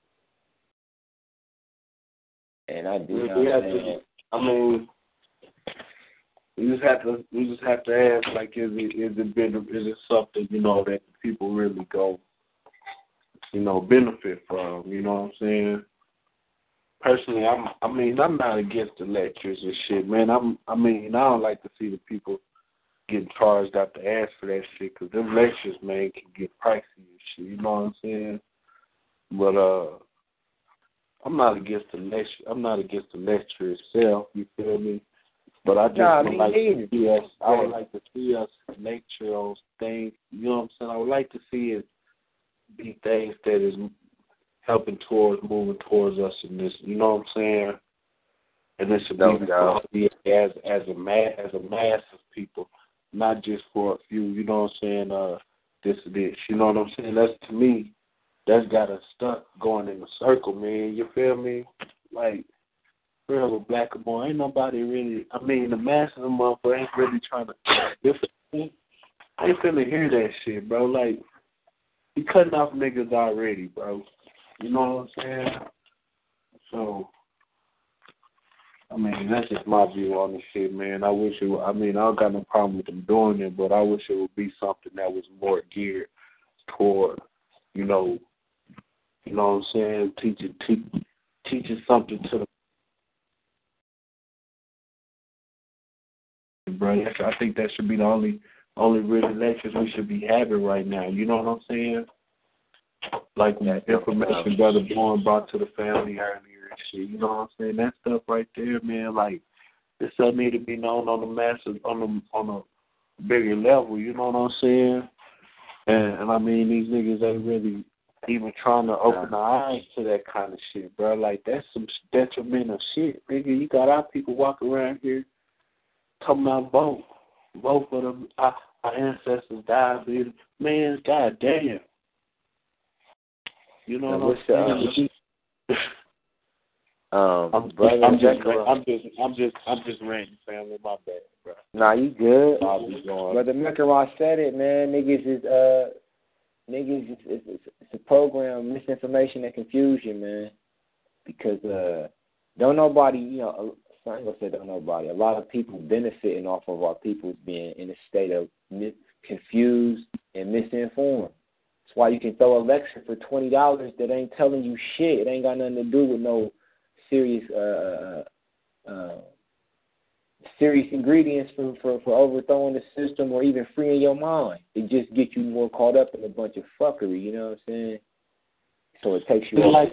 And I do know. I mean, we just have to ask, like, is it something, you know, that people really go, you know, benefit from? You know what I'm saying? Personally, I'm not against the lectures and shit, man. I don't like to see the people getting charged out the ass for that shit, because them lectures, man, can get pricey and shit. You know what I'm saying? But I'm not against the lecture. I'm not against the lecture itself. You feel me? But I just would like to see us. I would like to see us lecture on things. You know what I'm saying? I would like to see it be things that is helping towards moving towards us in this. You know what I'm saying? And this should be as a mass of people, not just for a few. You know what I'm saying? this or this. You know what I'm saying? That's to me, that's got us stuck going in a circle, man. You feel me? Like, real with Black and Boy, ain't nobody really. I mean, the masses of motherfuckers ain't really trying to. I ain't finna hear that shit, bro. Like, he cutting off niggas already, bro. You know what I'm saying? So, I mean, that's just my view on the shit, man. I wish it. I mean, I don't got no problem with them doing it, but I wish it would be something that was more geared toward, you know what I'm saying, teaching something to the bro. I think that should be the only really lectures we should be having right now. You know what I'm saying? Like information Brother Bourne brought to the family earlier and shit. You know what I'm saying? That stuff right there, man. Like, this stuff need to be known on the masses, on a bigger level. You know what I'm saying? And I mean, these niggas ain't really even trying to open their eyes to that kind of shit, bro. Like, that's some detrimental shit, nigga. You got our people walking around here talking about vote for them. Our ancestors died, dude. Man, goddamn. You know what I'm saying? I'm just ranting, family. My bad, bro. Nah, you good. Brother Mekarot said it, man. It's a program, misinformation and confusion, man. Because don't nobody, I ain't gonna say don't nobody. A lot of people benefiting off of our people being in a state of confused and misinformed. That's why you can throw a lecture for $20 that ain't telling you shit. It ain't got nothing to do with no serious ingredients for overthrowing the system or even freeing your mind. It just gets you more caught up in a bunch of fuckery. You know what I'm saying? So it takes you like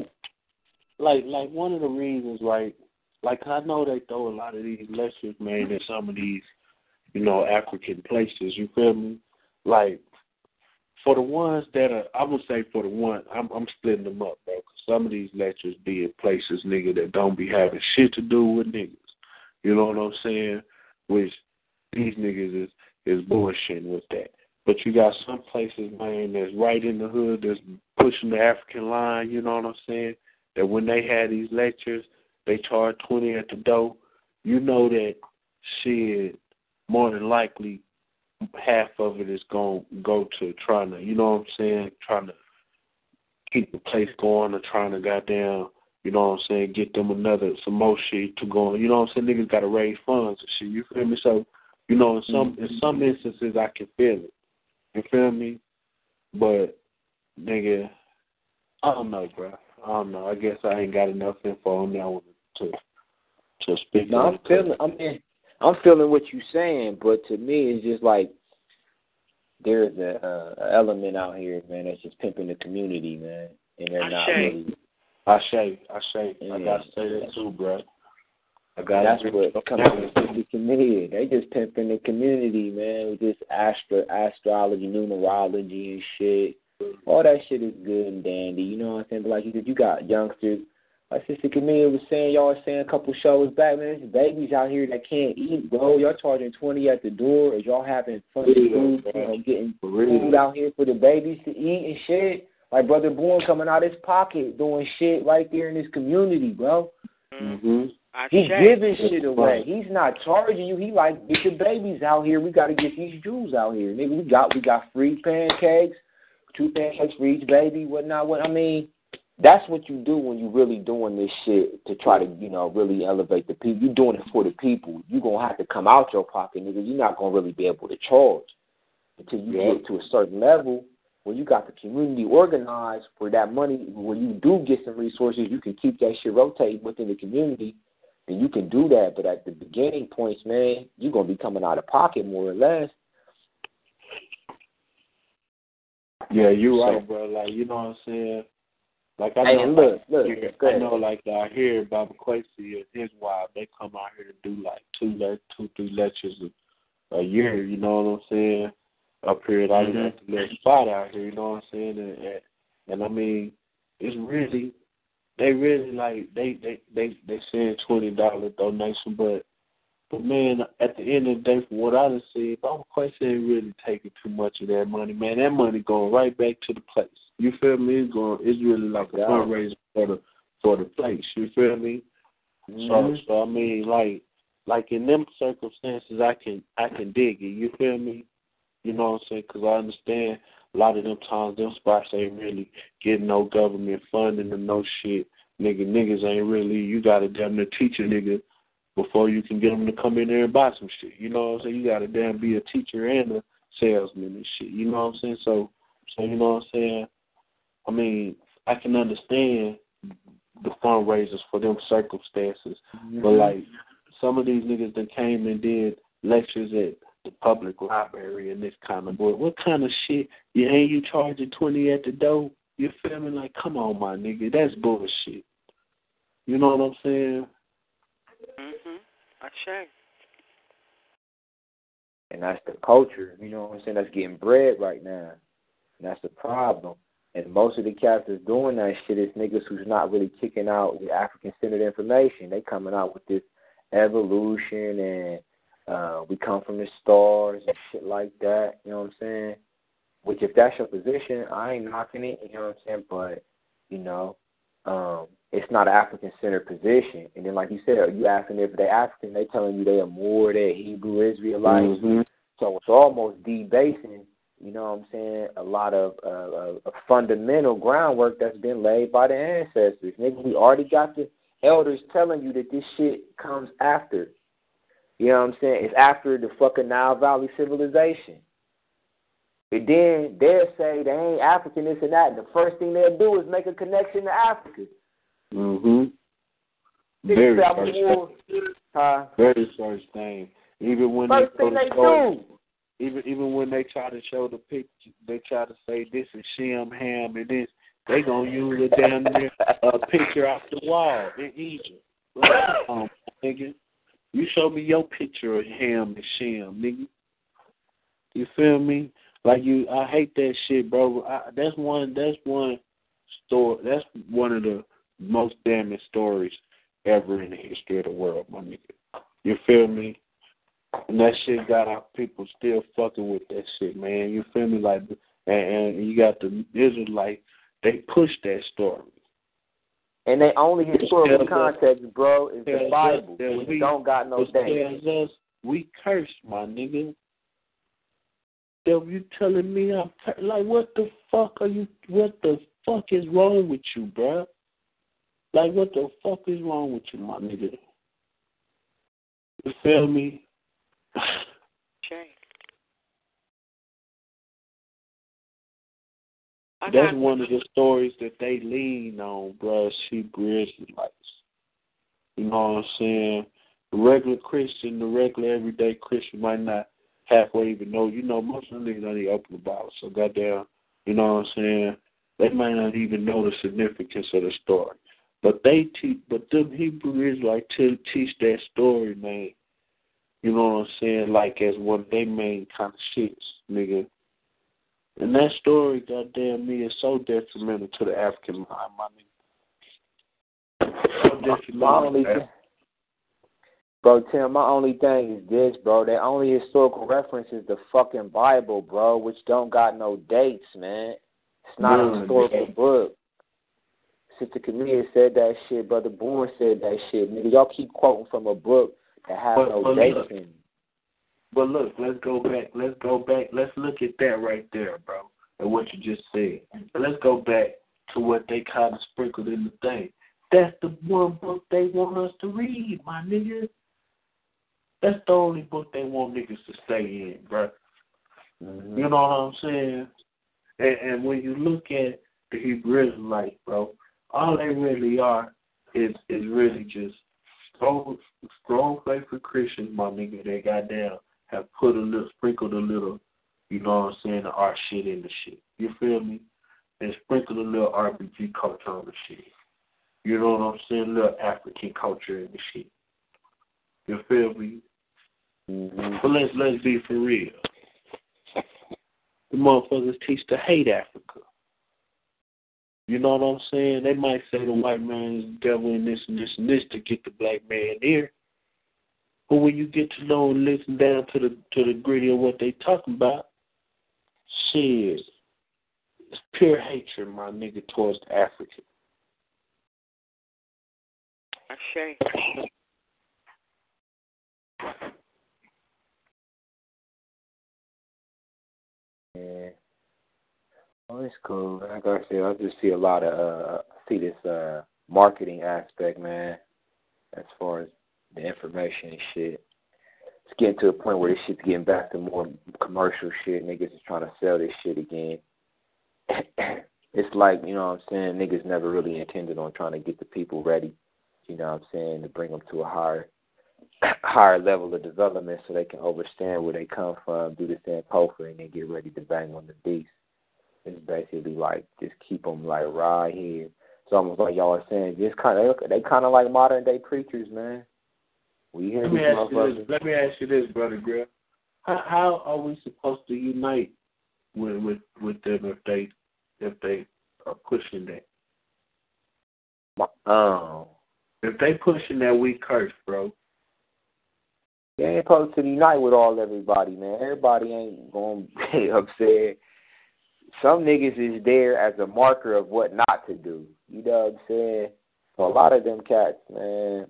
one of the reasons, right? Like, I know they throw a lot of these lectures, man, in some of these, African places. You feel me? Like, for the ones that are, I would say for the one, I'm splitting them up, bro. 'Cause some of these lectures be in places, nigga, that don't be having shit to do with niggas. You know what I'm saying? Which these niggas is bullshitting with that. But you got some places, man, that's right in the hood, that's pushing the African line. You know what I'm saying? That when they had these lectures, they charge $20 at the door. You know that shit, more than likely, half of it is going to go to trying to, you know what I'm saying, trying to keep the place going or trying to goddamn, you know what I'm saying, get them some more shit to go on. You know what I'm saying? Niggas got to raise funds and shit. You feel me? So, in some instances, I can feel it. You feel me? But, nigga, I don't know, bro. I don't know. I guess I ain't got enough info on that one to speak. No, I'm feeling what you're saying, but to me, it's just like there's a element out here, man, that's just pimping the community, man, and they're not really. I say. Yeah. I gotta say that too, bro. That's what comes from the community. They just pimping the community, man, with this astrology, numerology, and shit. All that shit is good and dandy, you know what I'm saying? But like you got youngsters. My sister Camille was saying, y'all were saying a couple shows back, man, there's babies out here that can't eat, bro. Y'all charging $20 at the door. Is y'all having fun food, getting food out here for the babies to eat and shit? Like Brother Bourne coming out his pocket doing shit right there in his community, bro. Mm-hmm. He's giving shit away. He's not charging you. He like, get the babies out here. We got to get these Jews out here. Nigga, we got free pancakes, 2 pancakes for each baby, whatnot. I mean, that's what you do when you really doing this shit to try to, really elevate the people. You're doing it for the people. You're going to have to come out your pocket, nigga. You're not going to really be able to charge until you get to a certain level where you got the community organized for that money. When you do get some resources, you can keep that shit rotating within the community, and you can do that. But at the beginning points, man, you're going to be coming out of pocket more or less. Yeah, you're right, bro. Like, you know what I'm saying? Like, I know, like, I hear Baba Quasi and his wife, they come out here to do, like, 2-3 lectures a year, you know what I'm saying? Up here at the little spot out here, you know what I'm saying? And I mean, it's really, they really, like, they saying $20 donation, but But man, at the end of the day, from what I done see, Baba Quest ain't really taking too much of that money, man. That money going right back to the place. You feel me? It's really like a fundraiser for the place. You feel me? Mm-hmm. So I mean, like in them circumstances, I can dig it. You feel me? You know what I'm saying? Because I understand a lot of them times, them spots ain't really getting no government funding or no shit. Niggas ain't really. You gotta damn near teach a nigga before you can get them to come in there and buy some shit. You know what I'm saying? You gotta damn be a teacher and a salesman and shit. You know what I'm saying? So you know what I'm saying? I mean, I can understand the fundraisers for them circumstances, but like some of these niggas that came and did lectures at the public library and this kind of boy. What kind of shit? You charging 20 at the door? You feel me? Like, come on, my nigga, that's bullshit. You know what I'm saying? I check. And that's the culture, you know what I'm saying, that's getting bred right now. And that's the problem. And most of the cats that's doing that shit is niggas who's not really kicking out the African-centered information. They coming out with this evolution and we come from the stars and shit like that, you know what I'm saying? Which if that's your position, I ain't knocking it, you know what I'm saying? But, you know, it's not an African-centered position. And then like you said, you asking if they African, they telling you they are more, they're Hebrew Israelites. Mm-hmm. So it's almost debasing, you know what I'm saying, a lot of fundamental groundwork that's been laid by the ancestors. Nigga, we already got the elders telling you that this shit comes after. You know what I'm saying? It's after the fucking Nile Valley civilization. And then they'll say they ain't African, this and that. And the first thing they'll do is make a connection to Africa. Very first thing. Even when first thing they do. Even when they try to show the picture, they try to say this is Shem, Ham, and this. They gonna use a damn near picture off the wall in Egypt. Nigga, you show me your picture of Ham and Shem, nigga. You feel me? Like I hate that shit, bro. That's one story. That's one of the most damning stories ever in the history of the world, my nigga. You feel me? And that shit got our people still fucking with that shit, man. You feel me? Like, and you got the Israelites, they push that story. And they only historical context, bro, is the Bible. We don't got no thing. We cursed, my nigga. You telling me I'm like, what the fuck are you? What the fuck is wrong with you, bro? Like, what the fuck is wrong with you, my nigga? You feel me? Okay. That's one of the stories that they lean on, bro. Hebrew Israelites. You know what I'm saying? The regular Christian, the regular everyday Christian might not halfway even know. You know, most of them niggas don't even open the Bible. So goddamn, you know what I'm saying? They might not even know the significance of the story. But them Hebrew Israelites teach that story, man. You know what I'm saying? Like as one of their main kind of shits, nigga. And that story, goddamn me, is so detrimental to the African mind, my nigga. So detrimental. Bro, Tim, my only thing is this, bro. Their only historical reference is the fucking Bible, bro, which don't got no dates, man. It's not a historical book. Sister Camille said that shit. Brother Bourne said that shit. Nigga, y'all keep quoting from a book that has no dates in it. But look, let's go back. Let's look at that right there, bro, and what you just said. Let's go back to what they kind of sprinkled in the thing. That's the one book they want us to read, my nigga. That's the only book they want niggas to stay in, bro. Mm-hmm. You know what I'm saying? And when you look at the Hebrew Israelites, bro, all they really are is really just strong faithful Christians, my nigga. They goddamn have sprinkled a little, you know what I'm saying, the art shit in the shit. You feel me? And sprinkled a little RPG culture on the shit. You know what I'm saying? A little African culture in the shit. You feel me? Mm-hmm. But let's be for real. The motherfuckers teach to hate Africa. You know what I'm saying? They might say the white man is the devil and this and this and this to get the black man there. But when you get to know and listen down to the gritty of what they talking about, shit, it's pure hatred, my nigga, towards the African. Ashay. Yeah. Oh, it's cool. Like I said, I just see a lot of see this marketing aspect, man, as far as the information and shit. It's getting to a point where this shit's getting back to more commercial shit. Niggas is trying to sell this shit again. It's like, you know what I'm saying, niggas never really intended on trying to get the people ready, you know what I'm saying, to bring them to a higher level of development so they can understand where they come from, do the same poker, and then get ready to bang on the beast. It's basically like just keep them like right here. It's almost like y'all are saying, just they kind of like modern day preachers, man. We hear Let me ask you this, Brother Griff. How are we supposed to unite with them if they are pushing that? If they pushing that, we curse, bro. They ain't supposed to unite with everybody, man. Everybody ain't going to be upset. Some niggas is there as a marker of what not to do. You know what I'm saying? So a lot of them cats, man.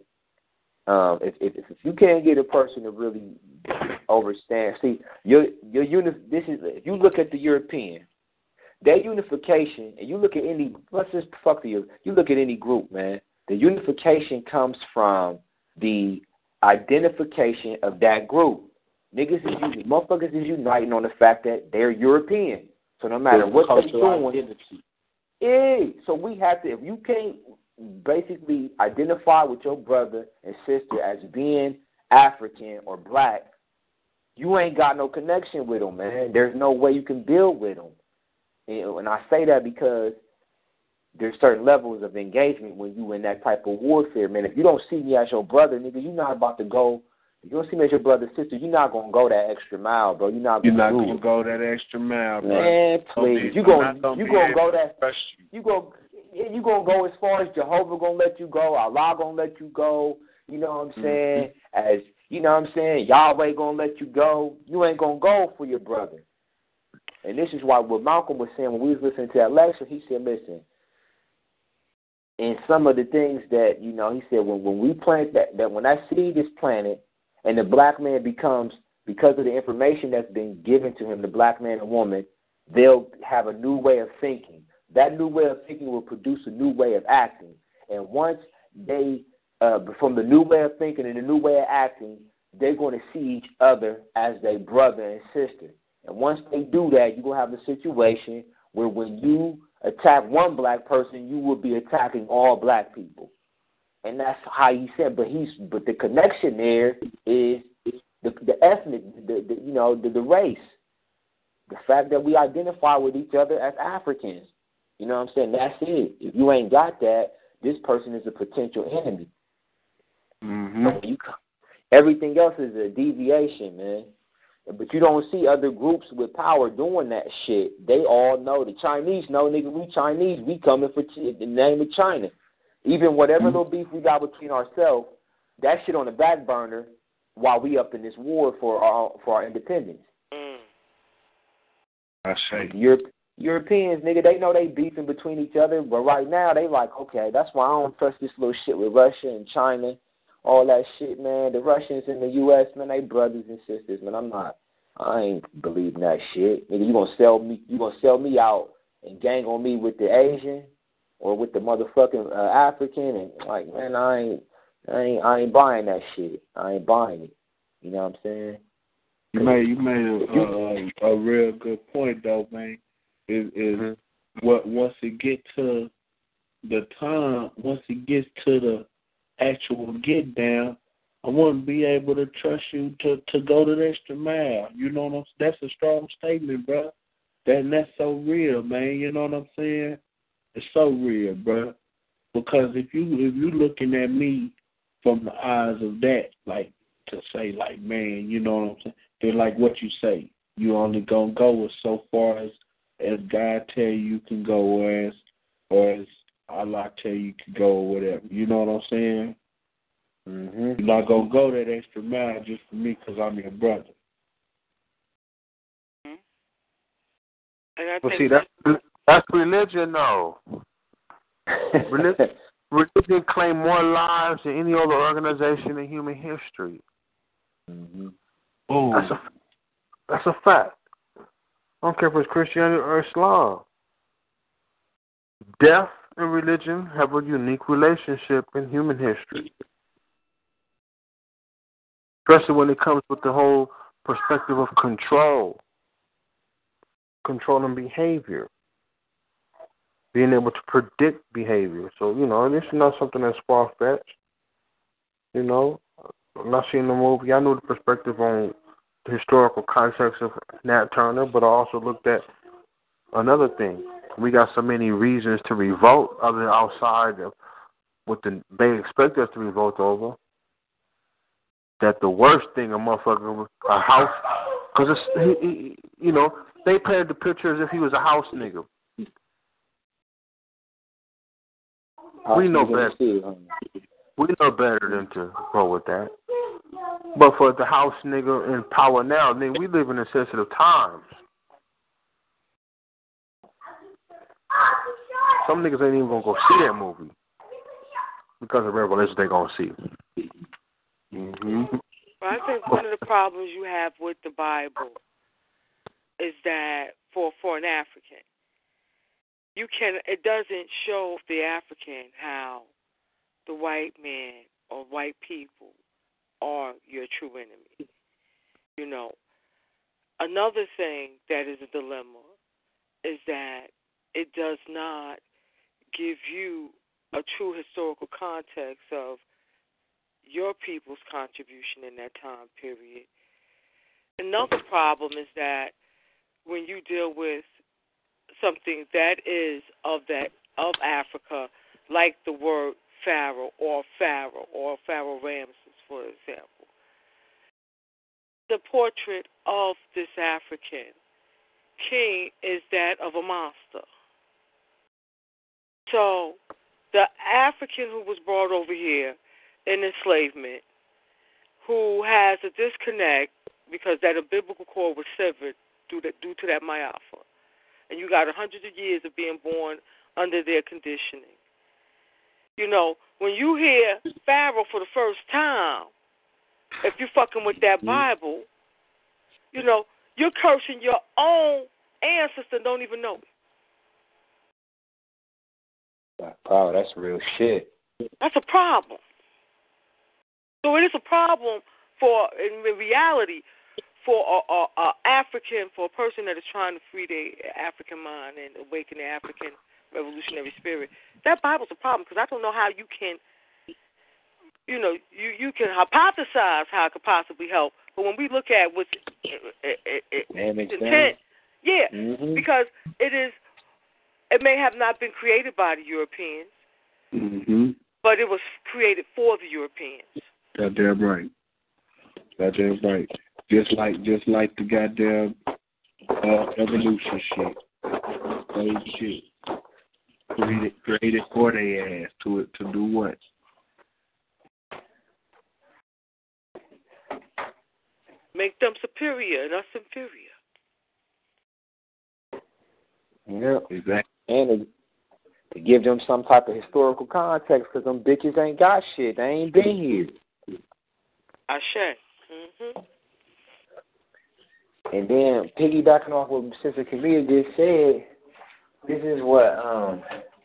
If you can't get a person to really understand, see if you look at the European, their unification, and you look at any, you look at any group, man. The unification comes from the identification of that group. Motherfuckers is uniting on the fact that they're European. So no matter what they're doing, so we have to, if you can't basically identify with your brother and sister as being African or black, you ain't got no connection with them, man. There's no way you can build with them. And I say that because there's certain levels of engagement when you in that type of warfare, man. If you don't see me as your brother, nigga, you're not about to go. If you don't see me as your brother, sister, you're not gonna go that extra mile, bro. You're not gonna go that extra mile, bro. Man, please. You gonna go that. You gonna go as far as Jehovah gonna let you go, Allah gonna let you go. You know what I'm saying? As you know what I'm saying, Yahweh gonna let you go. You ain't gonna go for your brother. And this is why what Malcolm was saying when we was listening to that lecture. He said, listen. And some of the things that, you know, he said when we plant that when that seed is planted and the black man becomes, because of the information that's been given to him, the black man and woman, they'll have a new way of thinking. That new way of thinking will produce a new way of acting. And once they, from the new way of thinking and the new way of acting, they're going to see each other as their brother and sister. And once they do that, you're going to have a situation where when you attack one black person, you will be attacking all black people. And that's how he said, but the connection there is the ethnic, the race. The fact that we identify with each other as Africans. You know what I'm saying? That's it. If you ain't got that, this person is a potential enemy. Mm-hmm. So everything else is a deviation, man. But you don't see other groups with power doing that shit. They all know. The Chinese know, nigga, we Chinese. We coming for the name of China. Even whatever little beef we got between ourselves, that shit on the back burner while we up in this war for our independence. I say. Europeans, nigga, they know they beefing between each other, but right now they like, okay, that's why I don't trust this little shit with Russia and China, all that shit, man. The Russians and the U.S., man, they brothers and sisters, man. I ain't believing that shit. Nigga, you gonna sell me out and gang on me with the Asian or with the motherfucking African, and like, man, I ain't buying that shit. I ain't buying it. You know what I'm saying? You made a real good point though, man. Is what once it gets to the actual get down, I wouldn't be able to trust you to go to the extra mile. You know what I'm saying? That's a strong statement, bro. That's so real, man. You know what I'm saying? It's so real, bro. Because if you looking at me from the eyes of that, like to say, like, man, you know what I'm saying? Then like what you say, you only gonna go as so far as God tell you can go, or as Allah tell you can go, or whatever. You know what I'm saying? You're not going to go that extra mile just for me because I'm your brother. And I Well, think see, that's religion, though. Religion claims more lives than any other organization in human history. That's a fact. I don't care if it's Christianity or Islam. Death and religion have a unique relationship in human history. Especially when it comes with the whole perspective of controlling behavior, being able to predict behavior. So, this is not something that's far-fetched. I'm not seeing the movie. I knew the perspective on the historical context of Nat Turner, but I also looked at another thing. We got so many reasons to revolt other outside of what they expect us to revolt over, that the worst thing a house, because they painted the picture as if he was a house nigga. We know better. We know better than to go with that. But for the house nigga in power now, we live in sensitive times. Some niggas ain't even gonna go see that movie because of revelation they gonna see. Well, I think one of the problems you have with the Bible is that for an African, it doesn't show the African how the white man or white people are your true enemy. Another thing that is a dilemma is that it does not give you a true historical context of your people's contribution in that time period. Another problem is that when you deal with something that is of Africa, like the word Pharaoh or Pharaoh Ramses, for example, the portrait of this African king is that of a monster. So the African who was brought over here in enslavement, who has a disconnect because that umbilical cord was severed due to that Ma'afa, and you got hundreds of years of being born under their conditioning. When you hear Pharaoh for the first time, if you're fucking with that Bible, you're cursing your own ancestor and don't even know it. Wow, that's real shit. That's a problem. So it is a problem in reality, for a African, for a person that is trying to free their African mind and awaken their African revolutionary spirit. That Bible's a problem because I don't know how you can, you can hypothesize how it could possibly help. But when we look at what's intent, because it may have not been created by the Europeans, but it was created for the Europeans. Goddamn right. Goddamn right. Just like the goddamn evolution shit. Same shit. Created for their ass to do what? Make them superior and us inferior. Yeah, exactly. And to give them some type of historical context, because them bitches ain't got shit. They ain't been here. Ashe. And then piggybacking off what Sister Camille just said, this is what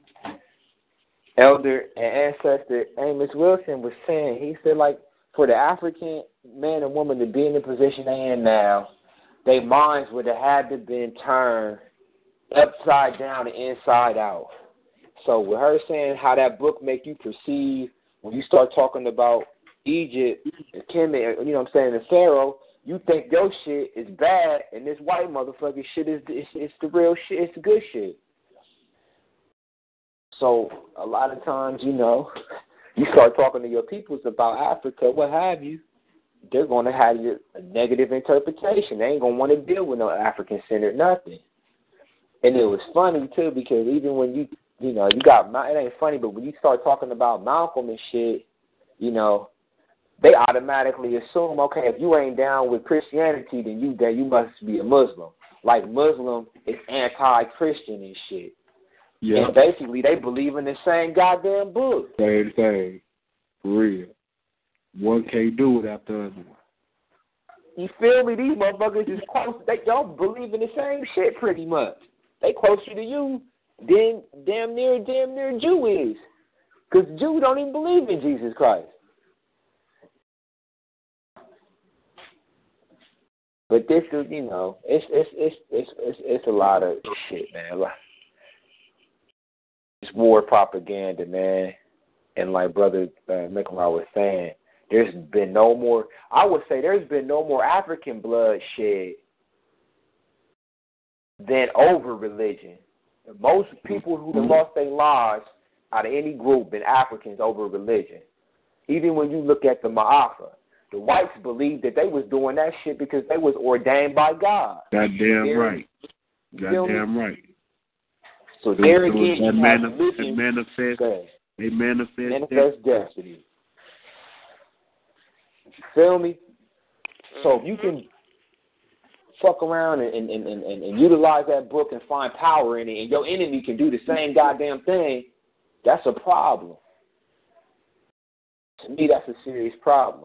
Elder and Ancestor Amos Wilson was saying. He said, like, for the African man and woman to be in the position they in now, their minds would have had to been turned upside down and inside out. So with her saying how that book make you perceive when you start talking about Egypt and Kemet, and Pharaoh, you think your shit is bad and this white motherfucker shit is the real shit, it's the good shit. So a lot of times, you start talking to your peoples about Africa, what have you, they're going to have a negative interpretation. They ain't going to want to deal with no African-centered nothing. And it was funny, too, because even when you got, it ain't funny, but when you start talking about Malcolm and shit, they automatically assume, okay, if you ain't down with Christianity, then you must be a Muslim. Like Muslim is anti-Christian and shit. Yeah. And basically, they believe in the same goddamn book. Same thing. For real. One can't do without the other one. You feel me? These motherfuckers is close. They don't believe in the same shit pretty much. They closer to you than damn near Jew is. Because Jew don't even believe in Jesus Christ. But this is, you know, it's a lot of shit, man. It's war propaganda, man. And like Brother Nikolai was saying, there's been no more, I would say there's been no more African blood shed than over religion. Most people who have lost their lives out of any group been Africans over religion. Even when you look at the Ma'afa, the whites believed that they was doing that shit because they was ordained by God. Goddamn right. Goddamn right. So there again, they manifest destiny. Feel me? So if you can fuck around and utilize that book and find power in it, and your enemy can do the same goddamn thing, that's a problem. To me, that's a serious problem.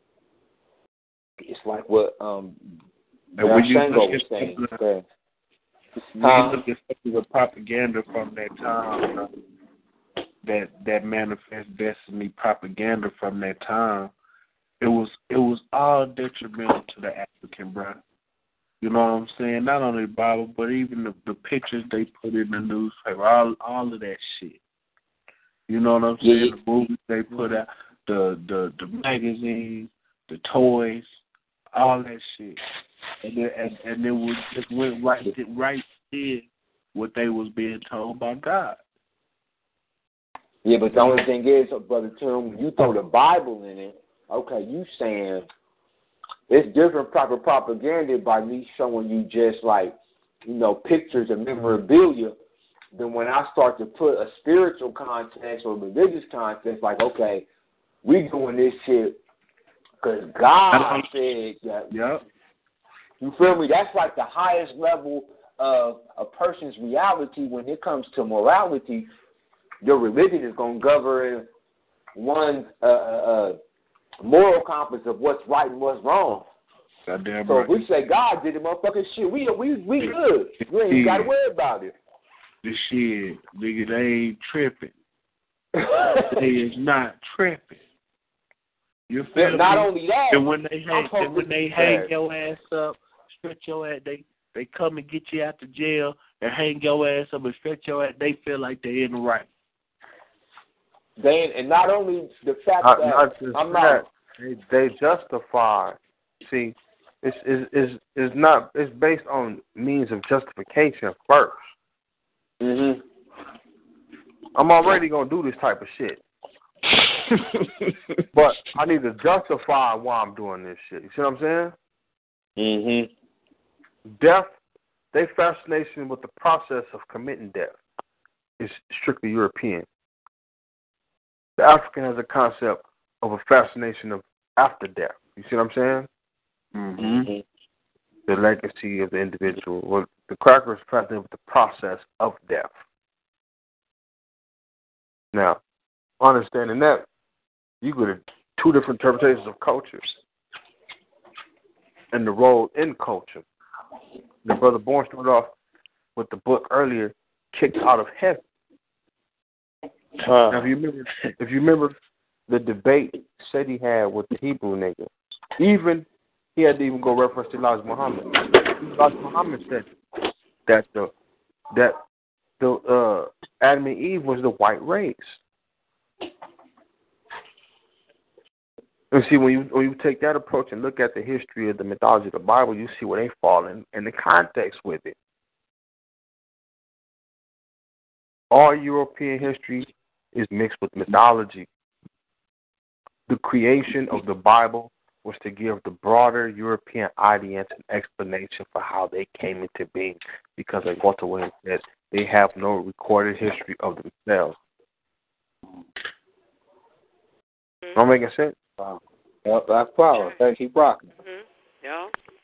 It's like what Shango was saying. When you look at the propaganda from that time, that manifest destiny propaganda from that time, it was all detrimental to the African, bro. You know what I'm saying? Not only the Bible, but even the pictures they put in the newspaper, all of that shit. You know what I'm saying? The movies they put out, the magazines, the toys, all that shit. And it was just went right did what they was being told by God. Yeah, but the only thing is, Brother Tim, when you throw the Bible in it, okay, you saying it's different proper propaganda by me showing you just like, you know, pictures and memorabilia than when I start to put a spiritual context or religious context, like, okay, we doing this shit because God said that. Yep. You feel me? That's like the highest level of a person's reality when it comes to morality. Your religion is going to govern one's moral compass of what's right and what's wrong. Goddamn so right. If we say God did it, motherfucking shit, we good. You ain't got to worry about it. The shit, nigga, they ain't tripping. They is not tripping. You feel not me? only that, and when they hang your ass up, stretch your ass, they come and get you out the jail and hang your ass up and stretch your ass, they feel like they're in the right. And not only the fact that I'm not, they justify. See, it's not. It's based on means of justification first. Mhm. I'm already gonna do this type of shit, but I need to justify why I'm doing this shit. You see what I'm saying? Mhm. Death. Their fascination with the process of committing death is strictly European. The African has a concept of a fascination of after death. You see what I'm saying? Mm-hmm. The legacy of the individual. Well, the cracker is fascinated with the process of death. Now, understanding that, you go to two different interpretations of cultures and the role in culture. The Brother Bourne started off with the book earlier, Kicked Out of Heaven. Now, if you remember the debate said he had with the Hebrew nigga, he had to even go reference to Elijah Muhammad. Elijah Muhammad said that the Adam and Eve was the white race. And see, when you take that approach and look at the history of the mythology of the Bible, you see where they fall in the context with it. All European history is mixed with mythology. The creation of the Bible was to give the broader European audience an explanation for how they came into being, because like Walter Williams said, they have no recorded history of themselves. Am I making sense? Wow. Yep, that's power. Hey, keep rocking. Yeah.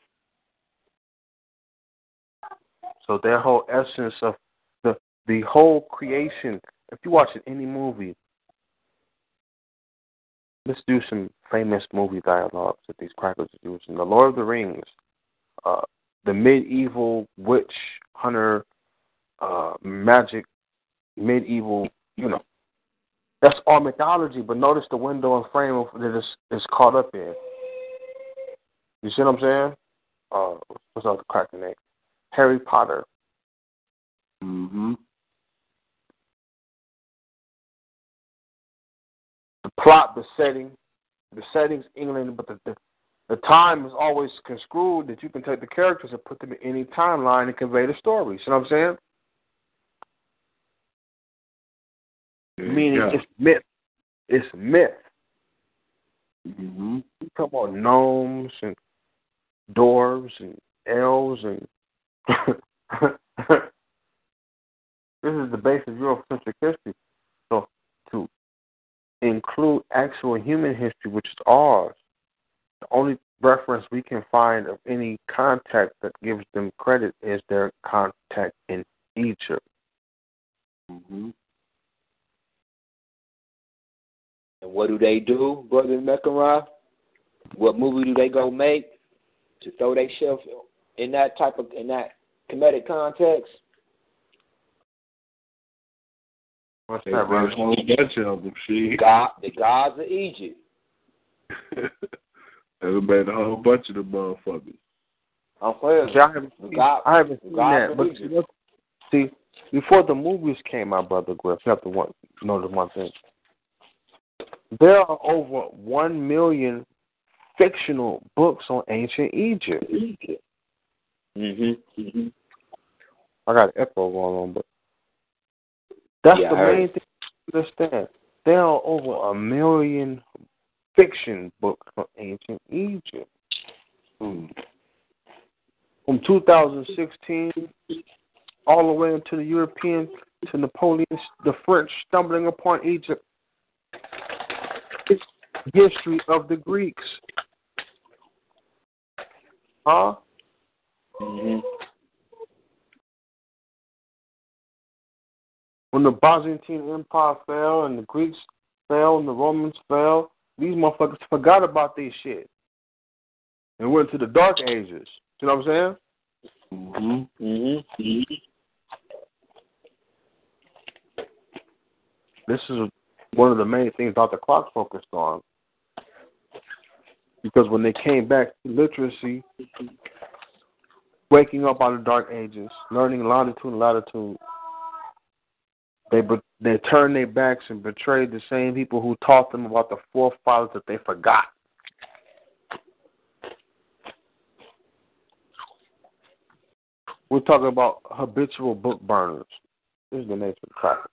So their whole essence of the whole creation, if you watch any movie, let's do some famous movie dialogues that these crackers are using. The Lord of the Rings, the medieval witch hunter, magic, medieval, that's all mythology, but notice the window and frame that it's caught up in. You see what I'm saying? What's the cracker name? Harry Potter. Mm-hmm. The plot, the settings, England, but the time is always construed that you can take the characters and put them in any timeline and convey the story. See what I'm saying? Meaning it's myth. It's myth. Mm-hmm. You talk about gnomes and dwarves and elves and this is the base of Eurocentric history. So to include actual human history, which is ours, the only reference we can find of any contact that gives them credit is their contact in Egypt. Mm-hmm. And what do they do, Brother Mechanra? What movie do they go make to throw themselves in that comedic context? What's They that, made a whole bunch of them, The gods of Egypt. They made a whole bunch of them motherfuckers. I'm clear. I haven't seen that. But see, before the movies came out, Brother Griff, you have to notice one thing. There are over 1 million fictional books on ancient Egypt. Mm-hmm. I got an echo going on, but that's the main thing to understand. There are over 1 million fiction books on ancient Egypt. From 2016 all the way into the Europeans, to Napoleon, the French stumbling upon Egypt. It's history of the Greeks. Huh? Mm-hmm. When the Byzantine Empire fell and the Greeks fell and the Romans fell, these motherfuckers forgot about this shit and went to the Dark Ages. You know what I'm saying? Mm-hmm. Mm-hmm. This is one of the main things Dr. Clark focused on. Because when they came back to literacy, waking up out of the Dark Ages, learning longitude and latitude, they turned their backs and betrayed the same people who taught them about the forefathers that they forgot. We're talking about habitual book burners. This is the nature of the cracker.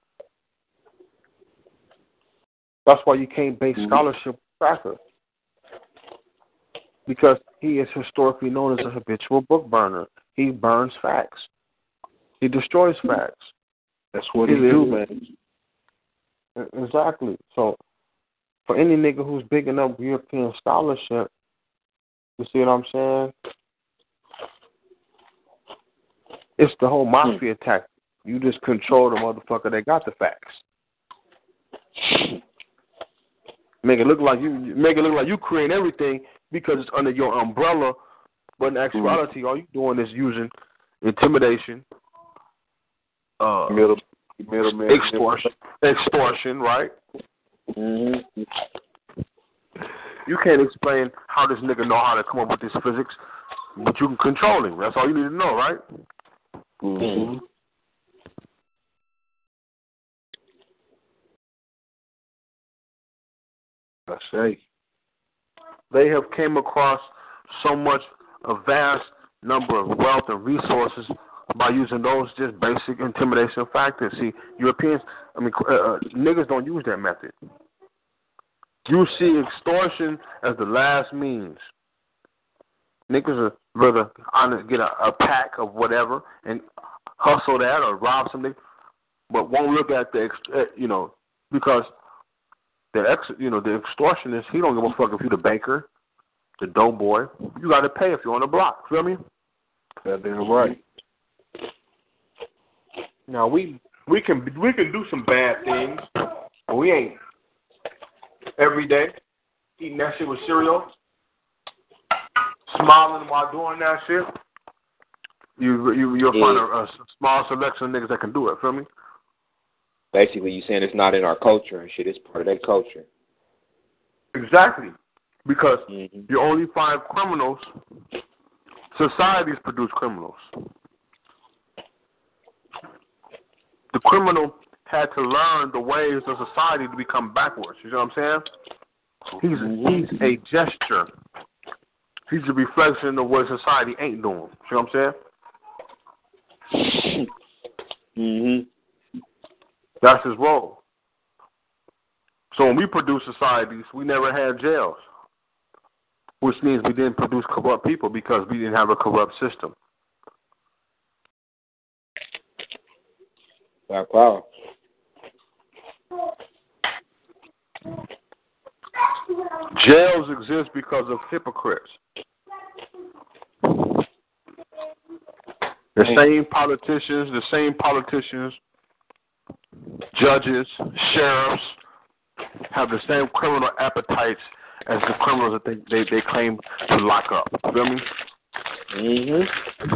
That's why you can't base scholarship on cracker. Because he is historically known as a habitual book burner. He burns facts. He destroys facts. That's what he do, man. Exactly. So, for any nigga who's big enough European scholarship, you see what I'm saying? It's the whole mafia tactic. You just control the motherfucker that got the facts. Make it look like you create everything because it's under your umbrella, but in actuality, all you doing is using intimidation, middleman, extortion, right? Mm-hmm. You can't explain how this nigga know how to come up with this physics, but you can control him. That's all you need to know, right? Mm-hmm. I say. They have came across a vast number of wealth and resources by using those just basic intimidation factors. See, niggas don't use that method. You see extortion as the last means. Niggas are rather get a pack of whatever and hustle that or rob something, but won't look at because the extortionist, he don't give a fuck if you the banker, the dope boy. You got to pay if you're on the block. Feel me? That's damn right. Now we can do some bad things, but we ain't every day eating that shit with cereal, smiling while doing that shit. You'll find a small selection of niggas that can do it. Feel me? Basically, you saying it's not in our culture and shit. It's part of that culture. Exactly. Because you only find criminals. Societies produce criminals. The criminal had to learn the ways of society to become backwards. You know what I'm saying? He's a gesture. He's a reflection of what society ain't doing. You know what I'm saying? That's his role. So when we produce societies, we never had jails, which means we didn't produce corrupt people because we didn't have a corrupt system. Wow. Jails exist because of hypocrites. The same politicians, judges, sheriffs have the same criminal appetites as the criminals that they claim to lock up. You feel me?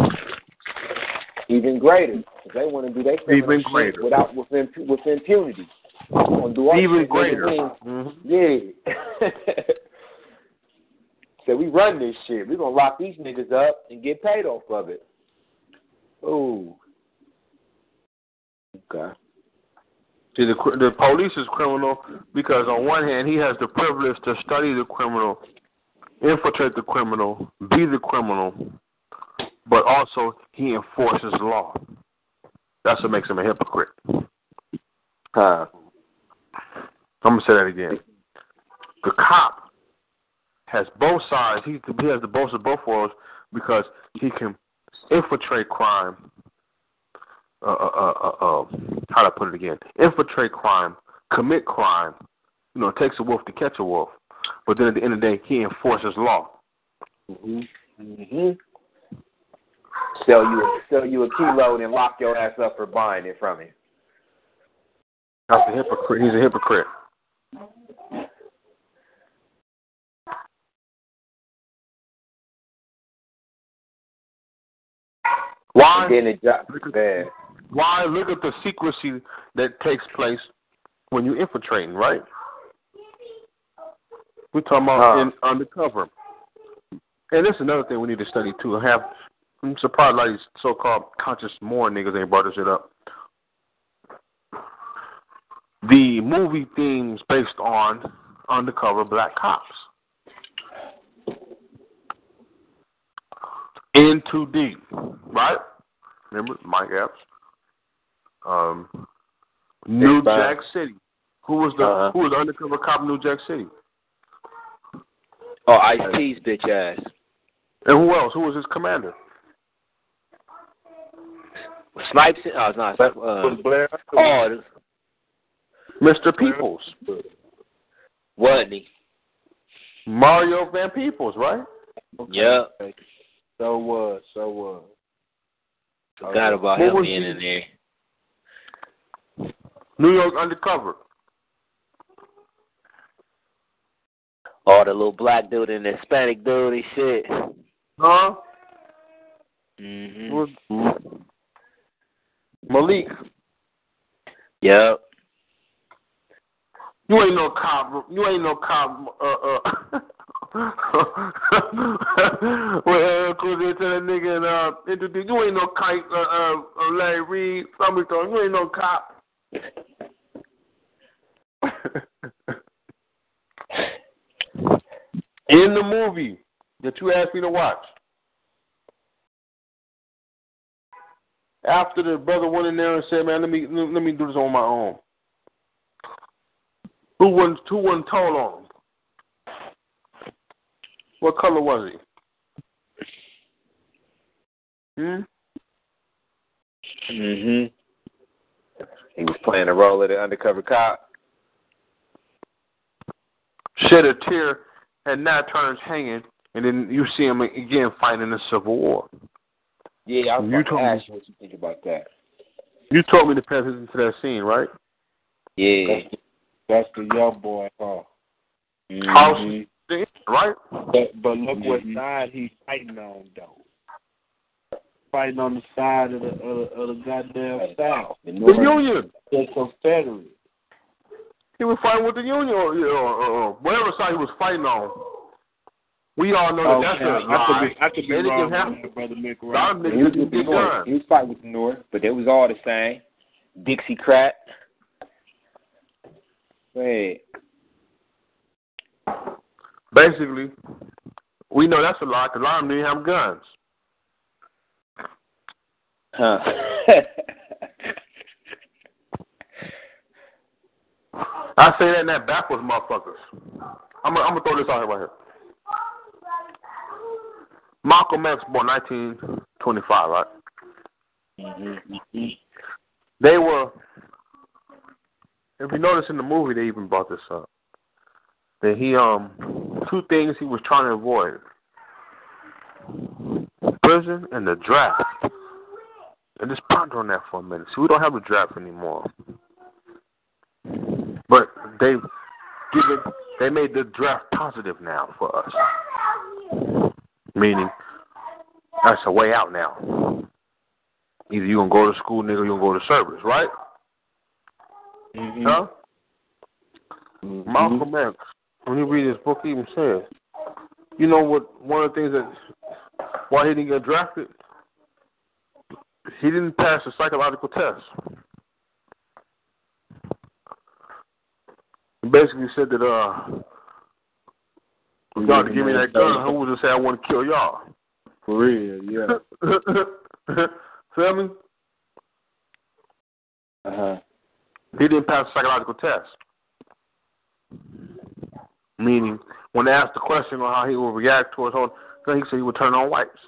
Even greater. They want to do their criminal shit with impunity. Even greater. Yeah. So we run this shit. We're going to lock these niggas up and get paid off of it. Ooh. Okay. See, the police is criminal because on one hand, he has the privilege to study the criminal, infiltrate the criminal, be the criminal, but also he enforces the law. That's what makes him a hypocrite. I'm going to say that again. The cop has both sides. He has the both of both worlds because he can infiltrate crime. How do I put it again? Infiltrate crime, commit crime. You know, it takes a wolf to catch a wolf. But then at the end of the day, he enforces law. Sell you a kilo and lock your ass up for buying it from him. That's a hypocrite. He's a hypocrite. Why? Why? Look at the secrecy that takes place when you're infiltrating, right? We're talking about undercover. And this is another thing we need to study, too. I'm surprised a lot of these so-called conscious moron niggas ain't brought this shit up. The movie themes based on undercover black cops. In Too Deep, right? Remember Mike Epps? New Jack City. Who was the undercover cop in New Jack City? Oh, Ice-T's bitch ass. And who else? Who was his commander? Snipes. Oh, it's not. Blair. Mr. Peoples. Wasn't he? Mario Van Peebles, right? Okay. Yep. So was. Forgot about him being in there. New York Undercover. Oh, the little black dude and the Hispanic dude and shit. Huh? Malik. Yep. You ain't no cop. Well, cause they tell that nigga and introduce. You ain't no kite. Larry Reed. Somebody told you ain't no cop. In the movie that you asked me to watch, after the brother went in there and said, "Man, let me do this on my own." Who wasn't told on him? What color was he? He was playing the role of the undercover cop. shed a tear, and now turns hanging, and then you see him again fighting in the Civil War. Yeah, I was going to ask you what you think about that. You told me to pay attention to that scene, right? Yeah. That's the young boy, huh? House, right? But look what side he's fighting on, though. Fighting on the side of the goddamn South. The Union. The Confederate. He was fighting with the Union, or whatever side he was fighting on. We all know that that's a lie. I could be wrong, Brother Mick. He was with the North. He was fighting with the North, but it was all the same. Dixiecrat. Wait. Basically, we know that's a lie because a lot of them didn't have guns. Huh. I say that in that backwards, motherfuckers. I'm gonna throw this out here right here. Malcolm X born 1925, right? They were, if you notice in the movie, they even brought this up. That he, two things he was trying to avoid: prison and the draft. And just ponder on that for a minute. See, we don't have the draft anymore, but they made the draft positive now for us. Meaning, that's a way out now. Either you're going to go to school, nigga, or you're going to go to service, right? Huh? Malcolm X, when you read his book, he even says, you know what, one of the things that, why he didn't get drafted? He didn't pass the psychological test. He basically said that, if y'all to give me that gun, who would just say I want to kill y'all? For real, yeah. Feel me? He didn't pass the psychological test. Meaning, when they asked the question on how he would react towards whole thing, he said he would turn on whites.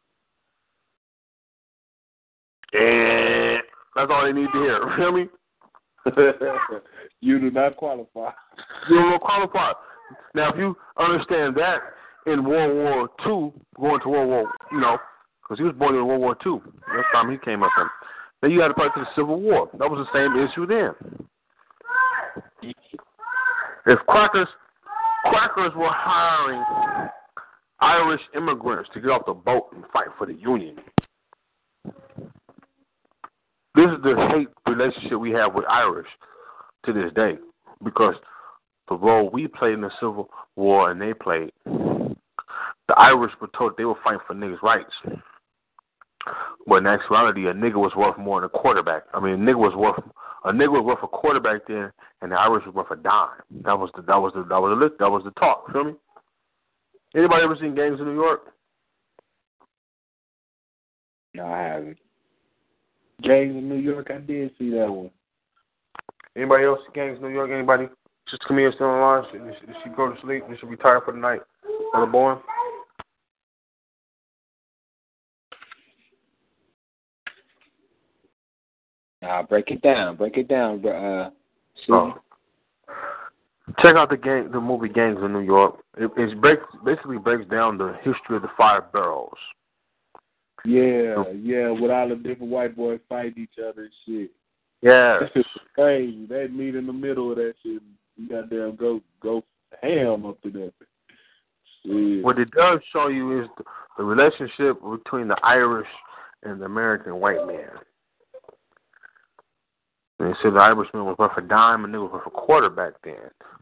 And that's all they need to hear. Feel me? You do not qualify. You don't qualify. Now, if you understand that in World War II, going to World War, because he was born in World War II. That's the time he came up in. Then you had to fight to the Civil War. That was the same issue then. If crackers were hiring Irish immigrants to get off the boat and fight for the Union. This is the hate relationship we have with Irish to this day, because the role we played in the Civil War and they played, the Irish were told they were fighting for niggas' rights. But in actuality, a nigga was worth more than a quarterback. I mean, a nigga was worth a quarterback then, and the Irish was worth a dime. That was the talk. Feel me? Anybody ever seen Gangs in New York? No, I haven't. Gangs in New York, I did see that one. Anybody else see Gangs in New York? Anybody? Sister Camille still on the line? Did she go to sleep? Did she retire for the night? Brother Bowen? Nah, break it down, bro. Check out the movie Gangs in New York. It basically breaks down the history of the 5 boroughs. Yeah, with all the different white boys fighting each other and shit. Yeah. It's crazy. They meet in the middle of that shit. You goddamn go ham up to that. Shit. What it does show you is the relationship between the Irish and the American white man. And they said the Irishman was worth a dime and they was worth a quarter back then.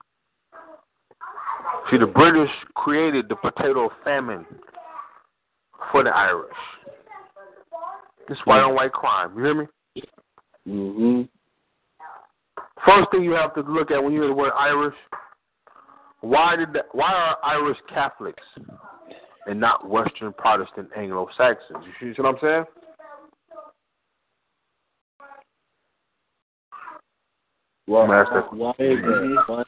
See, the British created the potato famine for the Irish. It's white on white crime. You hear me? Mm-hmm. First thing you have to look at when you hear the word Irish, why are Irish Catholics and not Western Protestant Anglo-Saxons? You see what I'm saying? Why is that?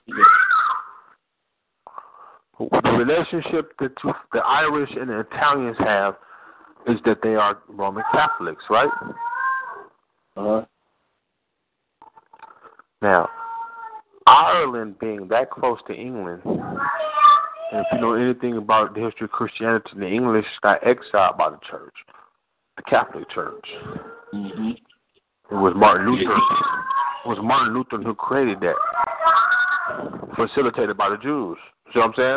The relationship that the Irish and the Italians have is that they are Roman Catholics, right? Uh-huh. Now, Ireland being that close to England, and if you know anything about the history of Christianity, the English got exiled by the church, the Catholic Church. Mm-hmm. It was Martin Luther. It was Martin Luther who created that, facilitated by the Jews. See what I'm saying?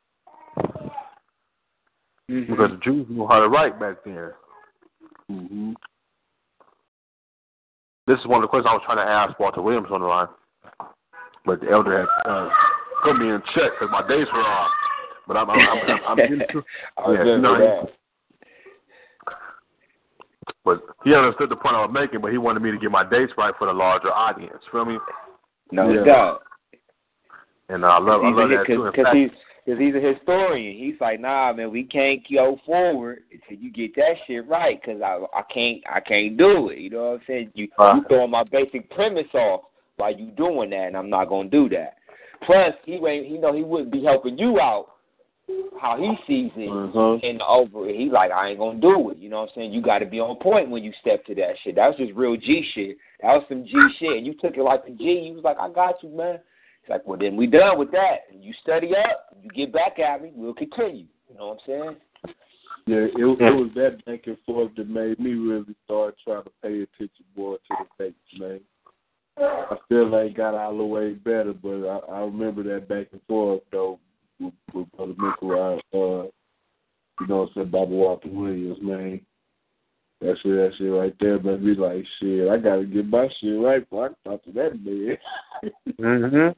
Mm-hmm. Because the Jews knew how to write back then. Mm-hmm. This is one of the questions I was trying to ask Walter Williams on the line, but the elder had put me in check because my dates were off. But I'm getting to, that. But he understood the point I was making, but he wanted me to get my dates right for the larger audience. Feel me? No doubt. And I love that too. Because he's a historian. He's like, nah, man, we can't go forward until you get that shit right. Because I can't do it. You know what I'm saying? You throwing my basic premise off while you doing that, and I'm not gonna do that. Plus, he wouldn't be helping you out how he sees it in the over. He's like, I ain't gonna do it. You know what I'm saying? You got to be on point when you step to that shit. That was just real G shit. That was some G shit, and you took it like a G. You was like, I got you, man. It's like, well, then we done with that. You study up, you get back at me, we'll continue. You know what I'm saying? Yeah, it was that back and forth that made me really start trying to pay attention more to the dates, man. I still ain't got all the way better, but I remember that back and forth, though, with Brother Michael, you know what I'm saying, Bobby Walter Williams, man. That shit right there, but be like, shit, I got to get my shit right before I can talk to that man. Mm-hmm.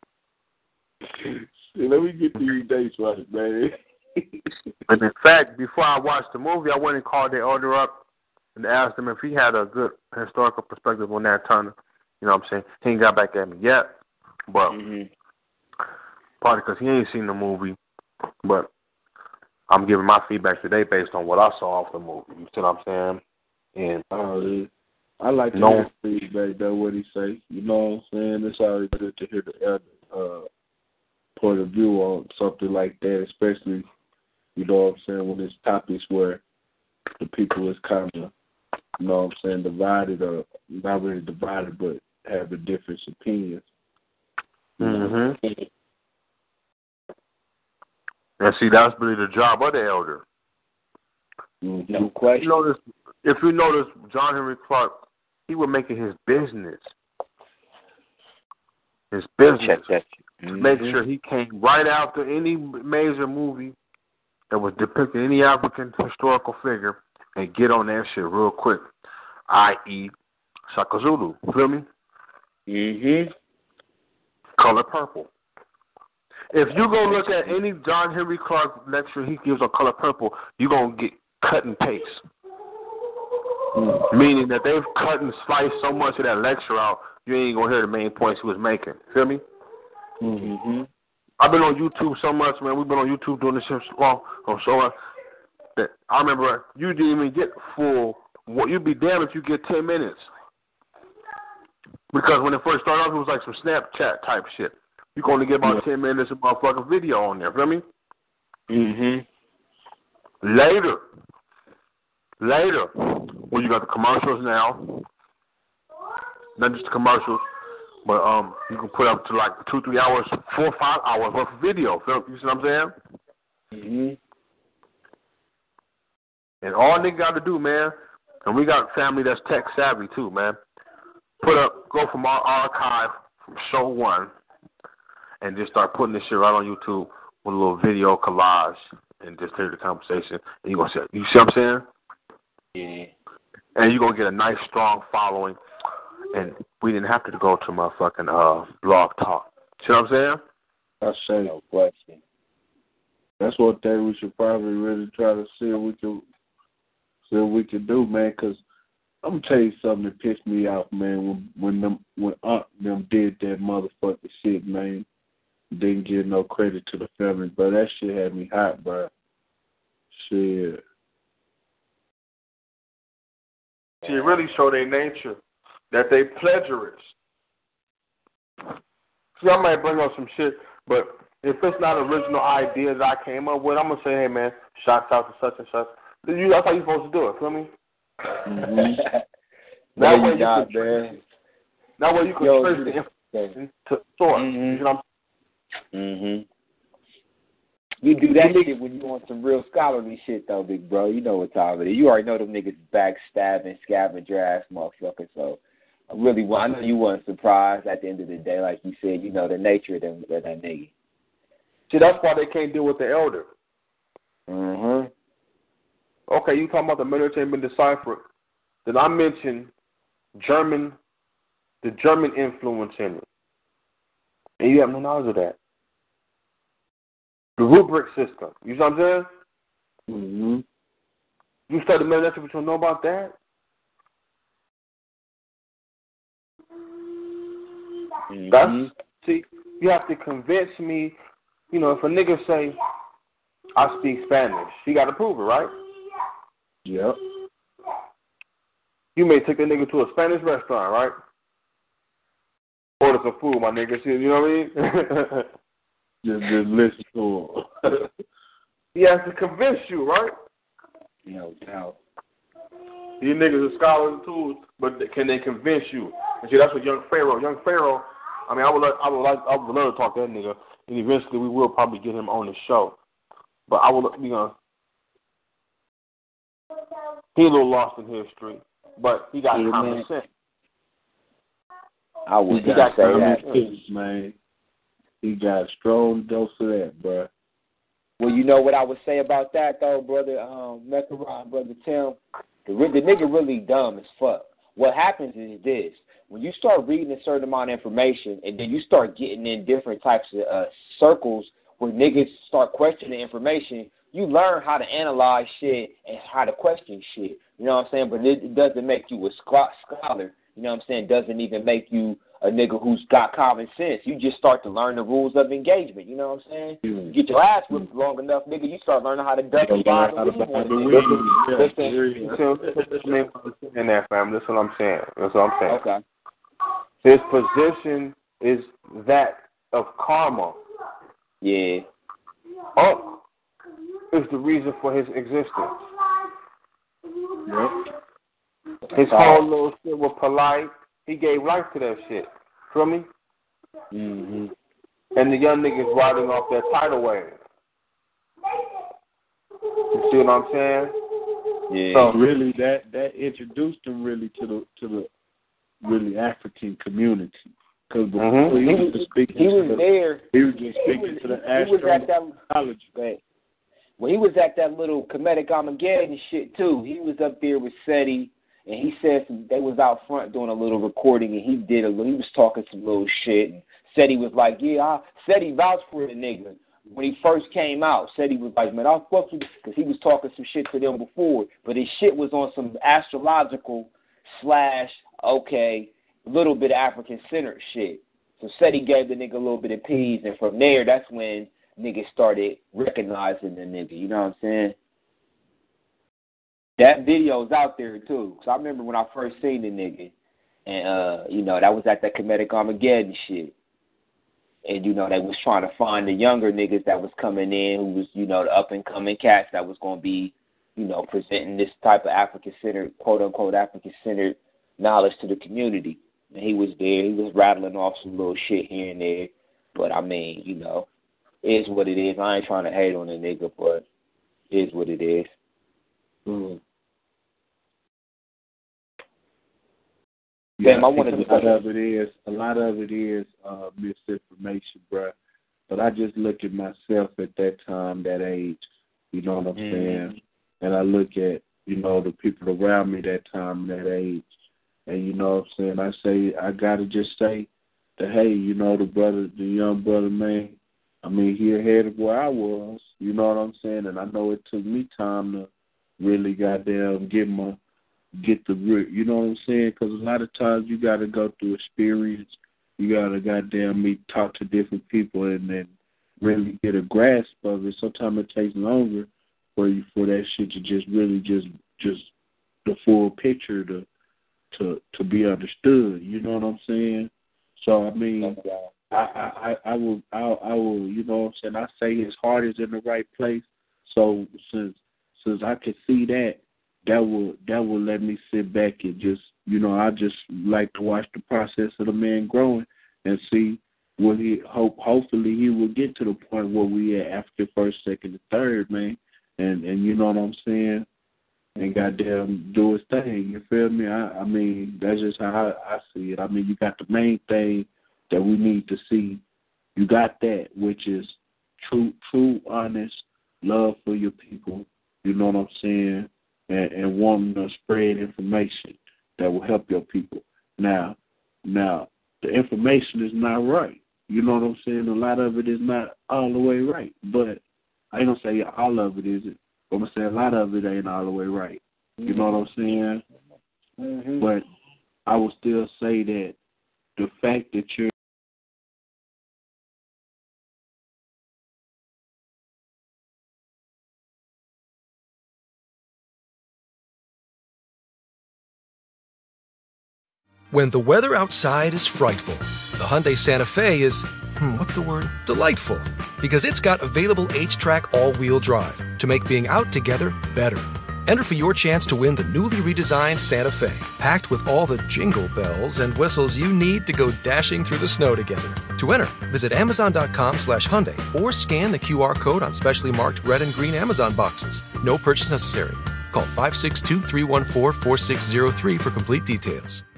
Shit, let me get these dates right, man. And in fact, before I watched the movie, I went and called the elder up and asked him if he had a good historical perspective on Nat Turner. You know what I'm saying? He ain't got back at me yet, but probably because he ain't seen the movie. But I'm giving my feedback today based on what I saw off the movie. You see what I'm saying? And I like to hear the feedback, though, what he say. You know what I'm saying? It's always good to hear the elder point of view on something like that, especially, you know what I'm saying, when it's topics where the people is kind of, you know what I'm saying, divided, or not really divided, but having different opinions. Mm-hmm. And see, that's really the job of the elder. No question. If you notice, John Henry Clark, he would make it his business. Make sure he came right after any major movie that was depicting any African historical figure and get on that shit real quick, i.e. Shaka Zulu. Feel me? Mm-hmm. Color Purple. If you go look at any John Henry Clark lecture he gives on Color Purple, you're going to get cut and paste. Meaning that they've cut and sliced so much of that lecture out, you ain't going to hear the main points he was making. Feel me? Mm-hmm. I've been on YouTube so much, man. We've been on YouTube doing this shit so long. That I remember you didn't even get full. You'd be damned if you get 10 minutes. Because when it first started off, it was like some Snapchat type shit. You can only get about 10 minutes of motherfucking video on there. Feel me? Mm-hmm. Later, when you got the commercials now, not just the commercials, but you can put up to like 2-3 hours, 4 or 5 hours worth of video. You see what I'm saying? Mm-hmm. And all they got to do, man, and we got family that's tech savvy too, man. Go from our archive from show 1 and just start putting this shit right on YouTube with a little video collage and just hear the conversation. And you're going to say, you see what I'm saying? Yeah. And you're going to get a nice, strong following. And we didn't have to go to motherfucking Blog Talk. See what I'm saying? I say, no question. That's one thing we should probably really try to see if we can do, man, because I'm going to tell you something that pissed me off, man, when Aunt them did that motherfucking shit, man. Didn't give no credit to the family, but that shit had me hot, bro. Shit. See, it really show their nature, that they plagiarists. See, I might bring up some shit, but if it's not original ideas I came up with, I'm going to say, hey, man, shouts out to such and such. That's how you're supposed to do it, feel me? Mm-hmm. That way you can trace the information. to source. Mm-hmm. You know what I'm saying? You do that shit when you on some real scholarly shit, though, big bro. You know what time it is. You already know them niggas backstabbing, scavenger ass motherfuckers. So I know you weren't surprised at the end of the day. Like you said, you know the nature of them, that nigga. See, that's why they can't deal with the elder. Mm-hmm. Okay, you talking about the military been deciphered. Then I mentioned the German influence in it. And you have no knowledge of that. The rubric system. You know what I'm saying? Mm-hmm. You study military, but you don't know about that? Mm-hmm. See, you have to convince me. You know, if a nigga say, I speak Spanish, he got to prove it, right? Yep. You may take a nigga to a Spanish restaurant, right? Order some food, my nigga. You know what I mean? just listen to him. He has to convince you, right? No doubt. These niggas are scholars and tools, but can they convince you? And see, that's what Young Pharaoh. I mean, I would love to talk to that nigga, and eventually we will probably get him on the show. But I will, he's a little lost in history, but he got common sense. I would say that, man. He got a strong dose of that, bro. Well, you know what I would say about that, though, brother Meccaron, brother Tim? The nigga really dumb as fuck. What happens is this. When you start reading a certain amount of information and then you start getting in different types of circles where niggas start questioning information, you learn how to analyze shit and how to question shit. You know what I'm saying? But it doesn't make you a scholar. You know what I'm saying? It doesn't even make you a nigga who's got common sense. You just start to learn the rules of engagement. You know what I'm saying? You get your ass whipped long enough, nigga, you start learning how to duck and dive and weave on in that, fam. That's what I'm saying. Okay. His position is that of karma. Yeah. Up is the reason for his existence. Yep. His whole little shit was polite. He gave life to that shit. Feel me? Mm-hmm. And the young niggas riding off that tidal wave. You see what I'm saying? Yeah. So really, that introduced him really to the really African community. Because before he was just speaking to the astrology. When he was at that little Kemetic Armageddon shit too, he was up there with SETI, and he said they was out front doing a little recording, and he was talking some little shit, and SETI was like, yeah, SETI vouched for the nigga. When he first came out, SETI was like, man, I'll fuck you, because he was talking some shit to them before, but his shit was on some astrological / little bit of African-centered shit. So SETI gave the nigga a little bit of peas, and from there, that's when niggas started recognizing the nigga. You know what I'm saying? That video's out there, too. So I remember when I first seen the nigga, and, that was at that Kemetic Armageddon shit. And, they was trying to find the younger niggas that was coming in, who was, the up-and-coming cats that was going to be, presenting this type of African-centered, quote-unquote African-centered knowledge to the community. And he was there. He was rattling off some little shit here and there. But, I mean, it is what it is. I ain't trying to hate on the nigga, but it is what it is. Mm. Damn, yeah, I wanted to. A lot of it is misinformation, bro. But I just look at myself at that time, that age. You know what I'm saying? And I look at the people around me that time, that age, and you know what I'm saying. I gotta just say that, hey, the young brother, man. I mean, he ahead of where I was. You know what I'm saying? And I know it took me time to really goddamn get the root. You know what I'm saying? Because a lot of times you got to go through experience. You got to goddamn talk to different people and then really get a grasp of it. Sometimes it takes longer for that shit to just really just the full picture to be understood. You know what I'm saying? So I mean, I will, you know what I'm saying? I say his heart is in the right place. So since I can see that will let me sit back and just, I just like to watch the process of the man growing and see what hopefully he will get to the point where we at after first, second, and third, man. And you know what I'm saying? And goddamn do his thing. You feel me? I mean, that's just how I see it. I mean, you got the main thing that we need to see. You got that, which is true, honest love for your people. You know what I'm saying? And wanting to spread information that will help your people. Now, the information is not right. You know what I'm saying? A lot of it is not all the way right. But I ain't going to say all of it isn't. I'm going to say a lot of it ain't all the way right. You know what I'm saying? Mm-hmm. But I will still say that the fact that you're When the weather outside is frightful, the Hyundai Santa Fe is, delightful. Because it's got available H-Track all-wheel drive to make being out together better. Enter for your chance to win the newly redesigned Santa Fe, packed with all the jingle bells and whistles you need to go dashing through the snow together. To enter, visit Amazon.com/Hyundai or scan the QR code on specially marked red and green Amazon boxes. No purchase necessary. Call 562-314-4603 for complete details.